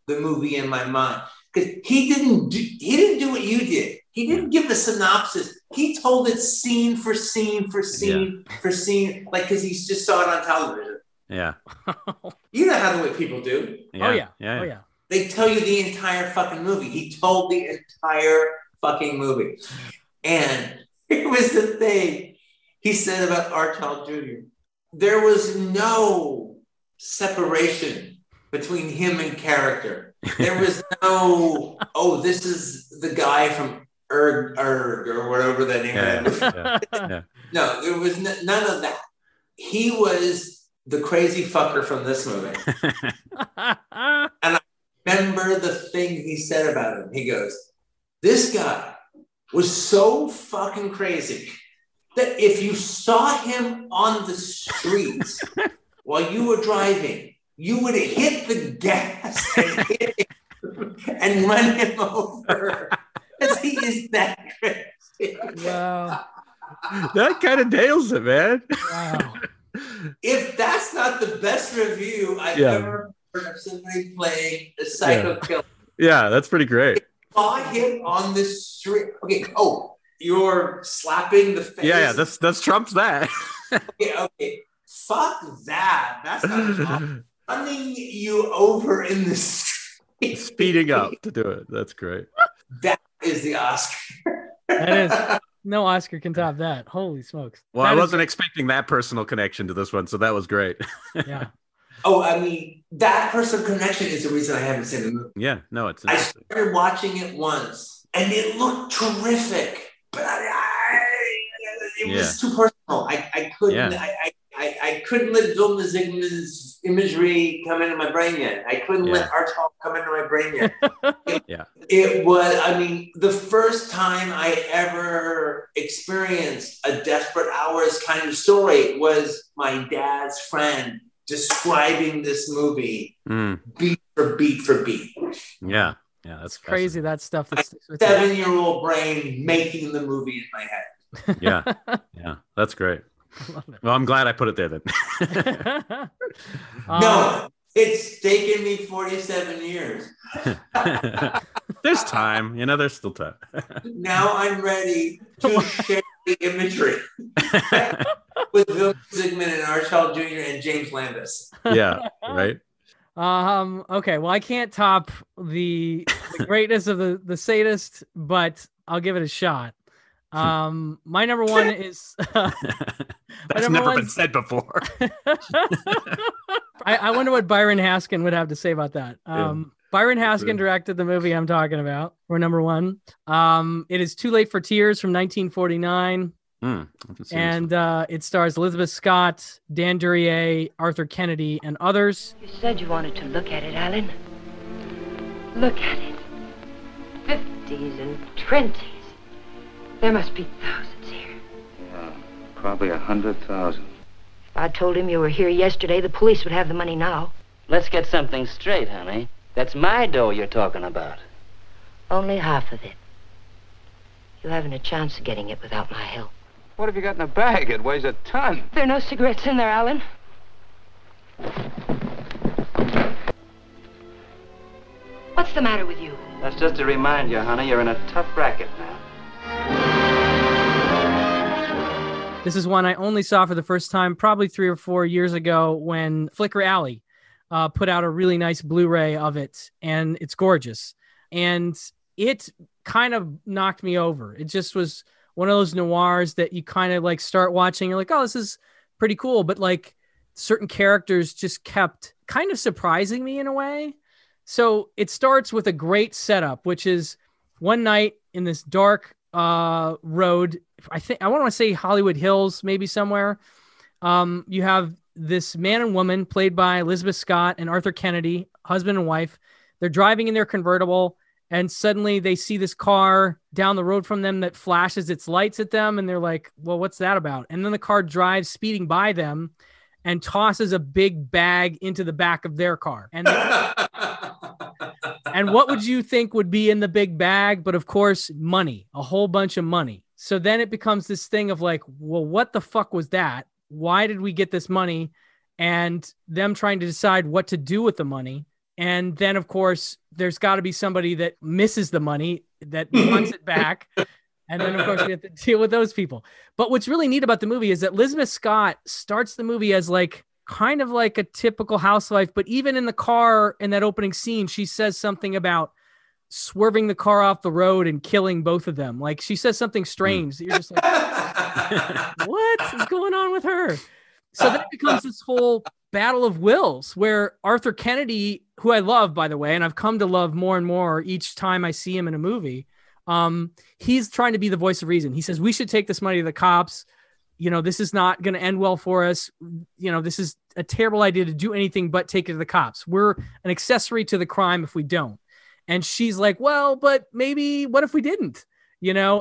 the movie in my mind because he didn't do what you did. He didn't give a synopsis. He told it scene for scene for scene for scene, like because he just saw it on television. Yeah. You know how the way people do. Yeah. Oh yeah. Yeah. Oh yeah. They tell you the entire fucking movie. He told the entire fucking movie. And it was the thing he said about R. Child Jr. There was no separation between him and character. There was no, oh, this is the guy from Erg or whatever the name of that movie. No, there was none of that. He was the crazy fucker from this movie. And I remember the thing he said about him. He goes, this guy was so fucking crazy that if you saw him on the streets while you were driving, you would hit the gas and run him over because he is that crazy. Wow. That kind of nails it, man. Wow. If that's not the best review I've ever heard of somebody playing a psycho killer. Yeah, that's pretty great. Saw him on the street. Okay. Oh, you're slapping the face. Yeah. That's trumps that. Okay. Fuck that. That's not running you over in the street. Speeding up to do it. That's great. That is the Oscar. That is. No Oscar can top that. Holy smokes. Well, I wasn't expecting that personal connection to this one, so that was great. Yeah. Oh, I mean, that personal connection is the reason I haven't seen the movie. Yeah, no, it's I started watching it once, and it looked terrific, but it was too personal. I couldn't. Yeah. I couldn't let Vilma Zsigmond's imagery come into my brain yet. I couldn't let Archibald come into my brain yet. It was, I mean, the first time I ever experienced a Desperate Hours kind of story was my dad's friend describing this movie beat for beat for beat. Yeah, that's crazy. That stuff. That's 7-year-old brain making the movie in my head. Yeah, that's great. Well, I'm glad I put it there then. No, it's taken me 47 years. There's time, there's still time. Now I'm ready to share the imagery with Vilma Zsigmond and Archibald Jr. and James Landis. Yeah, right. Okay, well, I can't top the greatness of the sadist, but I'll give it a shot. My number one is that's never been said before. I wonder what Byron Haskin would have to say about that. Byron Haskin directed the movie I'm talking about. We're number one. It is Too Late for Tears from 1949. And it stars Elizabeth Scott, Dan Duryea, Arthur Kennedy, and others. You said you wanted to look at it, Alan. Look at it. 50s and 20s. There must be thousands here. Yeah, probably 100,000. If I told him you were here yesterday, the police would have the money now. Let's get something straight, honey. That's my dough you're talking about. Only half of it. You haven't a chance of getting it without my help. What have you got in the bag? It weighs a ton. There are no cigarettes in there, Alan. What's the matter with you? That's just to remind you, honey, you're in a tough racket now. This is one I only saw for the first time probably 3 or 4 years ago when Flicker Alley put out a really nice Blu-ray of it, and it's gorgeous. And it kind of knocked me over. It just was one of those noirs that you kind of like start watching. You're like, oh, this is pretty cool. But like certain characters just kept kind of surprising me in a way. So it starts with a great setup, which is one night in this dark road. I want to say Hollywood Hills, maybe somewhere. You have this man and woman played by Elizabeth Scott and Arthur Kennedy, husband and wife. They're driving in their convertible, and suddenly they see this car down the road from them that flashes its lights at them. And they're like, well, what's that about? And then the car drives speeding by them and tosses a big bag into the back of their car. And and what would you think would be in the big bag? But of course, money, a whole bunch of money. So then it becomes this thing of like, well, what the fuck was that? Why did we get this money? And them trying to decide what to do with the money. And then, of course, there's got to be somebody that misses the money, that wants it back. And then, of course, we have to deal with those people. But what's really neat about the movie is that Elizabeth Scott starts the movie as like kind of like a typical housewife. But even in the car in that opening scene, she says something about swerving the car off the road and killing both of them. Like she says something strange that you're just like, what is going on with her? So then it becomes this whole battle of wills where Arthur Kennedy, who I love, by the way, and I've come to love more and more each time I see him in a movie. He's trying to be the voice of reason. He says, we should take this money to the cops. You know, this is not going to end well for us. You know, this is a terrible idea to do anything but take it to the cops. We're an accessory to the crime if we don't. And she's like, well, but maybe what if we didn't, you know?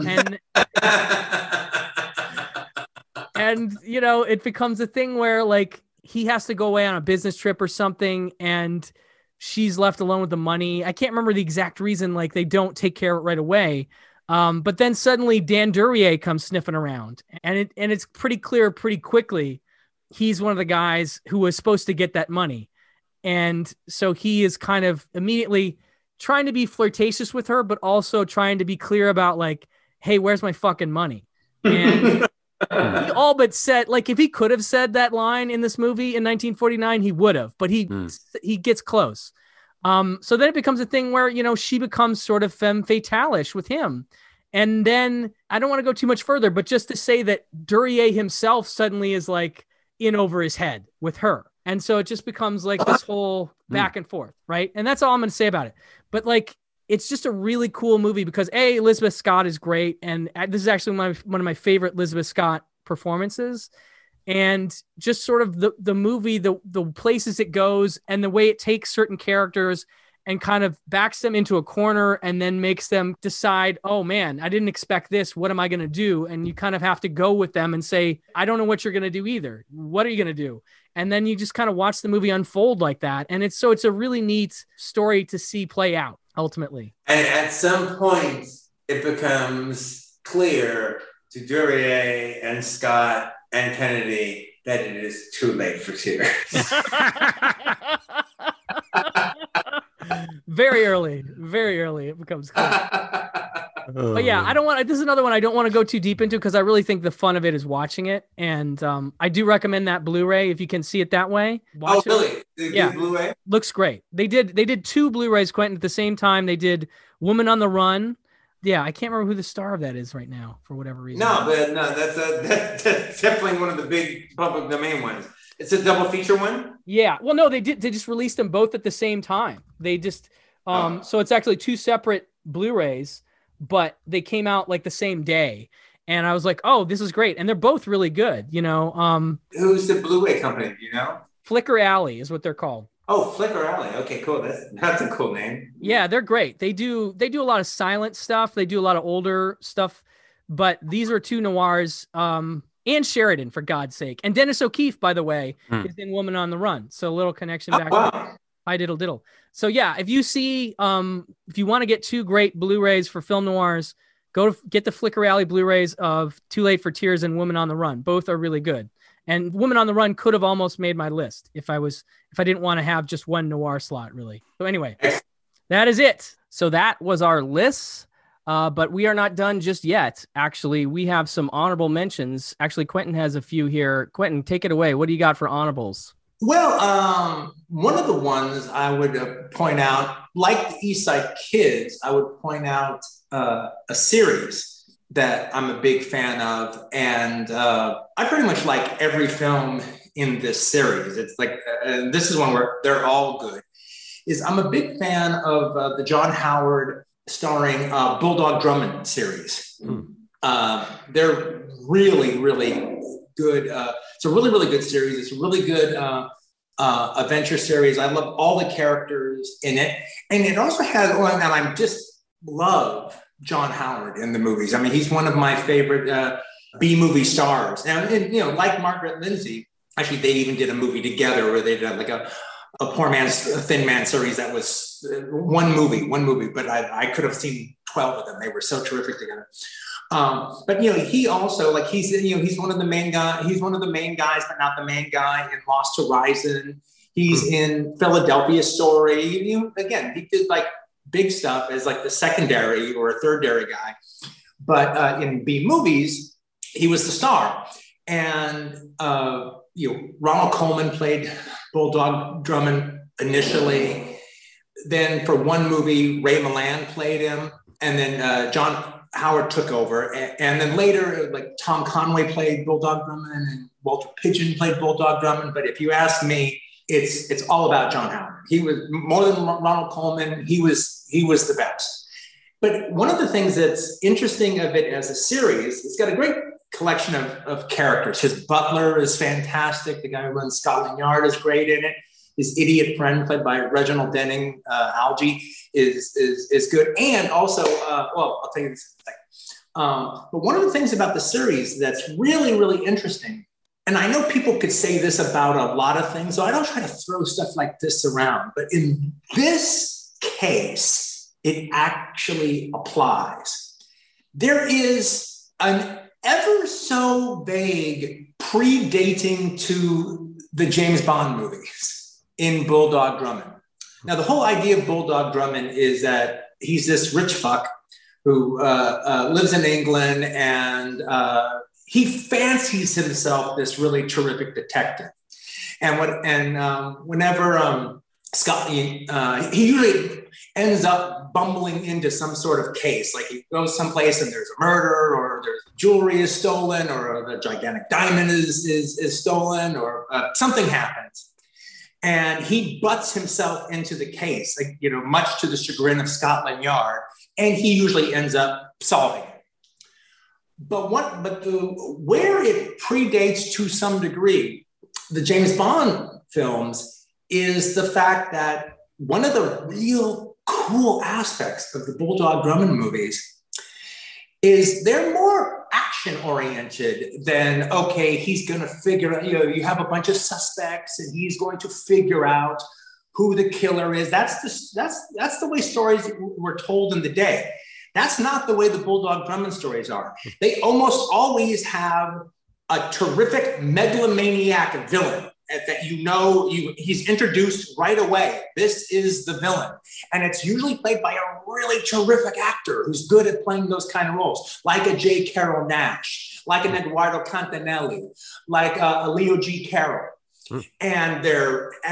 And, you know, it becomes a thing where like he has to go away on a business trip or something and she's left alone with the money. I can't remember the exact reason, like they don't take care of it right away. But then suddenly Dan Duryea comes sniffing around and it's pretty clear pretty quickly. He's one of the guys who was supposed to get that money. And so he is kind of immediately trying to be flirtatious with her, but also trying to be clear about like, hey, where's my fucking money? And he all but said, like, if he could have said that line in this movie in 1949, he would have, but he gets close. So then it becomes a thing where, you know, she becomes sort of femme fatale-ish with him. And then I don't want to go too much further, but just to say that Duryea himself suddenly is like in over his head with her. And so it just becomes like this whole back and forth. Right. And that's all I'm going to say about it. But like, it's just a really cool movie because Elizabeth Scott is great. And this is actually one of my favorite Elizabeth Scott performances. And just sort of the movie, the places it goes and the way it takes certain characters and kind of backs them into a corner and then makes them decide, oh man, I didn't expect this. What am I going to do? And you kind of have to go with them and say, I don't know what you're going to do either. What are you going to do? And then you just kind of watch the movie unfold like that. And it's a really neat story to see play out ultimately. And at some point it becomes clear to Duryea and Scott and Kennedy that it is too late for tears. Very early it becomes clear. But yeah, this is another one I don't want to go too deep into because I really think the fun of it is watching it. And I do recommend that Blu-ray if you can see it that way. Watch really? Yeah. Blu-ray? Looks great. They did two Blu-rays, Quentin, at the same time. They did Woman on the Run. Yeah, I can't remember who the star of that is right now for whatever reason. That's definitely one of the big public domain ones. It's a double feature one? Yeah. Well, no, they just released them both at the same time. They just so it's actually two separate Blu-rays, but they came out like the same day. And I was like, oh, this is great. And they're both really good, you know. Who's the Blu-ray company, do you know? Flicker Alley is what they're called. Oh, Flicker Alley. Okay, cool. That's a cool name. Yeah, they're great. They do a lot of silent stuff. They do a lot of older stuff, but these are two noirs. And Sheridan, for God's sake. And Dennis O'Keefe, by the way, is in Woman on the Run. So a little connection back. Wow. Hi diddle diddle. So yeah, if you see, if you want to get two great Blu-rays for film noirs, get the Flicker Alley Blu-rays of Too Late for Tears and Woman on the Run. Both are really good. And Woman on the Run could have almost made my list if I didn't want to have just one noir slot, really. So anyway, that is it. So that was our list. But we are not done just yet. Actually, we have some honorable mentions. Actually, Quentin has a few here. Quentin, take it away. What do you got for honorables? Well, one of the ones I would point out, like the East Side Kids, I would point out a series that I'm a big fan of. And I pretty much like every film in this series. It's like, this is one where they're all good. I'm a big fan of the John Howard starring Bulldog Drummond series. They're really, really good. It's a really, really good series. It's a really good adventure series. I love all the characters in it. And it also has, and I just love John Howard in the movies. I mean, he's one of my favorite B-movie stars. And, you know, like Margaret Lindsay, actually, they even did a movie together where they did like a Poor Man's Thin Man series that was one movie, but I could have seen 12 of them. They were so terrific together. But you know, he also like he's one of the main guys, but not the main guy in Lost Horizon. He's in Philadelphia Story. Again, he did like big stuff as like the secondary or a third-dairy guy. But in B movies, he was the star. And Ronald Colman played Bulldog Drummond initially. Then for one movie, Ray Milland played him. And then John Howard took over. And then later, like Tom Conway played Bulldog Drummond and Walter Pidgeon played Bulldog Drummond. But if you ask me, it's all about John Howard. He was more than Ronald Colman. He was the best. But one of the things that's interesting of it as a series, it's got a great collection of characters. His butler is fantastic. The guy who runs Scotland Yard is great in it. His idiot friend, played by Reginald Denning, Algie, is good. And also, I'll tell you this in a second. But one of the things about the series that's really, really interesting, and I know people could say this about a lot of things, so I don't try to throw stuff like this around. But in this case, it actually applies. There is an ever so vague predating to the James Bond movies in Bulldog Drummond. Now, the whole idea of Bulldog Drummond is that he's this rich fuck who lives in England, and he fancies himself this really terrific detective. And whenever Scott, he usually ends up bumbling into some sort of case. Like he goes someplace and there's a murder, or there's jewelry is stolen, or a gigantic diamond is stolen, or something happens. And he butts himself into the case, like, much to the chagrin of Scotland Yard, and he usually ends up solving it. But where it predates to some degree the James Bond films is the fact that one of the real cool aspects of the Bulldog Drummond movies is they're more action oriented than, okay, he's going to figure out, you have a bunch of suspects and he's going to figure out who the killer is. That's the way stories were told in the day. That's not the way the Bulldog Drummond stories are. They almost always have a terrific megalomaniac villain that he's introduced right away. This is the villain. And it's usually played by a really terrific actor who's good at playing those kind of roles, like a J. Carrol Naish, like an Eduardo Cantanelli, like a Leo G. Carroll. And they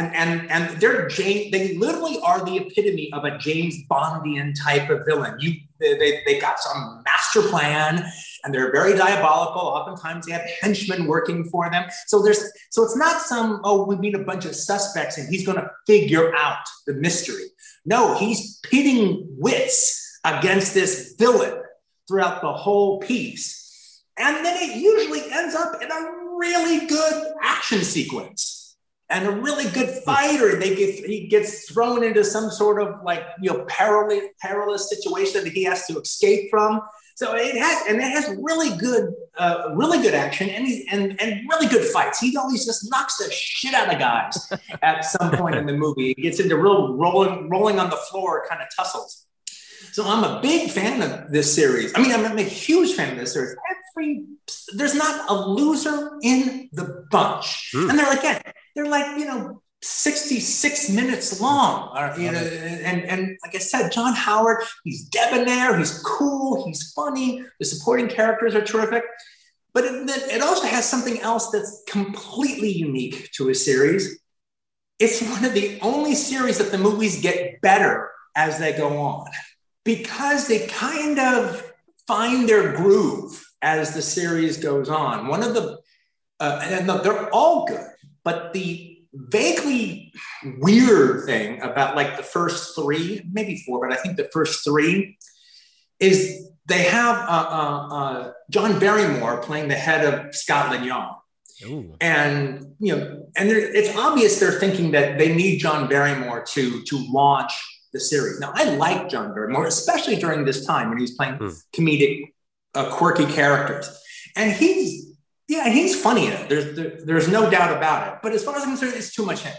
literally are the epitome of a James Bondian type of villain. They got some master plan, and they're very diabolical. Oftentimes they have henchmen working for them. So it's not we meet a bunch of suspects and he's going to figure out the mystery. No, he's pitting wits against this villain throughout the whole piece. And then it usually ends up in a really good action sequence and a really good fighter. He gets thrown into some sort of perilous situation that he has to escape from. So it has really good action and really good fights. He always just knocks the shit out of guys at some point in the movie. He gets into real rolling on the floor kind of tussles. So I'm a big fan of this series. I mean, I'm a huge fan of this series. There's not a loser in the bunch. And they're like 66 minutes long. And like I said, John Howard, he's debonair, he's cool, he's funny. The supporting characters are terrific. But it also has something else that's completely unique to a series. It's one of the only series that the movies get better as they go on, because they kind of find their groove as the series goes on. One of the, and they're all good, but the vaguely weird thing about like the first three, maybe four, but I think the first three, is they have John Barrymore playing the head of Scotland Yard. Ooh. And it's obvious they're thinking that they need John Barrymore to launch the series. Now, I like John Barrymore, especially during this time when he's playing comedic, quirky characters, and he's funny in it. There's no doubt about it. But as far as I'm concerned, it's too much him.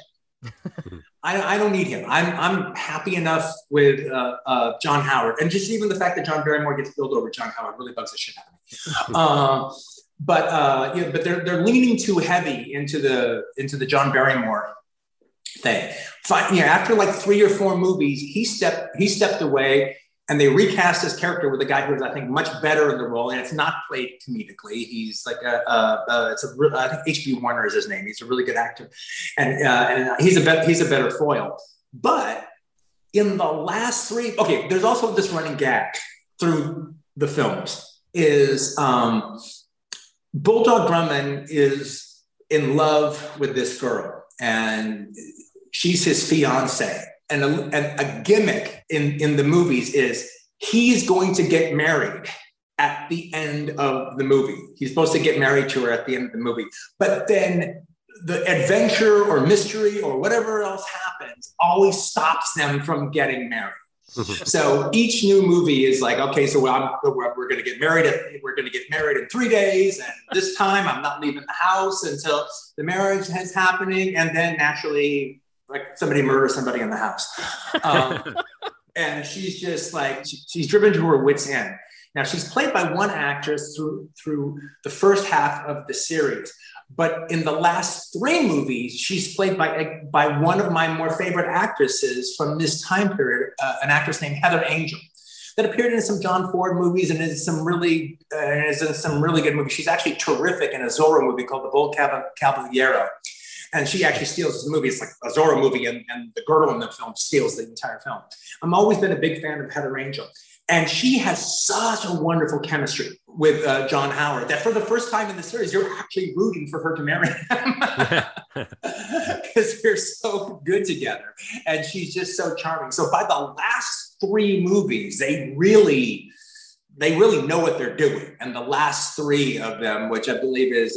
I don't need him. I'm happy enough with John Howard, and just even the fact that John Barrymore gets billed over John Howard really bugs the shit out of me. But they're leaning too heavy into the John Barrymore thing. After like 3 or 4 movies, he stepped away, and they recast his character with a guy who was, I think, much better in the role, and it's not played comedically. He's like I think H.B. Warner is his name. He's a really good actor, and he's a better foil. But in the last three, okay, there's also this running gag through the films is Bulldog Drummond is in love with this girl, and she's his fiance. And a gimmick in the movies is he's going to get married at the end of the movie. He's supposed to get married to her at the end of the movie. But then the adventure or mystery or whatever else happens always stops them from getting married. So each new movie is like, okay, so we're going to get married. We're going to get married in 3 days. And this time I'm not leaving the house until the marriage is happening. And then naturally, like somebody murders somebody in the house. And she's just like, she's driven to her wit's end. Now she's played by one actress through the first half of the series. But in the last 3 movies, she's played by one of my more favorite actresses from this time period, an actress named Heather Angel, that appeared in some John Ford movies and is in some really good movies. She's actually terrific in a Zorro movie called The Bold Caballero. And she actually steals this movie. It's like a Zorro movie, and the girl in the film steals the entire film. I've always been a big fan of Heather Angel. And she has such a wonderful chemistry with John Howard that for the first time in the series, you're actually rooting for her to marry him because they're so good together. And she's just so charming. So by the last 3 movies, they really know what they're doing. And the last 3 of them, which I believe is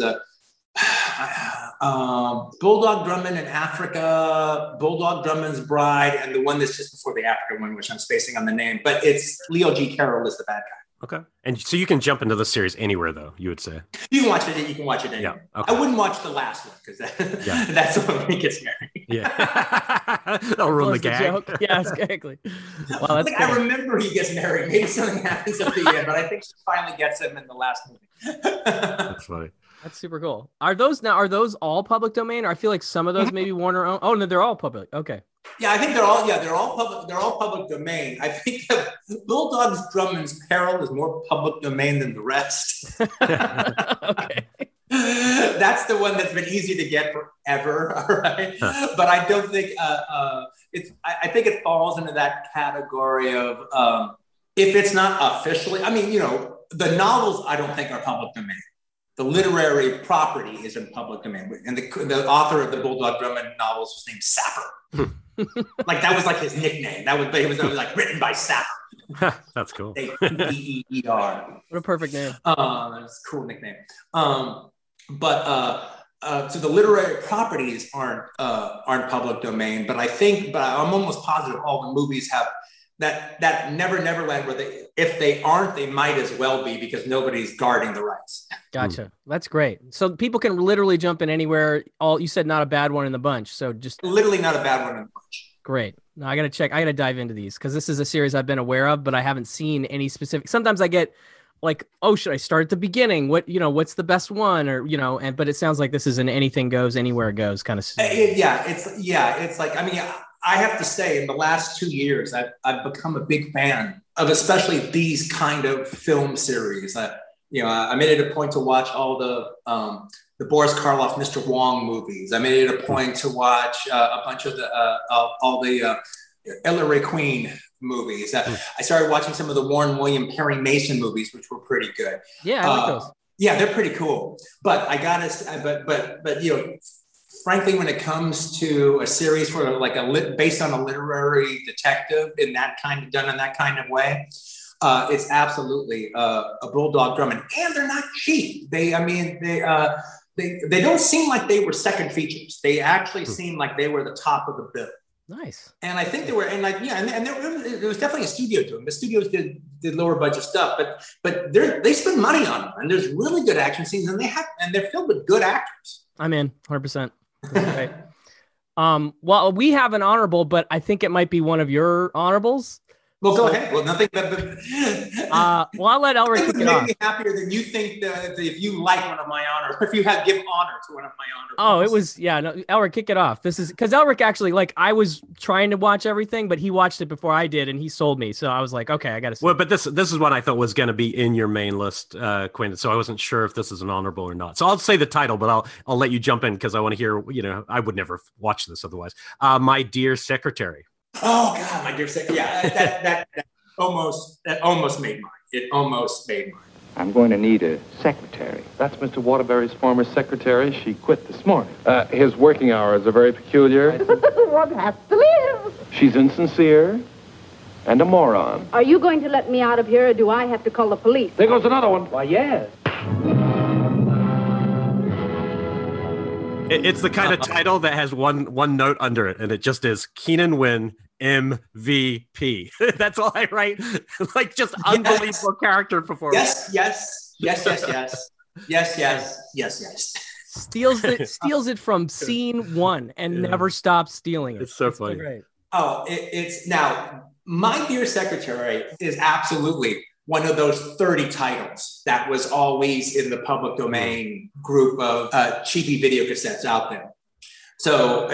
Bulldog Drummond in Africa, Bulldog Drummond's Bride, and the one that's just before the Africa one, which I'm spacing on the name, but it's Leo G. Carroll is the bad guy. Okay. And so you can jump into the series anywhere, though, you would say? You can watch it anywhere. Yeah, okay. I wouldn't watch the last one because that's the one when he gets married. Yeah. That'll ruin the gag. Joke. Yeah, exactly. Well, that's I remember he gets married. Maybe something happens at the end, but I think she finally gets him in the last movie. That's funny. That's super cool. Are those all public domain? Or I feel like some of those maybe Warner own. Oh, no, they're all public. Okay. Yeah, I think they're all public. They're all public domain. I think that Bulldog Drummond's Peril is more public domain than the rest. Okay. That's the one that's been easy to get forever. All right. But I don't think I think it falls into that category of if it's not officially, I mean, the novels I don't think are public domain. The literary property is in public domain. And the author of the Bulldog Drummond novels was named Sapper. Like that was like his nickname. It was like written by Sapper. That's cool. Sapper. What a perfect name. It's a cool nickname. So the literary properties aren't public domain, but I'm almost positive all the movies have that Neverland where if they aren't, they might as well be because nobody's guarding the rights. Gotcha. That's great. So people can literally jump in anywhere. You said not a bad one in the bunch. So just literally not a bad one in the bunch. Great. Now I got to dive into these because this is a series I've been aware of, but I haven't seen any specific. Sometimes I get like, oh, should I start at the beginning? What's the best one? Or, but it sounds like this is an anything goes, anywhere goes kind of. It's like, I mean, I have to say in the last 2 years, I've become a big fan of especially these kind of film series. I made it a point to watch all the Boris Karloff, Mr. Wong movies. I made it a point to watch a bunch of all the Ella Ray Queen movies. I started watching some of the Warren William Perry Mason movies, which were pretty good. Yeah, I like those. Yeah, they're pretty cool. But I gotta, but frankly, when it comes to a series for based on a literary detective done in that kind of way, it's absolutely a Bulldog Drummond, and they're not cheap. They don't seem like they were second features. They actually seem like they were the top of the bill. Nice. And I think they were, and there was definitely a studio to them. The studios did lower budget stuff, but they spend money on them, and there's really good action scenes, and they're filled with good actors. I'm in 100%. Right. Well, we have an honorable, but I think it might be one of your honorables. Well, go ahead. Well, nothing but well, I'll let Elric kick it off. Make me happier than you think that if you like one of my honors, if you have give honor to one of my honors. Oh, it was, yeah. No, Elric, kick it off. This is because Elric actually, like, I was trying to watch everything, but he watched it before I did, and he sold me. So I was like, okay, I got to see. Well, but this is what I thought was going to be in your main list, Quinn. So I wasn't sure if this is an honorable or not. So I'll say the title, but I'll let you jump in because I want to hear. I would never watch this otherwise. My Dear Secretary. Oh God, My Dear Secretary. Yeah, that almost made mine. It almost made mine. I'm going to need a secretary. That's Mr. Waterbury's former secretary. She quit this morning. His working hours are very peculiar. One has to live. She's insincere and a moron. Are you going to let me out of here, or do I have to call the police? There goes another one. Why, yes. It's the kind of title that has one note under it, and it just is Keenan Wynn MVP. That's all I write. Like just unbelievable character performance. Yes. Steals it from scene one and never stops stealing it. It's so funny. Great. Oh, it's now My Dear Secretary is absolutely one of those 30 titles that was always in the public domain group of cheapy video cassettes out there. So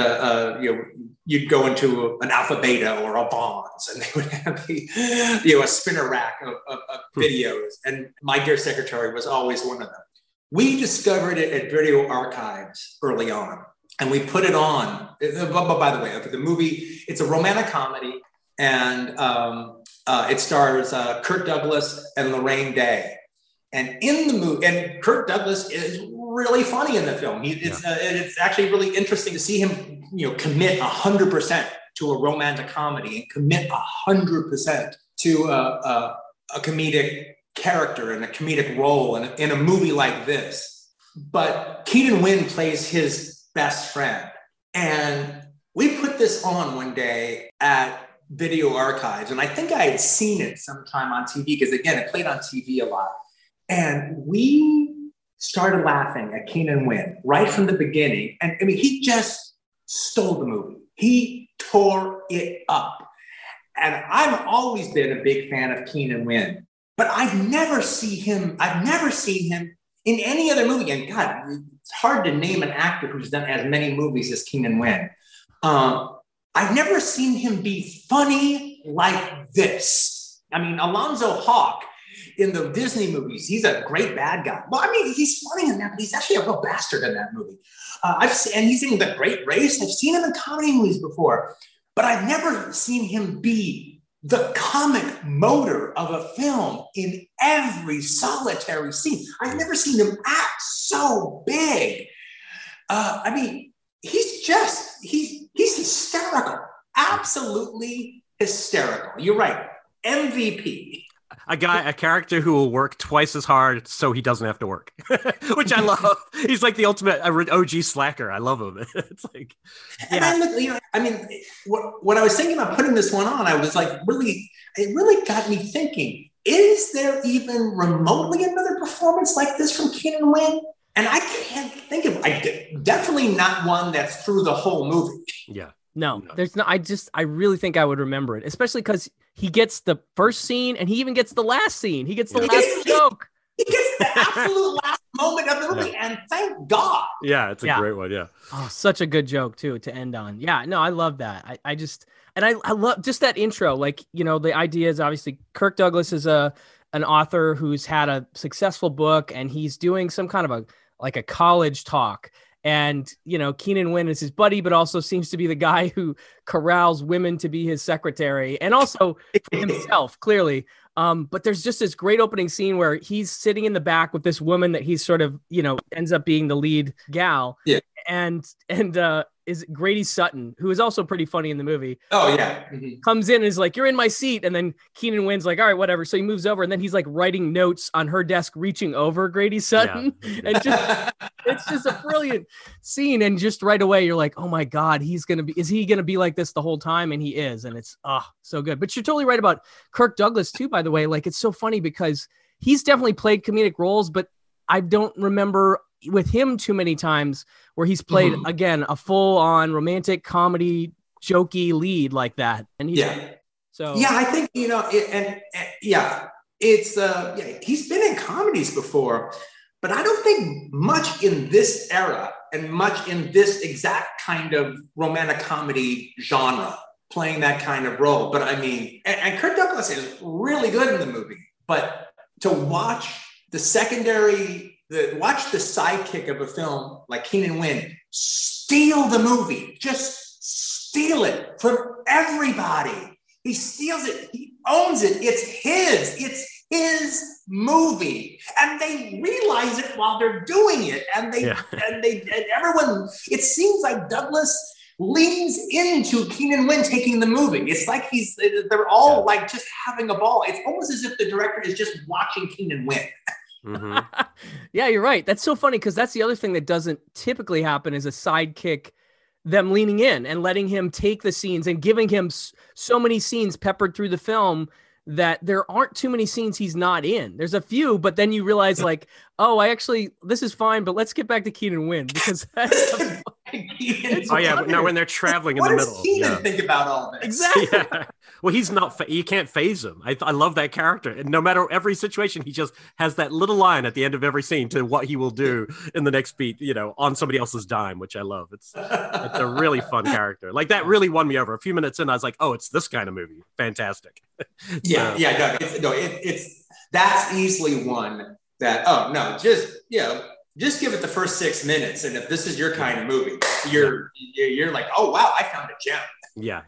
you'd go into an Alpha Beta or a Bonds, and they would have a spinner rack of videos. And My Dear Secretary was always one of them. We discovered it at Video Archives early on, and we put it on. By the way, the movie, it's a romantic comedy, and it stars Kirk Douglas and Lorraine Day. And in the movie, and Kirk Douglas is really funny in the film. It's actually really interesting to see him, commit 100% to a romantic comedy and commit 100% to a comedic character and a comedic role in a movie like this. But Keenan Wynn plays his best friend. And we put this on one day at Video Archives, and I think I had seen it sometime on TV because, again, it played on TV a lot. And we started laughing at Keenan Wynn right from the beginning. And I mean, he just stole the movie. He tore it up. And I've always been a big fan of Keenan Wynn, but I've never seen him in any other movie. And God, it's hard to name an actor who's done as many movies as Keenan Wynn. I've never seen him be funny like this. I mean, Alonzo Hawk in the Disney movies, he's a great bad guy. Well, I mean, he's funny in that, but he's actually a real bastard in that movie. And he's in The Great Race. I've seen him in comedy movies before, but I've never seen him be the comic motor of a film in every solitary scene. I've never seen him act so big. I mean, he's hysterical, absolutely hysterical. You're right, MVP. A character who will work twice as hard so he doesn't have to work, which I love. He's like the ultimate OG slacker. I love him. It's like, yeah. And when I was thinking about putting this one on, I was like, it really got me thinking, is there even remotely another performance like this from Keenan Wynn? And I can't think of, definitely not one that's through the whole movie. Yeah. No, there's no, I really think I would remember it, especially because he gets the first scene and he even gets the last scene. He gets the last joke. He gets the absolute last moment of the movie, and thank God. Yeah, it's a great one, yeah. Oh, such a good joke, too, to end on. Yeah, no, I love that. I love just that intro. Like, the idea is obviously Kirk Douglas is an author who's had a successful book, and he's doing some kind of a college talk. And, Keenan Wynn is his buddy, but also seems to be the guy who corrals women to be his secretary and also for himself, clearly. But there's just this great opening scene where he's sitting in the back with this woman that he's sort of, ends up being the lead gal. Yeah. And is Grady Sutton, who is also pretty funny in the movie. Oh, yeah. Mm-hmm. Comes in and is like, you're in my seat. And then Keenan Wynn's like, all right, whatever. So he moves over and then he's like writing notes on her desk, reaching over Grady Sutton. Yeah. And it's just a brilliant scene. And just right away, you're like, oh my God, is he going to be like this the whole time? And he is. And it's so good. But you're totally right about Kirk Douglas too, by the way. Like, it's so funny because he's definitely played comedic roles, but I don't remember with him too many times where he's played again a full-on romantic comedy jokey lead like that, and he's So Yeah, I think, yeah, it's yeah, he's been in comedies before, but I don't think much in this era and much in this exact kind of romantic comedy genre, playing that kind of role. But I mean, and Kirk Douglas is really good in the movie, but to watch the watch the sidekick of a film like Keenan Wynn steal the movie, just steal it from everybody. He steals it. He owns it. It's his. It's his movie, and they realize it while they're doing it. And everyone. It seems like Douglas leans into Keenan Wynn taking the movie. It's like they're all like just having a ball. It's almost as if the director is just watching Keenan Wynn. Mm-hmm. Yeah, you're right. That's so funny because that's the other thing that doesn't typically happen is a sidekick, them leaning in and letting him take the scenes and giving him so many scenes peppered through the film that there aren't too many scenes he's not in. There's a few, but then you realize like, oh, this is fine, but let's get back to Keenan Wynn because that's when they're traveling in the middle. What does Keenan think about all this? Exactly. Yeah. Well, he's not. You can't phase him. I love that character, and no matter every situation, he just has that little line at the end of every scene to what he will do in the next beat. On somebody else's dime, which I love. It's a really fun character. Like that really won me over. A few minutes in, I was like, oh, it's this kind of movie. Fantastic. It's that's easily one that just give it the first 6 minutes, and if this is your kind of movie, you're like, oh wow, I found a gem. Yeah,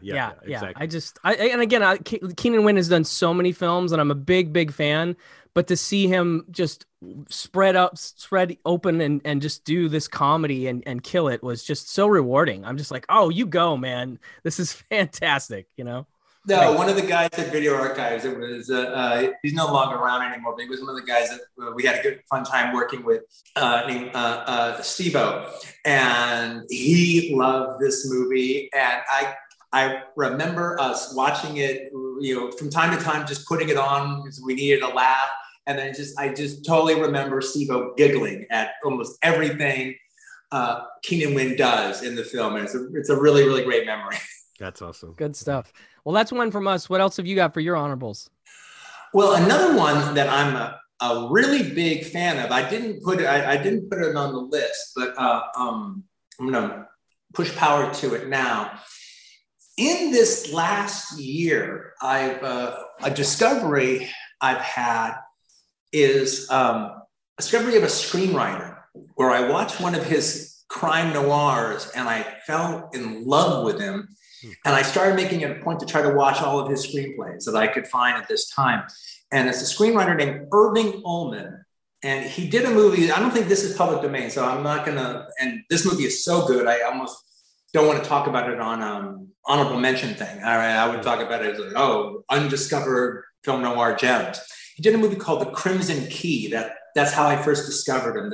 exactly. Keenan Wynn has done so many films, and I'm a big fan. But to see him just spread open and just do this comedy and kill it was just so rewarding. I'm just like, oh, you go, man. This is fantastic. No, one of the guys at Video Archives, it was he's no longer around anymore, but he was one of the guys that we had a good fun time working with, named Steve-O, and he loved this movie, and I remember us watching it, from time to time, just putting it on because we needed a laugh, and then I just totally remember Steve-O giggling at almost everything Keenan Wynn does in the film, and it's a really, really great memory. That's awesome. Good stuff. Well, that's one from us. What else have you got for your honorables? Well, another one that I'm a really big fan of. I didn't put it on the list, but I'm gonna push power to it now. In this last year, a discovery I've had is a discovery of a screenwriter where I watched one of his crime noirs and I fell in love with him. And I started making it a point to try to watch all of his screenplays that I could find at this time. And it's a screenwriter named Irving Ullman. And he did a movie. I don't think this is public domain, so I'm not going to. And this movie is so good, I almost don't want to talk about it on honorable mention thing. All right, I would talk about it as like, undiscovered film noir gems. He did a movie called The Crimson Key. That's how I first discovered him.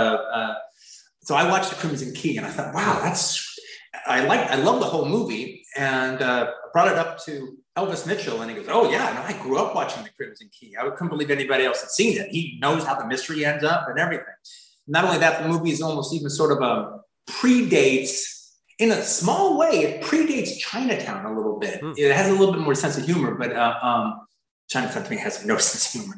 So I watched The Crimson Key, and I thought, wow, I love the whole movie, and brought it up to Elvis Mitchell, and he goes, oh yeah, no, I grew up watching The Crimson Key. I couldn't believe anybody else had seen it. He knows how the mystery ends up and everything. Not only that, the movie is almost even sort of predates, in a small way, it predates Chinatown a little bit. It has a little bit more sense of humor, but Chinatown to me has no sense of humor.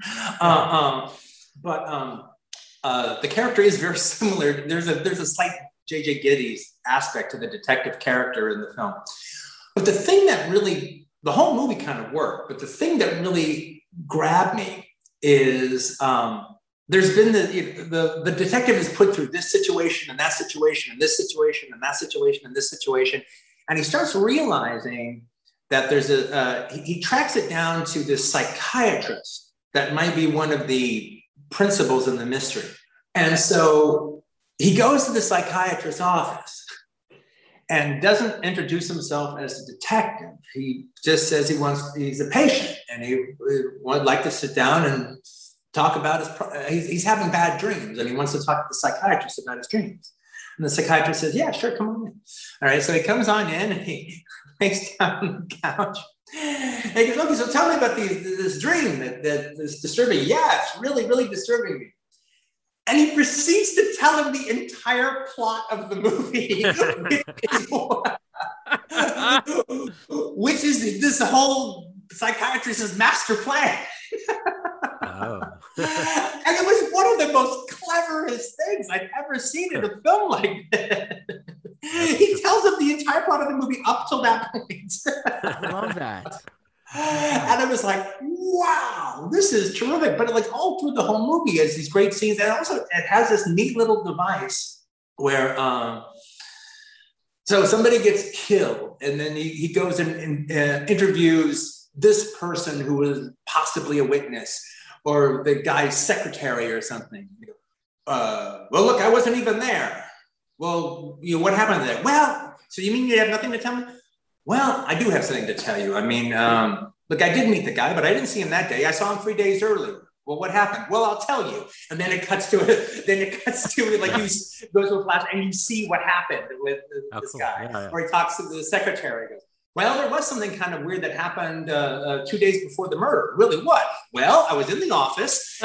The character is very similar. There's a slight J.J. Gittes aspect to the detective character in the film. But the thing that really, the whole movie kind of worked, but the thing that really grabbed me is there's been the detective is put through this situation and that situation and this situation and that situation and this situation. And he starts realizing that he tracks it down to this psychiatrist that might be one of the principals in the mystery. And so he goes to the psychiatrist's office and doesn't introduce himself as a detective. He just says he's a patient and he would like to sit down and talk about he's having bad dreams and he wants to talk to the psychiatrist about his dreams. And the psychiatrist says, yeah, sure, come on in. All right, so he comes on in and he lays down on the couch. And he goes, okay, so tell me about this dream that is disturbing. Yeah, it's really, really disturbing me. And he proceeds to tell him the entire plot of the movie, which is this whole psychiatrist's master plan. Oh. And it was one of the most cleverest things I've ever seen in a film like this. He tells him the entire plot of the movie up till that point. I love that. And I was like, wow, this is terrific. But like all through the whole movie is these great scenes. And also it has this neat little device where so somebody gets killed and then he goes and interviews this person who was possibly a witness or the guy's secretary or something. Well, look, I wasn't even there. Well, what happened there? Well, so you mean you have nothing to tell me? Well, I do have something to tell you. I mean, look, I did meet the guy, but I didn't see him that day. I saw him 3 days earlier. Well, what happened? Well, I'll tell you. And then it cuts to it. Then it cuts to it, like you goes to a flash and you see what happened with this guy. Yeah. Or he talks to the secretary. Goes, well, there was something kind of weird that happened 2 days before the murder. Really, what? Well, I was in the office.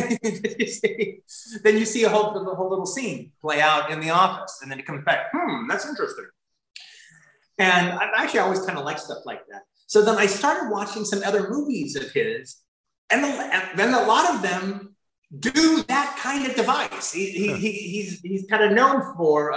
Then you see the whole little scene play out in the office. And then it comes back. That's interesting. And I actually always kind of like stuff like that. So then I started watching some other movies of his, and then a lot of them do that kind of device. He's kind of known for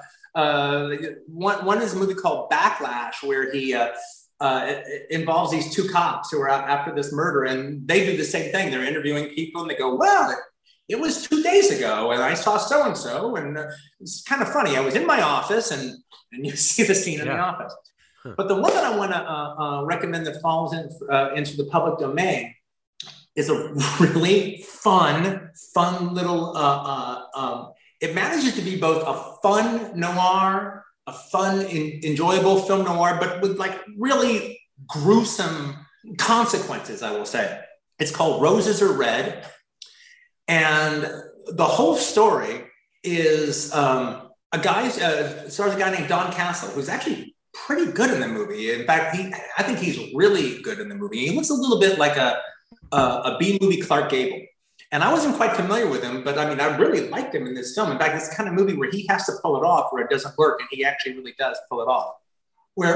one is a movie called Backlash, where he involves these two cops who are out after this murder, and they do the same thing. They're interviewing people, and they go, "Well, it was 2 days ago, and I saw so and so, and it's kind of funny. I was in my office, and you see the scene in the office." But the one that I want to recommend that falls into the public domain is a really fun little. It manages to be both a fun noir, a fun, enjoyable film noir, but with like really gruesome consequences, I will say. It's called Roses Are Red. And the whole story is stars a guy named Don Castle, who's actually pretty good in the movie. In fact, I think he's really good in the movie. He looks a little bit like a B-movie Clark Gable. And I wasn't quite familiar with him, but I mean, I really liked him in this film. In fact, it's the kind of movie where he has to pull it off, where it doesn't work, and he actually really does pull it off. Where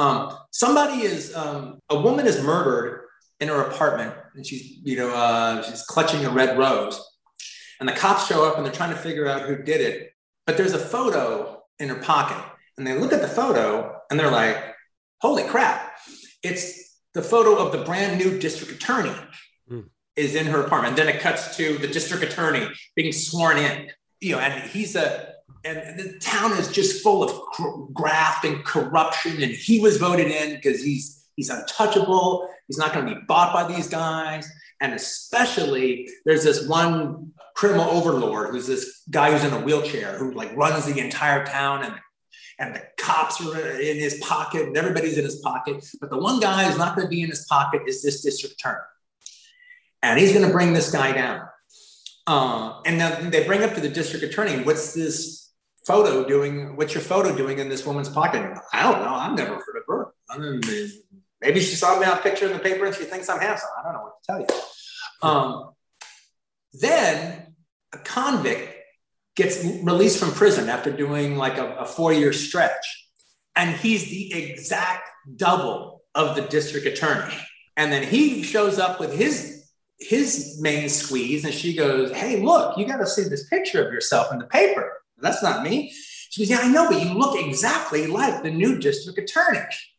a woman is murdered in her apartment, and she's clutching a red rose, and the cops show up and they're trying to figure out who did it. But there's a photo in her pocket, and they look at the photo and they're like, "Holy crap! It's the photo of the brand new district attorney." Is in her apartment. And then it cuts to the district attorney being sworn in, and and the town is just full of graft and corruption. And he was voted in because he's untouchable. He's not going to be bought by these guys. And especially there's this one criminal overlord who's this guy who's in a wheelchair who like runs the entire town, and the cops are in his pocket and everybody's in his pocket. But the one guy who's not going to be in his pocket is this district attorney. And he's going to bring this guy down. And then they bring up to the district attorney, what's your photo doing in this woman's pocket? And I don't know. I've never heard of her. Maybe she saw me on a picture in the paper and she thinks I'm handsome. I don't know what to tell you. Then a convict gets released from prison after doing like a 4-year stretch. And he's the exact double of the district attorney. And then he shows up with his main squeeze, and she goes, "Hey, look, you got to see this picture of yourself in the paper." That's not me. She goes, "Yeah, I know, but you look exactly like the new district attorney."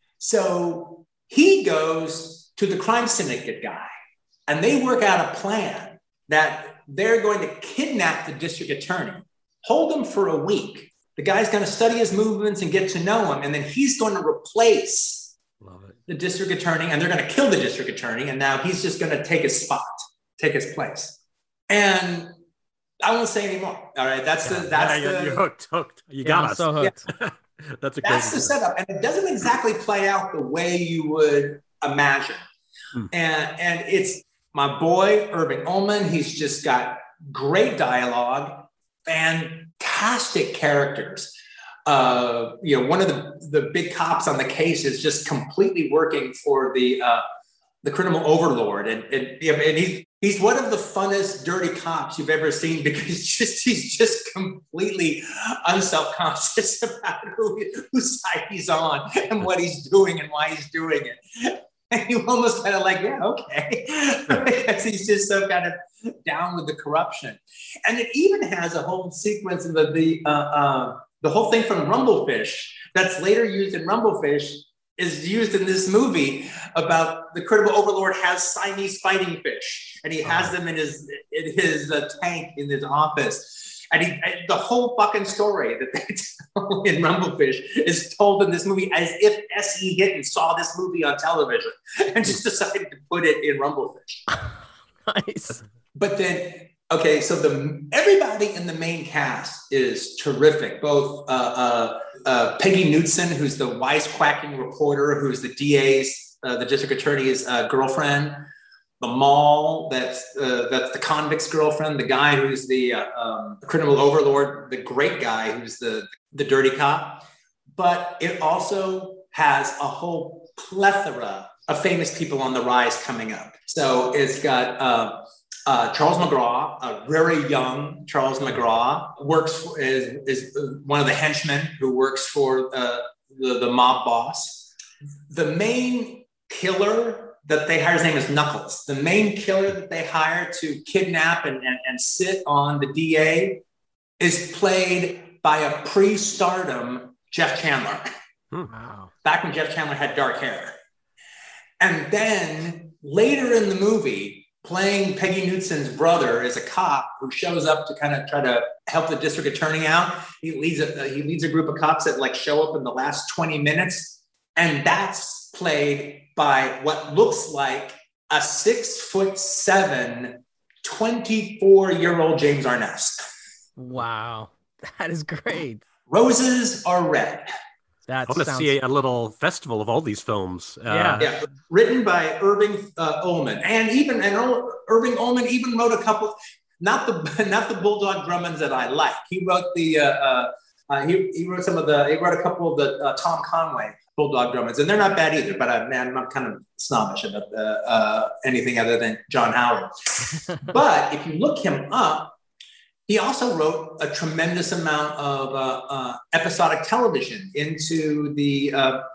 So he goes to the crime syndicate guy, and they work out a plan that they're going to kidnap the district attorney, hold him for a week. The guy's going to study his movements and get to know him, and then he's going to replace the district attorney, and they're going to kill the district attorney, and now he's just going to take his place. And I won't say anymore. All right, you're hooked. You got us. So hooked. Yeah. That's the setup, and it doesn't exactly play out the way you would imagine. And it's my boy Irving Ullman. He's just got great dialogue, fantastic characters. One of the big cops on the case is just completely working for the criminal overlord, and he's one of the funnest dirty cops you've ever seen, because he's just completely unselfconscious about whose side he's on and what he's doing and why he's doing it. And you almost kind of like, yeah, okay. Because he's just so kind of down with the corruption. And it even has a whole sequence of the whole thing from Rumblefish that's later used in Rumblefish is used in this movie about the Credible Overlord has Siamese fighting fish, and he has them in his tank in his office. And the whole fucking story that they tell in Rumblefish is told in this movie as if S.E. Hinton saw this movie on television and just decided to put it in Rumblefish. Nice. But then, okay, so everybody in the main cast is terrific. Both Peggy Knudsen, who's the wisecracking reporter, who's the DA's, the district attorney's girlfriend. The Mall, that's the convict's girlfriend. The guy who's the criminal overlord, the great guy who's the dirty cop. But it also has a whole plethora of famous people on the rise coming up. So it's got Charles McGraw, a very young Charles McGraw, is one of the henchmen who works for the mob boss. The main killer that they hire, his name is Knuckles. The main killer that they hire to kidnap and sit on the DA is played by a pre-stardom Jeff Chandler. Wow. Back when Jeff Chandler had dark hair. And then later in the movie, playing Peggy Knudsen's brother is a cop who shows up to kind of try to help the district attorney out. He leads a group of cops that like show up in the last 20 minutes. And that's played by what looks like a 6'7", 24-year-old James Arness. Wow, that is great. Roses are red. I want to see a little festival of all these films. Yeah. Written by Irving Ullman, and Irving Ullman even wrote a couple. Not the Bulldog Drummonds that I like. He wrote he wrote a couple of the Tom Conway Bulldog Drummonds, and they're not bad either, but I'm kind of snobbish about anything other than John Howard. But if you look him up, he also wrote a tremendous amount of episodic television into the,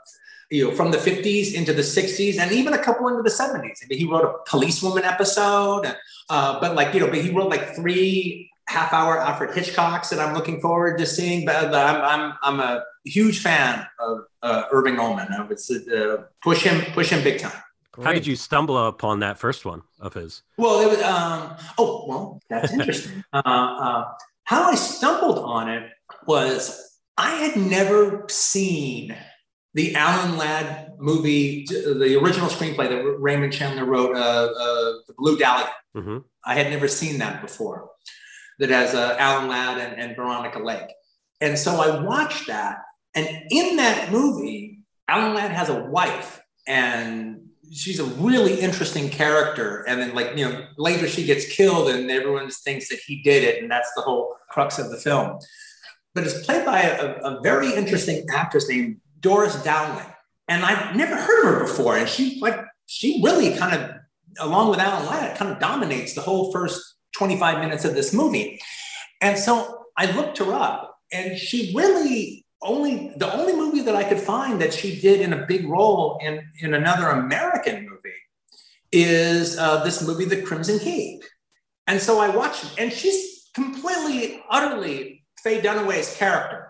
from the 50s into the 60s, and even a couple into the 70s. I mean, he wrote a policewoman episode, but he wrote like 3 half-hour Alfred Hitchcocks that I'm looking forward to seeing. But I'm a huge fan of Irving Ullman. I would push him big time. Great. How did you stumble upon that first one of his? Well, it was. That's interesting. How I stumbled on it was I had never seen the Alan Ladd movie, the original screenplay that Raymond Chandler wrote, The Blue Dahlia. Mm-hmm. I had never seen that before. That has Alan Ladd and Veronica Lake. And so I watched that. And in that movie, Alan Ladd has a wife, and she's a really interesting character. And then later she gets killed and everyone thinks that he did it. And that's the whole crux of the film. But it's played by a very interesting actress named Doris Dowling. And I've never heard of her before. And she really kind of, along with Alan Ladd, kind of dominates the whole first 25 minutes of this movie. And so I looked her up, and she really the only movie that I could find that she did in a big role in another American movie is this movie, The Crimson Key. And so I watched it, and she's completely, utterly Faye Dunaway's character.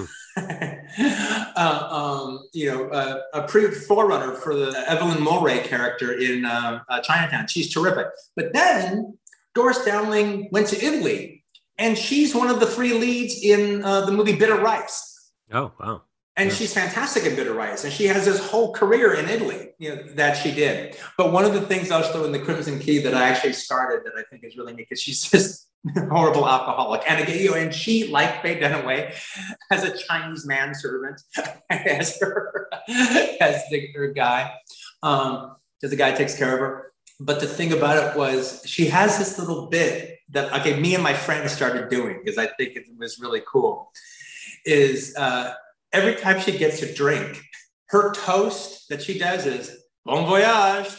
A forerunner for the Evelyn Mulwray character in Chinatown. She's terrific. But then Doris Dowling went to Italy, and she's one of the 3 leads in the movie Bitter Rice. Oh, wow. And she's fantastic in Bitter Rice, and she has this whole career in Italy, that she did. But one of the things also in The Crimson Key that I actually started that I think is really neat, because she's just a horrible alcoholic. And again, and she, like Faye Dunaway, has a Chinese manservant as her guy, because the guy takes care of her. But the thing about it was she has this little bit that, me and my friend started doing, because I think it was really cool, is every time she gets a drink, her toast that she does is bon voyage.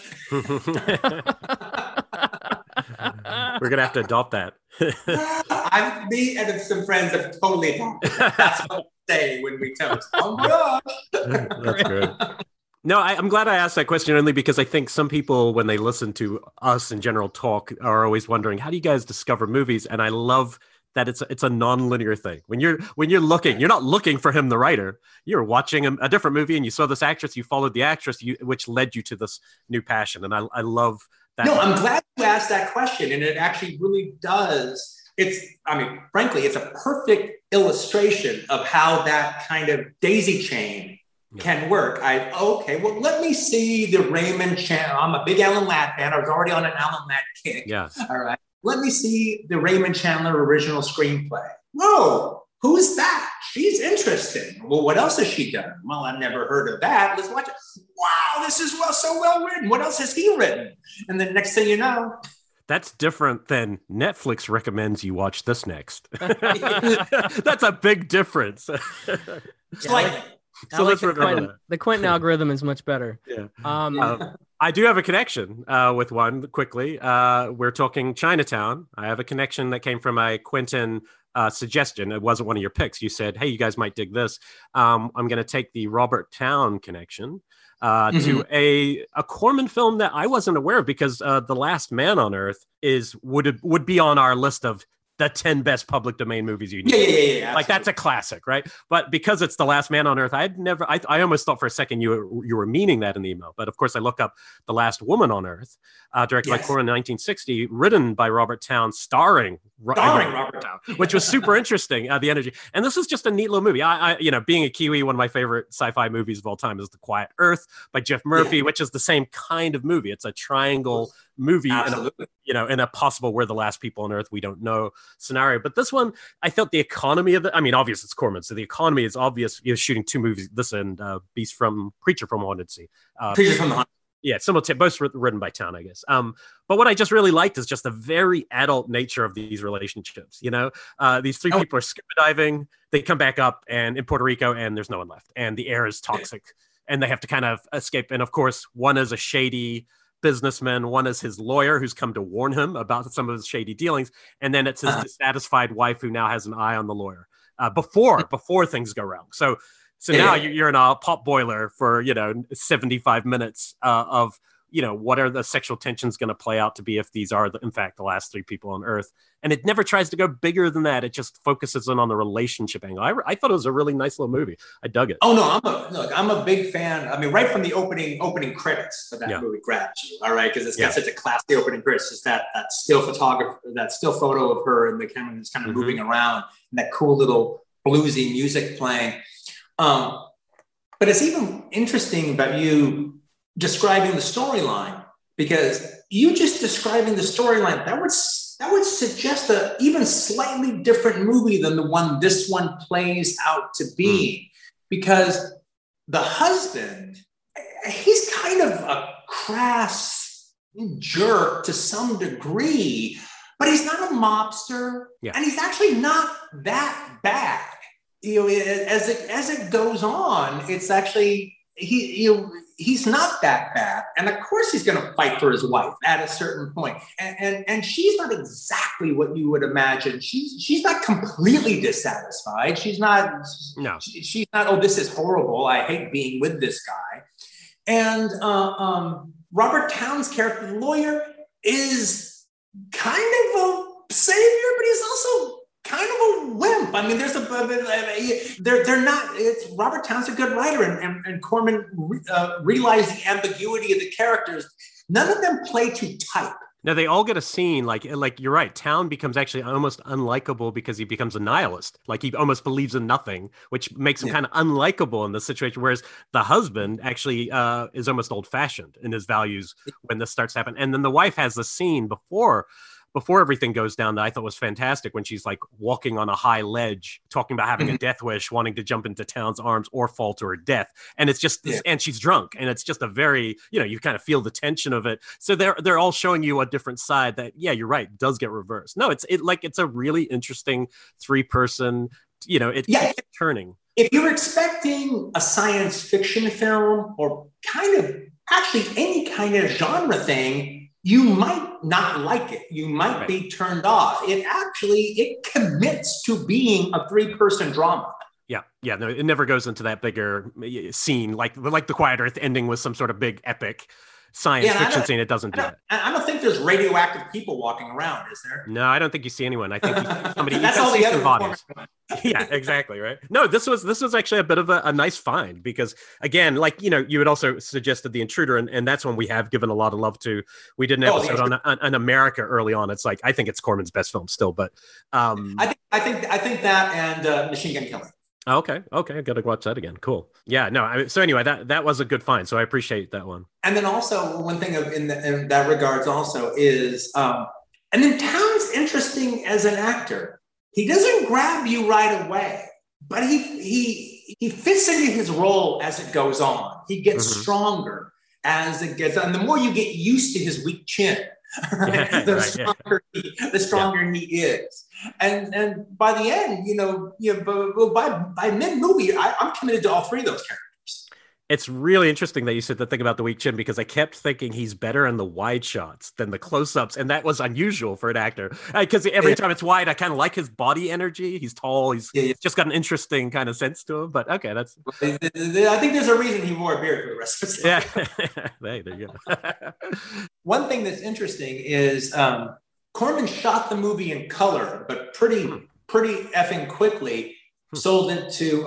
We're going to have to adopt that. Me and some friends have totally adopted that. That's what we say when we toast. Bon voyage. That's great. No, I'm glad I asked that question only because I think some people, when they listen to us in general talk, are always wondering, how do you guys discover movies? And I love that it's a non-linear thing. When you're looking, you're not looking for him, the writer. You're watching a different movie, and you saw this actress, you followed the actress, which led you to this new passion. And I love that. No, I'm glad you asked that question, and it actually really does. Frankly, it's a perfect illustration of how that kind of daisy chain can work. Let me see the Raymond Chandler. I'm a big Alan Ladd fan. I was already on an Alan Ladd kick. Yeah. All right. Let me see the Raymond Chandler original screenplay. Whoa, who's that? She's interesting. Well, what else has she done? Well, I've never heard of that. Let's watch it. Wow, this is so well written. What else has he written? And then next thing you know, that's different than Netflix recommends you watch this next. That's a big difference. Slightly. So let's remember that. The Quentin algorithm is much better. Yeah. I do have a connection with one quickly. We're talking Chinatown. I have a connection that came from a Quentin suggestion. It wasn't one of your picks. You said, hey, you guys might dig this. I'm going to take the Robert Towne connection to a Corman film that I wasn't aware of because The Last Man on Earth would be on our list of the 10 best public domain movies you need. Yeah. Like that's a classic, right? But because it's The Last Man on Earth, I almost thought for a second you were meaning that in the email. But of course, I look up The Last Woman on Earth, directed by Corman in 1960, written by Robert Towne, starring Robert Towne, which was super interesting. The energy, and this is just a neat little movie. I being a Kiwi, one of my favorite sci-fi movies of all time is The Quiet Earth by Jeff Murphy, which is the same kind of movie. It's a triangle movie in a possible we're the last people on Earth, we don't know scenario. But this one, I felt the economy of it. I mean, obviously it's Corman, so the economy is obvious. You're shooting two movies, this and Creature from Haunted Sea. Creature from the Haunted. Yeah, both written by Towne, I guess. But what I just really liked is just the very adult nature of these relationships. These three people are scuba diving. They come back up and in Puerto Rico, and there's no one left, and the air is toxic, and they have to kind of escape. And of course, one is a shady businessman, one is his lawyer who's come to warn him about some of his shady dealings, and then it's his dissatisfied wife who now has an eye on the lawyer before things go wrong. So now you're in a pot boiler for 75 minutes of what are the sexual tensions going to play out to be if these are in fact the last three people on Earth, and it never tries to go bigger than that. It just focuses in on the relationship angle. I thought it was a really nice little movie. I dug it. Oh no, I'm a big fan. I mean, right from the opening credits of that movie grabs you, all right, because it's got such a classy opening credits. Just that still photo of her and the camera is kind of moving around, and that cool little bluesy music playing. But it's even interesting about you describing the storyline, because you just describing the storyline, that would suggest a even slightly different movie than the one this one plays out to be. Because the husband, he's kind of a crass jerk to some degree, but he's not a mobster, and he's actually not that bad. As it goes on, it's actually he's not that bad, and of course he's going to fight for his wife at a certain point. And she's not exactly what you would imagine. She's not completely dissatisfied. She's not. No. She's not. Oh, this is horrible. I hate being with this guy. And Robert Towne's character, the lawyer, is kind of a savior, but he's also kind of a wimp. I mean, they're not. It's Robert Towne's a good writer, and Corman realized the ambiguity of the characters. None of them play to type. Now they all get a scene like you're right. Towne becomes actually almost unlikable because he becomes a nihilist. Like he almost believes in nothing, which makes him kind of unlikable in this situation. Whereas the husband actually is almost old fashioned in his values when this starts to happen. And then the wife has the scene before everything goes down that I thought was fantastic, when she's like walking on a high ledge, talking about having a death wish, wanting to jump into Towne's arms or fall to her death. And it's just, and she's drunk, and it's just a very, you kind of feel the tension of it. So they're all showing you a different side that, you're right, does get reversed. No, it's a really interesting 3-person, it keeps turning. If you're expecting a science fiction film or kind of actually any kind of genre thing, you might not like it. You might be turned off. It commits to being a 3-person drama. Yeah. No, it never goes into that bigger scene like the Quiet Earth ending with some sort of big epic science fiction scene. It doesn't do that. I don't think there's radioactive people walking around, is there? No, I don't think you see anyone. I think you see somebody. That's all the other bodies. Yeah, exactly. Right. No, this was actually a bit of a nice find because again, like you had also suggested The Intruder, and that's one we have given a lot of love to. We did an episode on America early on. It's like I think it's Corman's best film still, but I think that and Machine Gun Kelly. Okay, I gotta watch that again. Cool. Yeah, no. So anyway, that was a good find. So I appreciate that one. And then also one thing in that regards also is, and then Townes interesting as an actor. He doesn't grab you right away, but he fits into his role as it goes on. He gets stronger as it gets on. The more you get used to his weak chin, right? The stronger he is. And by the end, by mid-movie, I'm committed to all three of those characters. It's really interesting that you said the thing about the weak chin because I kept thinking he's better in the wide shots than the close-ups, and that was unusual for an actor. Because every time it's wide, I kind of like his body energy. He's tall. He's just got an interesting kind of sense to him. But okay, that's. I think there's a reason he wore a beard for the rest of his life. Yeah, there you go. One thing that's interesting is Corman shot the movie in color, but pretty effing quickly sold it to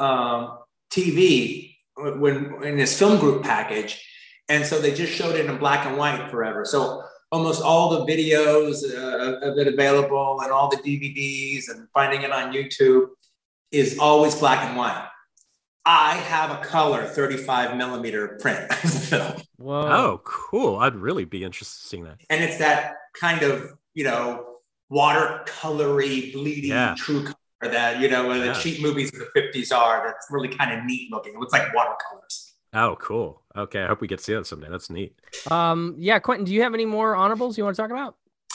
TV. When in his film group package, and so they just showed it in black and white forever. So almost all the videos of it available and all the DVDs and finding it on YouTube is always black and white. I have a color 35 millimeter print of the film. Whoa. Oh, cool. I'd really be interested in seeing that. And it's that kind of, watercolory, bleedy, true color that, the cheap movies of the 50s are. That's really kind of neat looking. It looks like watercolors. Oh, cool. Okay. I hope we get to see that someday. That's neat. Quentin, do you have any more honorables you want to talk about?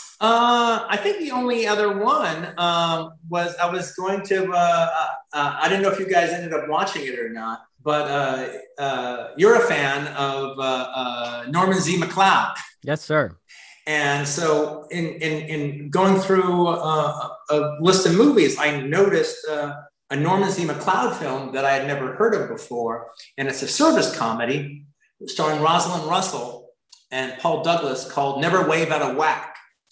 I think the only other one was I was going to, I didn't know if you guys ended up watching it or not, but you're a fan of Norman Z. MacLeod. Yes, sir. And so in going through a list of movies, I noticed a Norman Z. MacLeod film that I had never heard of before. And it's a service comedy starring Rosalind Russell and Paul Douglas called Never Wave Out of Whack.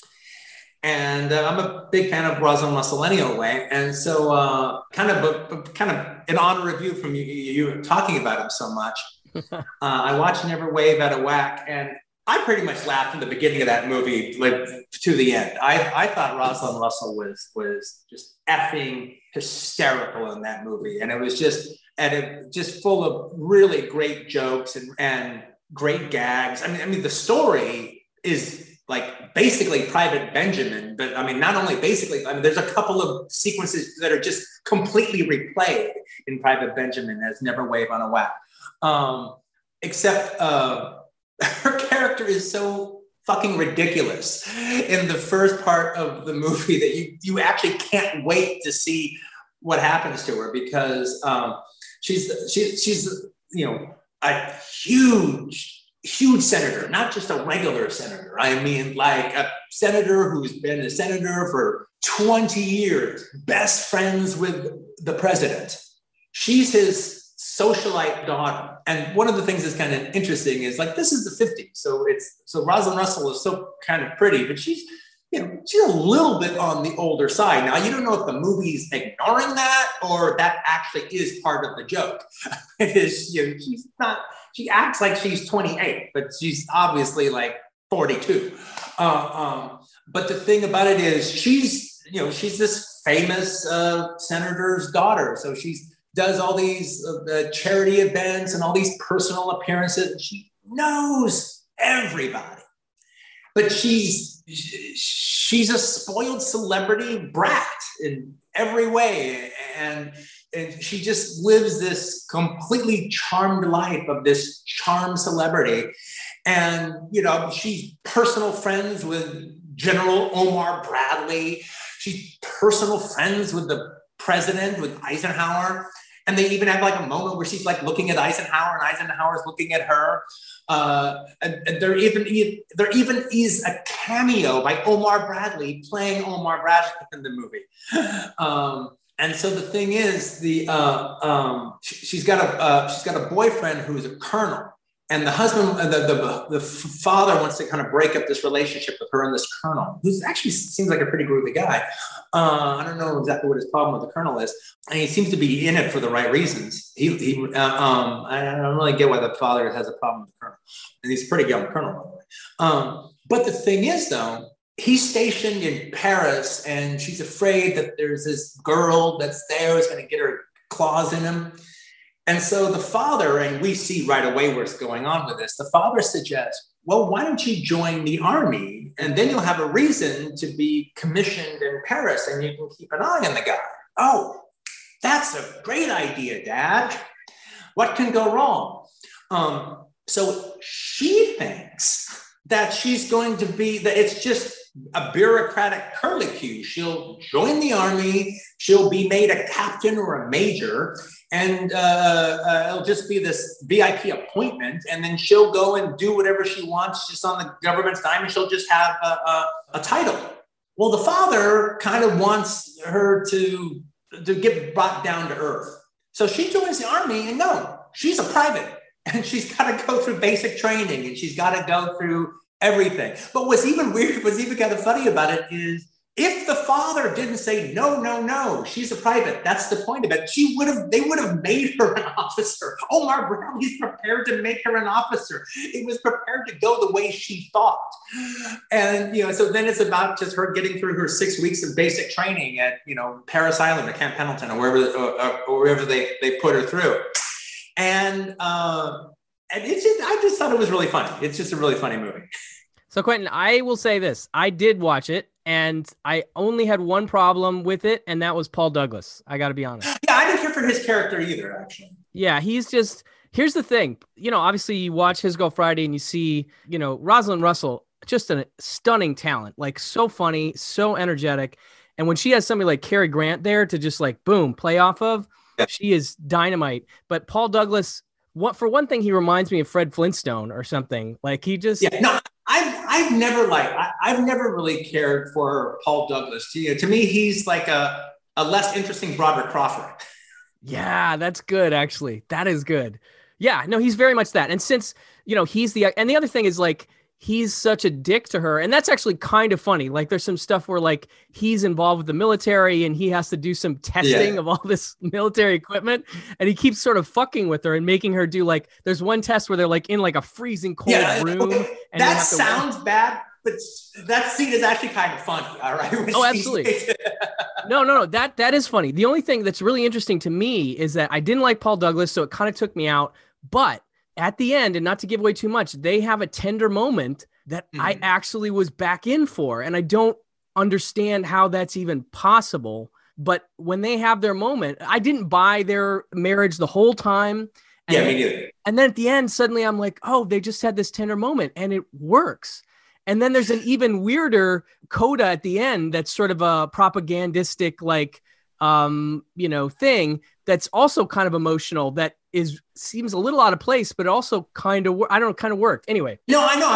And I'm a big fan of Rosalind Russell anyway. And so kind of an honor review from you talking about him so much. I watched Never Wave Out of Whack, and I pretty much laughed from the beginning of that movie like to the end. I thought Rosalind Russell was just effing hysterical in that movie, and it was just full of really great jokes and great gags. I mean, the story is like basically Private Benjamin, but I mean, not only basically. I mean, there's a couple of sequences that are just completely replayed in Private Benjamin as Never Wave on a Whack, except. Her character is so fucking ridiculous in the first part of the movie that you actually can't wait to see what happens to her because she's a huge senator, not just a regular senator. I mean, like a senator who's been a senator for 20 years, best friends with the president. She's his socialite daughter. And one of the things that's kind of interesting is like, this is the 50s. So Rosalind Russell is so kind of pretty, but she's a little bit on the older side. Now, you don't know if the movie's ignoring that or that actually is part of the joke. It is, she acts like she's 28, but she's obviously like 42. But the thing about it is she's this famous senator's daughter. So she's does all these charity events and all these personal appearances. And she knows everybody, but she's a spoiled celebrity brat in every way. And she just lives this completely charmed life of this charmed celebrity. And, she's personal friends with General Omar Bradley. She's personal friends with the president, with Eisenhower. And they even have like a moment where she's like looking at Eisenhower and Eisenhower's looking at her. And there even is a cameo by Omar Bradley playing Omar Bradley in the movie. And so the thing is, she's got a boyfriend who's a colonel, and the husband, the father wants to kind of break up this relationship with her and this colonel, who actually seems like a pretty groovy guy. I don't know exactly what his problem with the colonel is, and he seems to be in it for the right reasons. I don't really get why the father has a problem with the colonel, and he's a pretty young colonel, by the way. But the thing is, though, he's stationed in Paris, and she's afraid that there's this girl that's there who's going to get her claws in him. And so the father, and we see right away what's going on with this, the father suggests, well, why don't you join the army? And then you'll have a reason to be commissioned in Paris, and you can keep an eye on the guy. Oh, that's a great idea, Dad. What can go wrong? So she thinks that she's going to be, that it's just a bureaucratic curlicue. She'll join the army, she'll be made a captain or a major, and it'll just be this VIP appointment, and then she'll go and do whatever she wants just on the government's dime, and she'll just have a title. Well, the father kind of wants her to get brought down to earth. So she joins the army, and no, she's a private, and she's got to go through basic training, and she's got to go through everything. But what's even weird, what's even kind of funny about it is, if the father didn't say, no, no, no, she's a private, that's the point of it, they would have made her an officer. Omar Bradley's prepared to make her an officer. It was prepared to go the way she thought. And, so then it's about just her getting through her 6 weeks of basic training at, Paris Island or Camp Pendleton or wherever they put her through. And I just thought it was really funny. It's just a really funny movie. So Quentin, I will say this. I did watch it, and I only had one problem with it, and that was Paul Douglas. I got to be honest. Yeah, I didn't care for his character either, actually. Yeah, he's just, here's the thing. Obviously you watch His Girl Friday and you see, Rosalind Russell, just a stunning talent, like so funny, so energetic. And when she has somebody like Cary Grant there to just like, boom, play off of, she is dynamite. But Paul Douglas, for one thing, he reminds me of Fred Flintstone or something. Like he just... Yeah, no, I've never really cared for Paul Douglas. To me, he's like a less interesting Broderick Crawford. Yeah, that's good, actually. That is good. Yeah, no, he's very much that. And since, he's and the other thing is like, he's such a dick to her. And that's actually kind of funny. Like there's some stuff where like he's involved with the military and he has to do some testing of all this military equipment. And he keeps sort of fucking with her and making her do like, there's one test where they're like in like a freezing cold room. And that sounds bad, but that scene is actually kind of funny. All right. Oh, absolutely. No. That is funny. The only thing that's really interesting to me is that I didn't like Paul Douglas, so it kind of took me out. But at the end, and not to give away too much, they have a tender moment that I actually was back in for. And I don't understand how that's even possible. But when they have their moment, I didn't buy their marriage the whole time. And me neither. And then at the end, suddenly I'm like, oh, they just had this tender moment and it works. And then there's an even weirder coda at the end that's sort of a propagandistic, like, thing that's also kind of emotional that seems a little out of place, but also kind of worked. Anyway. No, I know.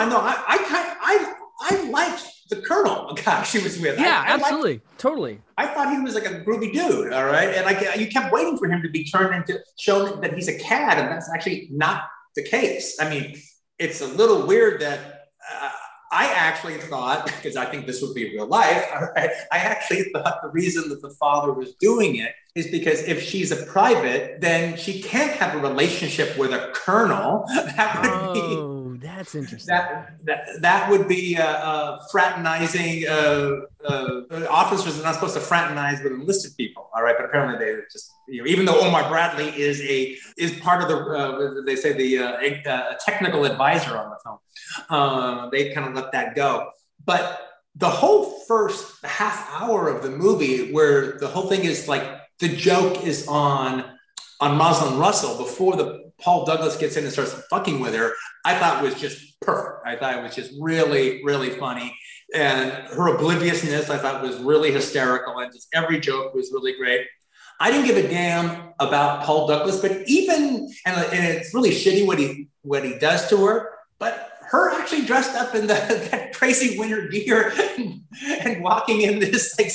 I liked the Colonel guy she was with. Yeah, absolutely. Totally. I thought he was like a groovy dude. All right. And you kept waiting for him to be shown that he's a cad. And that's actually not the case. I mean, it's a little weird that, I actually thought, because I think this would be real life, right? I actually thought the reason that the father was doing it is because if she's a private, then she can't have a relationship with a colonel. That's interesting. That would be fraternizing. Officers are not supposed to fraternize with enlisted people, all right? But apparently they just, even though Omar Bradley is part of the, they say the technical advisor on the film, they kind of let that go. But the whole first half hour of the movie, where the whole thing is like the joke is on Rosalind Russell before Paul Douglas gets in and starts fucking with her, I thought was just perfect. I thought it was just really, really funny. And her obliviousness, I thought was really hysterical. And just every joke was really great. I didn't give a damn about Paul Douglas, but and it's really shitty what he does to her, but her actually dressed up in that crazy winter gear and walking in this like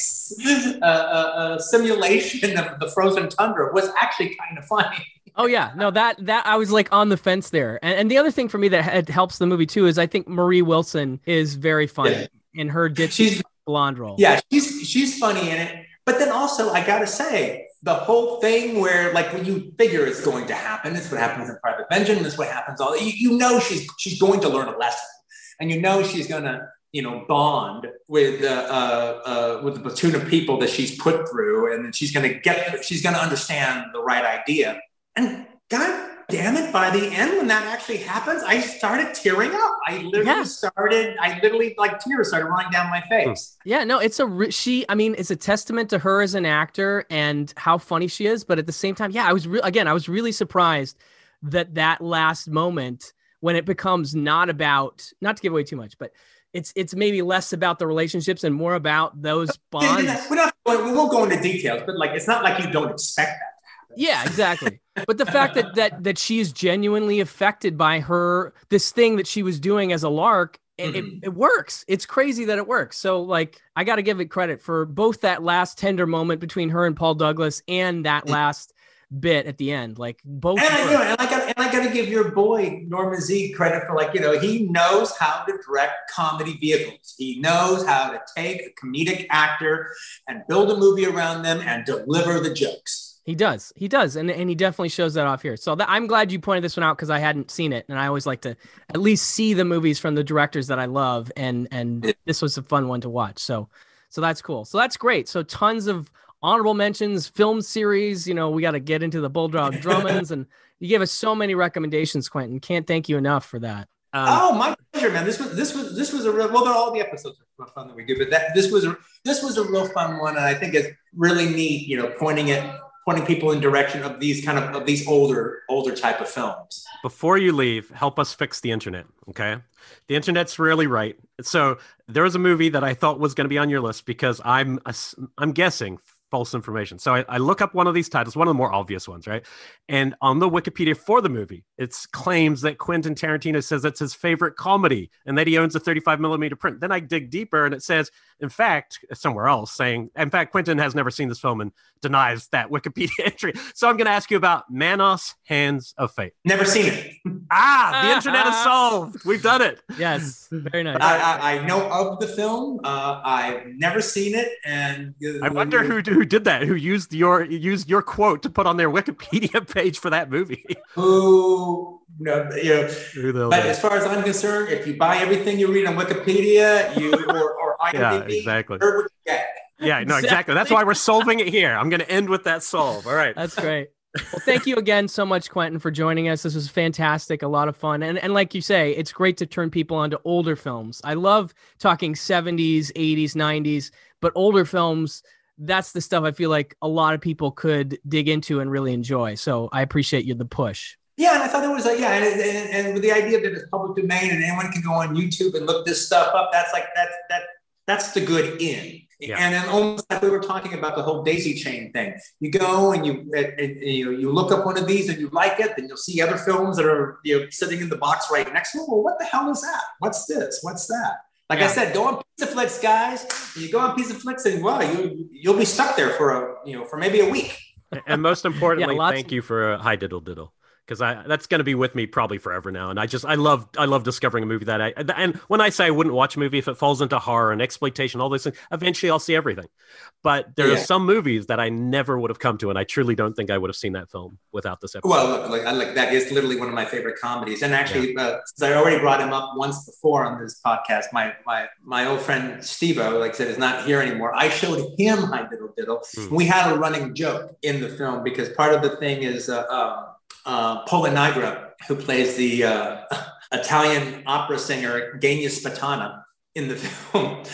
simulation of the frozen tundra was actually kind of funny. Oh yeah, no, that I was like on the fence there. And the other thing for me that helps the movie too is I think Marie Wilson is very funny in her ditzy blonde role. Yeah, she's funny in it. But then also, I gotta say, the whole thing where like when you figure it's going to happen, it's what happens in Private Benjamin, this what happens all you know she's going to learn a lesson, and you know she's gonna bond with the platoon of people that she's put through, and then she's gonna understand the right idea. And God damn it, by the end when that actually happens, I started tearing up. I literally like tears started running down my face. Yeah, no, it's a testament to her as an actor and how funny she is. But at the same time, yeah, I was really surprised that last moment when it becomes not to give away too much, but it's maybe less about the relationships and more about those bonds. We won't go into details, but like, it's not like you don't expect that. Yeah, exactly. But the fact that she is genuinely affected by this thing that she was doing as a lark, it works. It's crazy that it works. So like, I got to give it credit for both that last tender moment between her and Paul Douglas and that last bit at the end. Like both. And I got to give your boy Norman Z credit for he knows how to direct comedy vehicles. He knows how to take a comedic actor and build a movie around them and deliver the jokes. He does. And he definitely shows that off here. So I'm glad you pointed this one out because I hadn't seen it. And I always like to at least see the movies from the directors that I love. And this was a fun one to watch. So that's cool. So that's great. So tons of honorable mentions, film series. We got to get into the Bulldog Drummonds. And you gave us so many recommendations, Quentin. Can't thank you enough for that. My pleasure, man. This was a real, well, all the episodes are fun that we do, but this was a real fun one. And I think it's really neat, pointing people in direction of these older type of films. Before you leave, help us fix the internet, okay? The internet's really right. So there was a movie that I thought was going to be on your list because I'm guessing false information. So I look up one of these titles, one of the more obvious ones, right? And on the Wikipedia for the movie, it claims that Quentin Tarantino says it's his favorite comedy and that he owns a 35 millimeter print. Then I dig deeper and it says, in fact, somewhere else saying, in fact, Quentin has never seen this film and denies that Wikipedia entry. So I'm going to ask you about Manos, Hands of Fate. Never seen it. The internet is solved. We've done it. Yes, very nice. I know of the film. I've never seen it, and I wonder who did that. Who used your quote to put on their Wikipedia page for that movie? But as far as I'm concerned, if you buy everything you read on Wikipedia, or IMDb, yeah, exactly. Heard what you get. Yeah, no, exactly. That's why we're solving it here. I'm going to end with that solve. All right. That's great. Well, thank you again so much, Quentin, for joining us. This was fantastic, a lot of fun. And like you say, it's great to turn people onto older films. I love talking 70s, 80s, 90s, but older films, that's the stuff I feel like a lot of people could dig into and really enjoy. So I appreciate the push. Yeah, and I thought it was and with the idea that it's public domain and anyone can go on YouTube and look this stuff up, that's the good in. Yeah. And then almost like we were talking about the whole daisy chain thing. You go and you look up one of these and you like it, then you'll see other films that are sitting in the box right next to them. Well, what the hell is that? What's this? What's that? Like I said, go on Pizzaflix, guys. You go on Pizzaflix and you'll be stuck there for maybe a week. And most importantly, thank you for Hi Diddle Diddle. Because that's going to be with me probably forever now, and I love discovering a movie and when I say I wouldn't watch a movie if it falls into horror and exploitation, all those things, eventually I'll see everything. But there are some movies that I never would have come to, and I truly don't think I would have seen that film without this episode. Well, look, that is literally one of my favorite comedies, and actually, since I already brought him up once before on this podcast, my old friend Steve-O, like I said, is not here anymore. I showed him Hi Diddle Diddle. We had a running joke in the film because part of the thing is. Pola Nigra, who plays the Italian opera singer Genia Spatana in the film,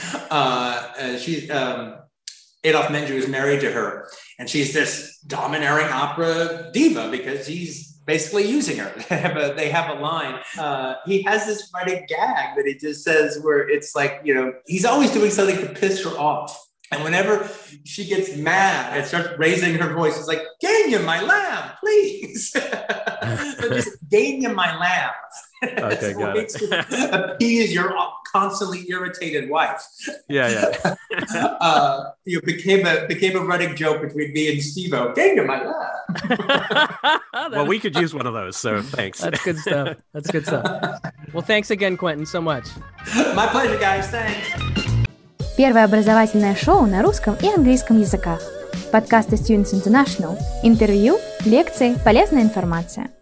Adolf Menjou is married to her, and she's this domineering opera diva because he's basically using her. They have a line. He has this running gag that he just says where it's like, he's always doing something to piss her off. And whenever she gets mad and starts raising her voice, it's like, Gania, my lamb, please. So just Gania, my lamb. Okay, got it. To appease your constantly irritated wife. Yeah. You became a running joke between me and Steve-O. Kingdom, my love. Well, we could use one of those, so thanks. That's good stuff. Well, thanks again, Quentin, so much. My pleasure, guys. Thanks. Первое образовательное шоу на русском и английском языках. Подкасты Students International. Интервью, лекции, полезная информация.